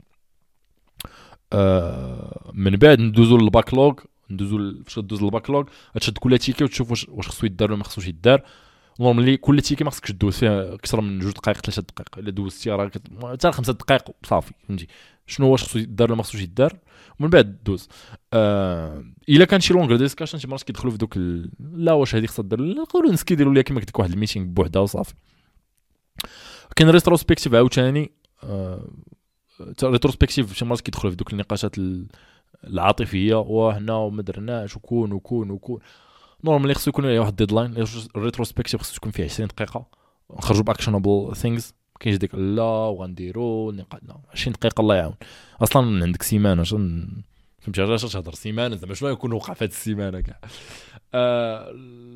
من بعد ندوزو للباكلوغ ندوزو فاش دوز للباكلوغ تشد كل تيكي وتشوف واش واش خصو يدار ولا ما خصوش يدار نورمالي كل تيكي ما خصكش دوز فيها اكثر من جوج دقائق ثلاثه دقائق الا دوزتي راه حتى خمسة دقائق صافي فهمتي شنو واش خصو يدار ولا ما خصوش يدار ومن بعد دوز آه الا كان شي لونغ ديسكاشن شي مرات كيدخلوا في دوك ال... لا واش هذه خصها دير نقولوا نسكيديروا ليها كيما ديك واحد الميتينغ بوحدها وصافي كاين ريتروسبكتيف عاوتاني آه ريتروسبكتيف شي مرات كيدخلوا في دوك النقاشات العاطفيه وحنا وما درناش وكون وكون وكون نورمالي خصو يكون واحد ديدلاين الريتروسبكتيف خصو تكون فيه عشرين دقيقه نخرجوا باكشنبل ثينجز كاينش ديك لا وغنديروا نقادنا عشرين دقيقه الله يعاون اصلا عندك سيمانه عشان فهمتي علاش تهضر سيمانه زعما شنو يكون وقع في هذه السيمانه كاع آه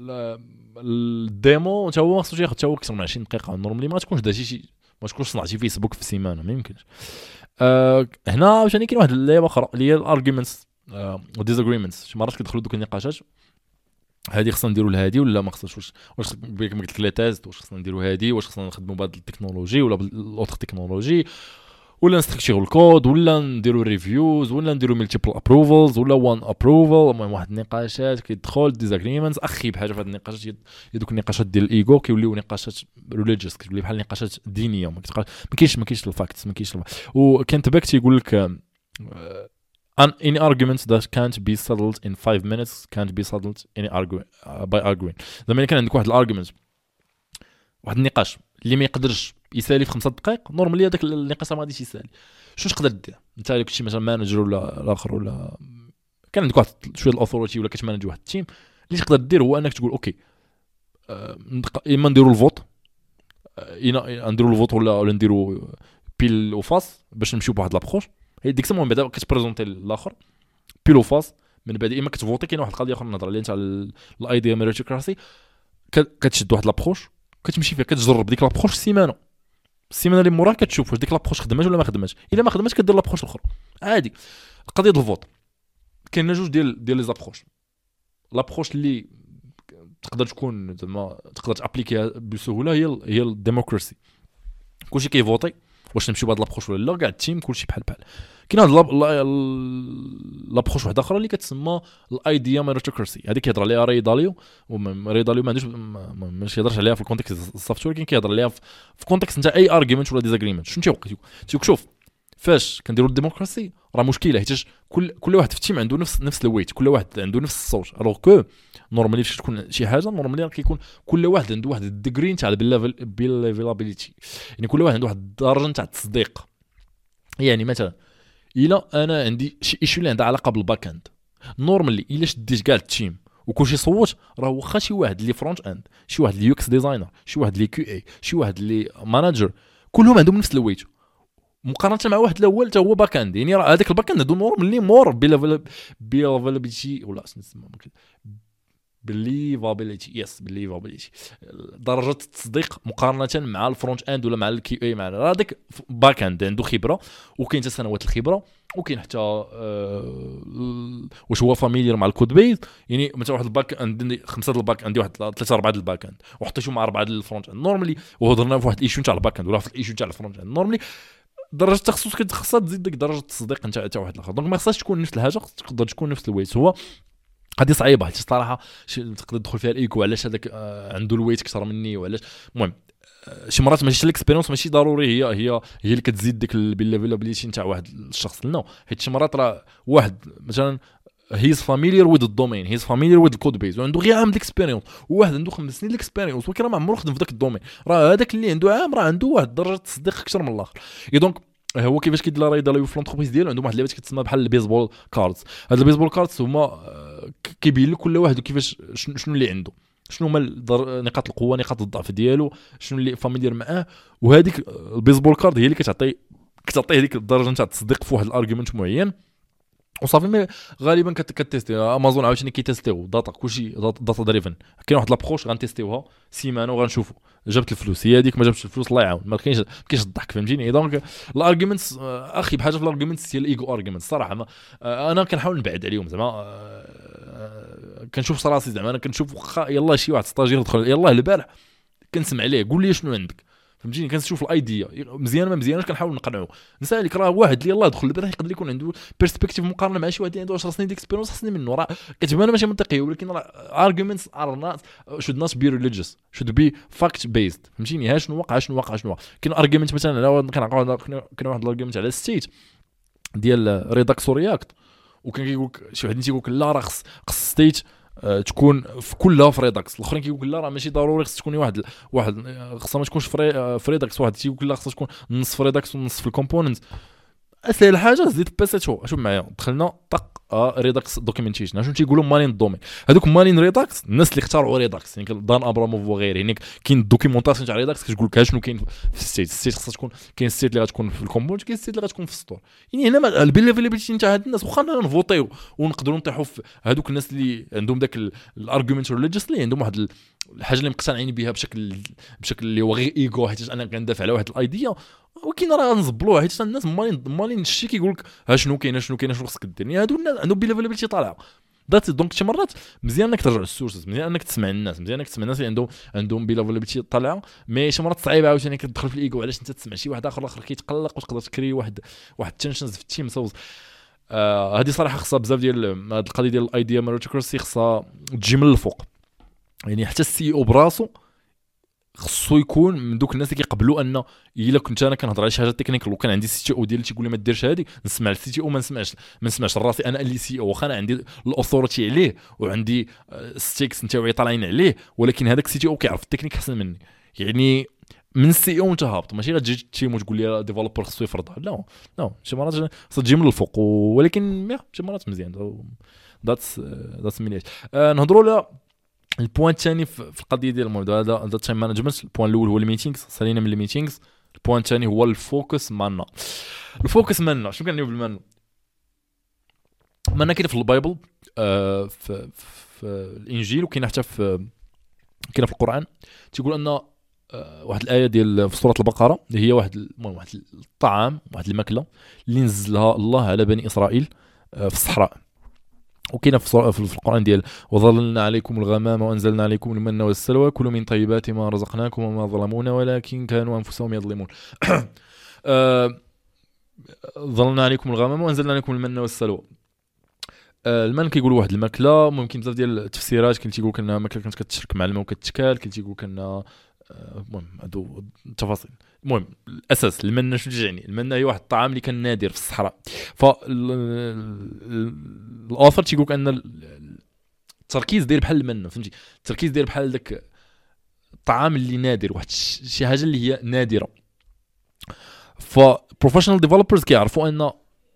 الديمو حتى هو خصو ياخذ حتى هو اكثر من عشرين دقيقه نورمالي ما تكونش درتي شي ما تكونش صنعتي فيسبوك في السيمانه ما يمكنش أه هنا واش كاين واحد اللعبه اخرى اللي هي الارغيومنتس وديزاغريمنتس شي مرات كيدخلوا دوك النقاشات هذه خصنا نديروا لهادي ولا ما خصناش واش واش كما قلت لك لا تيست واش خصنا نديروا هادي واش خصنا نخدموا بهذه التكنولوجي ولا بالاوتر تكنولوجي ولا نستكشفوا الكود ولا نديروا ريفيوز ولا نديروا ملتيبل ابروفلز ولا وان ابروفل المهم واحد النقاشات كيدخل ديزاغريمنتس اخي بحاجه في هذه النقاشات دوك النقاشات ديال الايجو كيوليو نقاشات ريليجيوس كتولي بحال نقاشات دينيه ما كاينش ما كاينش الفاكتس ما كاينش وكان تباك تيقول لك an any argument that can't be settled in five minutes can't be settled any argument uh, by arguing زعما كان عندك واحد الارغيومنت واحد النقاش اللي ما يقدرش يسالي في خمسة دقائق نورمالي هذاك النقاش ما غاديش يسالي شنو تقدر دير انت اللي كنتي مثلا مانجر ولا الاخر ولا كان عندك واحد شويه الاوثوريتي ولا كتمانج واحد التيم اللي تقدر دير هو انك تقول اوكي اما نديروا الفوت انا نديروا الفوت ولا ولا نديروا بيل وفاس باش نمشيو بواحد لابروش هي ديك الساعه من بعد كتبريزونتي الاخر بيل وفاس من بعد اما كتفوتي كاين واحد القضيه اخرى نهضر عليها تاع الايديا ميريتوكراسي كتشد واحد لابروش كتمشي فيها كتجرب ديك لابروش السيمانه السيمانه اللي موراها كتشوف واش ديك لابروش خدمات ولا ما خدماتش الا ما خدماتش كدير لابروش الاخرى عادي القضيه ديال الفوت كاين جوج ديال ديال لي زابروش لابروش اللي تقدر تكون زعما تقدر تابليكيها بسهوله هي هي الديموكراسي كلشي كيفوتي واش نمشيو بهاد لابروش ولا لا. كاع التيم كلشي بحال بحال. كاين هاد لابروش واحده اخرى اللي كتسمى الايديا ميريتوكراسي. هذيك كيهضر عليها ري داليو، وري داليو ما عندوش ماشي يهضرش عليها في الكونتكست السوفتوير، ولكن كيهضر عليها في كونتكست نتاع اي ارغيومنت ولا ديزاغريمنت. شنو تيوقع؟ تيقول شوف فاش كنديروا الديموكراسي راه مشكله، حيت كل كل واحد في التيم عنده نفس نفس الويت، كل واحد عنده نفس الصوت. الوغ كو نورمالي فاش تكون شي حاجه نورمالي كيكون كل واحد عنده واحد الديغري نتاع البيلافيلابيليتي، يعني كل واحد عنده واحد الدرجه نتاع التصديق. يعني مثلا الا انا عندي شي ايشو اللي عندها علاقه بالباك اند، نورمالي الا شديت كاع التيم وكلشي صوت، راه واخا شي واحد اللي فرونت اند، شي واحد اللي يو اكس ديزاينر، شي واحد اللي كيو اي، شي واحد اللي ماناجر، كلهم عندهم نفس الويت مقارنه مع واحد الاول حتى هو باك اند. يعني راه هذاك الباك اند نورمالي مور بيلافيلابيلتي ولا نسمى بليفابيليتي يس بليفابيليتي درجه التصديق مقارنه مع الفرونت اند ولا مع الكي اي. مع هذاك باك اند عنده خبره وكاين حتى سنوات الخبره، وكاين حتى أه واش هو فاميليير مع الكود بيز. يعني مثلا واحد الباك اند عندي خمسه الباك عندي واحد ثلاثه اربعه الباك اند وحطيتهم مع اربعه الفرونت اند نورمالي، وهضرنا في واحد الايشو نتاع الباك اند ولا في الايشو نتاع الفرونت اند نورمالي درجه التخصص كتخصها تزيد ديك درجه التصديق نتاع حتى واحد الاخر. دونك ما خصهاش تكون نفس الحاجه، تقدر تكون نفس الويت. هو هذه صعيبه حيت الصراحه تقدر تدخل فيها الايكو علاش هذاك آه عنده الويت اكثر مني وعلاش. المهم آه شي مرات ماشي الاكسبيريونس ماشي ضروري هي هي هي اللي كتزيد ديك البيلافيلابيليتي نتاع واحد الشخص لنا، حيت شي مرات راه واحد مثلا هيز فاميليير وذ الدومين، هيز فاميليير وذ الكود بيز وعنده غير عام الاكسبيريونس، وواحد عنده خمس سنين الاكسبيريونس ولكن راه ما عمره خدم في ذاك الدومين، راه هذاك اللي عنده عام راه عنده واحد درجه تصديق اكثر من الاخر. اي دونك هو كيفاش كيدير راي داليو في لونتربريز ديالو عندهم واحد اللعبه كتسمى بحال البيسبول كاردز. هاد البيسبول كاردز هما كيبين لك كل واحد كيفاش شنو اللي عنده، شنو هما نقاط القوه نقاط الضعف ديالو، شنو اللي فاميليير معاه، وهذيك البيسبول كارد هي اللي كتعطي كتعطيه هذيك الدرجه نتاع التصديق في واحد الارغيومنت معين وصافي. غالبا كتيستي امازون عاوتاني كيتيستيو داتا كلشي داتا دريفن. كاين واحد لابروش غنتيستيوها سيمانه وغنشوفوا جابت الفلوس، هي هذيك ما جابتش الفلوس الله يعاون، ما كاينش كاينش الضحك فهمتيني. دونك الارغيومنتس اخي بحاجه في الارغيومنتس هي الايجو ارغيومنتس صراحه ما انا كنحاول نبعد عليهم زعما كنشوف راسي زعما انا كنشوف واخا يلاه شي واحد ستاجير دخل يلاه البارح كنسمع عليه قول لي شنو عندك فهمتيني، كنشوف الايديا مزيان ما مزيانش كنحاول نقنعو نسالك راه واحد اللي يلاه دخل البارح يقدر يكون عنده بيرسبكتيف مقارنه مع شي واحد اللي عنده عشر سنين ديك اكسبيريونس احسن منه، راه كتبان ماشي منطقيه ولكن راه arguments are not should not be religious should be fact based فهمتيني. ها شنو وقع شنو وقع شنو كاين argument مثلا على كنعقل كاين واحد الارغيومنت على الستيت ديال ريداكس رياكت وكان كيقول شي واحد تيقول لك لا راه خص ستيت أه تكون في كلها في ريداكس، الاخرين كيقول لا راه ماشي ضروري خص تكون واحد واحد خصها ما تكونش في ريداكس، واحد تيقول لا خصها تكون نص في ريداكس ونص في الكومبوننت. اسهل حاجه زيد بيسيتو شوف معايا دخلنا طق اه ريداكس دوكيومنتيشن شنو تيقولوا مالين الدومين هذوك مالين ريداكس الناس اللي اختاروا ريداكس يعني دان ابراموف وغيره يعني كاين الدوكيومونطاسيون تاع ريداكس كتقول لك شنو كاين في السيت السيت خصها تكون كاين السيت اللي غتكون في الكومبوننت كاين السيت اللي غتكون في السطور. يعني هنا البيليفيليبيليتي نتاع هاد الناس واخا نفوطيو ونقدروا نطيحوا في هذوك الناس اللي عندهم داك الارغيومنت ريليجيوس اللي عندهم واحد الحاجه اللي مقتنعين بها بشكل بشكل اللي هو غير ايجو حيت انا كندافع على واحد الايديا ولكن راه نزبلوها حيت الناس مالين مالين الشيء كيقول لك ها شنو كاين شنو كاين شنو خصك دير. يعني هادو الناس عندهم بيليفيليبيليتي طالعه دات دونك شي مرات مزيان انك ترجع للسورسز مزيان انك تسمع الناس مزيان انك تسمع الناس اللي عندهم عندهم بيليفيليبيليتي طالعه. مي شي مرات صعيبه عاوتاني كتدخل في الايجو علاش انت تسمع شي واحد اخر الاخر كيتقلق وتقدر تكري واحد واحد تنشنز في التيم سوز. آه هذه صراحه خصها بزاف ديال هذه القضيه ديال الايديا ميريتوكراسي خصها تجي من الفوق. يعني حتى السي او براسو خصو يكون من دوك الناس اللي كيقبلوا ان الا كنت انا كنهضر على شي حاجه تكنيكال وكان عندي سي تي او ديالي تيقول لي ما ديرش هذه نسمع السي تي او ما نسمعش ما نسمعش راسي انا اللي سي او واخا انا عندي الاثوريتي عليه وعندي ستيكس نتاعي طالعين عليه ولكن هذاك السي تي او كيعرف التكنيك احسن مني. يعني من السي او انت هابط ماشي غتجي تيم وتقول لي ديفلوبر خصو يفرضها لا لا شي مرات خصها تجي من الفوق ولكن شي مرات مزيان ذاتس ذاتس مينيت. نهضروا على البوان الثاني في القضيه ديال الموضوع هذا هذا تايم مانجمنت. البوان الاول هو الميتينغز سالينا من الميتينغز. البوان الثاني هو الفوكس مالنا. الفوكس مالنا شنو كنعنيو بالمالنا؟ مالنا كاين في البايبل آه في, في الانجيل وكاين حتى في كاين في القران تيقول ان آه واحد الايه ديال في سوره البقره اللي هي واحد المهم واحد الطعام واحد الماكله اللي نزلها الله على بني اسرائيل آه في الصحراء. وكاين في القرآن ديال وظللنا عليكم الغمام وأنزلنا عليكم المن والسلوى كلوا من طيبات ما رزقناكم وما ظلمونا ولكن كانوا أنفسهم يظلمون. أه ظلنا عليكم الغمام وانزلنا عليكم المن والسلوى. أه المن كيقولوا واحد الماكله، ممكن بزاف ديال التفسيرات. كاين تيقول انها ماكله كانت كتشرك مع الماء وكتشكال، كاين تيقول انها المهم هادو التفاصيل. المهم الاساس المنه شنو يعني؟ المنه هي واحد الطعام اللي كان نادر في الصحراء. ف الاوثر تيقول ان التركيز داير بحال المنه، فهمتي؟ التركيز داير بحال داك الطعام اللي نادر، واحد شي حاجه اللي هي نادره. ف بروفيشنال ديفلوبرز كيعرفوا ان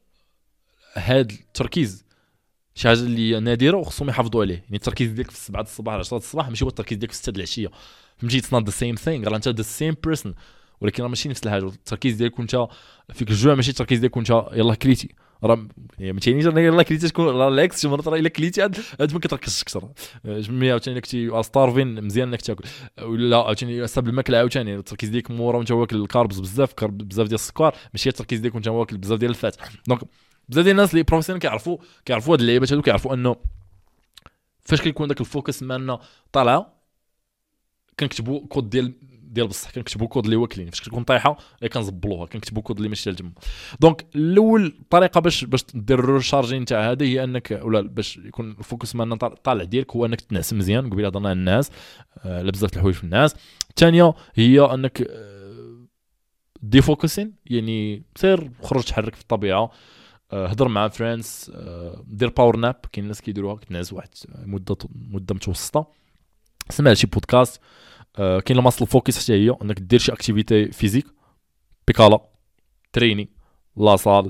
هاد التركيز شي حاجه اللي نادره وخصهم يحافظوا عليه. يعني التركيز ديالك في سبعة الصباح على عشرة الصباح ماشي هو التركيز ديالك في ستة العشيه، فهمتي؟ اتس نوت ذا سيم ثينغ. راه انت ذا سيم بيرسون، ولكن راه ماشي نفس الحاجه. التركيز ديالك وانت فيك الجوع ماشي التركيز ديالك وانت يلاه كليتي. راه ما تيعنيش راه يلاه كليتي تكون راه لاكس. شي مرات راه الا كليتي عاد ما كتركزش اكثر. جميع عاوتاني كنتي ستارفين مزيان انك تاكل، ولا عاوتاني ساب الماكله عاوتاني التركيز ديالك مورا وانت واكل الكاربز بزاف، كارب بزاف ديال السكر، ماشي التركيز ديالك وانت واكل بزاف ديال الفات. دونك بزاف ديال الناس اللي بروفيسيونيل كيعرفوا كيعرفوا هاد اللعيبات هادو، كيعرفوا انه فاش كيكون داك الفوكس مالنا طالعه كنكتبوا كود ديال ديال بصح، كنكتبوا كود اللي واكلين. فاش كتكون طايحه كنزبلوها كنكتبوا كود اللي ماشي الجم. دونك الاول طريقه باش باش دير الريشارجين تاع هذه هي انك، ولا باش يكون الفوكس مالنا طالع ديالك، هو انك تنعس مزيان. قبيله هضرنا على الناس، آه لا بزاف الحوايج في الناس. الثانيه هي انك آه دي فوكسين، يعني سير خرج تحرك في الطبيعه، هضر مع فريندز، دير باور ناب. كاين الناس كيديروها كتنعس واحد مده مده متوسطه، سمع شي بودكاست. كاين الماسل فوكس حتى هي انك دير شي اكتيفيتي فيزيك، بيكالا، تريني، لاصال،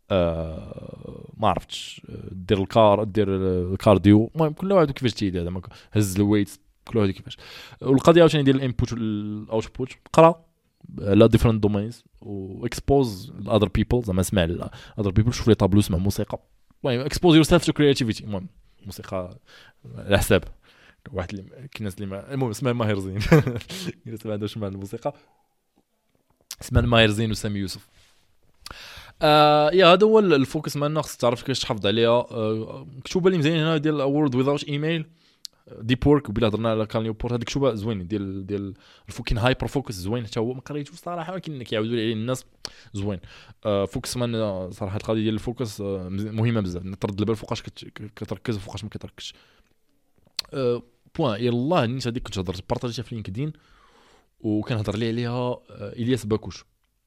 أه ما عرفتش، دير الكار دير الكارديو. المهم كل واحد كيفاش تيدير، زعما هز الويت، كل واحد كيفاش. والقضيه عاوتاني ديال الانبوت والاوتبوت، قرا لا ديفرنت دومينز واكسبوز الاذر بيبل، زعما اسمع الاذر بيبل، شوف لي طابلو، اسمع موسيقى. المهم اكسبوز يور سيلف تو كرياتيفيتي. المهم موسيقى على حساب واحد اللي كاين الناس اللي ما... المهم اسمها ماهر زين الناس ما عندهاش مع الموسيقى، اسمها ماهر زين وسامي يوسف. آه يا هذا هو الفوكس مالنا، خصك تعرف كيفاش تحافظ عليها. آه كتوبه اللي مزيان هنا ديال وورد ويزاوت ايميل، ديب وورك. وبلا هضرنا على كاليو بورت، هذيك كتوبه زوين ديال ديال الفوكين هايبر فوكس زوين حتى هو. ما قريتوش صراحه ولكن كيعاودوا لي عليه الناس زوين. آه فوكس مان صراحه القضيه ديال الفوكس آه مهمه بزاف، ترد البال فوقاش كتركز وفوقاش ما كتركزش. آه بوين يلاه نيت هذيك كنت هضرت بارطاجيتها في لينكدين وكنهضر لي عليها آه الياس باكوش.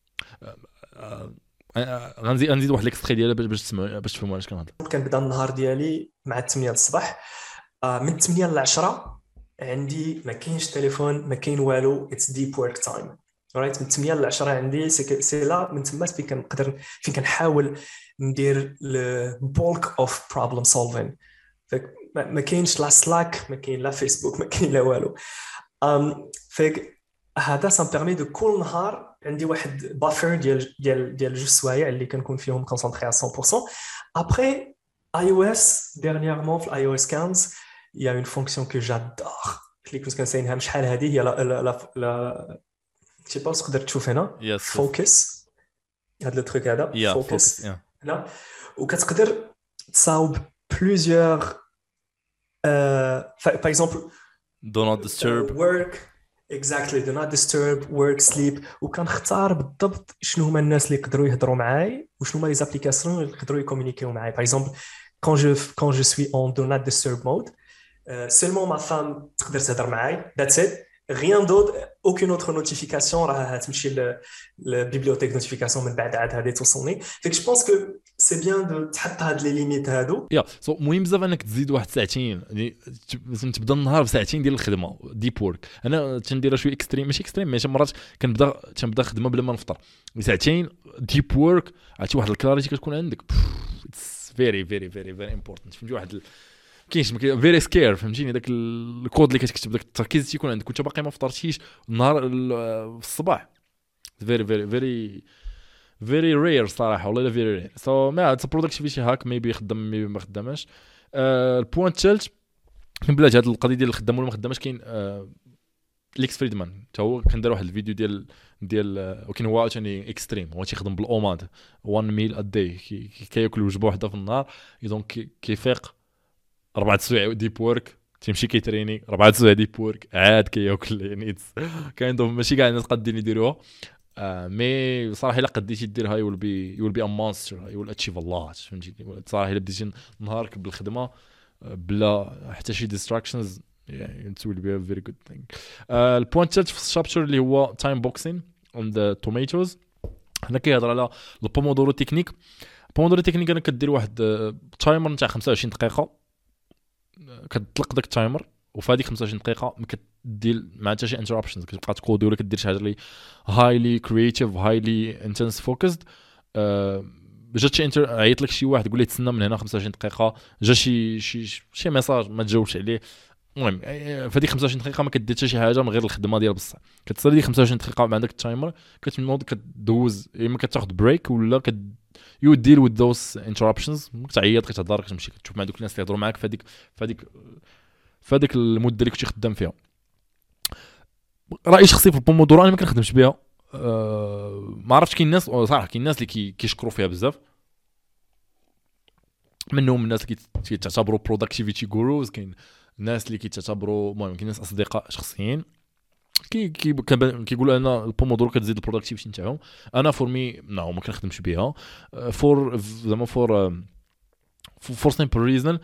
آه آه غنزيد غنزيد واحد ليكستري ديالها باش تسمعوا باش تفهموا علاش كنهضر. كنبدا النهار ديالي مع ثمانية الصباح، آه من ثمانية ل عشرة عندي ما كاينش تليفون ما كاين والو، اتس ديب ورك تايم. رايت من ثمانية ل عشرة عندي سي لا، من تما فين كنقدر فين كنحاول ندير البولك اوف بروبلم سولفين. ما كاينش لا سلاك، ما كاين لا فيسبوك، ما كاين لا والو. ام فيك هذا سام بيرمي دو كل نهار عندي واحد بافر ديال ديال ديال جوج سوايع اللي كنكون فيهم كونسونطري على مية بالمية. ابري iOS dernièrement في iOS خمسة il y a une fonction que j'adore اللي كنت كنساينها شحال هذه، هي لا لا لا شي با تقدر تشوف هنا فوكس، هذا التريك هذا فوكس هنا، وكتقدر تصاوب بلوزيور باغ اكزومبل do not disturb work exactly do not disturb work sleep، وكنختار بالضبط شنو هما الناس اللي يقدروا يهضروا معاي وشنو هما لي زابليكاسيون اللي يقدروا يكومونيكيو معاي. باغ اكزومبل quand je quand je suis en do not disturb mode, euh, seulement ma femme تقدر تهضر معاي, that's it, rien d'autre, aucune autre notification راه تمشي للبيبليوتيك نوتيفيكاسيون من بعد عاد هذه توصلني. فيك جو بونس كو سي بيان دو تحط هاد لي ليميت هادو. يا سو مهم بزاف انك تزيد واحد ساعتين، يعني تبدا النهار بساعتين ديال الخدمه ديب وورك. انا تنديرها شويه اكستريم، ماشي اكستريم ماشي مرات كنبدا تنبدا خدمه بلا ما نفطر ساعتين ديب وورك. عرفتي واحد الكلاريتي كتكون عندك اتس فيري فيري فيري فيري امبورطنت. فهمتي واحد كاينش فيري سكير، فهمتيني داك الكود اللي كتكتب داك التركيز تيكون عندك وانت باقي ما فطرتيش النهار في الصباح. فيري فيري فيري فيري رير صراحه والله لا فيري رير. سو ما اتس برودكتيفيتي هاك ميبي خدام ميبي ما خدامش. البوينت الثالث بلاتي هذه القضيه ديال الخدام ولا ما خدامش، كاين ليكس فريدمان حتى هو كندير واحد الفيديو ديال ديال ولكن هو ثاني اكستريم، هو تيخدم بالاوماد وان ميل ا داي، كياكل وجبه واحده في النهار. دونك كيفيق اربعه سوايع ديب وورك، تيمشي كيتريني اربعه سوايع ديب وورك عاد كياكل. يعني كاين دوم ماشي كاع الناس قادين يديروها. آه مي صراحه الا قديتي دير هاي ويل بي يو ويل بي ا مونستر هاي ويل اتشيف الله فهمتيني صراحه الا بديتي نهارك بالخدمه بلا حتى شي ديستراكشنز يعني it will be a very good thing. آه البوينت الثالث في الشابتر اللي هو تايم بوكسين on the tomatoes. هنا كيهضر على البومودورو تكنيك. البومودورو تكنيك انا كدير واحد تايمر نتاع خمسة وعشرين دقيقه كتطلق داك التايمر وفي هذيك خمسة وعشرين دقيقه ما كدير مع حتى شي انتربشنز كتبقى تكودي ولا كدير شي حاجه اللي هايلي كرييتيف هايلي انتنس فوكسد. جات شي انتر عيط لك شي واحد يقول لي تسنى من هنا خمسة وعشرين دقيقه جا شي شي شي ميساج ما تجاوبش عليه. المهم في هذيك خمسة وعشرين دقيقه ما كدير حتى شي حاجه من غير الخدمه ديال بصح كتصلي ديك خمسة وعشرين دقيقه مع داك التايمر كتنوض كدوز اما كتاخذ بريك ولا كد يو ديل وذ ذوز انتربشنز كتعيط كتهضر كتمشي كتشوف مع دوك الناس اللي يهضروا معاك في هذيك في هذيك في هذيك المده اللي كنتي خدام فيها. رايي شخصي في البومودورو انا ما كنخدمش بها. أه ما عرفتش كاين ناس صراحه كاين ناس اللي كي كيشكروا فيها بزاف منهم الناس اللي كيتعتبروا بروداكتيفيتي غوروز كاين الناس اللي كيتعتبروا المهم كاين ناس اصدقاء شخصيين كي كي كيقولوا ان البومودورو كتزيد البروداكتيفيتي نتاعهم. انا فور مي نو ما كنخدمش بها فور زعما فور فور سيمبل ريزون.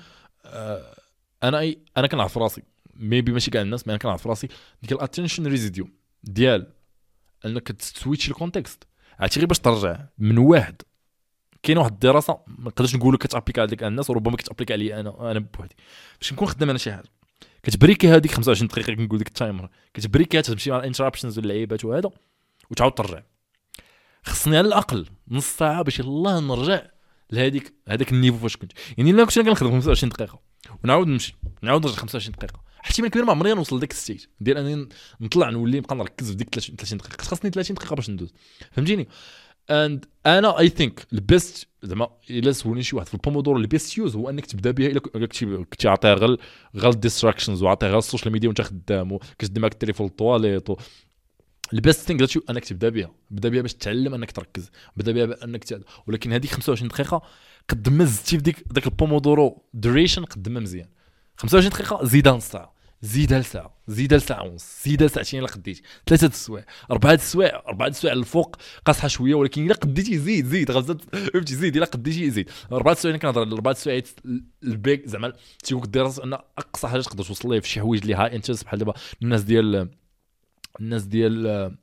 انا اي انا كنعرف راسي ميبي ماشي كاع الناس، ما انا كنعرف راسي ديك الاتنشن ريزيديو ديال انك تسويتش الكونتكست عرفتي غير باش ترجع من واحد. كاين واحد الدراسه ما نقدرش نقول لك كتابليكا على ديك الناس وربما كتابليكا عليا انا انا بوحدي باش نكون خدام انا شي حاجه كتبريكي هذيك خمسة وعشرين دقيقه كنقول ديك التايمر كتبريكي تمشي مع الانتربشنز واللعيبات وهذا وتعاود ترجع. خصني على الاقل نص ساعه باش يلاه نرجع لهذيك هذاك النيفو فاش كنت يعني الا كنت كنخدم خمسة وعشرين دقيقه ونعاود نمشي نعاود نرجع خمسة وعشرين دقيقه احتمال كبير ما عمري نوصل لذاك الستيج ديال انني نطلع نولي نبقى نركز في ديك ثلاثين دقيقه. خاصني ثلاثين دقيقه باش ندوز فهمتيني. اند انا اي ثينك البيست زعما الا سولني شي واحد في البومودورو البيست يوز هو انك تبدا بها الا كنتي كنتي عاطيها غير غير ديستراكشنز وعاطيها غير السوشيال ميديا وانت خدام وكتدي معاك التليفون الطواليط البيست ثينك ذات انك تبدا بها بدا بها باش تتعلم انك تركز بدا بها انك ت... ولكن هذيك خمسة وعشرين دقيقه قد ما زدتي في ديك داك البومودورو دوريشن قد ما مزيان. خمسة وعشرين دقيقه زيدها نص ساعه زيدها لساعه زيدها لساعه ونص زيدها لساعتين الا قديتي ثلاثه السوايع اربعه السوايع اربعه السوايع الفوق قاصحه شويه ولكن الا قديتي زيد زيد غزت فهمتي زيد الا قديتي زيد اربعه السوايع. كنهضر على اربعه السوايع البيك زعما تيقول الدراسه ان اقصى حاجه تقدر توصل ليه في شي حوايج اللي هاي انترست بحال دابا الناس ديال الناس ديال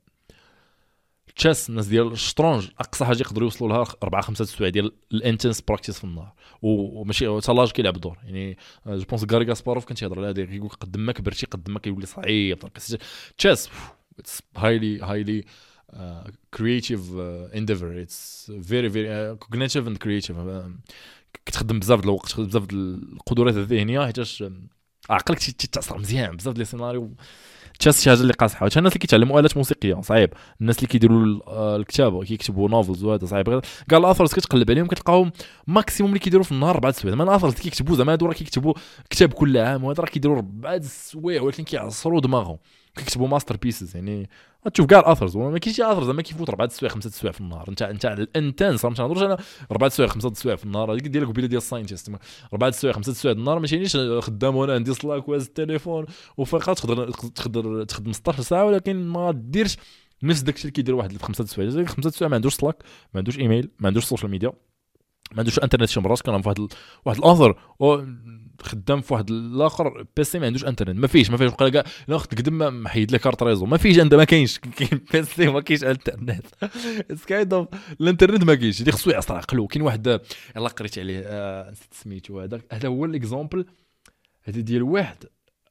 تشيس الناس ديال الشطرنج اقصى حاجه يقدروا يوصلوا لها اربعه خمسه السوايع ديال الانتنس براكتيس في النهار وماشي حتى لاج كيلعب دور يعني جو بونس غاري غاسباروف كان تيهضر على هذا كيقول قد ما كبرتي قد ما كيولي صعيب تشيس اتس هايلي هايلي كرييتيف انديفر اتس فيري فيري كوغنيتيف اند كرييتيف كتخدم بزاف د الوقت كتخدم بزاف د القدرات الذهنيه حيتاش عقلك تتاثر مزيان بزاف ديال السيناريو تشاس شي حاجه اللي قاصحه. وحتى الناس اللي كيتعلموا آلات موسيقيه صعيب الناس اللي كيديروا الكتابه كيكتبوا نوفلز وهذا صعيب كاع الاثرز كتقلب عليهم كتلقاهم ماكسيموم اللي كيديروا في النهار اربعه السوايع. ما الاثرز كيكتبوا زعما هادو راه كيكتبوا كتاب كل عام وهذا راه كيديروا اربعه السوايع ولكن كيعصروا دماغهم كيكتبوا ماستر بيسز يعني تشوف كاع الاثرز ما كاينش شي اثر زعما كيفوت اربعه السوايع خمسه السوايع في النهار. انت انت الانتنس ما تنهضروش انا اربعه السوايع خمسه السوايع في النهار هذيك ديالك قبيله ديال الساينتيست اربعه السوايع خمسه السوايع في النهار ما تيعنيش خدام وانا عندي سلاك واز التليفون وفقط تقدر تقدر تخدم ستطاش ساعه ولكن ما ديرش نفس داكشي اللي كيدير واحد في خمسه السوايع. خمسه السوايع ما عندوش سلاك ما عندوش ايميل ما عندوش سوشيال ميديا ما عندوش انترنت شي مرات كان في واحد واحد الاخر خدام في واحد الاخر بيسي ما عندوش انترنت ما فيش ما فيش بقى كاع لا خد قدام محيد لك كارت ريزو ما فيش عندها ما كاينش كاين بيسي ما كاينش انترنت اتس كايند اوف الانترنت ما كاينش اللي خصو يعصر عقلو. كاين واحد يلاه قريت عليه آه نسيت سميتو هذا هذا هو الاكزامبل هذا ديال واحد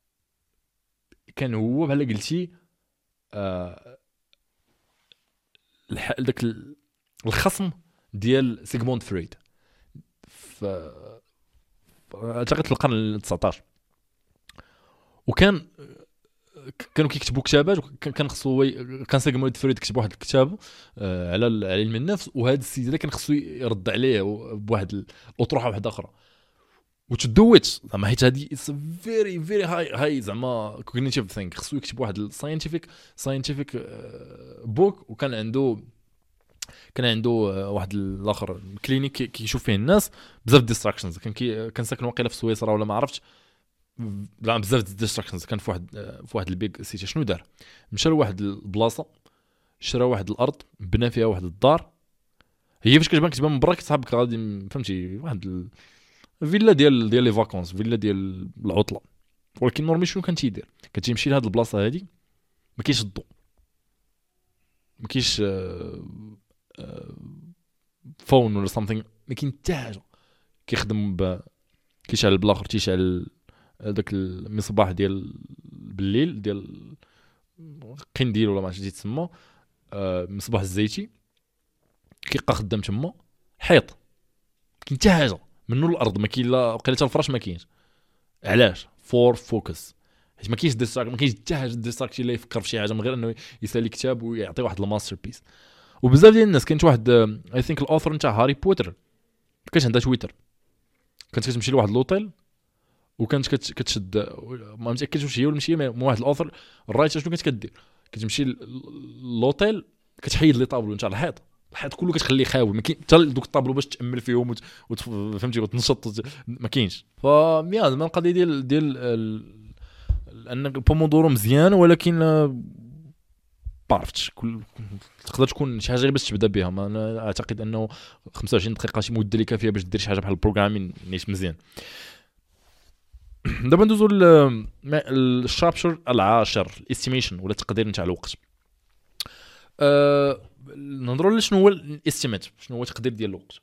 كان هو بحال قلتي آه داك الخصم ديال سيغموند فريد ف اعتقد في القرن التسعطاش وكان كانوا كيكتبوا كتابات كان خصو كان سيغموند فريد كتب واحد الكتاب على علم النفس وهذا السيد هذا كان خصو يرد عليه بواحد الاطروحه واحده اخرى وتدويت زعما حيت هذه اتس فيري فيري هاي هاي زعما كوغنيتيف ثينك خصو يكتب واحد الساينتيفيك ساينتيفيك بوك وكان عنده كان عنده واحد الاخر كلينيك كيشوف فيه الناس بزاف ديستراكشنز كان كي كان ساكن واقيلا في سويسرا ولا ما عرفتش بزاف ديستراكشنز كان في واحد في واحد البيك سيتي شنو دار مشى لواحد البلاصه شرا واحد الارض بنى فيها واحد الدار، هي فاش كتبان كتبان من برا كتصحابك غادي فهمتي واحد الفيلا ديال ديال لي فاكونس، فيلا ديال العطله، ولكن نورمي شنو كان تيدير؟ كتمشي لهاد البلاصه هادي ما كاينش الضوء، ما كاينش فون ولا سامثينغ، ما كاين حتى حاجه، كيخدم ب كيشعل بالاخر تيشعل هذاك المصباح ديال بالليل ديال قنديل ولا ما عرفتش تسمى، مصباح الزيتي كيبقى خدام تما، حيط كاين حتى حاجه منو الارض ما كاين، لا وقيله الفراش ما كاينش. علاش؟ فور فوكس، حيت ما كاينش ديستراكت، ما كاينش حتى حاجه ديستراكت اللي يفكر في شي حاجه من غير انه يسالي كتاب ويعطي واحد الماستر بيس. وبزاف ديال الناس كاينت واحد اي ثينك الاوثر نتاع هاري بوتر كانت عندها تويتر، كانت كتمشي لواحد لوطيل وكانت كتشد، ما متاكدش واش هي ولا ماشي هي، واحد الاوثر الرايت شنو كانت كدير، كتمشي للوطيل كتحيد لي طابلو نتاع الحيط، الحيط كله كتخليه خاوي، ما كاين حتى دوك الطابلو باش تامل فيهم وفهمتي وتنشط ما كاينش. فيا زعما القضيه ديال ديال ان البومودورو مزيان، ولكن بعرفتش كل تقدر تكون شي حاجه باش تبدا بها، ما انا اعتقد انه خمسة وعشرين دقيقه شي مده اللي كافيه باش دير شي حاجه بحال البروغرامين نيش مزيان. دابا ندوزو للشابتر العاشر، الاستيميشن ولا التقدير نتاع الوقت. أه نهضروا شنو هو الاستيميت، شنو هو التقدير ديال الوقت.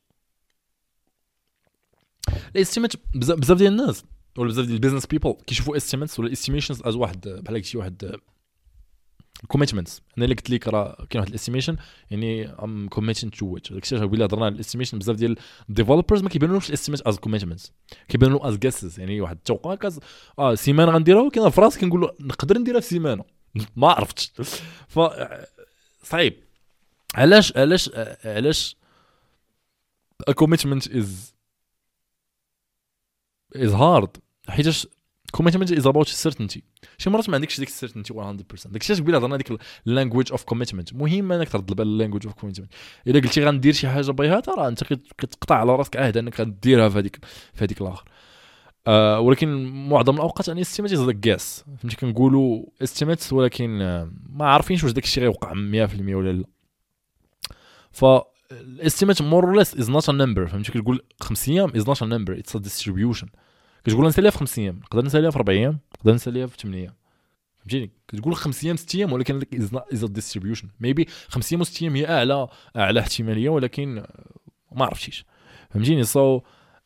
الاستيميت بزاف ديال الناس ولا بزاف ديال البيزنس بيبل كيشوفوا استيميتس ولا استيميشنز از واحد بحال شي واحد كوميتمنتس. انا اللي قلت لك راه كاين واحد الاستيميشن يعني ام كوميتين تو ويتش، داكشي علاش بلا هضرنا على الاستيميشن بزاف ديال الديفلوبرز ما كيبانولهمش الاستيميت از كوميتمنتس، كيبانوا از جيسز، يعني واحد التوقع كاز اه سيمانه غنديرها، ولكن في راسي كنقول له نقدر نديرها في سيمانه ما عرفتش. ف صعيب. علاش علاش علاش a commitment is is hard؟ حيتاش commitment is about certainty. شي مرات ما عندكش ديك certainty مية بالمية. داكشي علاش قبيله هضرنا ديك language of commitment، مهم انك ترد البال language of commitment. الا قلتي غندير شي حاجه بغيتها راه انت كتقطع على راسك عهد انك غديرها في هذيك في هذيك الاخر. آه ولكن معظم الاوقات يعني استيميت از جاس، فهمتي كنقولوا استيميت ولكن ما عارفينش واش داك الشيء غيوقع مية بالمية ولا لا. ف الاستيميت مور اور ليس از نوت ا نمبر، فهمتي كتقول خمس ايام از نوت ا نمبر، اتس ا ديستريبيوشن. كتقول نساليها في خمس ايام، نقدر نساليها في اربع ايام، نقدر نساليها في ثمانية ايام، فهمتيني. كتقول خمس ايام ست ايام، ولكن از ا ديستريبيوشن. ميبي خمس ايام وست ايام هي اعلى اعلى احتماليه، ولكن ما عرفتيش، فهمتيني. سو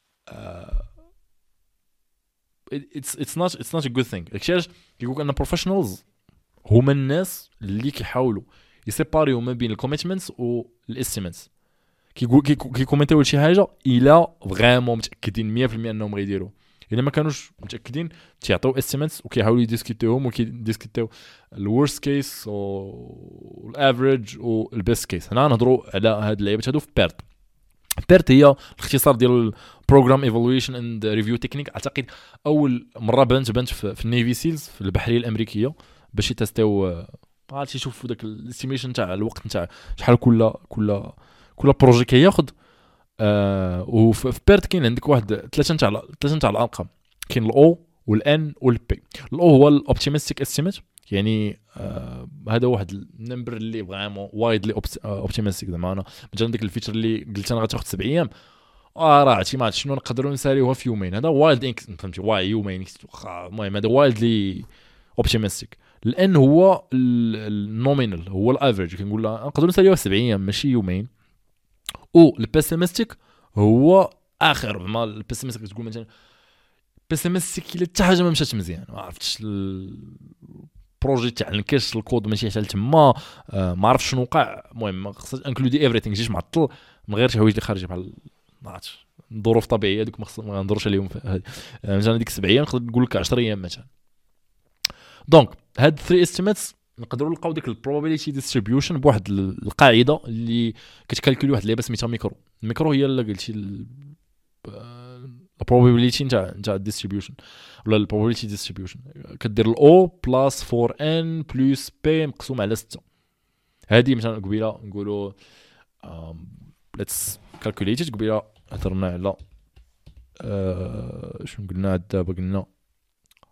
اتس اتس نوت اتس نوت ا جود ثينغ. داكشي علاش كيقول ان بروفيشنالز هما الناس اللي كيحاولوا يسيباريو ما بين الكوميتمنتس والاستيميتس. كيقول كيكومنتيو شي حاجه الا فريمون متاكدين مية بالمية انهم غيديروا، الا ما كانوش متاكدين تيعطيو استيميتس وكيحاولوا يديسكوتيوهم وكيديسكوتيو الورست كيس والافريج والبيست كيس. هنا نهضروا على هاد اللعيبات هادو في بيرت. بيرت هي الاختصار ديال بروجرام ايفالويشن اند ريفيو تكنيك. اعتقد اول مره بانت بانت في النيفي سيلز في البحريه الامريكيه باش يتستيو عرفتي يشوفوا داك الاستيميشن تاع الوقت نتاع شحال كل كل كل بروجي كياخذ. آه وفي بيرت كاين عندك واحد ثلاثه نتاع ثلاثه نتاع الارقام، كاين الاو والان والبي. الاو هو الاوبتيمستيك استيميت، يعني آه هذا واحد النمبر اللي فريمون وايدلي اوبتيمستيك. زعما انا مثلا ديك الفيتشر اللي قلت انا غتاخذ سبع ايام، اه راه عرفتي ما شنو نقدروا نساليوها في يومين، هذا وايلد انك فهمتي واي يومين. المهم هذا وايدلي اوبتيمستيك. الان هو النومينال، هو الافريج، كنقول لها نقدروا نساليوها سبع ايام ماشي يومين. او البيسيمستيك هو اخر ما البيسيمستيك تقول مثلا بيسيمستيك الا حتى حاجه ما مشات مزيان، ما عرفتش البروجي تاع الكاش الكود ماشي حتى تما، آه ما عرفتش شنو وقع. المهم خصك انكلودي ايفريثينغ، جيش معطل من غير شي حوايج اللي خارجه بحال ما عرفتش ظروف طبيعيه دوك ما غندروش عليهم. مثلا ديك سبع ايام نقدر نقول لك عشر ايام مثلا. دونك هاد ثري استيميتس نقدروا نلقاو ديك البروبابيليتي ديستريبيوشن بواحد القاعده اللي كتكالكولي واحد اللعبه سميتها ميكرو. الميكرو هي اللي قلتي البروبابيليتي نتاع نتاع الديستريبيوشن ولا البروبابيليتي ديستريبيوشن. كدير الاو بلس فور ان بلس بي مقسوم على ستة. هذه مثلا قبيله نقولوا ليتس كالكوليتد. قبيله هضرنا على أه شنو قلنا دابا، قلنا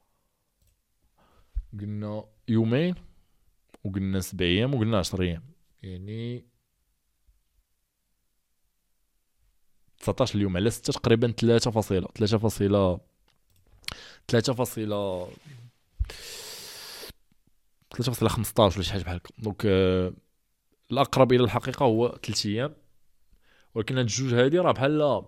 قلنا يومين وقلنا سبع ايام وقلنا عشر ايام. يعني تسعطاش اليوم على ستة تقريبا ثلاثة فاصلة ثلاثة فاصلة ثلاثة فاصلة ثلاثة فاصلة خمسطاش ولا شي حاجه بحال هكا. دونك آه الاقرب الى الحقيقه هو ثلاث ايام، ولكن هاد الجوج هادي راه بحال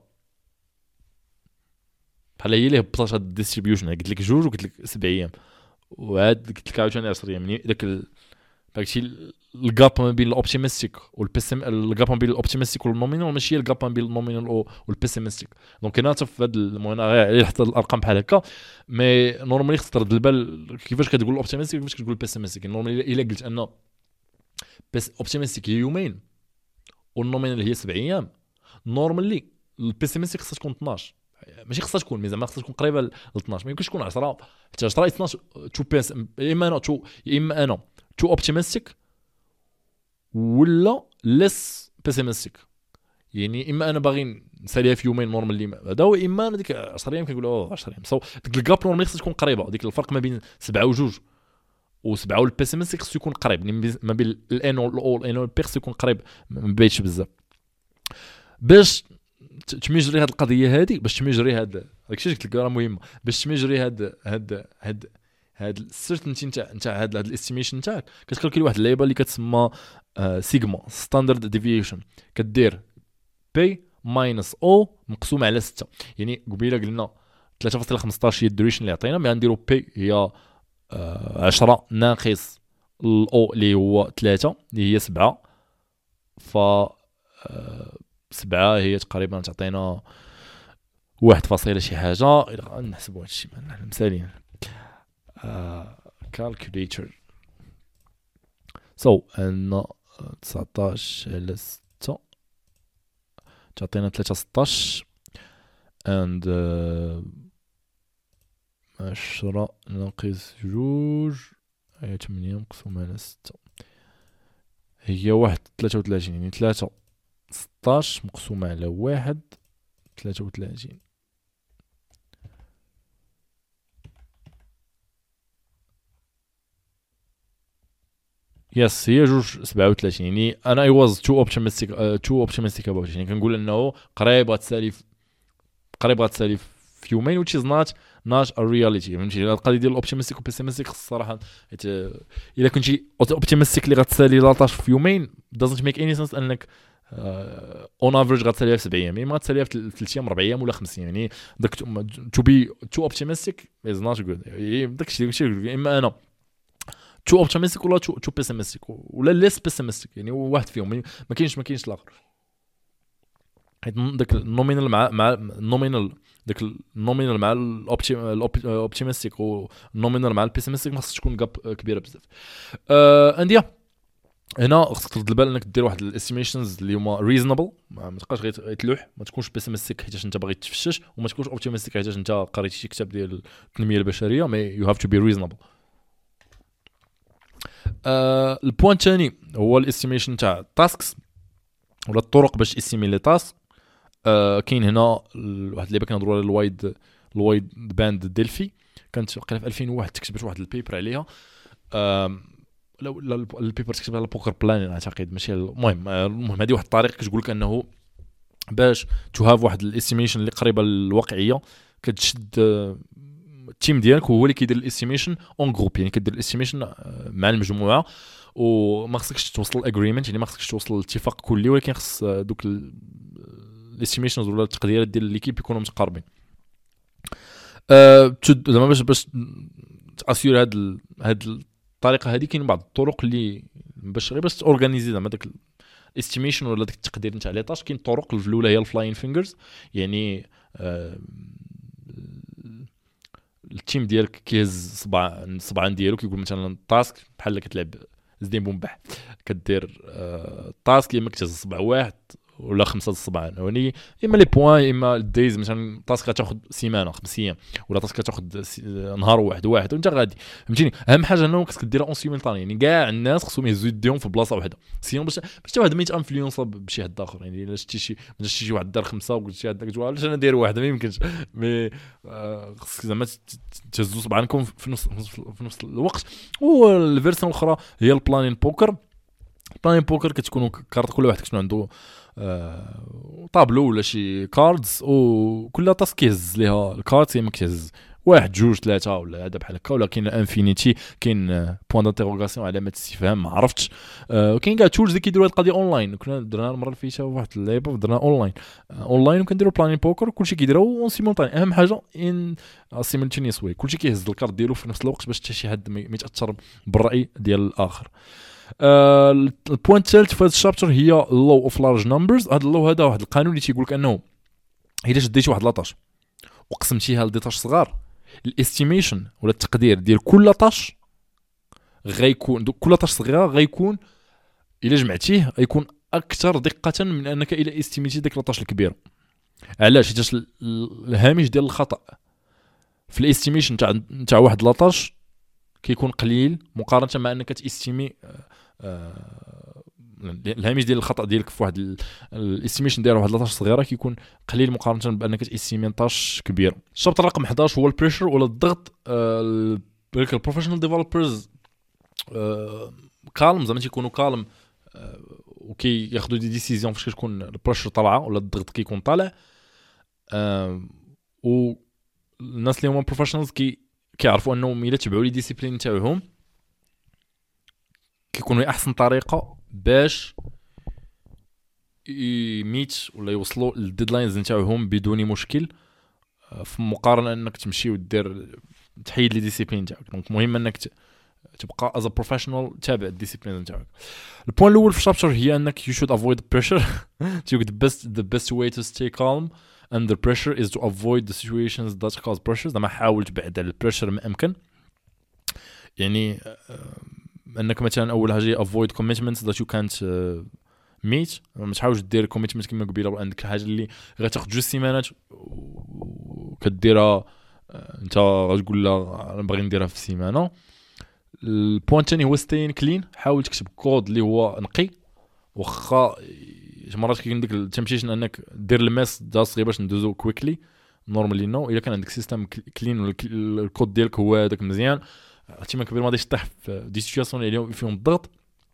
بحال هي اللي هبطات هاد الديستريبيوشن. قلت لك جوج وقلت لك سبع ايام، وعاد قلت لك عاوتاني عشرة ايام. يعني داك ال... داكشي الجاب ما بين الاوبتيمستيك والبيسم، الجاب ما بين الاوبتيمستيك والنومينال ماشي هي الجاب ما بين النومينال والبيسيمستيك. دونك هنا في هذا المهم غير حتى الارقام بحال هكا، مي نورمالي خصك ترد البال كيفاش كتقول الاوبتيمستيك كيفاش كتقول البيسيمستيك. نورمالي الا قلت ان بس اوبتيمستيك هي يومين والنومينال هي سبع ايام، نورمالي البيسيمستيك خصها تكون اثناش، ماشي خصها تكون مي زعما خصها تكون قريبه ل اثناش، ما يمكنش تكون عشرة حتى عشرة اثناش. تو بيس يا اما انا تو يا اما انا تو اوبتيمستيك ولا ليس بيسيمستيك. يعني اما انا باغي نساليها في يومين نورمالي هذا، واما انا ديك عشرة ايام كنقول اوه عشرة ايام. سو ديك الكاب نورمالي خصها تكون قريبه، ديك الفرق ما بين سبعة وجوج وسبعة والبيسيمستيك خصو يكون قريب، ما بين الان والاول ان والبيرس يكون قريب، ما بيتش بزاف باش تمجري هاد القضيه هادي. باش تمجري هاد داكشي قلت لك راه مهمه، باش تمجري هاد هاد هاد هاد السيرتينتي نتاع نتاع هاد الاستيميشن نتاعك، كتكالكولي واحد اللعيبه اللي كتسمى سيجما ستاندرد ديفيشن. كدير بي ماينس او مقسوم على ستة. يعني قبيله قلنا ثلاثة فاصلة خمسطاش هي الدوريشن اللي عطينا، مي غنديرو بي هي عشرة ناقص الاو اللي هو ثلاثة اللي هي سبعة، ف سبعة هي تقريبا تعطينا واحد فاصلة شي حاجه. نحسبوا هادشي نحن مثاليا كالكوليتر. سو ان تسعطاش على ستة تعطينا ثلاثة ستاش and عشرة ناقص جوج هي ثمانية مقسوم على ستة هي واحد ثلاثة وثلاثين. يعني ثلاثة ستاش مقسوم على واحد ثلاثة وثلاثين. يس هي جوج سبعة وثلاثين. يعني انا اي واز تو اوبتيمستيك تو اوبتيمستيك اباوت. يعني كنقول انه قريب غتسالي قريب غتسالي في يومين which is not not a reality. فهمتي القضيه ديال الاوبتيمستيك والبيسيمستيك الصراحه حيت الا كنتي اوبتيمستيك اللي غتسالي لاطاش في يومين doesn't make any sense انك اون افريج غتساليها في سبع ايام، ما غتساليها في ثلاث ايام اربع ايام ولا خمس ايام. يعني داك تو بي تو اوبتيمستيك از نوت جود. داكشي داكشي اما انا تو اوبتيمستيك ولا تو تو بيسيمستيك ولا ليس بيسيمستيك. يعني واحد فيهم ما كاينش ما كاينش الاخر. حيت داك النومينال مع مع النومينال داك النومينال مع الاوبتيمستيك والنومينال مع البيسيمستيك ما خصش تكون كاب كبيره بزاف. ا انديا هنا خصك ترد البال انك دير واحد الاستيميشنز اللي هما ريزونبل، ما تبقاش غير تلوح، ما تكونش بيسيمستيك حيت انت باغي تفشش، وما تكونش اوبتيمستيك حيت انت قريتي شي كتاب ديال التنميه البشريه. مي يو هاف تو بي ريزونبل. آه البوان الثاني هو الاستيميشن تاع التاسكس ولا الطرق باش استيمي لي تاسك. آه كاين هنا واحد اللي كنهضروا على الوايد الوايد باند ديلفي، كانت وقيله في ألفين وواحد تكتبت واحد البيبر عليها. آه لا البيبر تكتب على بوكر بلان اعتقد ماشي. المهم المهم هذه واحد الطريقه كتقول لك انه باش تو هاف واحد الاستيميشن اللي قريبه للواقعيه كتشد التيم ديالك هو اللي كيدير الاستيميشن اون جروب. يعني كدير الاستيميشن مع المجموعه وما خصكش توصل الاجريمنت، يعني ما خصكش توصل لاتفاق كلي، ولكن خص دوك الاستيميشنز ولا التقديرات ديال ليكيب يكونوا متقاربين. أه زعما باش باش تاسيور هاد هاد الطريقه هذه كاين بعض الطرق اللي باش غير باش تورغانيزي زعما داك الاستيميشن ولا داك التقدير نتاع لي طاش. كاين طرق الاولى هي الفلاين فينجرز. يعني أه التيم ديالك كيهز صباع صبعان ديالو كيقول مثلا تاسك بحال كتلعب زدين بومبح كدير أه تاسك اما كتهز صبع واحد ولا خمسه الصبعان يعني اما لي بوين اما الدايز. مثلا تاسك غتاخذ سيمانه خمس ايام ولا تاسك غتاخذ نهار واحد واحد وانت غادي. فهمتيني اهم حاجه انه خصك ديرها اون سيمولطاني. يعني كاع الناس خصهم يهزوا يديهم في بلاصه واحده سيون باش باش حتى واحد ما يتانفلونسا بشي حد اخر. يعني الا شتي شي شتي شي واحد دار خمسه وقلت شي هذاك جوال علاش انا داير واحده ما يمكنش. مي خصك زعما تهزوا صبعانكم في نفس في نفس الوقت. والفيرسيون الاخرى هي البلانين بوكر. بلان بوكر كتكونوا كارت كل واحد كتكون عنده آه طابلو ولا شي كاردز وكل طاس كيهز ليها الكارت ما كيهز واحد جوج ثلاثه ولا هذا بحال هكا. ولا كاين انفينيتي كاين بوين دانتيروغاسيون علامه استفهام ما عرفتش. آه وكاين كاع تولز اللي كيديروا هذه القضيه اونلاين. كنا درنا المره اللي فاتت واحد اللعبه درنا اونلاين آه اونلاين وكنديروا بلان بوكر كلشي كيديروا اون سيمولتاني. اهم حاجه ان سيمولتينيوس واي كلشي كيهز الكارت ديالو في نفس الوقت باش حتى شي حد ما يتاثر بالراي ديال الاخر. آه البوينت الثالث في هذا الشابتر هي لو اوف لارج نمبرز. هذا اللو هذا واحد القانون اللي تيقول لك انه الا شديتي واحد لاطاش وقسمتيها لديطاش صغار الاستيميشن ولا التقدير ديال كل طاش غيكون كل طاش صغيره غيكون الا جمعتيه غيكون اكثر دقه من انك الا استيميتي ديك لاطاش الكبيره. علاش؟ حيت الهامش ديال الخطا في الاستيميشن تاع تاع واحد لاطاش كيكون قليل مقارنه مع انك تاستيمي آه الهامش ديال الخطا ديالك في واحد الاستيميشن ديال واحد لاطاش صغيره كيكون قليل مقارنه بانك تاستيمي طاش كبير. الشابتر رقم إحدى عشر هو البريشر ولا الضغط. آه البروفيشنال ديفلوبرز آه كالم زعما تيكونوا كالم آه وكي ياخذوا دي ديسيزيون فاش كتكون البريشر طالعه ولا الضغط كيكون طالع. آه والناس اللي هما بروفيشنالز كي كيعرفوا انهم الا تبعوا لي ديسيبلين تاعهم كيكونوا احسن طريقه باش يميت ولا يوصلوا للديدلاينز نتاعهم بدون مشكل في مقارنه انك تمشي ودير تحيد لي ديسيبلين تاعك. دونك مهم انك تبقى از بروفيشنال تابع الديسيبلين نتاعك. البوين الاول في الشابتر هي انك you should avoid pressure. تيقول the best the best way to stay calm under pressure is to avoid the situations that cause pressure. زعما حاول تبعد على البريشر ما امكن. يعني انك مثلا اول حاجه avoid commitments that you can't uh, meet. ما تحاولش دير كوميتمنت كما قبيله عندك حاجه اللي غتاخذ جوج سيمانات وكديرها انت غتقول لا انا باغي نديرها في سيمانه. البوين الثاني هو ستين كلين. حاول تكتب كود اللي هو نقي واخا مرات كاين ديك التمشيشن انك دير الماس دا صغير باش ندوزو كويكلي نورمالي نو. الا كان عندك سيستم كلين ولا الكود ديالك هو هذاك مزيان احتمال كبير ما غاديش تطيح في دي سيتوياسيون اللي فيهم الضغط.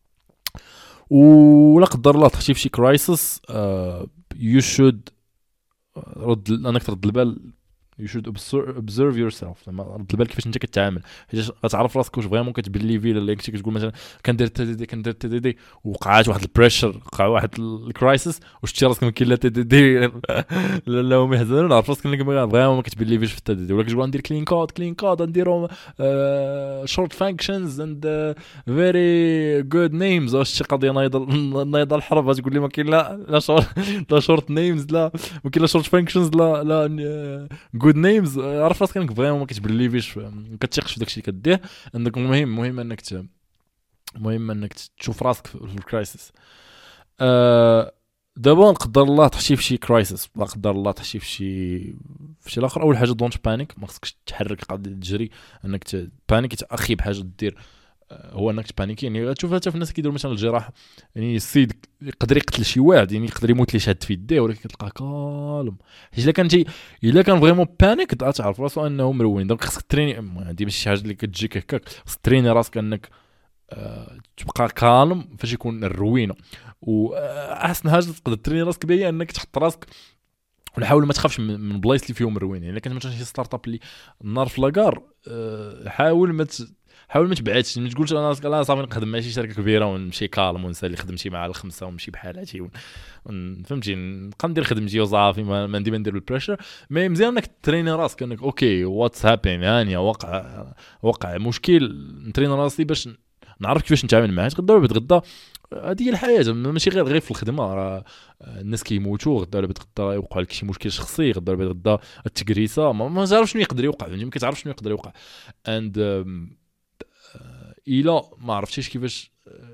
ولا قدر الله طحتي في شي كرايسيس يو شود رد انك ترد البال. you should observe yourself. لما رد البال كيفاش انت كتعامل حيت غتعرف راسك واش فريمون كتبليفي ولا كنتي كتقول مثلا كندير تي دي دي كندير تي دي دي وقعات واحد البريشر وقع واحد الكرايسيس وشتي راسك ما كاين لا تي دي دي لا لا هما يحزنون عرف راسك انك فريمون ما كتبليفيش في التي دي دي ولا كتقول ندير كلين كود كلين كود نديرهم شورت فانكشنز اند فيري جود نيمز. واش شي قضيه نايضه نايضه الحرب تقول لي ما كاين لا لا شورت لا شورت نيمز لا ما كاين لا شورت فانكشنز لا لا جود نيمز. عرف راسك انك فريمون ما كتبليفيش ما كتثقش في داكشي اللي كدير. عندك مهم مهم انك ت... مهم انك تشوف راسك في الكرايسيس. أه... دابا نقدر الله تحشي في شي كرايسيس لا قدر الله تحشي في شي في شي الاخر. اول حاجه دونت بانيك ما خصكش تحرك قاعد تجري انك تبانيك اخي بحاجه دير هو انك تبانيكي. يعني غتشوف حتى في الناس كيديروا مثلا الجراح يعني السيد يقدر يقتل شي واحد يعني يقدر يموت لي شاد في يديه ولكن كتلقاه كالم حيت الا كنتي الا كان فريمون بانيك تعرف راسو انه مرون. دونك خصك تريني هذه ماشي شي حاجه اللي كتجيك هكاك خصك تريني راسك انك أه تبقى كالم فاش يكون الروينه. واحسن حاجه تقدر تريني راسك بها هي انك تحط راسك ولا حاول ما تخافش من بلايص اللي فيهم مروين. يعني الا كنت مثلا شي ستارت اب اللي النار في لاكار أه حاول ما حاول ما تبعدش ما تقولش انا لا صافي نخدم مع شي شركه كبيره ونمشي كالم ونسالي خدمتي مع الخمسه ونمشي بحالاتي فهمتي نبقى ندير خدمتي وصافي ما, ما ندير ما ندير بالبريشر. مي مزيان انك تريني راسك انك اوكي واتس هابين هانيه وقع وقع مشكل نترين راسي باش نعرف كيفاش نتعامل معاه. تغدا ولا تغدا هذه هي الحياه ماشي غير غير في الخدمه. راه الناس كيموتوا غدا ولا غدا يوقع لك شي مشكل شخصي غدا ولا غدا التكريسه ما, ما تعرفش شنو يقدر يوقع ما كتعرفش شنو يقدر يوقع. اند إلا ما عرفتيش كيفاش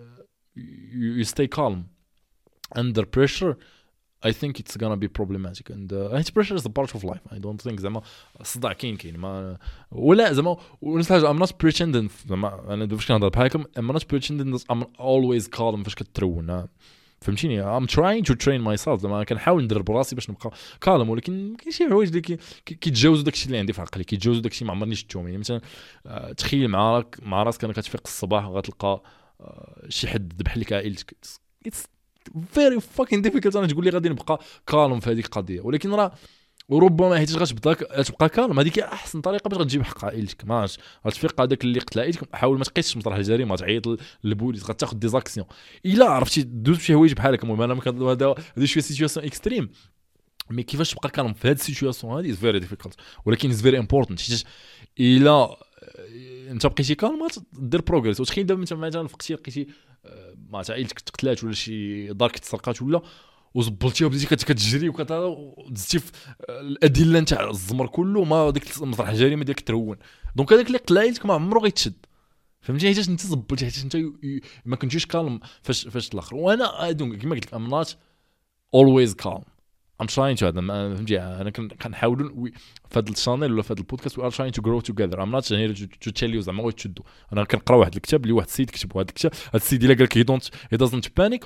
you stay calm under pressure I think it's gonna be problematic and uh, pressure is a part of life. I don't think زعما الصداع كاين كاين ما ولا زعما ونفس الحاجه I'm not pretending زعما انا فاش كنهضر بحالكم I'm not pretending that I'm always calm فاش كترون فهمتيني. I'm trying to train myself زعما كنحاول ندرب براسي باش نبقى كالم ولكن كاين شي حوايج اللي كيتجاوزوا داكشي اللي عندي في عقلي كيتجاوزوا داكشي ما عمرني شفتهم. يعني مثلا تخيل معاك مع راسك انك كتفيق الصباح وغتلقى شي حد ذبح لك عائلتك it's very fucking difficult انا تقول لي غادي نبقى كالم في هذيك القضيه. ولكن راه وربما حيت غتبدا تبقى كالم هذيك احسن طريقه باش غتجيب حق عائلتك. ما غتفيق هذاك اللي قتل عائلتك حاول ما تقيسش مسرح الجريمه تعيط للبوليس غتاخذ دي زاكسيون الا عرفتي دوز بشي حوايج بحالك. المهم انا هذا هذه شويه سيتوياسيون اكستريم مي كيفاش تبقى كالم في هذه السيتوياسيون هذه فيري ديفيكولت ولكن از فيري امبورطنت حيت الا انت بقيتي كالم دير بروغريس. وتخيل دابا انت مثلا فقتي لقيتي ما عائلتك تقتلات ولا شي دارك تسرقات ولا وزبلتيها وبديتي كتجري ودزتي في الادله نتاع الزمر كله ما ديك مسرح الجريمه ديالك ترون. دونك هذاك اللي قتل عائلتك ما عمره غيتشد فهمتي حيت انت زبلتي حيت انت ما كنتيش كالم فاش فاش الاخر. وانا دونك كما قلت لك ام نوت always calm I'm trying to هذا فهمتي انا كنحاولوا في هذا الشانيل ولا في هذا البودكاست we are trying to grow together I'm not here to tell you زعما غادي تشدوا. انا كنقرا واحد الكتاب اللي واحد السيد كتب هذا الكتاب هذا السيد الا قال لك he don't he doesn't panic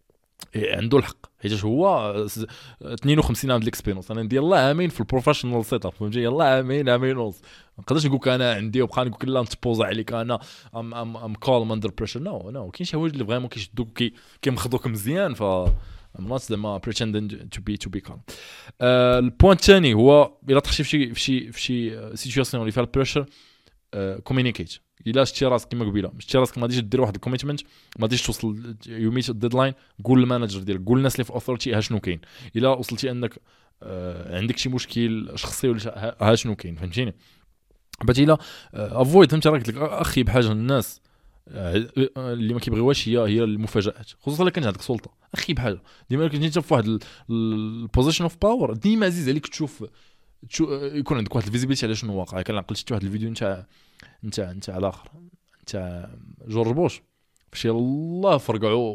عنده الحق حيت هو اثنين وخمسين عام ديال الاكسبيرينس. انا ندير الله عامين في البروفيشنال سيت اب فهمتي يلاه عامين عامين ونص ما نقدرش نقول لك انا عندي وبقى نقول لك لا نتبوزا عليك انا ام ام ام كالم اندر بريشر نو نو كاين شي حوايج اللي فريمون كيشدوك كي كيمخضوك مزيان ف I'm not زعما pretending to be to be calm. البوين الثاني هو الا طحتي في شي في شي في شي سيتوياسيون اللي فيها البريشر كومينيكيت. الا شتي راسك كما قبيله شتي راسك ما غاديش دير واحد الكوميتمنت ما غاديش توصل يو ميت الديدلاين قول للمانجر ديالك قول للناس اللي في اوثورتي ها شنو كاين. الا وصلتي انك عندك شي مشكل شخصي ولا ها شنو كاين فهمتيني. باتي الا افويد فهمتي راك اخي بحاجه الناس اللي ما كيبغيوهاش هي هي المفاجات خصوصا الا كانت عندك سلطه اخي بحاجه ديما كنتي انت في واحد البوزيشن اوف باور ديما عزيز عليك تشوف يكون عندك واحد الفيزيبيليتي على شنو واقع. كنعقل شفت واحد الفيديو نتاع نتاع نتاع الاخر نتاع جورج بوش فاش يلاه فرقعوا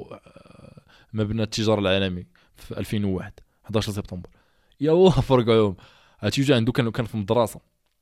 مبنى التجاره العالمي في ألفين وواحد أحد عشر سبتمبر يلاه فرقعوهم. هاتي جا عنده كان كان في المدرسه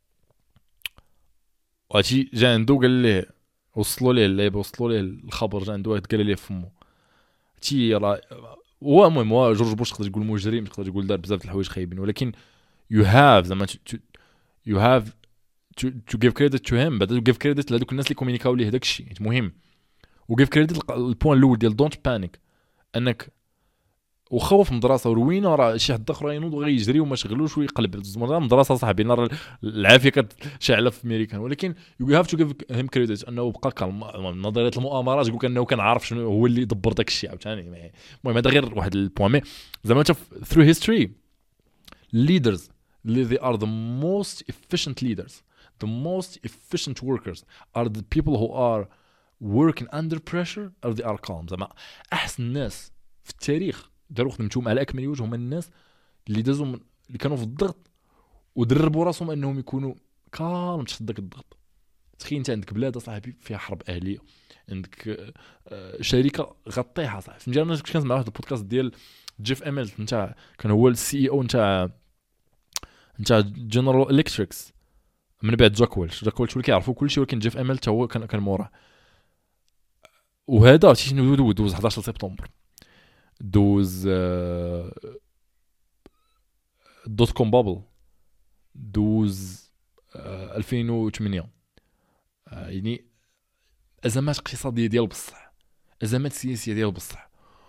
وهاتي جا عنده قال ليه وصلوا ليه اللعيبه وصلوا ليه الخبر جا عنده واحد قال ليه فمو تي راه هو المهم هو جورج بوش تقدر تقول مجرم تقدر تقول دار بزاف د الحوايج خايبين ولكن you have زعما you have to to give credit to him بعد give credit لهذوك الناس اللي كومينيكاو ليه داك الشيء مهم. و give credit البوين الاول ديال don't panic انك وخوف من المدرسه وروينه راه شي حد اخر ينوض وغيجري وما شغلوش ويقلب الزمر المدرسه صاحبي نار العافيه كتشعل في امريكان ولكن you have to give him credit انه بقى كالم. نظريه المؤامرات يقول انه كان عارف شنو هو اللي دبر داك الشيء عاوتاني. المهم هذا غير واحد البوين زعما انت through history leaders they are the most efficient leaders the most efficient workers are the people who are working under pressure or they are calm. زعما احسن الناس في التاريخ داروا خدمتهم على اكمل وجه هما الناس اللي دازوا اللي كانوا في الضغط ودربوا راسهم انهم يكونوا كالم تحت داك الضغط. تخيل انت عندك بلاد صاحبي فيها حرب اهليه عندك شركه غطيها صاحبي فهمتي. انا كنت كنسمع واحد البودكاست ديال جيف اميلت نتاع كان هو السي اي او نتاع نتاع جنرال الكتريكس من بعد جاك ويلش جاك ويلش اللي كيعرفوا كلشي ولكن جيف اميلت هو كان كان موراه. وهذا شنو دوز أحد عشر سبتمبر دوز دوت كوم بابل دوز ألفين وثمانية يعني ازمات اقتصاديه ديال بصح ازمات سياسيه ديال بصح.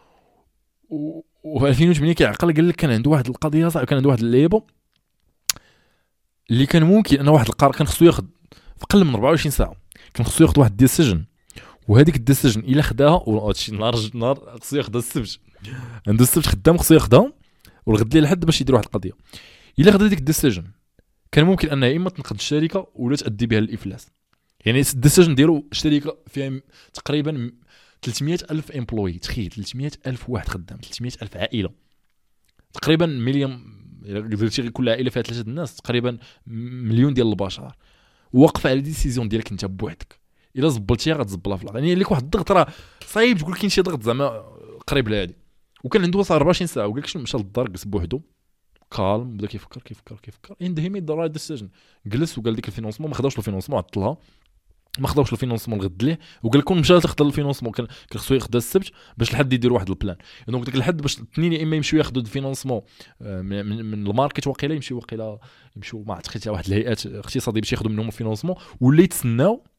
و ألفين وثمانية كيعقل قال لك كان عنده واحد القضيه صعيبه كان عنده واحد اللعيبه اللي كان ممكن انه واحد القرار كان خصو ياخذ في قل من أربعة وعشرين ساعه كان خصو ياخذ واحد الديسيجن وهذيك الديسيجن الا خداها وهادشي نهار نهار خصو ياخذها السبت عنده السبت خدام خصو ياخذها والغد ليه لحد باش يدير واحد القضيه. الا خدا ديك الديسيجن كان ممكن انها اما تنقذ الشركه ولا تؤدي بها للافلاس. يعني الديسيجن ديالو شركه فيها تقريبا ثلاثمية ألف امبلوي تخيل ثلاثمية ألف واحد خدام ثلاثمية ألف عائله تقريبا مليون درتي كل عائله فيها ثلاثه الناس تقريبا مليون ديال البشر وقف على ديسيزيون ديالك انت بوحدك الا زبلتيها غتزبلها في الارض. يعني لك واحد الضغط راه صعيب تقول كاين شي ضغط زعما قريب لهادي. وكان عنده وصل أربعة وعشرين ساعه وقال لك شنو مشى للدار جلس بوحدو كالم بدا كيفكر كيفكر كيفكر اند هي ميد ذا رايت ديسيجن جلس وقال ديك الفينونسمون ما خداوش الفينونسمون عطلها ما خداوش الفينونسمون الغد ليه وقال لكم مشى تاخذ الفينونسمون كان خصو ياخذ السبت باش لحد يدير واحد البلان. دونك ديك الحد باش الاثنين يا اما يمشيو ياخذوا الفينونسمون من, من الماركت واقيلا يمشيو واقيلا يمشيو ما عرفتش حتى واحد الهيئات اقتصاديه باش ياخذوا منهم الفينونسمون ولا يتسناو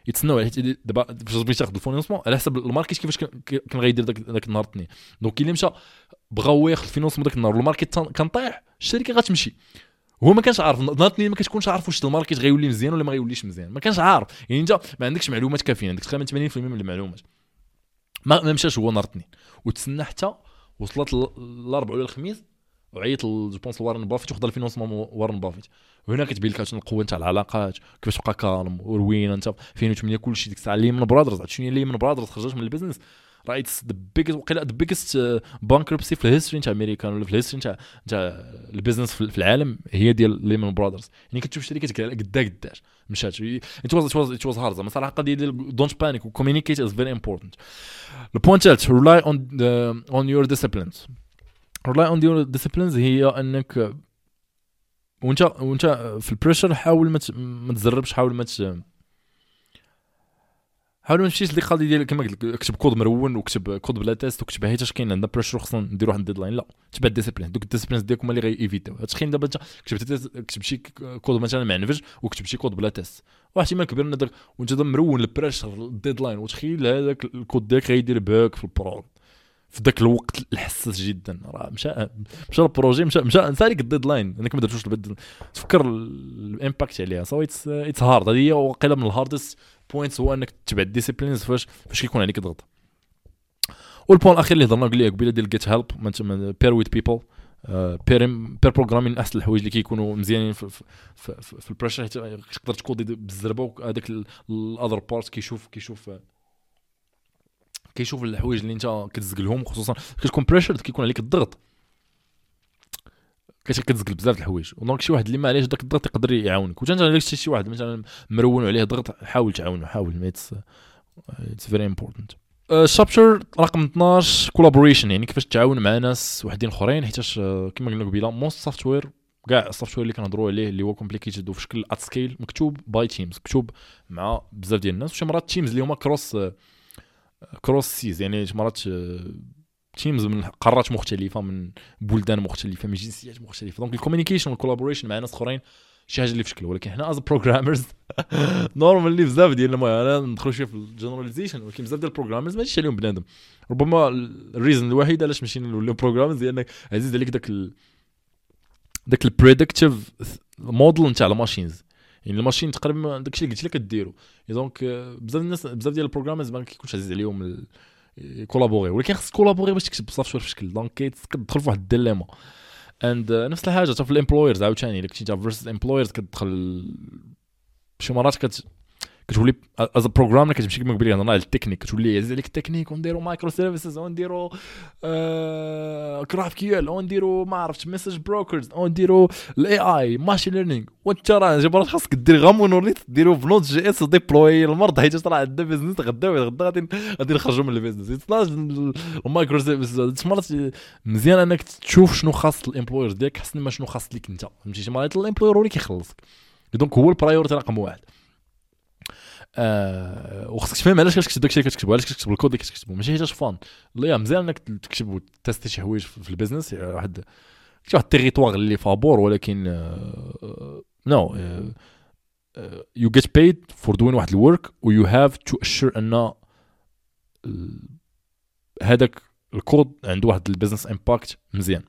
يتسناو حيت دابا فاش بغيتي تاخذ الفينونسمون على حسب الماركت كيفاش كان غيدير داك داك النهار الاثنين. دونك الا مشى بغاو ياخذ الفينونسمون داك النهار والماركت كان طايح الشركه غتمشي. هو ما كانش عارف نهار اثنين، ما كتكونش عارف واش الماركت غيولي مزيان ولا ما غيوليش مزيان، ما كانش عارف. يعني انت ما عندكش معلومات كافيين، عندك تقريبا ثمانين بالمئة من المعلومات. ما, ما مشاش هو نهار اثنين وتسنى حتى وصلت الاربعاء ولا الخميس وعيط جو بونس لوارن بافيت وخذ الفينونسمون وارن بافيت. هنا كتبين لك القوه نتاع العلاقات، كيفاش تبقى كالم وروينه انت ألفين وثمانية. كلشي ديك الساعه ليمن برادرز، شنو هي ليمن برادرز خرجت من البيزنس رايت ذا بيجست وقيلا ذا بيجست بانكربسي في الهيستوري نتاع امريكان ولا في الهيستوري نتاع نتاع البيزنس في العالم، هي ديال ليمن برادرز. يعني كتشوف شركات قدا قداش مشات. ات واز ات واز هارد زعما صراحه. قضيه ديال دونت بانيك وكوميونيكيت از فيري امبورتانت. البوينت ثالث ريلاي اون اون يور ديسيبلينز. ريلاي اون يور ديسيبلينز هي انك وانت وانت في البريشر حاول ما ما تزربش، حاول ما حاول ما تمشيش للقضيه ديال كما قلت لك اكتب كود مرون وكتب كود بلا تيست وكتب حيت اش كاين عندنا بريشر خصنا نديرو واحد الديدلاين. لا، تبع الديسيبلين. دوك الديسيبلينز ديالكم اللي غايفيتاو. هتخيل دابا انت كتبت كتب شي كود مثلا معنفج وكتب شي كود بلا تيست، واحد احتمال كبير ان داك وانت مرون البريشر الديدلاين وتخيل هذاك الكود ديالك غيدير باك في البرو في ذاك الوقت الحساس جدا. راه مشى مشى البروجي مشى مشى نسى لك الديدلاين انك ما درتوش البدل. تفكر الامباكت عليها. سو اتس اتس هارد. هذه هي وقيله من الهاردست بوينتس هو انك تتبع الديسيبلينز فاش فاش كيكون عليك ضغط. والبوين الاخير اللي هضرنا قلنا قبيله ديال جيت هيلب بير ويز بيبل. بير بير بروغرامين من احسن الحوايج اللي كيكونوا مزيانين في في في, في, في البريشر. تقدر تكودي بالزربه وهذاك الاذر بارت كيشوف كيشوف كيشوف الحوايج اللي انت كتزق لهم، خصوصا كتكون بريشر كيكون عليك الضغط كتزق بزاف د الحوايج. دونك شي واحد اللي ما عليهش داك الضغط يقدر يعاونك. وانت عندك شي واحد مثلا مرون عليه ضغط حاول تعاونه، حاول ما اتس اتس فيري امبورطانت. شابتر رقم اثناش كولابوريشن، يعني كيفاش تتعاون مع ناس وحدين اخرين. حيت كما قلنا قبيله موست سوفتوير كاع السوفتوير اللي كنهضروا عليه اللي هو كومبليكيتد وفي شكل ات سكيل مكتوب باي تيمز، مكتوب مع بزاف ديال الناس. وشي مرات تيمز اللي هما كروس كروس سيز، يعني مرات تيمز من قارات مختلفه من بلدان مختلفه من جنسيات مختلفه. دونك الكوميونيكيشن والكولابوريشن مع ناس اخرين شي حاجه اللي في شكل. ولكن حنا از بروغرامرز نورمالي بزاف ديالنا ما ندخلوا شويه في الجنراليزيشن، ولكن بزاف ديال البروغرامرز ماشي عليهم بنادم. ربما الريزن الوحيد علاش ماشي نوليو بروغرامرز هي انك عزيز عليك داك ال... داك البريدكتيف موديل نتاع الماشينز. يعني الماشين تقريبا داكشي اللي قلت لك كديرو. دونك بزاف الناس بزاف ديال البروغرامرز ما كيكونش عزيز عليهم ال... كولابوري، ولكن خصك كولابوري باش تكتب سوفتوير في شكل. دونك كتدخل في واحد الديليما. اند نفس الحاجه حتى في الامبلويرز عاوتاني. الا كنتي انت فيرسز امبلويرز كتدخل شي مرات كت كتولي از بروغرامر كتمشي كما قبيله هضرنا على التكنيك، كتولي عزيز عليك التكنيك ونديروا مايكرو سيرفيسز ونديروا جرافيكيول ونديروا ما عرفتش ميسج بروكرز ونديروا الاي اي ماشين ليرنينغ. وانت راه جبرات خاصك دير غير مونوليث ديروا بنوت جي اس ديبلوي المرض حيت راه عندنا بيزنس غدا غدا غادي غادي نخرجوا من البيزنس. اتس المايكرو سيرفيسز مرات مزيان انك تشوف شنو خاص الامبلويرز ديالك حسن ما شنو خاص ليك انت. فهمتي شي مرات الامبلوير هو اللي كيخلصك. دونك هو البرايورتي رقم واحد. آه وخصك تفهم علاش كتكتب داكشي اللي كتكتبو، علاش كتكتب الكود اللي كتكتبو. ماشي حيت فان لا مزيان انك تكتب وتستي شي حوايج في البيزنس. واحد شي واحد التيريتوار اللي فابور، ولكن نو يو جيت بايد فور دوين واحد الورك و يو هاف تو اشور ان هذاك الكود عنده واحد البيزنس امباكت مزيان.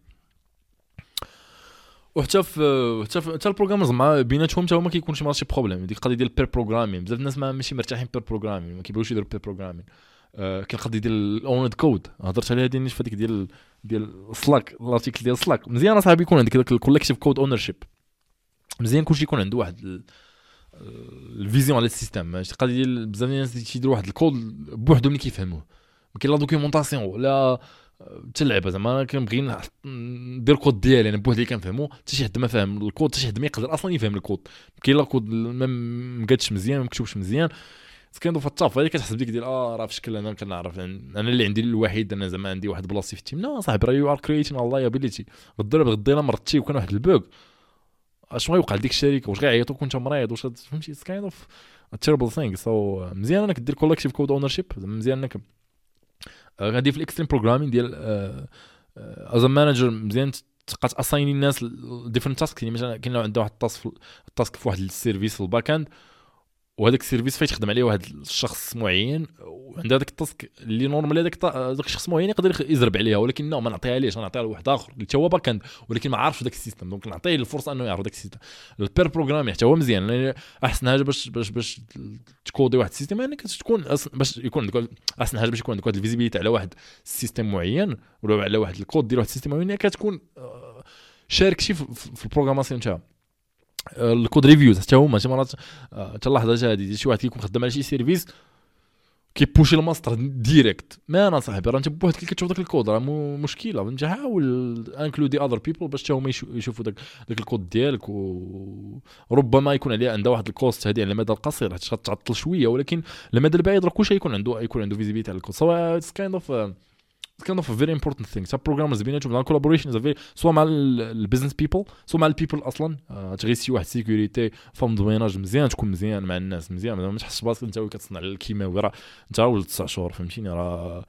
وحتى في حتى في حتى البروغرامرز مع بيناتهم حتى هما كيكون شي مرات شي بروبليم. ديك القضيه ديال البير بروغرامين بزاف الناس ما ماشي مرتاحين بير بروغرامين، ما كيبغيوش يديروا بير بروغرامين. آه كاين القضيه ديال الاوند كود هضرت عليها ديال في هذيك ديال ديال سلاك الارتيكل ديال سلاك. مزيان اصاحبي يكون عندك داك الكوليكتيف كود اونرشيب. مزيان كلشي يكون عنده واحد الفيزيون على السيستم. القضيه ديال بزاف الناس تيديروا واحد الكود بوحدهم اللي كيفهموه، ما كاين لا دوكيومونطاسيون لا تلعب. زعما كنبغي ندير كود ديالي انا بوحدي كنفهمو، حتى شي حد ما فاهم الكود حتى شي حد ما يقدر اصلا يفهم الكود. كاين لا كود ما مقادش مزيان ما مكتوبش مزيان كندو في الطاف هذيك كتحسب ديك ديال اه راه في شكل انا كنعرف انا اللي عندي الوحيد انا زعما عندي واحد بلاصتي في التيم. لا صاحبي راه يو ار كرييتين الله ابيليتي غدير غدي الا مرضتي وكان واحد البوغ اش غيوقع لديك الشركه واش غيعيطوك وانت مريض واش فهمتي اتس كايند اوف تيربل ثينغ. سو مزيان انك دير كولكتيف كود اونرشيب. مزيان انك غادي في الاكستريم بروغرامين ديال از مانجر مزيان تبقى تاسايني الناس ديفرنت تاسك. يعني مثلا كاين لو عنده واحد التاسك التاسك في واحد السيرفيس في الباك اند وهذاك السيرفيس فايت يخدم عليه واحد الشخص معين وعند هذاك التاسك اللي نورمال هذاك هذاك الشخص معين يقدر يزرب عليها ولكن لا ما نعطيها ليش نعطيها لواحد اخر اللي هو باكند ولكن ما عارفش داك السيستم دونك نعطيه الفرصه انه يعرف داك السيستم. البير بروغرامينغ حتى هو مزيان يعني احسن حاجه باش باش باش تكودي واحد السيستم يعني كتكون باش يكون عندك احسن حاجه باش يكون عندك واحد الفيزيبيليتي على واحد السيستم معين ولا على واحد الكود ديال واحد السيستم معين كتكون شارك شي في البروغراماسيون تاعها. الكود ريفيوز حتى هما شي مرات تلاحظها هذه شي واحد كيكون خدام على شي سيرفيس كيبوشي الماستر ديريكت ما انا صاحبي راه انت بوحدك كتشوف داك الكود راه مشكله انت حاول انكلودي اذر بيبل باش حتى هما يشوفوا داك داك الكود ديالك وربما يكون عليه عنده واحد الكوست هذه على المدى القصير حتى تعطل شويه ولكن المدى البعيد راه كلشي يكون عنده يكون عنده فيزيبيليتي على الكود سواء اتس كايند اوف kind of a very important thing. So programmers بيناتهم مع collaboration is a very سواء مع البيزنس بيبل سواء مع البيبل اصلا أه تغيسي واحد سيكوريتي فهم دويناج مزيان تكون مزيان مع الناس مزيان ما تحسش براسك انت كتصنع الكيماوي راه انت ولد تسع شهور فهمتيني راه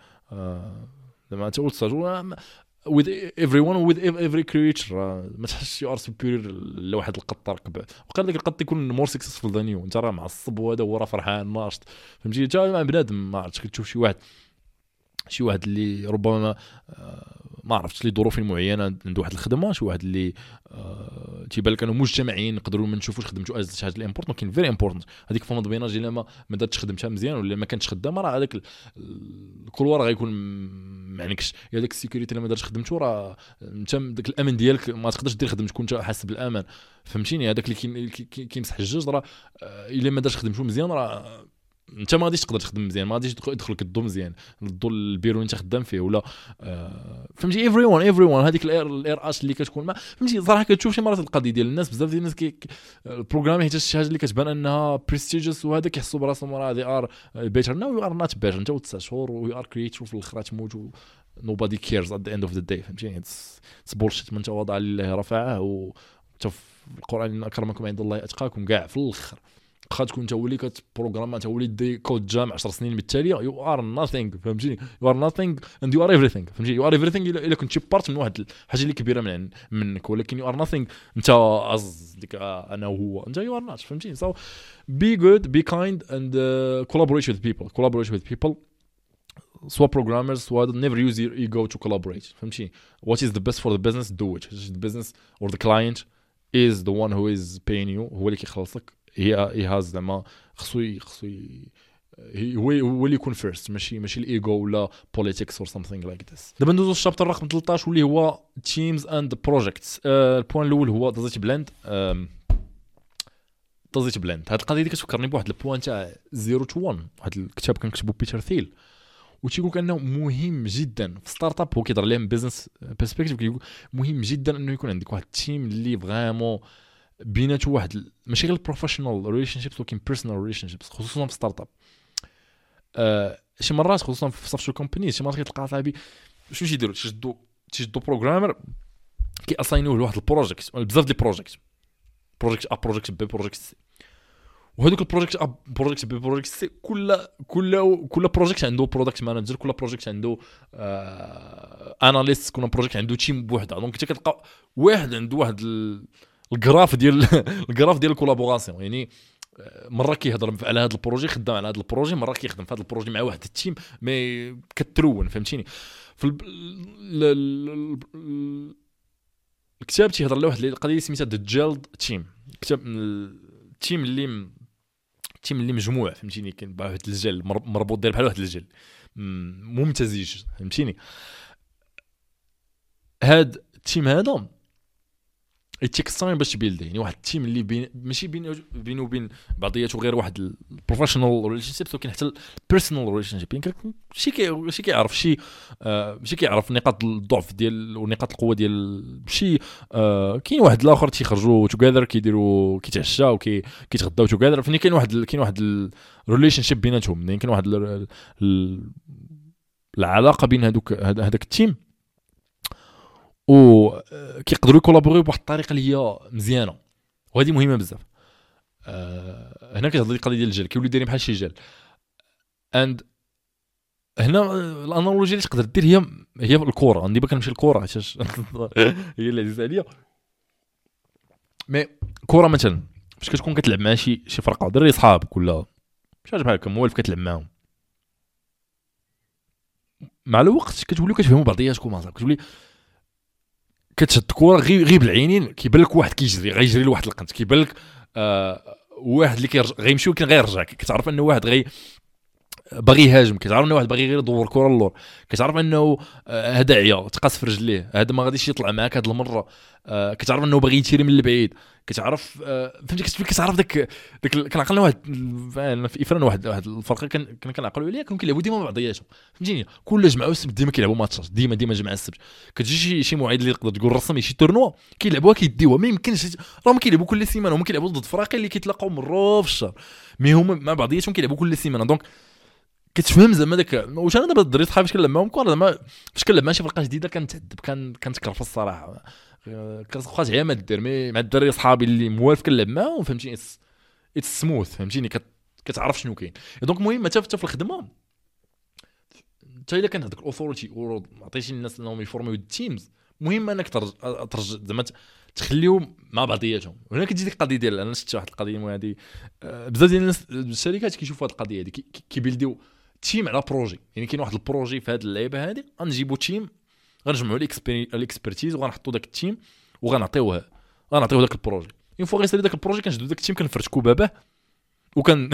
زعما انت ولد تسع شهور with everyone with every creature ما تحسش you are superior لواحد القط ركب وقال لك القط يكون more successful than you انت راه معصب وهذا هو راه فرحان ناشط فهمتي انت مع بنادم ما عرفتش كتشوف شي واحد شي واحد اللي ربما ما, ما عرفتش لي ظروف معينه عنده واحد الخدمه شي واحد اللي أه تيبان لك انه مجتمعين نقدروا ما نشوفوش خدمته از شي حاجه اللي امبورطون كاين فيري امبورطون هذيك فما بيناج الا ما ما دارتش خدمتها مزيان ولا ما كانتش خدامه راه هذاك الكولوار غيكون ما عندكش يا داك السيكوريتي الا ما دارتش خدمته راه انت داك الامن ديالك ما تقدرش دير خدمتك كنت حاسس بالامان فهمتيني هذاك اللي كيمسح الجوج راه الا ما دارش خدمته مزيان راه انت ما غاديش تقدر تخدم مزيان ما غاديش يدخل لك الضو مزيان الضو البيرو انت خدام فيه ولا آه فهمتي ايفري ون ايفري ون هذيك الاير اش اللي كتكون ما فهمتي صراحه كتشوف شي مرات القضيه ديال الناس بزاف ديال الناس كي البروغرامي حتى شي حاجه اللي كتبان انها بريستيجيوس وهذا كيحسوا براسهم راه دي ار بيتر ناو يو ار نوت بيتر انت تسع شهور وي ار كرييتور في الاخر تموت nobody cares at the end of the day فهمتي اتس بولشيت من تواضع لله رفعه و القران اكرمكم عند الله اتقاكم كاع في الاخر خا تكون انت ولي كتبروغرام انت ولي دي كود جام عشر سنين بالتاليه يو ار ناثينغ فهمتيني يو ار ناثينغ اند يو ار ايفريثينغ فهمتي يو ار ايفريثينغ الا كنتي بارت من واحد الحاجه اللي كبيره من منك ولكن يو ار ناثينغ انت از ديك انا وهو انت يو ار نوت فهمتي سو بي جود بي كايند اند collaborate with people collaborate with people سواء programmers سواء never use your ego to collaborate فهمتي what is the best for the business do it the business or the client is the one who is paying you هو اللي كيخلصك هي هي هاز زعما خصو خصو هو هو اللي يكون فيرست ماشي ماشي الايجو ولا بوليتيكس اور something like this. دابا ندوزو للشابتر رقم ثلاثطاش واللي هو تيمز اند بروجيكتس. البوين الاول هو دازيت بلند دازيت بلند هاد القضيه دي كتفكرني بواحد البوين تاع زيرو تو واحد واحد الكتاب كان كتبو بيتر ثيل وتيقول انه مهم جدا في ستارت اب هو كيهضر عليه من بيزنس بيرسبكتيف كيقول مهم جدا انه يكون عندك واحد التيم اللي فريمون بيناتو واحد ماشي غير البروفيشنال ريليشن شيبس ولكن بيرسونال ريليشن شيبس خصوصا في ستارت اب. أه شي مرات خصوصا في سوفت كومباني شي مرات كتلقى صاحبي شنو تيديروا تشدوا تشدوا بروغرامر كي اساينوه لواحد البروجيكت بزاف ديال البروجيكت بروجيكت ا بروجيكت بي بروجيكت سي وهذوك البروجيكت ا بروجيكت بي بروجيكت سي كل كل كل بروجيكت عنده برودكت مانجر كل بروجيكت عنده آه اناليست كل بروجيكت عنده تيم بوحده دونك انت كتلقى واحد عنده واحد ال... الجراف ديال الجراف ديال الكولابوراسيون يعني مره كيهضر على هذا البروجي خدام على هذا البروجي مره كيخدم في هذا البروجي مع واحد التيم مي كترون فهمتيني في الكتاب تيهضر على واحد القضيه سميتها ذا جيلد تيم كتاب التيم اللي التيم اللي مجموع فهمتيني كاين واحد الجل مربوط داير بحال واحد الجل ممتزج فهمتيني هاد التيم هذا التكستاين باش تبيلد يعني واحد التيم اللي بين ماشي بين بينه وبين بعضياته غير واحد البروفيشنال ريليشن شيب ولكن حتى البيرسونال ريليشن شيب يعني شي كي شي كيعرف شي آه شي كيعرف نقاط الضعف ديال ونقاط القوه ديال شي آه كاين واحد الاخر تيخرجوا توغادر كيديروا كيتعشاو كي كيتغداو توغادر فين كاين واحد كاين واحد الريليشن شيب بيناتهم يعني كاين واحد العلاقه بين هذوك هذاك التيم و كيقدروا يكولابوريو بواحد الطريقه اللي هي مزيانه وهذه مهمه بزاف. أه هنا كتهضر القضيه ديال الجل كيوليو دايرين بحال شي جل اند هنا الانالوجي اللي تقدر دير هي هي الكره عندي باك نمشي الكره حيت هي اللي عزيزه عليا مي كره مثلا باش كتكون كتلعب مع شي شي فرقه دري صحابك ولا شي حاجه بحال هكا موالف كتلعب معاهم مع الوقت كتوليو كتفهموا بعضياتكم اصاحبي كتولي كتشد الكره غير غير بالعينين كيبان لك واحد كيجري غيجري لواحد القنت كيبان لك آه واحد اللي كيرجع غيمشي ولكن غيرجع كتعرف انه واحد غي باغي يهاجم كتعرف انه واحد باغي غير يدور الكره للور كتعرف انه هذا عيا تقاس في رجليه هذا ما غاديش يطلع معاك هاد المره آه كتعرف انه باغي يتيري من البعيد كتعرف آه فهمتي كتولي كتعرف داك داك كنعقلنا واحد في افران واحد واحد الفرقه كان كنعقلوا عليها كانوا كيلعبوا ديما بعضياتهم فهمتيني كل جمعه السبت ديما كيلعبوا ماتشات ديما ديما جمعه السبت كتجي شي شي موعد اللي تقدر تقول رسمي شي تورنوا كيلعبوها كيديوها ما يمكنش راهم كيلعبوا كل سيمانه هما كيلعبوا ضد فراقي اللي كيتلاقاو مره في الشهر مي هما مع بعضياتهم كيلعبوا كل سيمانه دونك كتفهم زعما داك واش انا دابا الدراري صحابي كنلعب معاهم كره زعما فاش كنلعب مع شي فرقه جديده كنتعذب كان كنتكرف الصراحه كتخرج عيا ما دير مي مع الدراري صحابي اللي موالف كنلعب معاهم فهمتيني اتس سموث فهمتيني كتعرف شنو كاين دونك المهم حتى في الخدمه حتى الا كان هذاك الاوثوريتي عطيتي الناس انهم يفورميو التيمز مهم انك ترجع زعما تخليهم مع بعضياتهم هنا كتجي ديك القضيه ديال انا شفت واحد القضيه هذه بزاف ديال الناس الشركات كيشوفوا هذه القضيه هذه كيبيلديو تيم على بروجي يعني كاين واحد البروجي في هذه اللعيبه هذه غنجيبوا تيم غنجمعوا الاكسبيرتيز وغنحطوا داك التيم وغنعطيوه غنعطيوه داك البروجي اون فوا غيصير داك البروجي كنشدوا داك التيم كنفرشكوا باباه وكان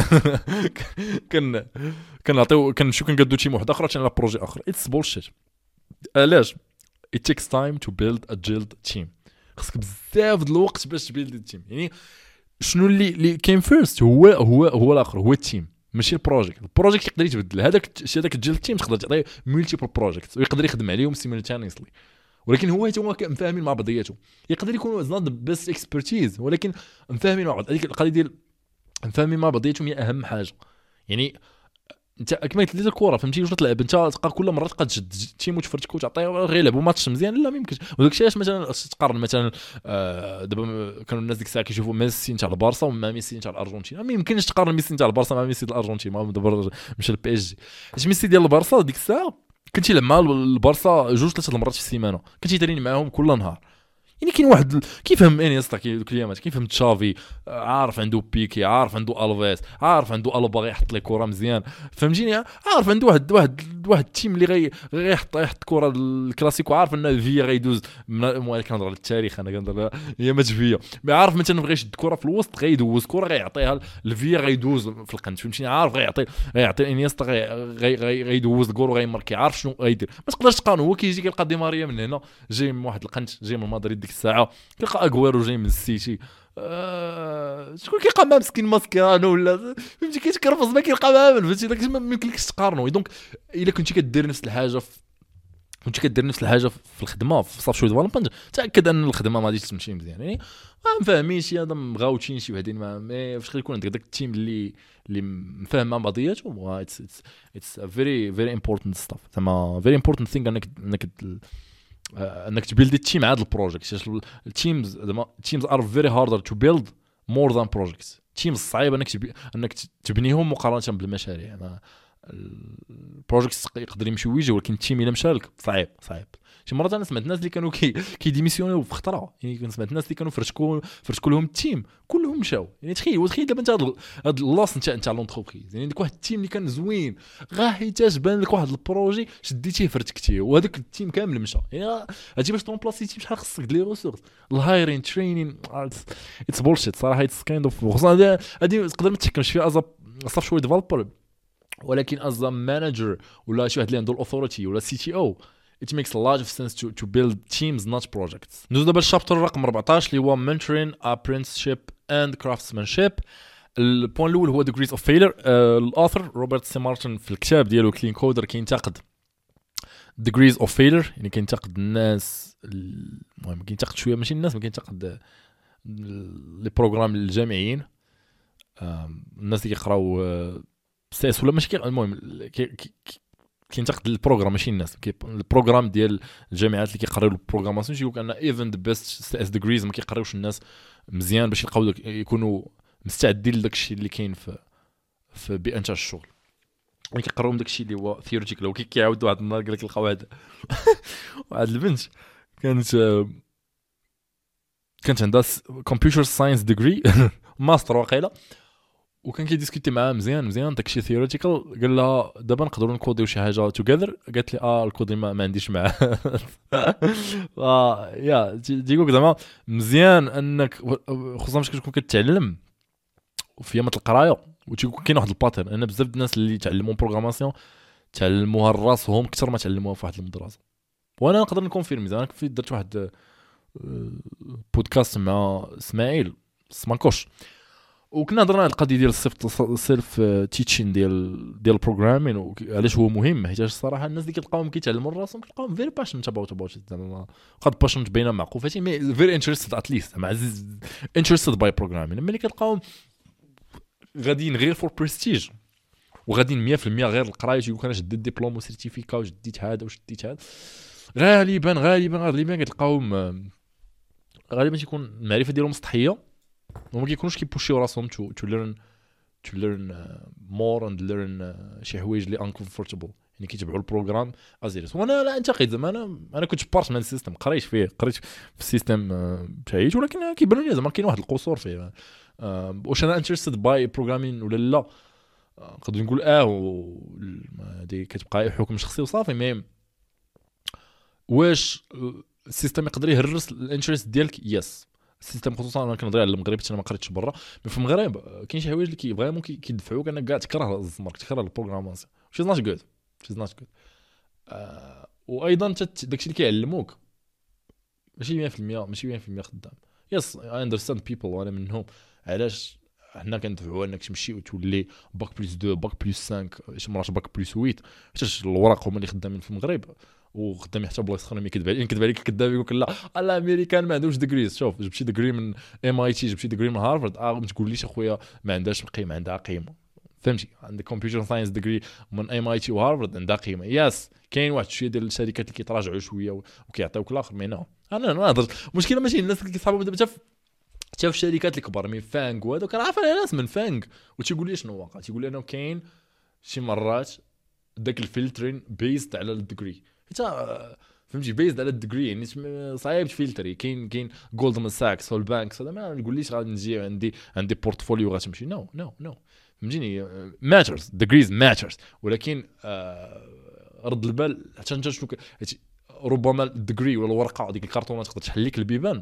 كان كنعطيو كنمشيو كنقادو تيم واحد اخر عشان على بروجي اخر اتس بولشيت علاش it takes time to build a guild team خصك بزاف د الوقت باش تبيلد التيم يعني شنو اللي اللي كاين فيرست هو هو هو الاخر هو التيم ماشي البروجيكت البروجيكت يقدر يتبدل هذاك الشيء هذاك الجيل تيم تقدر تعطيه ملتيبل بروجيكت ويقدر يخدم عليهم سيمultaneously ولكن هو حتى هو مفاهمين مع بعضياتهم يقدر يكونوا از نوت بيست اكسبرتيز ولكن مفاهمين مع بعض هذيك القضيه ديال مفاهمين مع بعضياتهم هي اهم حاجه يعني انت كما قلت لي الكره فهمتي واش تلعب انت تلقى كل مره تبقى تشد تيم وتفرتكو وتعطيه غير يلعبوا ماتش مزيان لا ما يمكنش وداك الشيء علاش مثلا تقارن مثلا آه دابا كانوا الناس ديك الساعه كيشوفوا ميسي نتاع البارسا ومع ميسي نتاع الارجنتين ما يمكنش تقارن ميسي نتاع البارسا مع ميسي ديال الارجنتين ما دابا مشى البي اس جي اش ميسي ديال البارسا ديك الساعه كنتي لعب مع البارسا جوج ثلاثه المرات في السيمانه كنتي تريني معاهم كل نهار يعني كاين واحد كيفهم انيستا كي دوك الايامات كيفهم تشافي عارف عنده بيكي عارف عنده الفيس عارف عنده البا غيحط لي كره مزيان فهمتيني عارف عنده واحد واحد واحد التيم اللي غي غيحط يحط كره الكلاسيكو عارف ان فيا غيدوز المهم كنهضر على التاريخ انا كنهضر هي ما فيا مي عارف مثلا بغى يشد الكره في الوسط غيدوز كره غيعطيها لفيا غيدوز في القنت فهمتيني عارف غيعطي غيعطي انيستا غي غي غيدوز الكور وغيماركي عارف شنو غيدير ما تقدرش تقارن هو كيجي كيلقى دي ماريا من هنا جاي من واحد القنت جاي من مدريد ديك الساعه كيلقى اغويرو جاي من السيتي آه... شكون كيلقى مع مسكين ماسكيرانو ولا فهمتي كيتكرفص ما كيلقى معاه فهمتي داك ما يمكنلكش تقارنو دونك الا كنتي كدير نفس الحاجه في كنتي كدير نفس الحاجه في الخدمه في صافي شويه ديفلوبمنت تاكد ان الخدمه ما غاديش تمشي مزيان يعني ما فاهمين شي هذا مغاوتين شي وحدين ما فاش غيكون عندك داك التيم اللي اللي مفاهم مع بعضياتهم اتس اتس ا فيري فيري امبورطنت ستاف زعما فيري امبورطنت ثينغ انك انك انك تبيلد التيم عاد البروجيكت التيمز زعما تيمز ار فيري هاردر تو بيلد مور ذان بروجيكتس تيمز صعيب انك تبي انك تبنيهم مقارنه بالمشاريع انا البروجيكتس يقدر يمشي ويجي ولكن التيم الا مشى لك صعيب صعيب شي مرات انا سمعت الناس اللي كانوا كي كيديميسيونيو في خطره يعني كنت سمعت الناس اللي كانوا فرشكوا فرشكوا لهم التيم كلهم مشاو يعني تخيل وتخيل دابا انت هذا اللاص نتاع نتاع لونتربريز يعني ديك واحد التيم اللي كان زوين غا حيتاش بان لك واحد البروجي شديتيه فرتكتيه وهذاك التيم كامل مشى يعني هادي باش طومبلاسي تيم شحال خصك دير ريسورس الهايرين ترينين اتس بولشيت صراحه اتس كايند اوف خصنا هادي تقدر ما تحكمش فيها از صافي شويه ديفلوبر ولكن از مانجر ولا شي واحد اللي عنده الاوثوريتي ولا سي تي او it makes a lot of sense to to build teams not projects. ندوز دابا الشابتر رقم أربعطاش اللي هو mentoring, apprenticeship and craftsmanship. البوين الاول هو degrees of failure. uh, الاثر روبرت سي مارتن في الكتاب ديالو كلين كودر كينتقد degrees of failure يعني كينتقد الناس المهم كينتقد شويه ماشي الناس ما كينتقد لي بروغرام الجامعيين الناس اللي كيقراو سيس ولا ماشي المهم كينتقد البروغرام ماشي الناس البروغرام ديال الجامعات اللي كيقراو البروغراماسيون يقول ان ايفن ذا بيست سي اس ديجريز ما كيقراوش الناس مزيان باش يلقاو يكونوا مستعدين لداك الشيء اللي كاين في في بيئه تاع الشغل ملي كيقراوهم داك الشيء اللي هو ثيوريتيكال وكيعاودوا واحد النهار قال لك لقاو واحد واحد البنت كانت كانت عندها كمبيوتر ساينس ديجري ماستر واقيلا، وكان كيديسكوتي معاه مزيان مزيان داكشي ثيوريتيكال. قال لها دابا نقدروا نكوديو شي حاجه توغذر. قالت لي اه الكودي ما, ما عنديش معاه. اه يا تيقولك زعما مزيان انك خصوصا ملي كتكون كتعلم وفي يامات القرايه وتيكون كاين واحد الباترن. انا بزاف الناس اللي تعلموا بروغراماسيون تعلموها لراسهم اكثر ما تعلموها في واحد المدرسه. وانا نقدر نكونفيرمي زعما كنت درت واحد بودكاست مع اسماعيل سماكوش وكنا هضرنا على القضيه ديال السيلف سيلف تيتشين ديال ديال البروغرامين وعلاش هو مهم. حيت الصراحه الناس اللي كتلقاهم كيتعلموا راسهم كتلقاهم فيري باشن اباوت اباوت زعما قد باشن باينه معقوفتي مي فيري انتريستد اتليست مع عزيز انتريستد باي بروغرامين. ملي كتلقاهم غاديين غير فور بريستيج وغاديين مية في المية غير القرايه تيقول انا شديت ديبلوم وسيرتيفيكا وشديت هذا وشديت هذا غالبا غالبا غالبا كتلقاهم غالبا تيكون المعرفه ديالهم سطحيه وما كيكونوش كيبوشيو راسهم تو تو ليرن تو ليرن مور اند ليرن شي حوايج اللي انكومفورتابل يعني كيتبعوا البروغرام ازيرس. وانا لا انتقد زعما انا انا كنت بارت من السيستم قريت فيه قريت في السيستم بتاعي ولكن كيبان لي زعما كاين واحد القصور فيه. واش انا انتريستد باي بروغرامين ولا لا نقدر نقول اه هذه كتبقى حكم شخصي وصافي. مي واش السيستم يقدر يهرس الانترست ديالك؟ يس السيستم خصوصا انا كنهضر على المغرب حتى انا ما قريتش برا. مي في المغرب كاين شي حوايج اللي كي فريمون كيدفعوك انك كاع تكره الزمر تكره البروغراماسيون شي ناش غود شي ناش غود. وايضا داكشي اللي كيعلموك ماشي مية في المية ماشي مية في المية خدام. يس اي اندرستاند بيبل وانا منهم علاش حنا كندفعوا انك تمشي وتولي باك بلس اثنين باك بلس خمسة شي مرات باك بلس ثمانية حيت الوراق هما اللي خدامين في المغرب وخدامين حتى بلايص اخرين. ملي كذب عليك كذب عليك كذاب يقول لك لا الامريكان ما عندهمش ديجريز. شوف جبتي ديجري من ام اي تي جبتي ديجري من هارفارد اه ما تقوليش اخويا ما عندهاش قيمه عندها قيمه فهمتي. عندك كمبيوتر ساينس ديجري من ام اي تي وهارفارد عندها قيمه. ياس كاين واحد شويه ديال الشركات اللي كيتراجعوا شويه وكيعطيوك الاخر مي نو انا ما نهضرش المشكله ماشي الناس اللي كيصحابوا دابا حتى حتى في الشركات الكبار مي فانغ وهذوك راه عارف ناس من فانغ وتيقول لي شنو واقع تيقول لي انه كاين شي مرات داك الفلترين بيزد على الديجري حتى فهمتي بيزد على الديجري يعني صعيب تفلتري. كاين كاين جولدمان ساكس هول بانكس هذا ما نقوليش غادي نجي عندي عندي بورتفوليو غتمشي نو نو نو فهمتيني ماترز ديجريز ماترز ولكن آه رد البال حتى انت شنو ربما الديجري ولا الورقه ديك الكرتونه تقدر تحل لك البيبان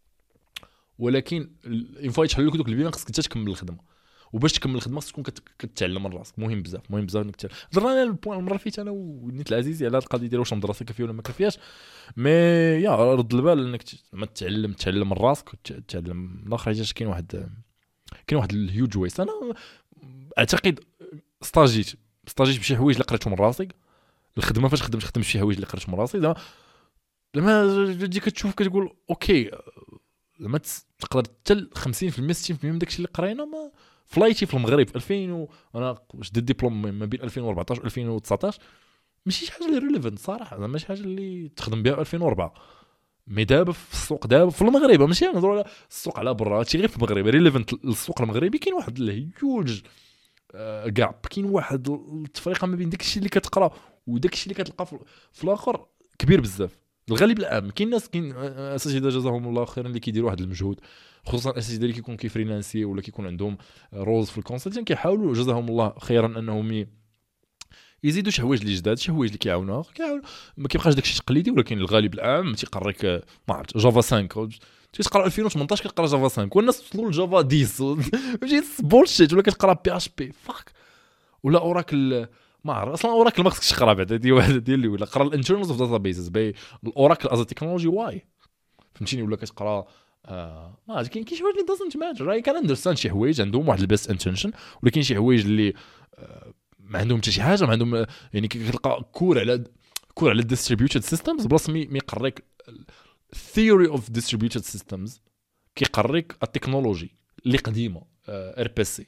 ولكن ينفع يتحل لك دوك البيبان خصك انت تكمل الخدمه وباش تكمل الخدمه خصك تكون كتعلم من راسك. مهم بزاف مهم بزاف انك تعلم. درنا البوان المره فيت انا ونيت العزيزي على القضيه ديال واش المدرسه كافيه ولا ما كافياش. مي يا رد البال انك ما تتعلم تعلم من راسك وتعلم الاخر حاجه. كاين واحد كاين واحد الهيوج ويست. انا اعتقد ستاجيت ستاجيت بشي حوايج اللي قريتهم من راسي. الخدمه فاش خدمت خدمت شي حوايج اللي قريتهم من راسي زعما لما تجي كتشوف كتقول اوكي لما تقدر حتى خمسين في المية ستين في المية من داكشي اللي قرينا ما فلايتي في المغرب في ألفين و... انا شديت ديبلوم ما بين ألفين وأربعطاش و ألفين وتسعطاش ماشي شي حاجه اللي ريليفنت صراحه زعما ماشي حاجه اللي تخدم بها ألفين وأربعة. مي دابا في السوق دابا في المغرب ماشي نهضروا على السوق على برا هادشي غير في المغرب ريليفنت للسوق المغربي. كاين واحد الهيوج كاب كاين واحد التفرقه ما بين داكشي اللي كتقرا وداكشي اللي كتلقى في الاخر كبير بزاف. الغالب العام كاين ناس كاين اساتذه جزاهم الله خيرا اللي كيديروا واحد المجهود خصوصا الاساتذه اللي كيكون كيفريلانسي ولا كيكون عندهم روز في الكونسلتين كيحاولوا جزاهم الله خيرا انهم يزيدوا شي حوايج اللي جداد شي حوايج اللي كيعاونوها كيعاون ما كيبقاش داكشي تقليدي. ولكن الغالب العام تيقريك ما عرفت جافا خمسة تيقرا ألفين وثمنطاش كتقرا جافا خمسة والناس وصلوا لجافا عشرة ماشي بولشيت ولا كتقرا بي اش بي فاك ولا اوراكل ما عرف اصلا اوراكل ما خصكش تقرا بعدا دي واحده ديال اللي ولا قرا الانترنالز اوف داتابيسز باي الاوراكل از تكنولوجي واي فهمتيني ولا كتقرا اه ما كاين كاين شي حوايج اللي دازنت ماتر راي كان اندرستاند شي حوايج عندهم واحد البيست انتنشن ولكن شي حوايج اللي آه ما عندهم حتى شي حاجه ما عندهم يعني كتلقى كور على كور على الديستريبيوتد سيستمز بلاص مي يقريك ثيوري اوف ديستريبيوتد سيستمز كيقريك التكنولوجي اللي قديمه ار بي سي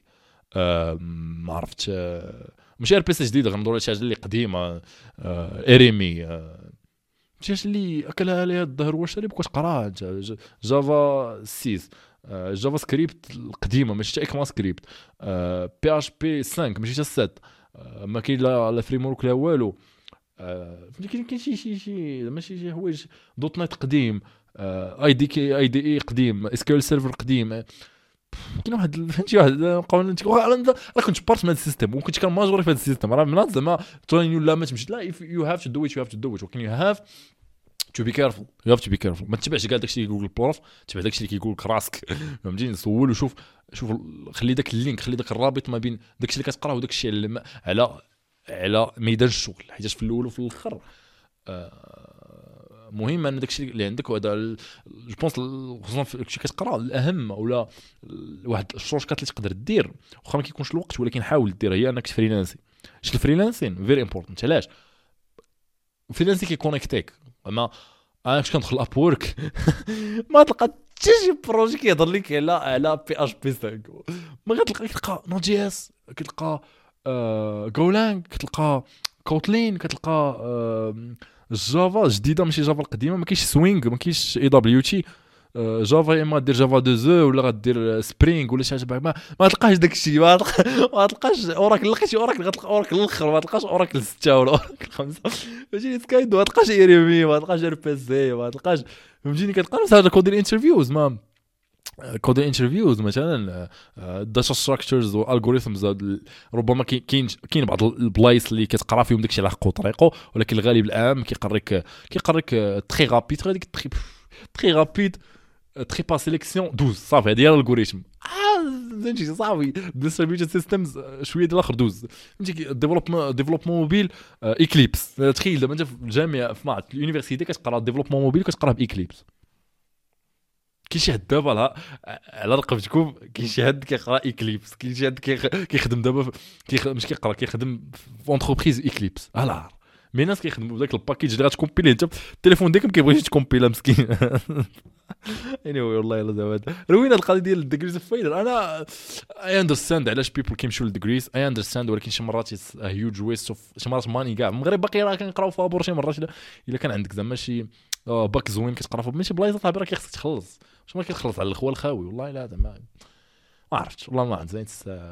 ما عرفت ماشي ار بي سي جديده غنضروا شي حاجه اللي قديمه اريمي شي اللي اكلها عليها الظهر واش ريب كنت قراها جافا ستة جافا سكريبت القديمه ماشي حتى اكما سكريبت بي اش بي خمسة ماشي حتى سبعة ما كاين لا لا فريم ورك لا والو فهمتي كاين كاين شي شي شي ماشي شي حوايج دوت نت قديم اي دي كي اي دي اي قديم اس كيو ال سيرفر قديم كاين واحد فهمتي واحد قانون راه كنت بارت من هذا السيستم وكنت كان ماجوري في هذا السيستم راه من زعما ترينيو لا ما تمشي لا يو هاف تو دو ات يو هاف تو دو ات ولكن يو هاف تو بي كيرفول يو هاف تو بي كيرفول ما تتبعش كاع داكشي اللي كيقول البروف تبع داكشي اللي كيقول لك راسك فهمتيني سول وشوف شوف خلي داك اللينك خلي داك الرابط ما بين داكشي اللي كتقرا وداكشي على على على ميدان الشغل حيت في الاول وفي الاخر آه مهم ان داكشي اللي عندك وهذا جو بونس خصوصا في داكشي كتقرا الاهم ولا واحد الشورت اللي تقدر دير واخا ما كيكونش الوقت ولكن حاول دير هي انك تفريلانسي شي الفريلانسين فيري امبورطنت علاش فريلانسي كيكونيكتيك اما انا كنت كندخل اب وورك ما تلقى حتى شي بروجي كيهضر لك على على بي اش بي خمسة ما غتلقى كتلقى نوت جي اس كتلقى آه جولانج كتلقى كوتلين كتلقى آه جافا جديده ماشي جافا القديمه ما كاينش سوينغ ما كاينش اي دبليو تي جافا اما دير جافا دو زو ولا غدير سبرينغ ولا شي حاجه ما ما تلقاش داك الشيء ما ما تلقاش اوراكل لقيتي اوراكل غتلقى اوراكل الاخر ما تلقاش اوراكل ستة ولا اوراكل خمسة فهمتيني سكايدو ما تلقاش ايريمي ما تلقاش ار بي سي ما تلقاش فهمتيني كتلقى نفس هذا كود الانترفيوز ما كود الانترفيوز مثلا داتا ستراكشرز والالغوريثمز ربما كاين كاين بعض البلايص اللي كتقرا فيهم داكشي على حقو طريقه ولكن الغالب العام كيقريك كيقريك تري رابيد هذيك تري تري رابيد تري با سيليكسيون دوز صافي هذه هي الالغوريثم فهمتي صافي ديستريبيوتد سيستمز شويه ديال الاخر دوز فهمتي ديفلوبمون ديفلوبمون موبيل اكليبس تخيل دابا انت في الجامعه في معهد اليونيفرسيتي كتقرا ديفلوبمون موبيل كتقرا باكليبس كاين شي حد دابا على على رقبتكم كاين شي حد كيقرا اكليبس كاين شي حد كيخدم دابا مش كيقرا كيخدم في اونتربريز اكليبس على مي الناس كيخدموا بداك الباكيج اللي غتكومبيلي انت التليفون ديالك ما كيبغيش تكومبيلا مسكين اني والله الا زعما روينا القضيه ديال الديجريز اوف فيلر انا اي اندرستاند علاش بيبل كيمشيو للديجريز اي اندرستاند ولكن شي مرات هيوج ويست اوف شي مرات ماني كاع المغرب باقي راه كنقراو فابور شي مرات الا كان عندك زعما شي باك زوين كتقرا فيه ماشي بلايصه صاحبي راه خصك تخلص واش ما كتخلص على الخوال الخاوي والله لا زعما ما عرفتش والله ما عرفت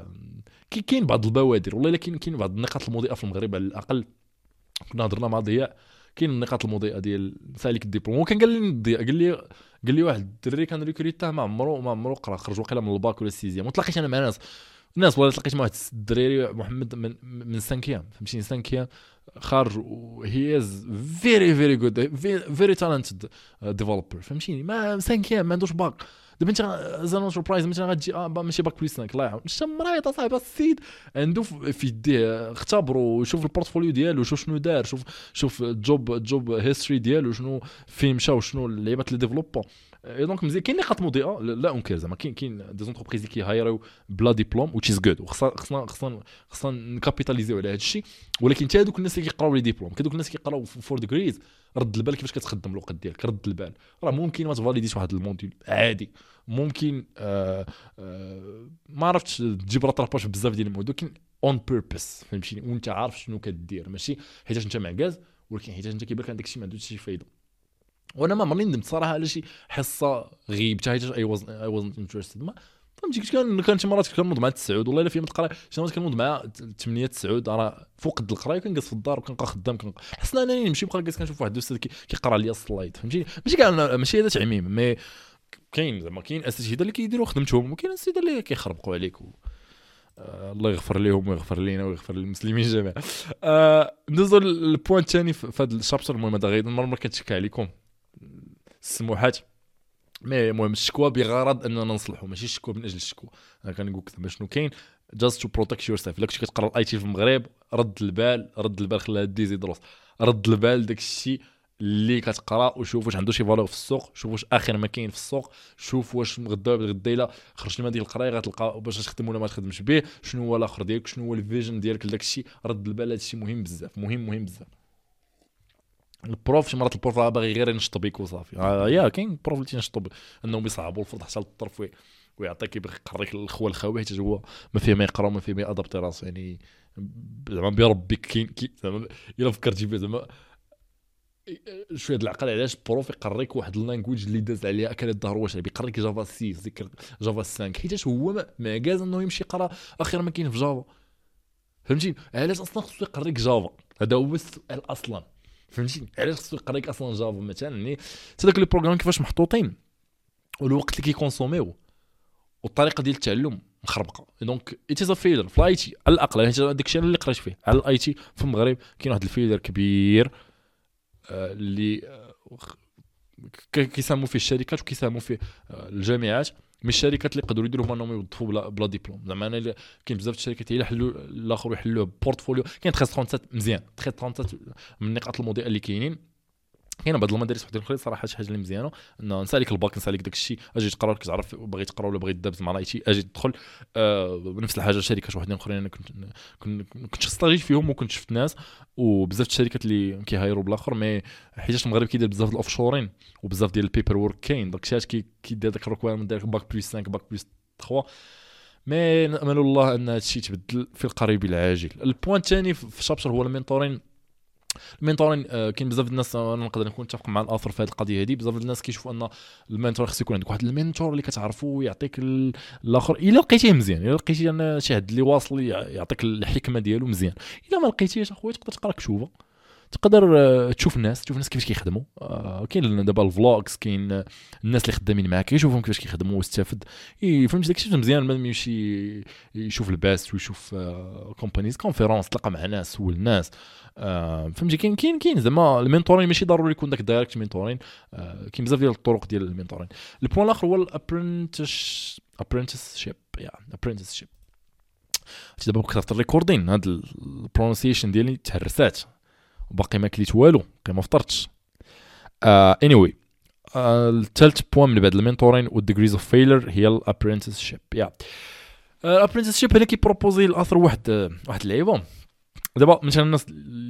كي كاين بعض البوادر والله الا كاين كاين بعض النقاط المضيئه في المغرب على الاقل كنا هضرنا مع ضياء كاين النقاط المضيئه ديال سالك الدبلوم وكان قال لي ضياء قال لي قال لي واحد الدري كان ريكوريتاه ما عمرو ما عمرو قرا خرج واقيلا من الباك ولا السيزيام وتلاقيت انا مع ناس الناس والله تلاقيت مع واحد الدراري محمد من من سانكيام فهمتيني سانكيام خارج هي از فيري فيري جود فيري تالنتد ديفلوبر فهمتيني ما سانكيام ما عندوش باك دابا انت زان انتربرايز مثلا غتجي اه ماشي باك بلس خمسة الله يعاون انت مريض اصاحبي السيد عنده في يديه اختبروا شوف البورتفوليو ديالو شوف شنو دار شوف شوف الجوب جوب هيستوري ديالو شنو فين مشى وشنو اللعيبات اللي ديفلوبا دونك مزيان كاين نقاط مضيئه لا انكر زعما كاين كاين دي زونتربريز اللي كيهايريو بلا ديبلوم وتش از جود وخصنا خصنا خصنا خصنا نكابيتاليزيو على هذا الشيء ولكن حتى هذوك الناس اللي كيقراو لي ديبلوم كذوك الناس كيقراو فور ديجريز رد البال كيفاش كتخدم الوقت ديالك رد البال راه ممكن ما تفاليديش واحد الموديل عادي ممكن آآ آآ ما عرفتش تجيب راتراباج بزاف ديال الموضوع ولكن اون بيربس فهمتيني وانت عارف شنو كدير ماشي حيت انت معكاز ولكن حيت انت كيبان لك عندك شي ما عندوش شي فايده وانا ما مرني ندمت صراحه على شي حصه غيبتها حيت اي واز اي وازنت انتريستد ما فهمتي كان كان شي مرات كنوض مع التسعود والله الا فيا متقرا شي مرات كنوض مع ثمانية تسعود راه فوق قد القرايه كنجلس في الدار وكنبقى خدام كنحس انني نمشي بقى جالس كنشوف واحد الاستاذ كيقرا لي السلايد فهمتي ماشي كاع ماشي هذا تعميم مي كاين زعما كاين اساتذه اللي كيديروا خدمتهم وكاين اساتذه اللي كيخربقوا عليك و... آه الله يغفر لهم ويغفر لينا ويغفر للمسلمين جميعا. آه ندوزو للبوان الثاني في هذا الشابتر. المهم هذا غير المره كنتشكى عليكم السموحات مي المهم الشكوى بغرض اننا نصلحوا ماشي الشكوى من اجل الشكوى. انا كنقول لك زعما شنو كاين just to protect yourself. الا كنتي كتقرا الاي تي في المغرب رد البال رد البال خليها ديزي دروس رد البال داك الشيء اللي كتقرا وشوف واش عنده شي فالور في السوق شوف واش اخر ما كاين في السوق شوف واش غدا غدا الا خرجت من هذيك القرايه غتلقى باش تخدم ولا ما تخدمش به شنو هو الاخر ديالك شنو هو الفيجن ديالك لداك الشيء. رد البال هذا الشيء مهم بزاف مهم مهم بزاف. البروف شي مرات البروف باغي غير ينشط بيك وصافي. آه يا كاين بروف اللي تينشطوا انهم يصعبوا الفرض حتى للطرف ويعطيك يبغي يقريك الخوه الخاوي حيت هو ما فيه ما يقرا وما فيه ما يادابتي راسو يعني زعما بربي كاين زعما الا فكرتي فيه زعما شويه العقل علاش بروف يقريك واحد اللانجويج اللي داز عليها اكل الظهر واش بيقريك جافا ستة ذكر جافا خمسة حيت هو ما كاز انه يمشي يقرا اخر ما كاين في جافا فهمتي. علاش اصلا خصو يقريك جافا هذا هو السؤال اصلا فهمتي. علاش خصو يقريك اصلا جافا مثلا يعني حتى داك لي بروغرام كيفاش محطوطين والوقت اللي كيكونسوميو والطريقه ديال التعلم مخربقه. دونك ات از فيلر في الاي تي على الاقل، هذا داك الشيء اللي قريت فيه على الاي تي في المغرب. كاين واحد الفيلر كبير اللي كيساهموا فيه الشركات وكيساهموا فيه الجامعات، من الشركات اللي يقدروا يديروا هما انهم يوظفوا بلا, بلا ديبلوم. زعما انا كاين بزاف الشركات هي يحلوا الاخر يحلوه بورتفوليو. كاين تلاتة وثلاثين مزيان، تلاتة وثلاثين من النقاط المضيئه اللي كاينين. كاين بعض المدارس وحدين اخرين صراحه شي حاجه اللي مزيانه ان نسالك الباك نسالك داك الشيء اجي تقرا لك تعرف باغي تقرا ولا باغي تدابز مع لايتي اجي تدخل. آه بنفس الحاجه شركات وحدين اخرين انا كنت كنت كنت ستاجي فيهم وكنت شفت ناس وبزاف الشركات اللي كيهايروا بالاخر. مي حيت المغرب كيدير بزاف ديال الاوفشورين وبزاف ديال البيبر وورك كاين داك الشيء كي كيدير داك الريكويرمنت ديال باك بلس خمسة باك بلس ثلاثة. مي نامل الله ان هذا الشيء يتبدل في القريب العاجل. البوان الثاني في الشابتر هو المينتورين. المينتورين آه كاين بزاف الناس انا نقدر نكون متفق مع الاثر في هذه القضيه هذه. بزاف الناس كيشوفوا ان المينتور خصو يكون عندك واحد المينتور اللي كتعرفو ويعطيك الاخر الا لقيتيه مزيان، الا لقيتي انا شي حد اللي واصل يعطيك الحكمه ديالو مزيان. الا ما لقيتيش اخويا تقدر تقرا كتوبه، تقدر آه تشوف الناس تشوف الناس كيفاش كيخدموا. آه كاين دابا الفلوجز، كاين آه الناس اللي خدامين معاك يشوفهم كيفاش كيخدموا واستافد. فهمتي داكشي مزيان ما يمشي يشوف الباست ويشوف آه كومبانيز كونفيرونس تلقى مع ناس سول الناس. آه فهمتي كاين كاين كاين زعما المينتورين ماشي ضروري يكون داك دايركت مينتورين. آه كاين بزاف ديال الطرق ديال المينتورين. البوان الاخر هو الابرنتش ابرنتشيب يا ابرنتشيب. دابا كثرت الريكوردين هاد البرونسيشن ديالي تهرسات وباقي ما كليت والو باقي ما فطرتش. اني واي الثالث بوان من بعد المينتورين والديجريز اوف فيلر هي الابرنتشيب. يا الابرنتشيب هنا كيبروبوزي الاثر واحد واحد اللعيبه. دابا مثلا الناس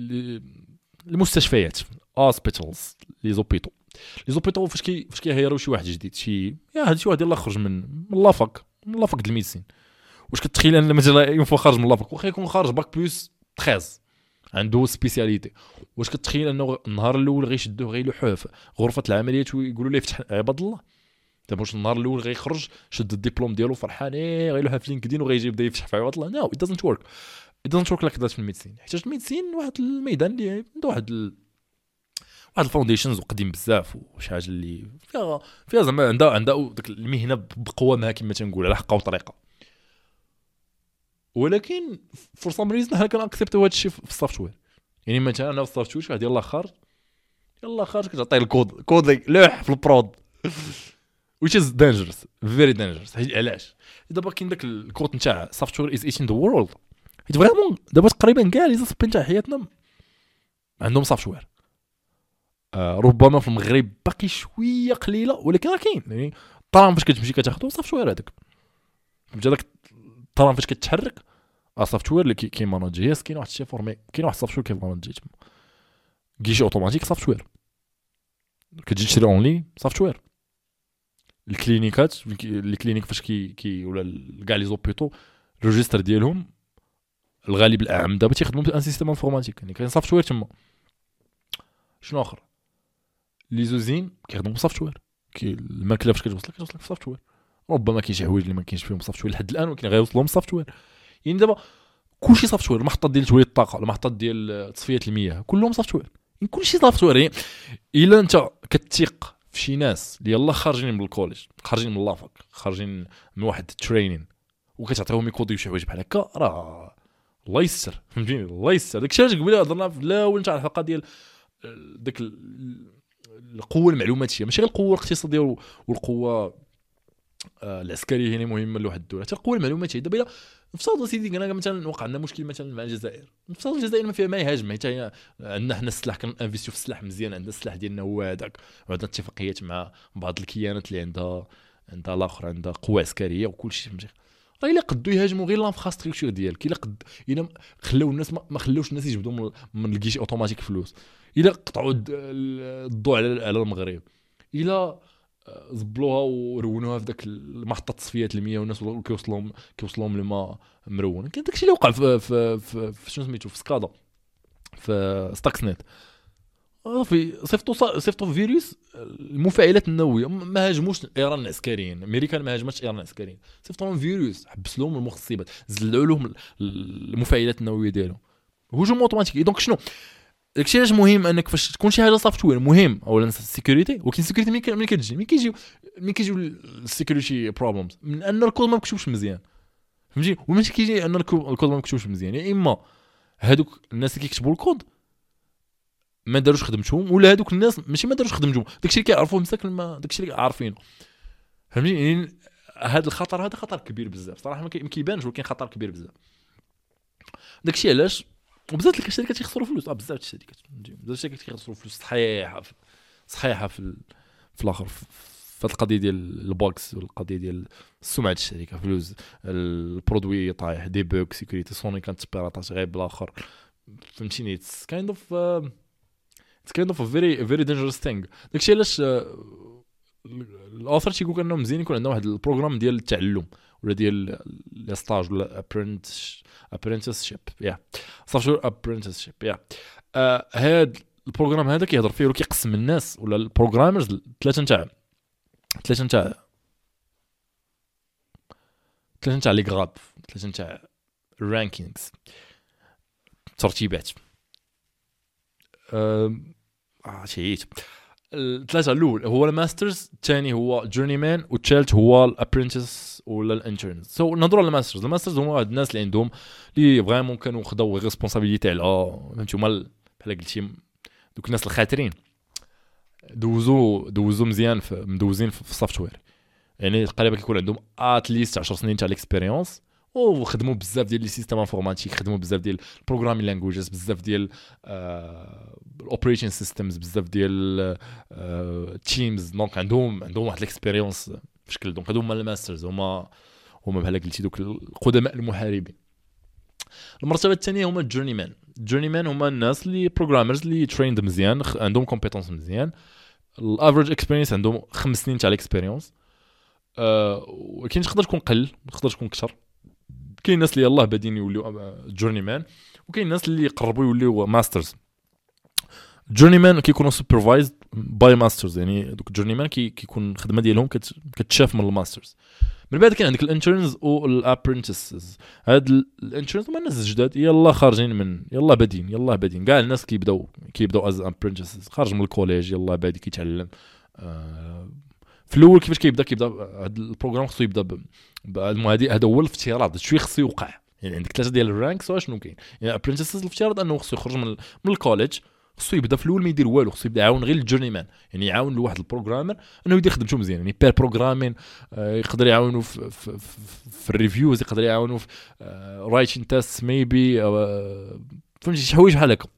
المستشفيات هوسبيتالز لي زوبيتو لي زوبيتو فاش كي فاش كيهيروا شي واحد جديد شي يا هذا شي واحد يلاه خرج من من لافاك من لافاك د الميديسين. واش كتخيل ان مثلا يوم خارج من لافاك واخا يكون خارج باك بلس ثلاثة عنده سبيسياليتي، واش كتخيل انه النهار الاول غيشدوه غيلوحوه في غرفه العمليات ويقولوا ليه فتح عباد الله؟ دابا واش النهار الاول غيخرج شد الدبلوم ديالو فرحان ايه غيلوحها في لينكدين وغيجي يبدا يفتح في عباد الله؟ نو ات دازنت ورك ات دازنت ورك لايك ذات في الميديسين. حيت الميديسين واحد الميدان اللي عنده واحد ال... واحد الفاونديشنز وقديم بزاف وشي حاجه اللي فيها فيها زعما عندها عندها ديك المهنه بقوامها كما تنقول على حقها وطريقه. ولكن فور سام ريزن حنا كنأكسبتو هذا الشيء في السوفت وير. يعني مثلا انا في السوفت وير واحد يلاه خارج يلاه خارج كتعطيه الكود كود لوح في البرود which is dangerous very dangerous. علاش دابا كاين داك الكود نتاع سوفت وير از ايتين ذا وورلد. حيت فريمون دابا تقريبا كاع لي زاسبي نتاع حياتنا عندهم سوفت وير. آه ربما في المغرب باقي شويه قليله ولكن راه كاين. يعني الطرام فاش كتمشي كتاخذو سوفت وير هذاك فهمتي داك الطرام فاش كتحرك سوفت وير اللي كيماناجي. يس كاين واحد الشيء فورمي كاين واحد سوفت وير كيماناجي تما كيجي اوتوماتيك سوفت وير كتجي تشري اونلي سوفت وير. الكلينيكات الكلينيك فاش كي كي ولا كاع لي زوبيتو الريجستر ديالهم الغالب الاعم دابا تيخدموا بان سيستم انفورماتيك. يعني كاين سوفت وير تما. شنو اخر لي زوزين كيخدموا بسوفت وير. كي الماكله فاش كتوصل كتوصل في سوفت وير. ربما كاين شي حوايج اللي ما كاينش فيهم سوفت وير لحد الان ولكن غيوصلهم سوفت وير. يعني دابا كلشي سوفت وير. المحطات ديال توليد الطاقه المحطات ديال تصفيه المياه كلهم سوفت وير. يعني كلشي سوفت وير. يعني الا انت كتثق في شي ناس اللي يلاه خارجين من الكوليج خارجين من لافاك خارجين من واحد الترينين وكتعطيهم يكوديو شي حوايج بحال هكا راه الله يستر. فهمتيني الله يستر. داكشي علاش قبيله هضرنا في الاول نتاع الحلقه ديال داك القوه المعلوماتيه ماشي غير القوه الاقتصاديه والقوه العسكريه هنا مهمه لواحد الدوله حتى القوه المعلوماتيه. دابا الا نفترضوا سيدي انا مثلا وقع لنا مشكل مثلا مع الجزائر نفترضوا الجزائر ما فيها ما يهاجم حيت هي عندنا حنا السلاح كنانفيستيو في السلاح مزيان عندنا السلاح ديالنا هو هذاك وعندنا اتفاقيات مع بعض الكيانات اللي عندها عندها الاخر عندها قوه عسكريه وكل شيء فهمتي. راه الا قدوا يهاجموا غير لانفراستركتور ديالك الا قد الا خلاو الناس ما خلاوش الناس يجبدوا من الكيش اوتوماتيك فلوس الا قطعوا الضوء على على المغرب الا زبلوها ورونوها في داك المحطه تصفيه المياه والناس كيوصلهم كيوصلهم الماء مرون. كان داكشي اللي وقع في في في, في شنو سميتو في سكادا في ستاكس نت في صيفطوا صيفطوا فيروس المفاعلات النوويه ما هاجموش ايران العسكريين الامريكان ما هاجمتش ايران العسكريين صيفطوا لهم فيروس حبس لهم المخصبات زلعوا لهم المفاعلات النوويه ديالهم هجوم اوتوماتيكي. دونك شنو داكشي علاش مهم انك فاش تكون شي حاجه سوفتوير مهم اولا السيكوريتي. ولكن السيكوريتي ملي كتجي ملي كيجيو ملي كيجيو السيكوريتي بروبلمز من ان الكود ما مكتوبش مزيان فهمتي. وماشي كيجي ان الكود ما مكتوبش مزيان، يا اما هادوك الناس اللي كيكتبوا الكود ما داروش خدمتهم، ولا هادوك الناس ماشي ما داروش خدمتهم، داكشي اللي كيعرفوه مساكن ما داكشي اللي عارفينه فهمتي. يعني هذا الخطر هذا خطر كبير بزاف صراحه، ما كيبانش ولكن خطر كبير بزاف. داكشي علاش وبزاف ديال الشركات يخسروا فلوس. اه بزاف الشركات بزاف الشركات كيخسروا فلوس صحيحه صحيحه في في الاخر في القضيه ديال البوكس والقضيه ديال سمعه الشركه، فلوس البرودوي طايح، دي بوك سيكوريتي سوني كانت بيراتاج غير بالاخر فهمتيني. اتس كايند اوف اتس كايند اوف فيري فيري دينجرس ثينغ. داكشي علاش الاوثر تيقول انه مزيان يكون عندنا واحد البروغرام ديال التعلم ولا ديال لي ستاج ولا ابرنتس ابرنتسشيب يا صافي ابرنتسشيب يا هاد البروغرام هذا كيهضر فيه ولا كيقسم الناس ولا البروغرامرز ثلاثه نتاع ثلاثه نتاع ثلاثه نتاع لي غراد ثلاثه نتاع الرانكينغز ترتيبات اه شيت. الثلاثه الاول هو الماسترز، الثاني هو جورني مان، والثالث هو الابرنتس ولا الانترنز. سو نهضروا على الماسترز. الماسترز هما هاد الناس اللي عندهم اللي فريمون كانوا خداو ريسبونسابيلتي على فهمتوا بحال قلتي دوك الناس الخاسرين دوزو دوزو مزيان في مدوزين في السوفتوير، يعني تقريبا كيكون عندهم اتليست عشر سنين تاع الاكسبيريونس وخدموا بزاف ديال لي سيستم انفورماتيك، خدموا بزاف ديال البروغرامين لانجويجز، بزاف ديال الاوبريشن سيستمز، بزاف ديال تيمز. دونك عندهم عندهم واحد الاكسبيريونس في شكل. دونك هادو هما الماسترز، هما هما بحال قلتي دوك القدماء المحاربين. المرتبه الثانيه هما الجورني مان. الجورني مان هما الناس اللي بروغرامرز اللي تريند مزيان، عندهم كومبيتونس مزيان، الافريج اكسبيرينس عندهم خمس سنين تاع الاكسبيريونس. أه ولكن تقدر تكون قل تقدر تكون كثر. كاين الناس اللي يلاه بادين يوليو جورني مان، وكاين الناس اللي يقربوا يوليو ماسترز. جورني مان كيكونوا سوبرفايزد باي ماسترز، يعني دوك جورني مان كيكون الخدمه ديالهم كتشاف من الماسترز. من بعد كاين عندك الانترنز والابرنتسز. هاد الانترنز هما الناس الجداد يلا خارجين من يلا بادين يلا بادين كاع الناس كيبداو كيبداو از ابرنتسز خارج من الكوليج يلا بادي كيتعلم. آه في الاول كيفاش كيبدا كيبدا هذا البروغرام خصو يبدا هذا هذا هو الافتراض شويه خصو يوقع. يعني عندك ثلاثه ديال الرانكس شنو كاين، يعني ابرنتسز الافتراض انه خصو يخرج من من الكوليج، خصو يبدا في الاول ما يدير والو، خصو يبدا يعاون غير الجورني مان، يعني يعاون لواحد البروغرامر انه يدير خدمته مزيان، يعني بير بروغرامين آه يقدر يعاونوا في في, في, في الريفيوز، يقدر يعاونوا في آه رايتين تيست ميبي آه فهمتي شي حوايج بحال هكا.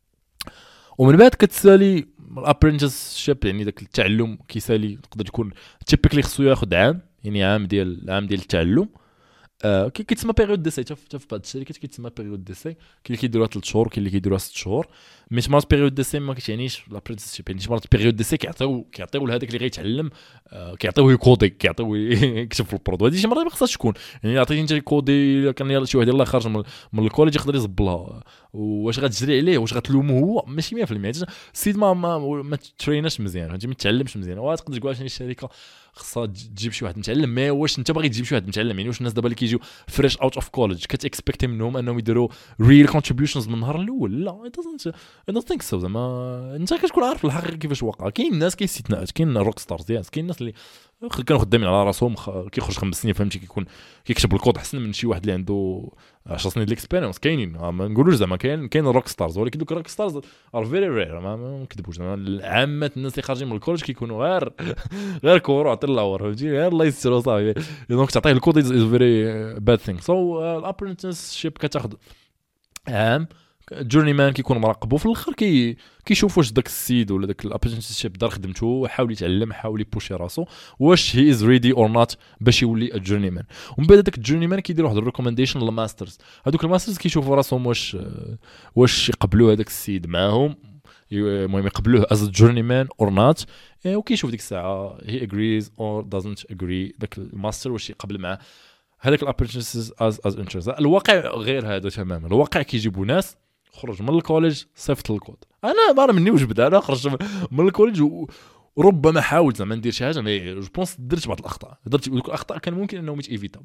ومن بعد كتسالي الابرنتسشيب، يعني داك التعلم كيسالي تقدر تكون تيبيكلي خصو ياخذ عام، يعني عام ديال عام ديال التعلم. آه كيتسمى بيريود ديساي، حتى في بعض الشركات كيتسمى بيريود ديساي. كاين اللي كيديروها ثلاث شهور، كاين اللي كيديروها ست شهور. مي مرات بيريود ديساي ما كيعنيش لابرنتسشيب، يعني مرات بيريود ديساي كيعطيو كيعطيو لهذاك اللي غيتعلم آه كيعطيوه يكودي، كيعطيوه يكتب في البرودو. هذه شي مرات ما خصهاش تكون، يعني عطيتي انت كودي كان يلاه شي واحد يلاه خارج من, من الكوليج يقدر يزبلها، واش غتجري عليه واش غتلومو هو ماشي مية في المية. السيد ما ما, ما تريناش مزيان، فهمتي ما تعلمش مزيان. وتقدر تقول عشان الشركه خصها تجيب شي واحد متعلم، ما واش انت باغي تجيب شي واحد متعلم؟ يعني واش الناس دابا اللي كيجيو فريش اوت اوف كوليج كتاكسبكت منهم انهم يديروا ريل كونتريبيوشنز من النهار الاول؟ لا اي دونت اي دونت ثينك سو. زعما انت كتكون عارف الحقيقه كيفاش واقع. كاين الناس كاين استثناءات، كاين روك ستارز ياس، كاين الناس اللي كانوا خدامين على راسهم كيخرج خمس سنين فهمتي كيكون كيكتب الكود احسن من شي واحد اللي عنده عشر سنين ديال الاكسبيرينس. كاينين ما نقولوش زعما كاين كاين روك ستارز، ولكن دوك الروك ستارز ار فيري رير، ما نكذبوش. عامه الناس اللي خارجين من الكوليج كيكونوا غير غير كورو عطي الله فهمتي غير الله يستر صافي. دونك تعطيه الكود از فيري باد ثينغ. سو الابرنتسشيب كتاخذ عام، جورني مان كيكون مراقبو في الاخر كي كيشوف واش داك السيد ولا داك الابرنتسشيب دار خدمته، حاول يتعلم، حاول يبوشي راسو واش هي از ريدي اور نوت باش يولي الجورني مان. ومن بعد داك الجورني مان كيدير واحد الريكومنديشن للماسترز. هذوك الماسترز كيشوفوا راسهم واش واش يقبلوا هذاك السيد معاهم، المهم يقبلوه از جورني مان اور نوت، وكيشوف ديك الساعه هي اجريز اور دازنت اجري داك الماستر واش يقبل معاه هذاك الابرنتسز از از انترنس. الواقع غير هذا تماما. الواقع كيجيبوا ناس خرج من الكوليج صيفط الكود. انا ما مني واش بدا انا خرج من الكوليج وربما حاولت زعما ندير شي حاجه، مي جو بونس درت بعض الاخطاء، درت دوك الاخطاء كان ممكن انهم يتيفيتاو.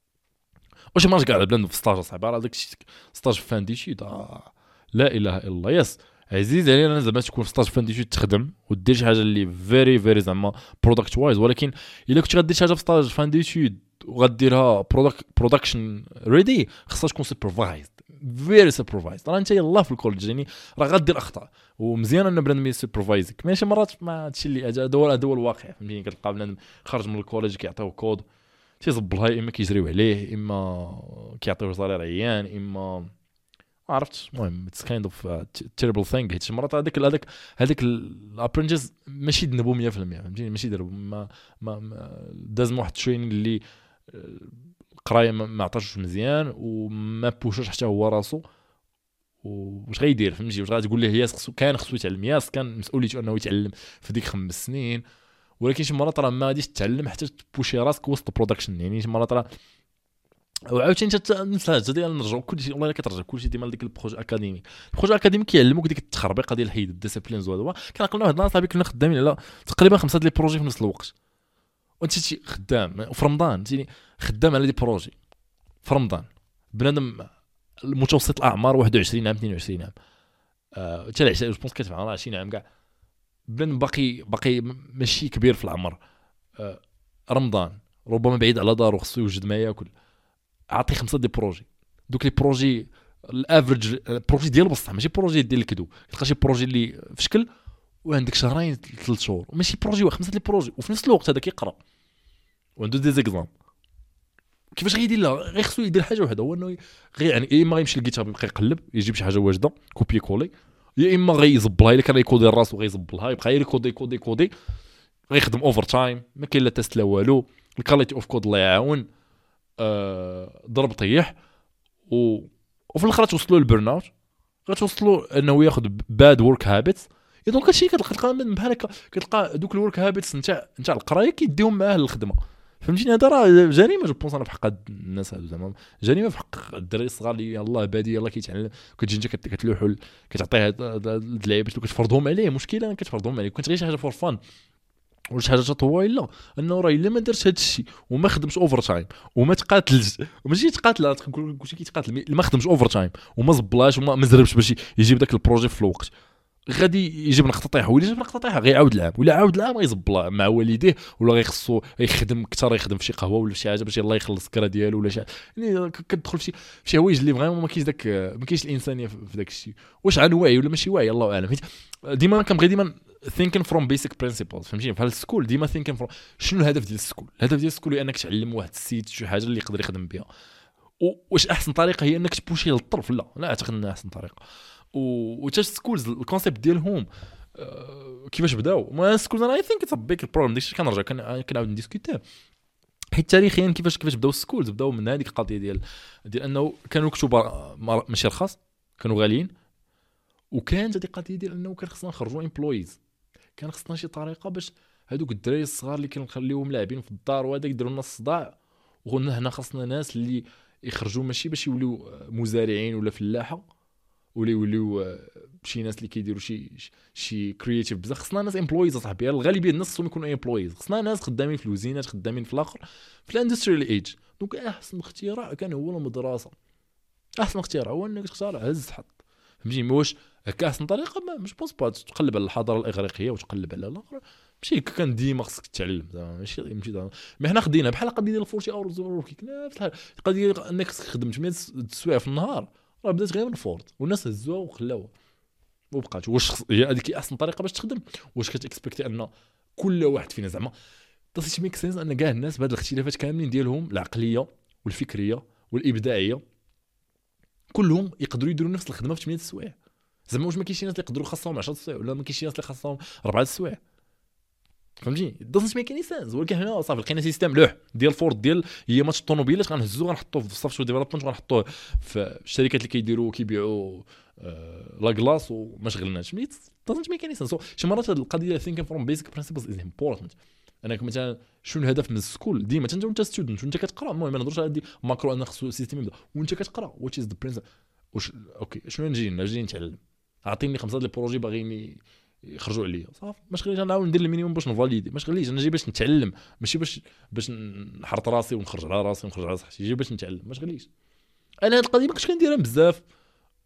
واش ما قاعد بلان في ستاج صعيب راه داك الشيء ستاج فان دي شي لا اله الا الله. يس عزيز علينا انا زعما تكون في ستاج فانديتي تخدم ودير شي حاجه اللي فيري فيري زعما برودكت وايز، ولكن الا كنت غدير شي حاجه في ستاج فانديتي وغديرها برودكت برودكشن ريدي، خصها تكون سوبرفايزد فيري سوبرفايزد. راه انت يلاه في الكولج يعني راه غدير اخطاء، ومزيان ان بنادم يسوبرفايزك، ماشي مرات ما هادشي اللي هذا هو هذا هو الواقع فهمتيني. كتلقى بنادم خرج من الكولج كيعطيو كود تيزبلها، اما كيجريو عليه اما كيعطيوه صالير عيان اما ما عرفتش. المهم اتس كايند اوف تيربل ثينغ، حيت مرات هذاك هذاك هذاك الابرنتيز ماشي ذنبو مية في المية فهمتيني، ماشي ذنبو ما ما داز واحد الترينين اللي القرايه ما عطاش مزيان وما بوشش حتى هو راسو، واش غيدير فهمتي؟ واش غتقول ليه ياس خصو كان خصو يتعلم، ياس كان مسؤوليته انه يتعلم في ديك خمس سنين، ولكن شي مرات راه ما غاديش تتعلم حتى تبوشي راسك وسط البرودكشن. يعني شي مرات راه وعاوتاني انت نفس ديال نرجعوا كلشي والله الا كترجع كلشي ديما لديك البروج اكاديميك. البروج اكاديميك كيعلموك ديك التخربيقه ديال حيد الديسيبلينز وهذا. كنعقلنا واحد النهار صاحبي كنا خدامين على تقريبا خمسه ديال البروجي في نفس الوقت، وانت شي خدام وفي رمضان تيني خدام على دي بروجي في رمضان. بنادم المتوسط الاعمار واحد وعشرين عام اثنين وعشرين عام، آه حتى العشرين جو بونس كتفهم عشرين عام كاع، بنادم باقي باقي ماشي كبير في العمر. آه رمضان ربما بعيد على دارو خصو يوجد ما ياكل، اعطي خمسه دي بروجي. دوك لي بروجي الافريج بروجي ديال بصح ماشي بروجي ديال الكدو، تلقى شي بروجي اللي في شكل وعندك شهرين ثلاث شهور، وماشي بروجي واحد خمسه دي بروجي وفي نفس الوقت هذا كيقرا وعنده دي زيكزام. كيفاش غيدير؟ لا غير خصو يدير حاجه وحده، هو انه غير يعني يا اما غيمشي للجيت هاب يبقى يقلب يجيب شي حاجه واجده كوبي كولي، يا اما غيزبلها الا كان يكودي راسو غيزبلها يبقى يكودي كودي كودي، غيخدم اوفر تايم ما كاين لا تيست لا والو. الكاليتي اوف كود الله يعاون، آه ضرب طيح و... وفي الاخر توصلوا للبرن اوت، غتوصلوا انه ياخذ باد ورك هابيتس. دونك هادشي كتلقى بحال هكا، كتلقى دوك الورك هابيتس نتاع نتاع القرايه كيديهم معاه للخدمه فهمتيني. هذا راه جريمه جو بونس انا في حق الناس هادو، زعما جريمه في حق الدراري الصغار اللي يلاه بادي يلاه كيتعلم، كتجي انت كتلوحوا كتعطيه هاد اللعيبات وكتفرضهم عليه. مشكله كتفرضهم عليه كنت غير شي حاجه فور فان ولا شي حاجه طويله، انه راه الا ما درتش هذا الشيء وما خدمش اوفر تايم وما تقاتلش وماشي تقاتل تقول كلشي كيتقاتل، ما خدمش اوفر تايم وما زبلاش وما مزربش باش يجيب داك البروجي في الوقت، غادي يجيب نقطه طيحه. ولا جاب نقطه طيحه غيعاود العام ولا عاود العام غيزبلا مع والديه، ولا غيخصو يخدم اكثر، يخدم في شي قهوه ولا شي حاجه باش يلاه يخلص الكرا ديالو ولا شي. يعني كتدخل في شي شي حوايج اللي فريمون ما كاينش داك ما كاينش الانسانيه في داك الشيء. واش عن واعي ولا ماشي واعي الله اعلم. ديما كنبغي ديما thinking from basic principles فهمتيني. بحال السكول ديما thinking from شنو الهدف ديال السكول. الهدف ديال السكول هو انك تعلم واحد السيت شي حاجه اللي يقدر يخدم بها. واش احسن طريقه هي انك تبوشي للطرف؟ لا لا اعتقد انها احسن طريقه. وتاش سكولز الكونسيبت ديالهم أه كيفاش بداو ما سكولز انا اي ثينك اتس ا بيج بروبليم. داكشي كنرجع كنعاود نديسكوتي حيت تاريخيا كيفاش كيفاش بداو السكولز. بداو من هذيك القضيه ديال ديال انه كانوا كتبوا ماشي رخاص كانوا غاليين، وكانت هذه القضيه ديال انه كان خصنا نخرجوا امبلويز، كان خصنا شي طريقه باش هذوك الدراري الصغار اللي كنخليوهم لاعبين في الدار وهذاك يديروا لنا الصداع، وقلنا هنا خصنا ناس اللي يخرجوا ماشي باش يوليو مزارعين ولا فلاحه ولا يوليو شي ناس اللي كيديروا شي شي كرييتيف بزاف. خصنا ناس امبلويز صاحبي، الغالبيه الناس خصهم يكونوا امبلويز. خصنا ناس خدامين في الوزينات خدامين في الاخر في الاندستريال ايج. دونك احسن اختراع كان هو المدرسه. احسن اختراع هو انك تختار هز حط فهمتي. واش هكا احسن طريقه؟ ما مش بوس با تقلب على الحضاره الاغريقيه وتقلب على الاخر ماشي كان ديما خصك تتعلم زعما ماشي ماشي ما حنا خدينا بحال القضيه ديال الفورتي اورز وركيك نفس القضيه انك تخدم ثمانية سوايع في النهار راه بدات غير من فورت والناس هزوها وخلاوها وبقات. واش هي هذيك احسن طريقه باش تخدم؟ واش كتاكسبكتي ان كل واحد فينا زعما تصيش ميك سنس ان كاع الناس بهاد الاختلافات كاملين ديالهم العقليه والفكريه والابداعيه كلهم يقدروا يديروا نفس الخدمه في ثمانية سوايع؟ زعما واش ما كاينش ناس اللي يقدروا خاصهم عشرة سوايع ولا ما كاينش ناس اللي خاصهم أربعة سوايع فهمتي؟ دونت ميك اني سنس. ولكن هنا صافي لقينا سيستم لوح ديال فورد ديال هي ماتش الطوموبيلات غنهزوه غنحطوه في السوفت ديفلوبمنت وغنحطوه في الشركات اللي كيديروا كيبيعوا آه لا كلاص وما شغلناش. ميت دونت ميك اني سنس. شي مرات هذه القضيه ثينكين فروم بيزك برينسيبلز از امبورطنت. انك مثلا شنو الهدف من السكول ديما انت وانت ستودنت وانت كتقرا. المهم ما نهضرش على ماكرو ان خصو سيستم يبدا وانت كتقرا واتش از ذا برينسيبل. واش اوكي شنو نجي نجي نتعلم؟ اعطيني خمسه ديال البروجي باغيني يخرجوا عليا صافي ما شغليش انا نعاود ندير المينيموم باش نفاليدي. ما شغليش انا جاي باش نتعلم ماشي باش باش نحرط راسي ونخرج على راسي ونخرج على صحتي. جاي باش نتعلم ما شغليش. انا هاد القضيه ما كنتش كنديرها بزاف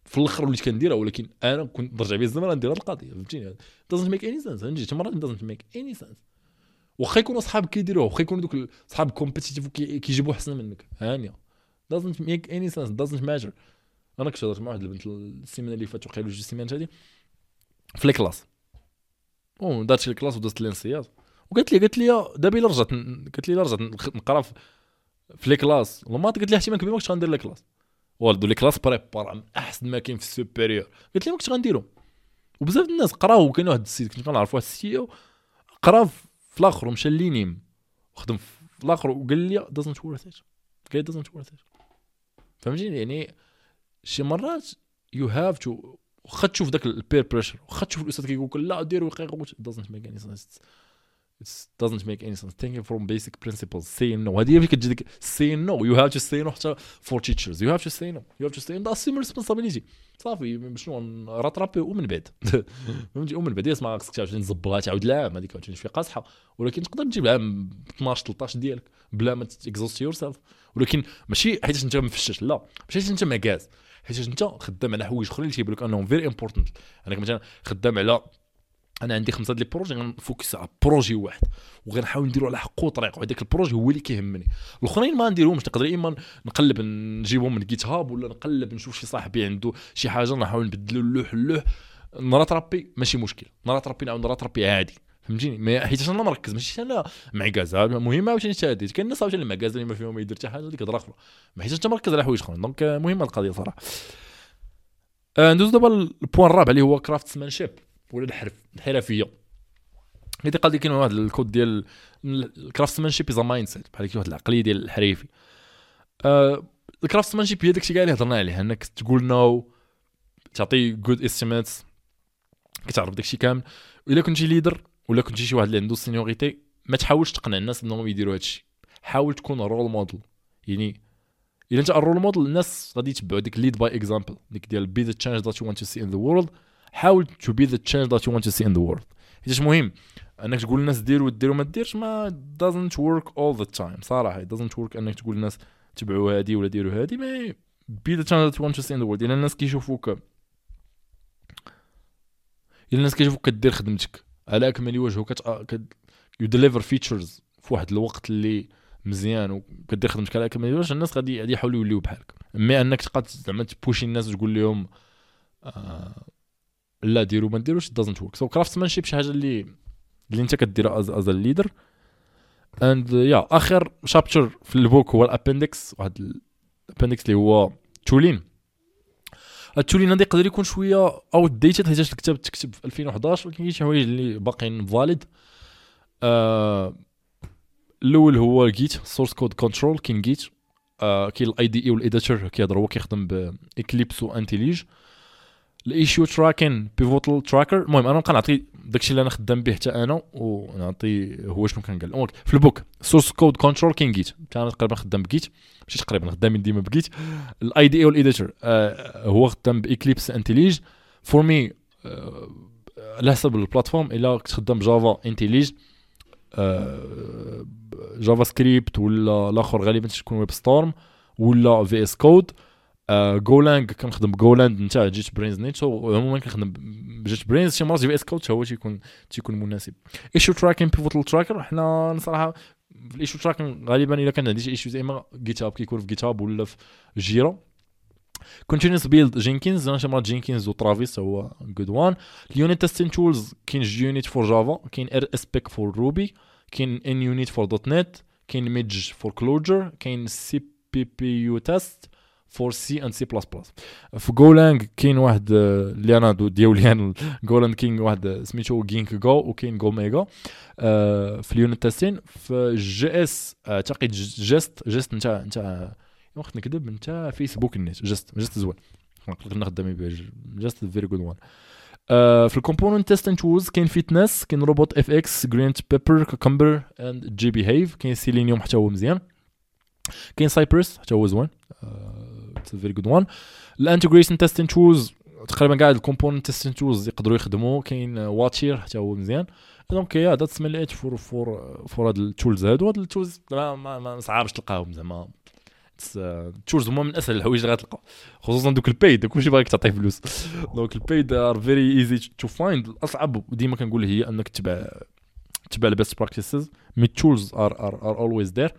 في الاخر وليت كنديرها، ولكن انا كنت نرجع بيا الزمن ندير هذه القضيه فهمتيني. doesn't make any sense. فهمتي شي مرات doesn't make any sense. واخا يكونوا صحابك كيديروه، واخا يكونوا دوك صحاب كومبيتيتيف كيجيبوا احسن منك هانيه doesn't make any sense doesn't matter. انا كنت هضرت مع واحد البنت السيمانه اللي فاتت وقيله جوج سيمانات هذه في الكلاس، او دات الكلاس ودازت الانسياط وقالت لي قالت لي دابا الا رجعت قالت لي الا رجعت نقرا في الكلاس الماط، قالت لي احتمال كبير ما كنتش غندير الكلاس والدو لي كلاس بريبار احسن ما كاين في السوبيريور. قالت لي ما كنتش غنديرهم. وبزاف الناس قراو، وكاين واحد السيد كنت كنعرف واحد السي قرا في الاخر ومشى لينيم وخدم في الاخر وقال لي doesn't worth it. قال doesn't worth it. فهمتيني يعني شي مرات you have to واخا تشوف داك البير بريشر، واخا تشوف الاستاذ كيقول لك لا دير وقيقه doesn't make any sense. It doesn't make any sense. Thinking from basic principles. Saying no. هذه اللي كتجي ديك saying no. You have to say no حتى for teachers. You have to say no. You have to say no. That's your responsibility. صافي شنو نراترابي ومن بعد فهمتي ومن بعد اسمع خصك تعاود نزبطها تعاود العام هذيك تعاود شويه قاصحه، ولكن تقدر تجيب العام اثناش ثلاثطاش ديالك بلا ما تكزوست يور سيلف. ولكن ماشي حيت انت مفشش، لا ماشي حيت انت مكاز، حيت انت خدام على حوايج اخرين اللي تيبان لك انهم فيري امبورطنت. انا مثلا خدام على انا عندي خمسه ديال البروجي غنفوكس على بروجي واحد وغنحاول نديرو على حقه طريق، وهذاك البروجي هو اللي كيهمني. الاخرين ما نديرهمش، نقدر اما نقلب نجيبهم من جيت هاب ولا نقلب نشوف شي صاحبي عنده شي حاجه نحاول نبدلو اللوح اللوح نراترابي ماشي مشكل، نراترابي نعاود نراترابي عادي فهمتيني. حيت انا مركز ماشي انا معكازه مهمه عاوتاني تاديت. كاين الناس عاوتاني معكازه اللي ما فيهم ما يدير حتى حاجه ديك هضره اخرى، حيت انت مركز على حوايج اخرين. دونك مهمه القضيه صراحه. ندوز دابا البوان الرابع اللي هو كرافتسمانشيب ولا الحرف الحرفيه. هذه قال لي كاين واحد الكود ديال الكرافتسمانشيب از مايند سيت، بحال كي واحد العقليه ديال الحريفي. آه الكرافتسمانشيب هي داكشي كاع اللي هضرنا عليه، انك تقول نو، تعطي جود استيميتس، كتعرف داكشي كامل. الا كنتي ليدر ولا كنتي شي واحد اللي عنده سينيوريتي ما تحاولش تقنع الناس انهم يديروا هادشي، حاول تكون رول موديل. يعني الا انت الرول موديل الناس غادي يتبعوا ديك ليد باي اكزامبل، ديك ديال بي ذا تشينج ذات يو وانت تو سي ان ذا وورلد. حاول تو بي ذا تشينج ذات يو وانت تو سي ان ذا وورلد. حيت مهم انك تقول للناس ديروا ديروا ما ديرش، ما doesn't work all the time صراحه. it doesn't work انك تقول للناس تبعوا هذه ولا ديروا هذه. ما be the channel that you want to see in the world. الا الناس كيشوفوك الا الناس كيشوفوك كدير خدمتك على اكمل وجه وكت you deliver features في واحد الوقت اللي مزيان وكدير خدمتك على اكمل وجه، الناس غادي غادي يحاولوا يوليو بحالك. مي انك تبقى زعما تبوشي الناس وتقول لهم آه لا ديروا ما ديروش doesn't work. so craftsmanship شي حاجه اللي اللي انت كديرها از از ليدر. اند يا اخر شابتر في البوك هو الابندكس، واحد الابندكس اللي هو تولين. التولين هذا يقدر يكون شويه اوت ديتد حيت الكتاب تكتب في ألفين وحداش، ولكن كاين شي حوايج اللي باقيين فاليد. آه الاول هو جيت سورس كود كنترول. كاين جيت آه كاين الاي دي اي والاديتور كيهضر هو كيخدم باكليبس وانتيليج. الايشيو تراكين بيفوتال تراكر. المهم انا نبقى نعطي داكشي اللي انا خدام به حتى انا ونعطي هو شنو كان قال في البوك. سورس كود كنترول كاين جيت، انا تقريبا خدام بجيت، ماشي تقريبا خدامين ديما بجيت. الاي دي اي والاديتور آه هو خدام باكليبس انتيليج. فور مي آه على حسب البلاتفورم، الا كنت خدام جافا انتيليج آه جافا سكريبت ولا الاخر غالبا تكون ويب ستورم ولا في اس كود. جولانج كنخدم بجولاند نتا جيت برينز نيت. عموما كنخدم بجيت برينز. شي مرات جي في اس كود هو تيكون تيكون مناسب. ايشو تراكين بيفوتال تراكر. حنا صراحه في الايشو تراكين غالبا الا كان عندي شي ايشوز اما جيت هاب كيكون في جيت هاب ولا في جيرا. كونتينوس بيلد جينكينز. انا شي مرات جينكينز وترافيس هو جود وان. اليونيت تيستين تولز كاين جيونيت فور جافا، كاين ار اس بيك فور روبي، كاين ان يونيت فور دوت نت، كاين ميدج فور كلوجر، كاين سي بي بي يو تيست فور سي اند سي بلس بلس. في جولانج كاين واحد اللي انا ديالي انا جولانج كاين واحد سميتو جينك جو وكاين جو ميجا في اليونت تيستين. في جي اس اعتقد جيست جيست نتا نتا وقت نكذب نتا فيسبوك النت جيست جيست زوين نقدر نخدم به جيست فيري جود وان. في الكومبوننت تيستين تولز كاين فيتنس، كاين روبوت اف اكس، جرينت بيبر، كوكمبر اند جي بيهيف. كاين سيلينيوم حتى هو مزيان. كاين سايبرس حتى هو زوين اتس فيري جود وان. الانتجريشن تيستين تولز تقريبا كاع الكومبوننت تيستين تولز يقدروا يخدموا. كاين واتشير حتى هو مزيان. دونك يا ذاتس مليت فور فور فور هاد التولز هادو. هاد التولز ما ما صعابش تلقاهم زعما تشولز هما من اسهل الحوايج اللي غتلقى خصوصا دوك البيد كلشي باغيك تعطيه فلوس. دونك البيد ار فيري ايزي تو فايند. الاصعب ديما كنقول هي انك تتبع تتبع البيست براكتيسز. مي تشولز ار ار ار اولويز ذير.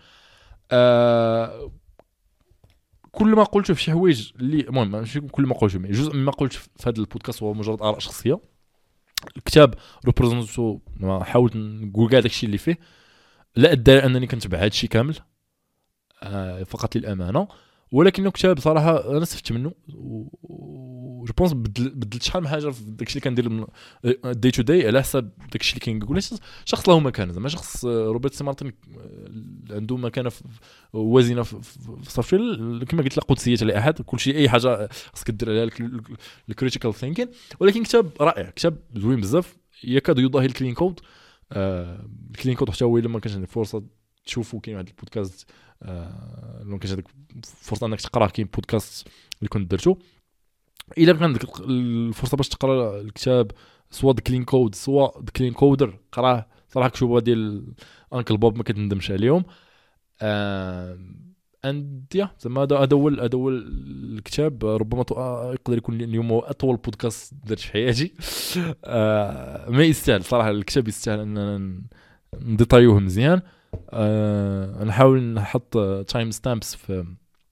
كل ما قلت في شي حوايج اللي المهم ماشي كل ما قلت مي جزء مما قلت في هذا البودكاست هو مجرد اراء شخصيه. الكتاب ريبريزونتو ما حاولت نقول كاع داكشي اللي فيه، لا ادعي انني كنتبع هذا الشيء كامل آه فقط للامانه، ولكن كتاب صراحه انا استفدت منه و جو بونس بدلت شحال من حاجه في داكشي اللي كندير داي تو داي على حساب داكشي اللي كنقول. شخص له مكانه زعما شخص روبرت سي مارتن عنده مكانه وازنه في السوفتوير كما قلت لا قدسيه لاحد. كلشي اي حاجه خصك دير عليها الكريتيكال ثينكين، ولكن كتاب رائع كتاب زوين بزاف يكاد يضاهي الكلين كود. آه الكلين كود حتى هو الا ما كانش عندك فرصه تشوفوا كاين واحد البودكاست آه لو كانش عندك فرصه انك تقرا كاين بودكاست اللي كنت درتو. الا كان عندك الفرصه باش تقرا الكتاب سواء كلين كود سواء كلين كودر قراه صراحه كتبوا ديال انكل بوب ما كتندمش عليهم. آه اند يا زعما هذا هذا هو هذا هو الكتاب. ربما يقدر يكون اليوم هو اطول بودكاست درت في حياتي. آه ما يستاهل صراحه الكتاب يستاهل ان نديطايوه مزيان. أه نحاول نحط تايم ستامبس في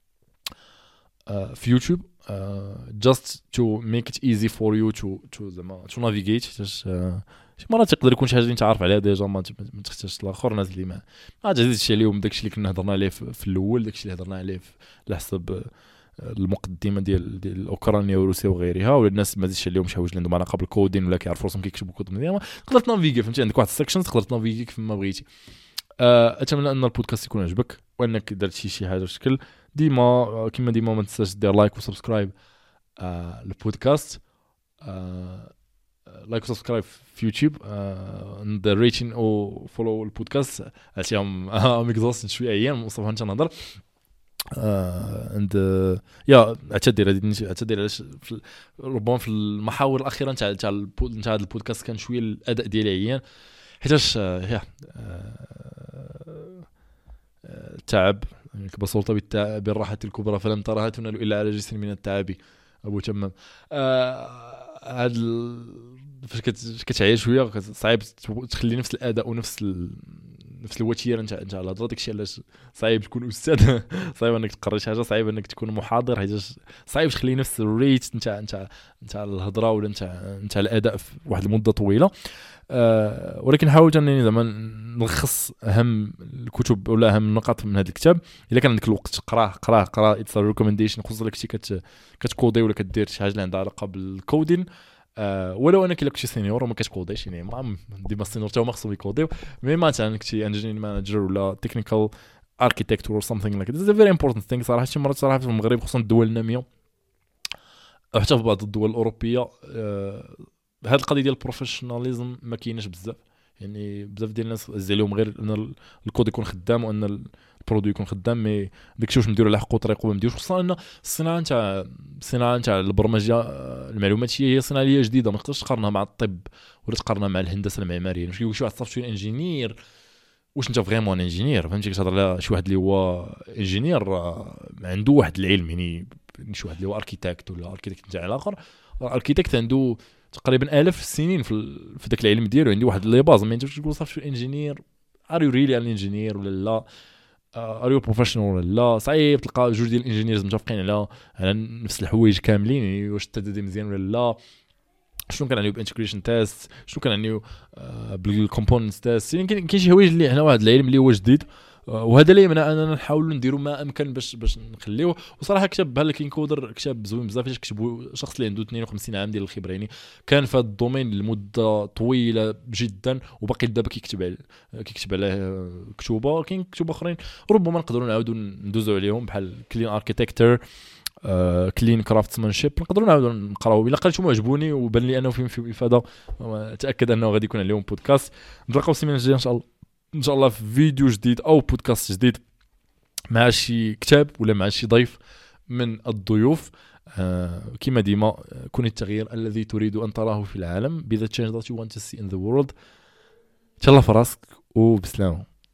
أه في يوتيوب أه just to make it easy for you to to زعما to navigate. أه شي مرات تقدر يكون شي حاجه اللي انت عارف عليها ديجا ما تحتاجش الاخر ناس اللي ما ما تزيدش عليهم داكشي اللي كنا هضرنا عليه في الاول داكشي اللي هضرنا عليه على حسب المقدمه ديال ديال اوكرانيا وروسيا وغيرها، ولا الناس ما تزيدش عليهم شي حوايج اللي عندهم علاقه بالكودين ولا كيعرفوا راسهم كيكتبوا كود مزيان تقدر تنافيغي فهمتي. عندك واحد السكشن تقدر تنافيغي كيف ما بغيتي. اتمنى ان البودكاست يكون عجبك وانك درت شي شي حاجه بشكل ديما كما ديما ما تنساش دير لايك وسبسكرايب آه البودكاست آه لايك وسبسكرايب في يوتيوب ندير ريتين او فولو البودكاست عشان ام اكزوست شويه ايام مصطفى انت نهضر اند يا اعتذر هذه اعتذر علاش ربما في المحاور الاخيره نتاع نتاع هذا البودكاست كان شويه الاداء ديالي عيان حيتاش يا تعب يعني بسلطه بالتعب بالراحه الكبرى فلم ترها تنال الا على جسر من التعب ابو تمام. هذا فاش كتعيش شويه صعيب تخلي نفس الاداء ونفس ال... نفس الوتيره نتاع نتاع الهضره. داكشي علاش صعيب تكون استاذ صعيب انك تقرا شي حاجه صعيب انك تكون محاضر حيت صعيب تخلي نفس الريت نتاع نتاع نتاع الهضره ولا نتاع نتاع الاداء في واحد المده طويله. أه ولكن حاولت انني زعما نلخص اهم الكتب ولا اهم النقاط من هذا الكتاب. الا كان عندك الوقت قراه قراه قراه اتس ريكومنديشن خصوصا لك شي كت كتكودي ولا كدير شي حاجه اللي عندها علاقه بالكودين. أه ولو انك الا كنتي سينيور وما كتكوديش يعني ما ديما السينيور حتى هما خصهم يكوديو مي مثلا كنتي انجينير مانجر ولا تكنيكال اركيتكت اور something like this is a very important thing صراحه. شي مرات صراحه في المغرب خصوصا الدول الناميه حتى في بعض الدول الاوروبيه أه هذه القضيه ديال البروفيشناليزم ما كايناش بزاف. يعني بزاف ديال الناس عز عليهم غير ان الكود يكون خدام وان البرودوي يكون خدام مي داكشي واش نديروا على حقه طريقه ما نديروش. خصوصا ان الصناعه نتاع الصناعه نتاع البرمجه المعلوماتيه هي صناعه جديده ما تقدرش تقارنها مع الطب ولا تقارنها مع الهندسه المعماريه. واش كيقول شي واحد سوفتوير انجينير واش انت فريمون انجينير فهمتي كتهضر على شي واحد اللي هو انجينير عنده واحد العلم يعني شي واحد اللي هو اركيتكت ولا اركيتكت نتاع الاخر اركيتكت عنده تقريبا آلاف السنين في في داك العلم ديالو عندي واحد لي باز ما ينجمش تقول صافي انجينير ار يو ريلي ان انجينير ولا لا ار يو بروفيشنال ولا لا. صعيب تلقى جوج ديال الانجينيرز متفقين على على نفس الحوايج كاملين يعني واش التدريب مزيان ولا لا شنو كنعنيو بانتجريشن تيست شنو كنعنيو بالكومبوننتس تيست. يعني كاين شي حوايج اللي هنا واحد العلم اللي هو جديد وهذا اللي يمنع اننا نحاولوا نديروا ما امكن باش باش نخليوه. وصراحه كتاب بحال كين كودر كتاب زوين بزاف فاش كتبوا شخص اللي عنده اثنين وخمسين عام ديال الخبره يعني كان في هذا الدومين لمده طويله جدا وباقي دابا كيكتب على كيكتب على كتوبه. كاين كتب اخرين ربما نقدروا نعاودوا ندوزوا عليهم بحال كلين اركيتكتشر كلين كرافتسمانشيب نقدروا نعاودوا نقراو. الا قريتهم عجبوني وبان لي انه فيهم فيه افاده تاكد انه غادي يكون عليهم بودكاست. نتلاقاو السيمانه الجايه ان شاء الله ان شاء الله في فيديو جديد او بودكاست جديد مع شي كتاب ولا مع شي ضيف من الضيوف. آه كما ديما كن التغيير الذي تريد ان تراه في العالم be the change that you want to see in the world. تهلا في راسك وبسلامه.